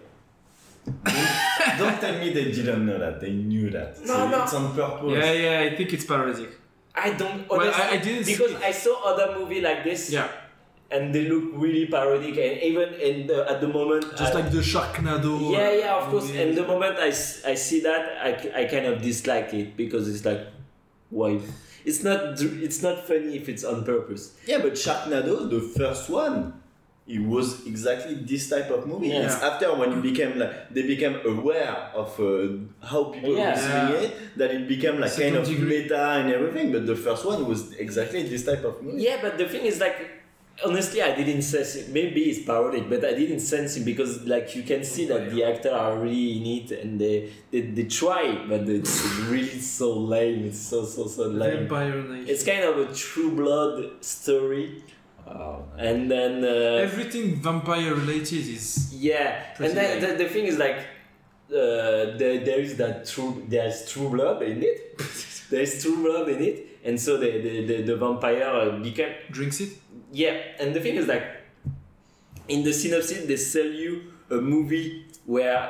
Speaker 5: don't tell me they didn't know that. They knew that. So
Speaker 9: No.
Speaker 5: it's on purpose.
Speaker 2: Yeah, I think it's parodic.
Speaker 9: I don't
Speaker 2: Well,
Speaker 9: honestly,
Speaker 2: I didn't
Speaker 9: because
Speaker 2: see it.
Speaker 9: I saw other movie like this
Speaker 2: Yeah.
Speaker 9: and they look really parodic and even at the moment
Speaker 2: Just like the Sharknado.
Speaker 9: yeah of course,
Speaker 2: movie.
Speaker 9: and the moment I see that I kind of dislike it because it's like why it's not funny if it's on purpose.
Speaker 5: Yeah, but Sharknado, the first one, it was exactly this type of movie.
Speaker 9: Yeah.
Speaker 5: It's after when it became like they became aware of how people were seeing it, that it became like
Speaker 2: Second
Speaker 5: kind of
Speaker 2: degree.
Speaker 5: meta and everything. But the first one was exactly this type of movie.
Speaker 9: Yeah, but the thing is like honestly I didn't sense it. Maybe it's parodic, but I didn't sense it because like you can see that the actors are really in it and they try, but it's really so lame. It's so lame.
Speaker 2: Vampire Nation.
Speaker 9: It's kind of a True Blood story. And then
Speaker 2: Everything vampire related is
Speaker 9: and then the thing is like there's True Blood in it. There's True Blood in it, and so the vampire became
Speaker 2: drinks it.
Speaker 9: and the thing is like in the synopsis they sell you a movie where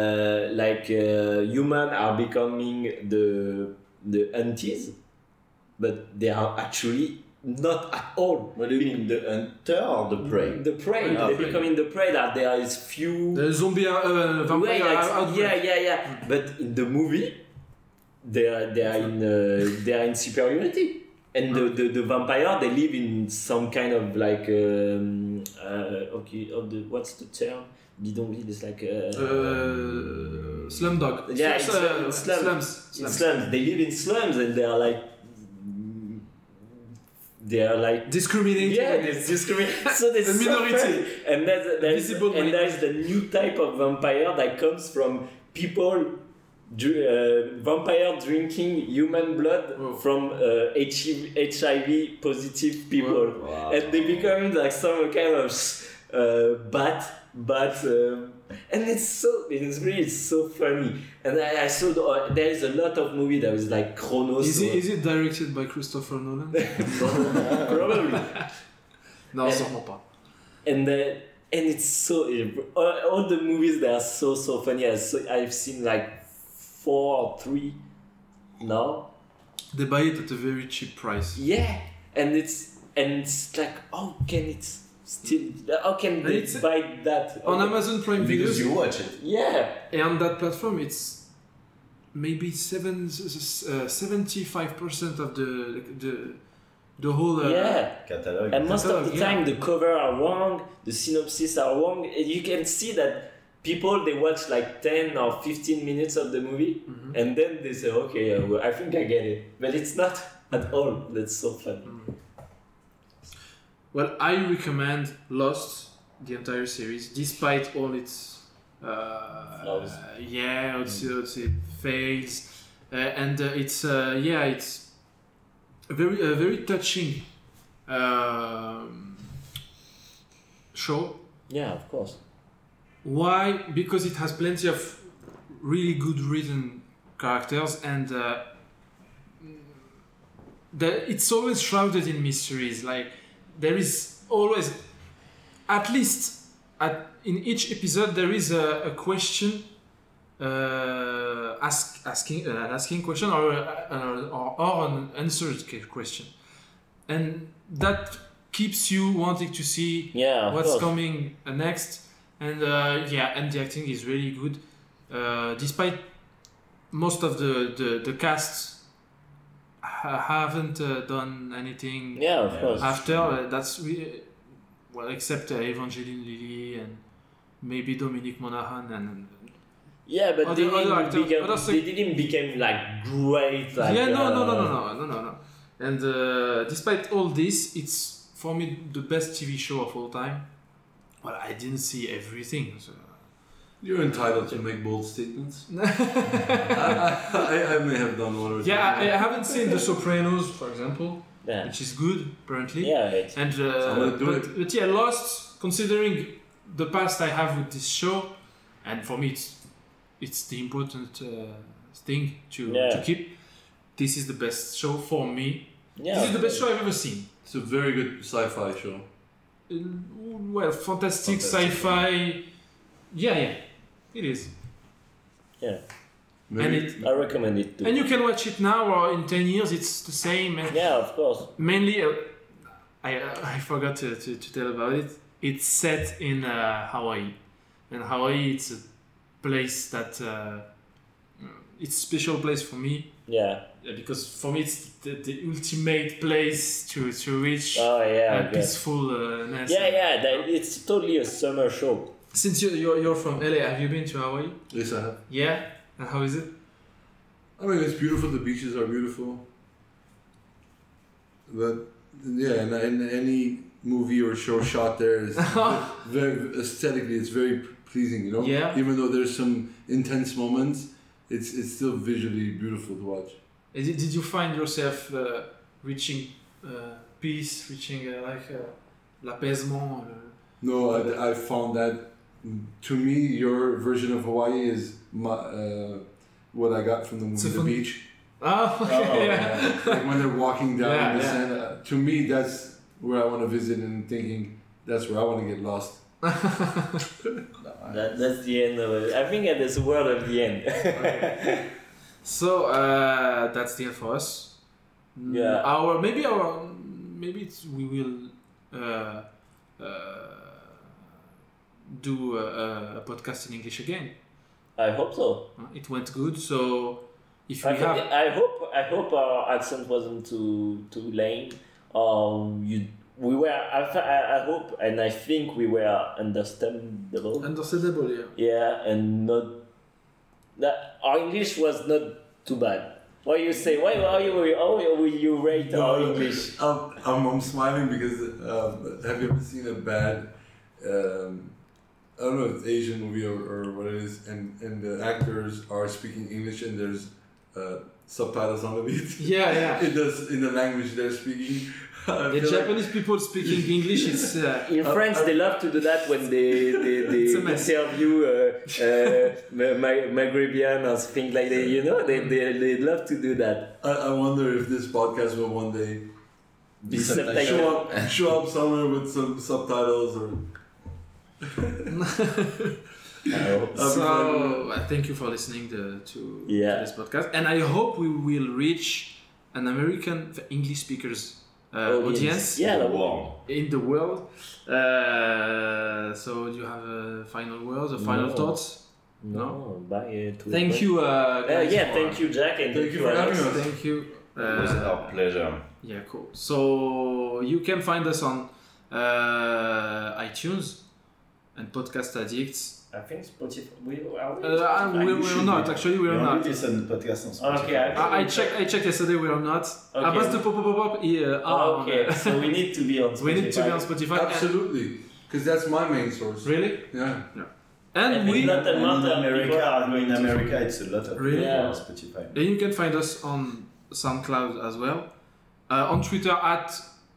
Speaker 9: humans are becoming the aunties, but they are actually not at all.
Speaker 7: What do you mean, the hunter or the prey?
Speaker 9: The prey.
Speaker 2: Oh,
Speaker 9: They're
Speaker 2: prey.
Speaker 9: becoming the prey. That there is few.
Speaker 2: The zombie vampire
Speaker 9: Way,
Speaker 2: outbreak.
Speaker 9: yeah. But in the movie, they are in superiority, and the vampire, they live in some kind of like what's the term? Bidonville is like
Speaker 2: Slumdog.
Speaker 9: Yeah, it's
Speaker 2: slums.
Speaker 9: slums. They live in slums, and they are like
Speaker 2: Discriminated.
Speaker 9: yeah, there's discrimination. So there's
Speaker 2: The minority.
Speaker 9: suffering. And
Speaker 2: Visible
Speaker 9: there's the new type of vampire that comes from people. Vampire drinking human blood from HIV positive people,
Speaker 7: Wow.
Speaker 9: and they become like some kind of bat, and it's so funny. And I saw there is a lot of movie that was like Chronos.
Speaker 2: Is it directed by Christopher Nolan?
Speaker 9: Probably.
Speaker 2: Non, sûrement pas.
Speaker 9: And it's so all the movies that are so funny. I've seen like 4 or 3 now.
Speaker 2: They buy it at a very cheap price.
Speaker 9: Yeah, and it's like how can they
Speaker 2: It's-
Speaker 9: buy that
Speaker 2: On Amazon Prime
Speaker 7: Because
Speaker 2: Videos,
Speaker 7: you watch it.
Speaker 9: Yeah,
Speaker 2: and on that platform, it's maybe 75% of the whole.
Speaker 9: yeah.
Speaker 7: Catalogue.
Speaker 9: And most of the
Speaker 2: Yeah.
Speaker 9: time, the cover are wrong, the synopsis are wrong, and you can see that people they watch like 10 or 15 minutes of the movie, and then they say, okay, well, I think I get it, but it's not at all. That's so funny.
Speaker 2: Well, I recommend Lost, the entire series, despite all its
Speaker 9: Flaws.
Speaker 2: its fails, and it's it's a very touching show.
Speaker 9: Yeah, of course.
Speaker 2: Why? Because it has plenty of really good written characters, and it's always shrouded in mysteries. Like there is always, at least in each episode, there is a question, asking question or an answered question, and that keeps you wanting to see
Speaker 9: Yeah, of
Speaker 2: what's
Speaker 9: course.
Speaker 2: coming next. And and the acting is really good, despite most of the cast haven't done anything
Speaker 9: Yeah, of course.
Speaker 2: after. That's really, well, except Evangeline Lilly and maybe Dominic Monaghan and
Speaker 9: Yeah, but
Speaker 2: Other actors,
Speaker 9: they didn't become like great. Like,
Speaker 2: no. And despite all this, it's for me the best TV show of all time. Well, I didn't see everything. So.
Speaker 4: You're entitled to make bold statements. I may have done one or two.
Speaker 2: Yeah, I haven't seen The Sopranos, for example,
Speaker 9: Yeah.
Speaker 2: which is good apparently.
Speaker 9: Yeah, it's,
Speaker 2: And
Speaker 4: gonna do
Speaker 2: but yeah, Lost. Considering the past I have with this show, and for me it's the important thing to keep. This is the best show for me.
Speaker 9: yeah.
Speaker 2: This is the best show I've ever seen.
Speaker 4: It's a very good sci-fi show.
Speaker 2: Well, fantastic sci-fi. Yeah, it is.
Speaker 9: Yeah.
Speaker 4: Maybe-
Speaker 2: And
Speaker 9: I recommend it too.
Speaker 2: and you can watch it now or in 10 years. It's the same. And
Speaker 9: Yeah, of course.
Speaker 2: mainly, I forgot to tell about it. It's set in Hawaii, and Hawaii it's a place that it's a special place for me.
Speaker 9: Yeah.
Speaker 2: Because for me it's the ultimate place to reach
Speaker 9: Oh yeah. Okay.
Speaker 2: peacefulness.
Speaker 9: Yeah. It's totally a summer show.
Speaker 2: Since you're from LA, have you been to Hawaii?
Speaker 4: Yes, I have.
Speaker 2: Yeah. And how is it?
Speaker 4: I mean, it's beautiful. The beaches are beautiful. But yeah, and any movie or show shot there is very aesthetically. It's very pleasing, you know.
Speaker 2: Yeah.
Speaker 4: Even though there's some intense moments, it's still visually beautiful to watch.
Speaker 2: Did you find yourself reaching peace, reaching l'apaisement?
Speaker 4: No, I found that. To me, your version of Hawaii is what I got from the movie
Speaker 2: So
Speaker 4: The
Speaker 2: from-
Speaker 4: Beach.
Speaker 2: Oh, okay, yeah.
Speaker 4: Like when they're walking down the
Speaker 2: Yeah.
Speaker 4: sand. To me, that's where I want to visit and thinking that's where I want to get lost.
Speaker 9: That's the end of it. I think that's the word of the end.
Speaker 2: Okay. So that's the end for us.
Speaker 9: Yeah.
Speaker 2: Maybe we will do a podcast in English again.
Speaker 9: I hope so.
Speaker 2: It went good, so if we
Speaker 9: I
Speaker 2: have,
Speaker 9: hope our accent wasn't too lame. We were. I hope and I think we were understandable.
Speaker 2: understandable, yeah.
Speaker 9: Yeah, and not that our English was not too bad. What you say? How will you rate our English?
Speaker 4: I'm smiling because have you ever seen a bad I don't know if it's Asian movie or what it is, and the actors are speaking English and there's subtitles underneath.
Speaker 2: Yeah.
Speaker 4: It does in the language they're speaking.
Speaker 2: The Japanese people speaking English is
Speaker 9: In France, they love to do that when they interview Maghrebian or things like that. You know, they love to do that.
Speaker 4: I wonder if this podcast will one day
Speaker 9: Be subtitled.
Speaker 4: show up somewhere with some subtitles or.
Speaker 2: So thank you for listening to this podcast, and I hope we will reach an American English speakers audience
Speaker 9: in
Speaker 2: the world. So do you have a final words or final thoughts?
Speaker 9: No. Bye.
Speaker 2: Thank you. Guys,
Speaker 9: thank you, Jack, and
Speaker 4: Thank you for having us.
Speaker 2: Thank you.
Speaker 5: It was our pleasure.
Speaker 2: Yeah, cool. So you can find us on iTunes and Podcast Addicts.
Speaker 9: I think Spotify.
Speaker 2: We're not. Actually, we're not.
Speaker 7: Listen to podcast on Spotify.
Speaker 9: Okay,
Speaker 2: I checked yesterday. We are not.
Speaker 9: Okay.
Speaker 2: Bas de pop.
Speaker 9: Okay, so we need to be on Spotify.
Speaker 2: We need to be on Spotify.
Speaker 4: Absolutely, because that's my main source.
Speaker 2: Really?
Speaker 4: Yeah.
Speaker 2: And we.
Speaker 7: In America, it's a lot of
Speaker 2: Really?
Speaker 7: people on Spotify.
Speaker 2: Then you can find us on SoundCloud as well. On Twitter at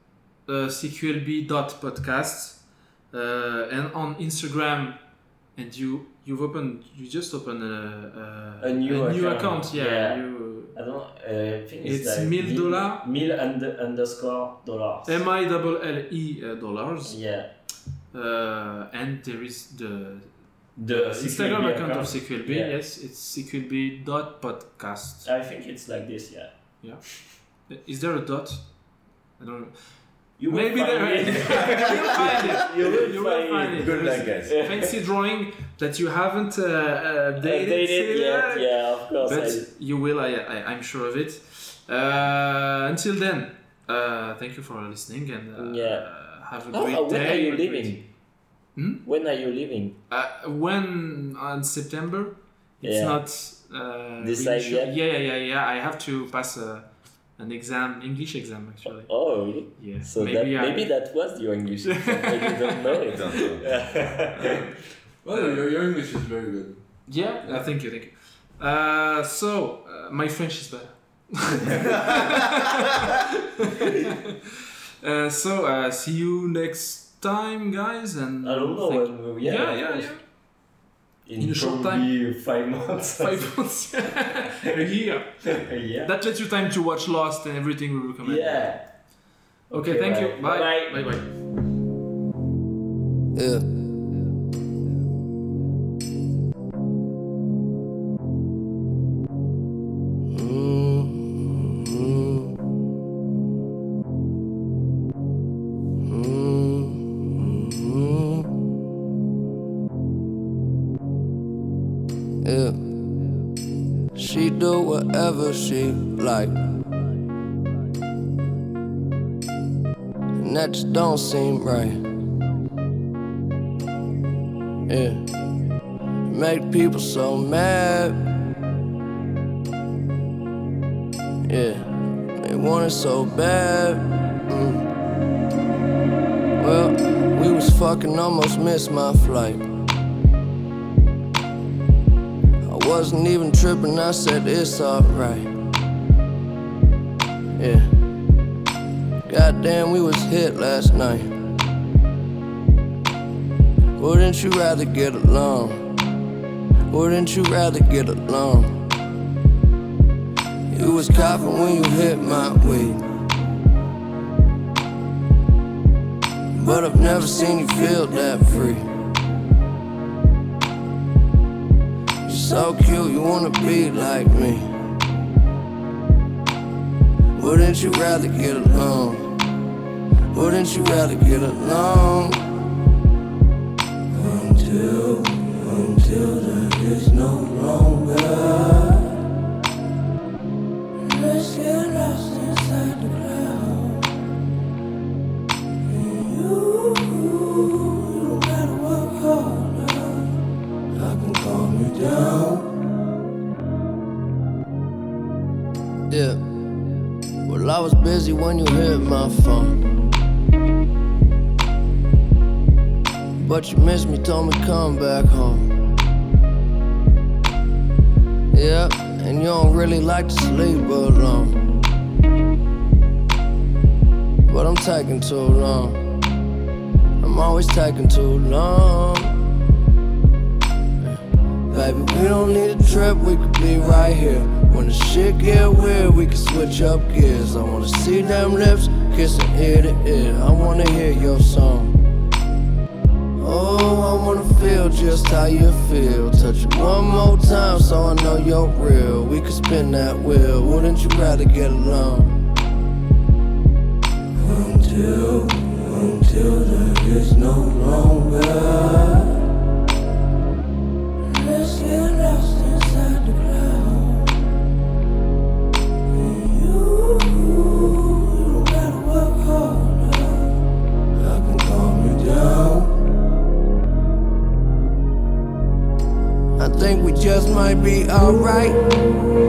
Speaker 2: cqlb.podcast. And on Instagram, and you just opened
Speaker 9: a new
Speaker 2: account.
Speaker 9: Yeah.
Speaker 2: You,
Speaker 9: I don't. I think
Speaker 2: it's
Speaker 9: like
Speaker 2: $1,000.
Speaker 9: $1,000.
Speaker 2: MILLE dollars.
Speaker 9: Yeah.
Speaker 2: And there is the
Speaker 9: The
Speaker 2: Instagram account of CQLB.
Speaker 9: Yeah.
Speaker 2: Yes, it's cqlb.podcast.
Speaker 9: I think it's like this. Yeah.
Speaker 2: Yeah. Is there a dot? I don't know.
Speaker 9: You
Speaker 2: Maybe
Speaker 9: will
Speaker 2: there
Speaker 9: find
Speaker 2: is.
Speaker 9: it.
Speaker 2: You will find it.
Speaker 7: Good luck, guys.
Speaker 2: Fancy drawing that you haven't updated
Speaker 9: yet. Yeah, of course.
Speaker 2: But you will. I'm sure of it. Until then, thank you for listening and have a great day.
Speaker 9: When are you leaving? When are you leaving?
Speaker 2: When on September? It's not
Speaker 9: decided
Speaker 2: really
Speaker 9: yet?
Speaker 2: Yeah. I have to pass an exam, English exam actually.
Speaker 9: Oh, really?
Speaker 2: Yeah.
Speaker 9: So maybe that was your English exam, but you don't know it.
Speaker 4: Well, your English is very good.
Speaker 2: Yeah. Thank you. So my French is better. So see you next time, guys, and
Speaker 9: I don't know when.
Speaker 2: Yeah. In a short time.
Speaker 9: 5 months.
Speaker 2: 5 months. A year.
Speaker 9: Yeah.
Speaker 2: That lets you time to watch Lost and everything we recommend.
Speaker 9: Yeah.
Speaker 2: Okay, thank you. Bye.
Speaker 9: Bye.
Speaker 2: Bye.
Speaker 8: Yeah. Yeah. She do whatever she like, and that just don't seem right. Yeah, make people so mad. Yeah, they want it so bad. Well, we was fucking, almost missed my flight. Wasn't even tripping, I said it's alright. Yeah. Goddamn, we was hit last night. Wouldn't you rather get along? Wouldn't you rather get along? You was coughing when you hit my weed. but I've never seen you feel that free. You're so cute, you wanna be like me. Wouldn't you rather get along? Wouldn't you rather get along? Until there is no longer. Let's get lost inside the cloud. And you don't gotta work harder. I can calm you down. Yeah. Well, I was busy when you hit my phone. But you missed me, told me come back home. Yeah, and you don't really like to sleep alone. But I'm taking too long. I'm always taking too long. Baby, we don't need a trip, we could be right here. When the shit get weird, we can switch up gears. I wanna see them lips, kissing ear to ear. I wanna hear your song. Oh, I wanna feel just how you feel. Touch it one more time so I know you're real. We could spin that wheel, wouldn't you rather get along? Until there is no longer. Let's get lost inside the cloud. And you don't gotta work harder. I can calm you down. I think we just might be alright.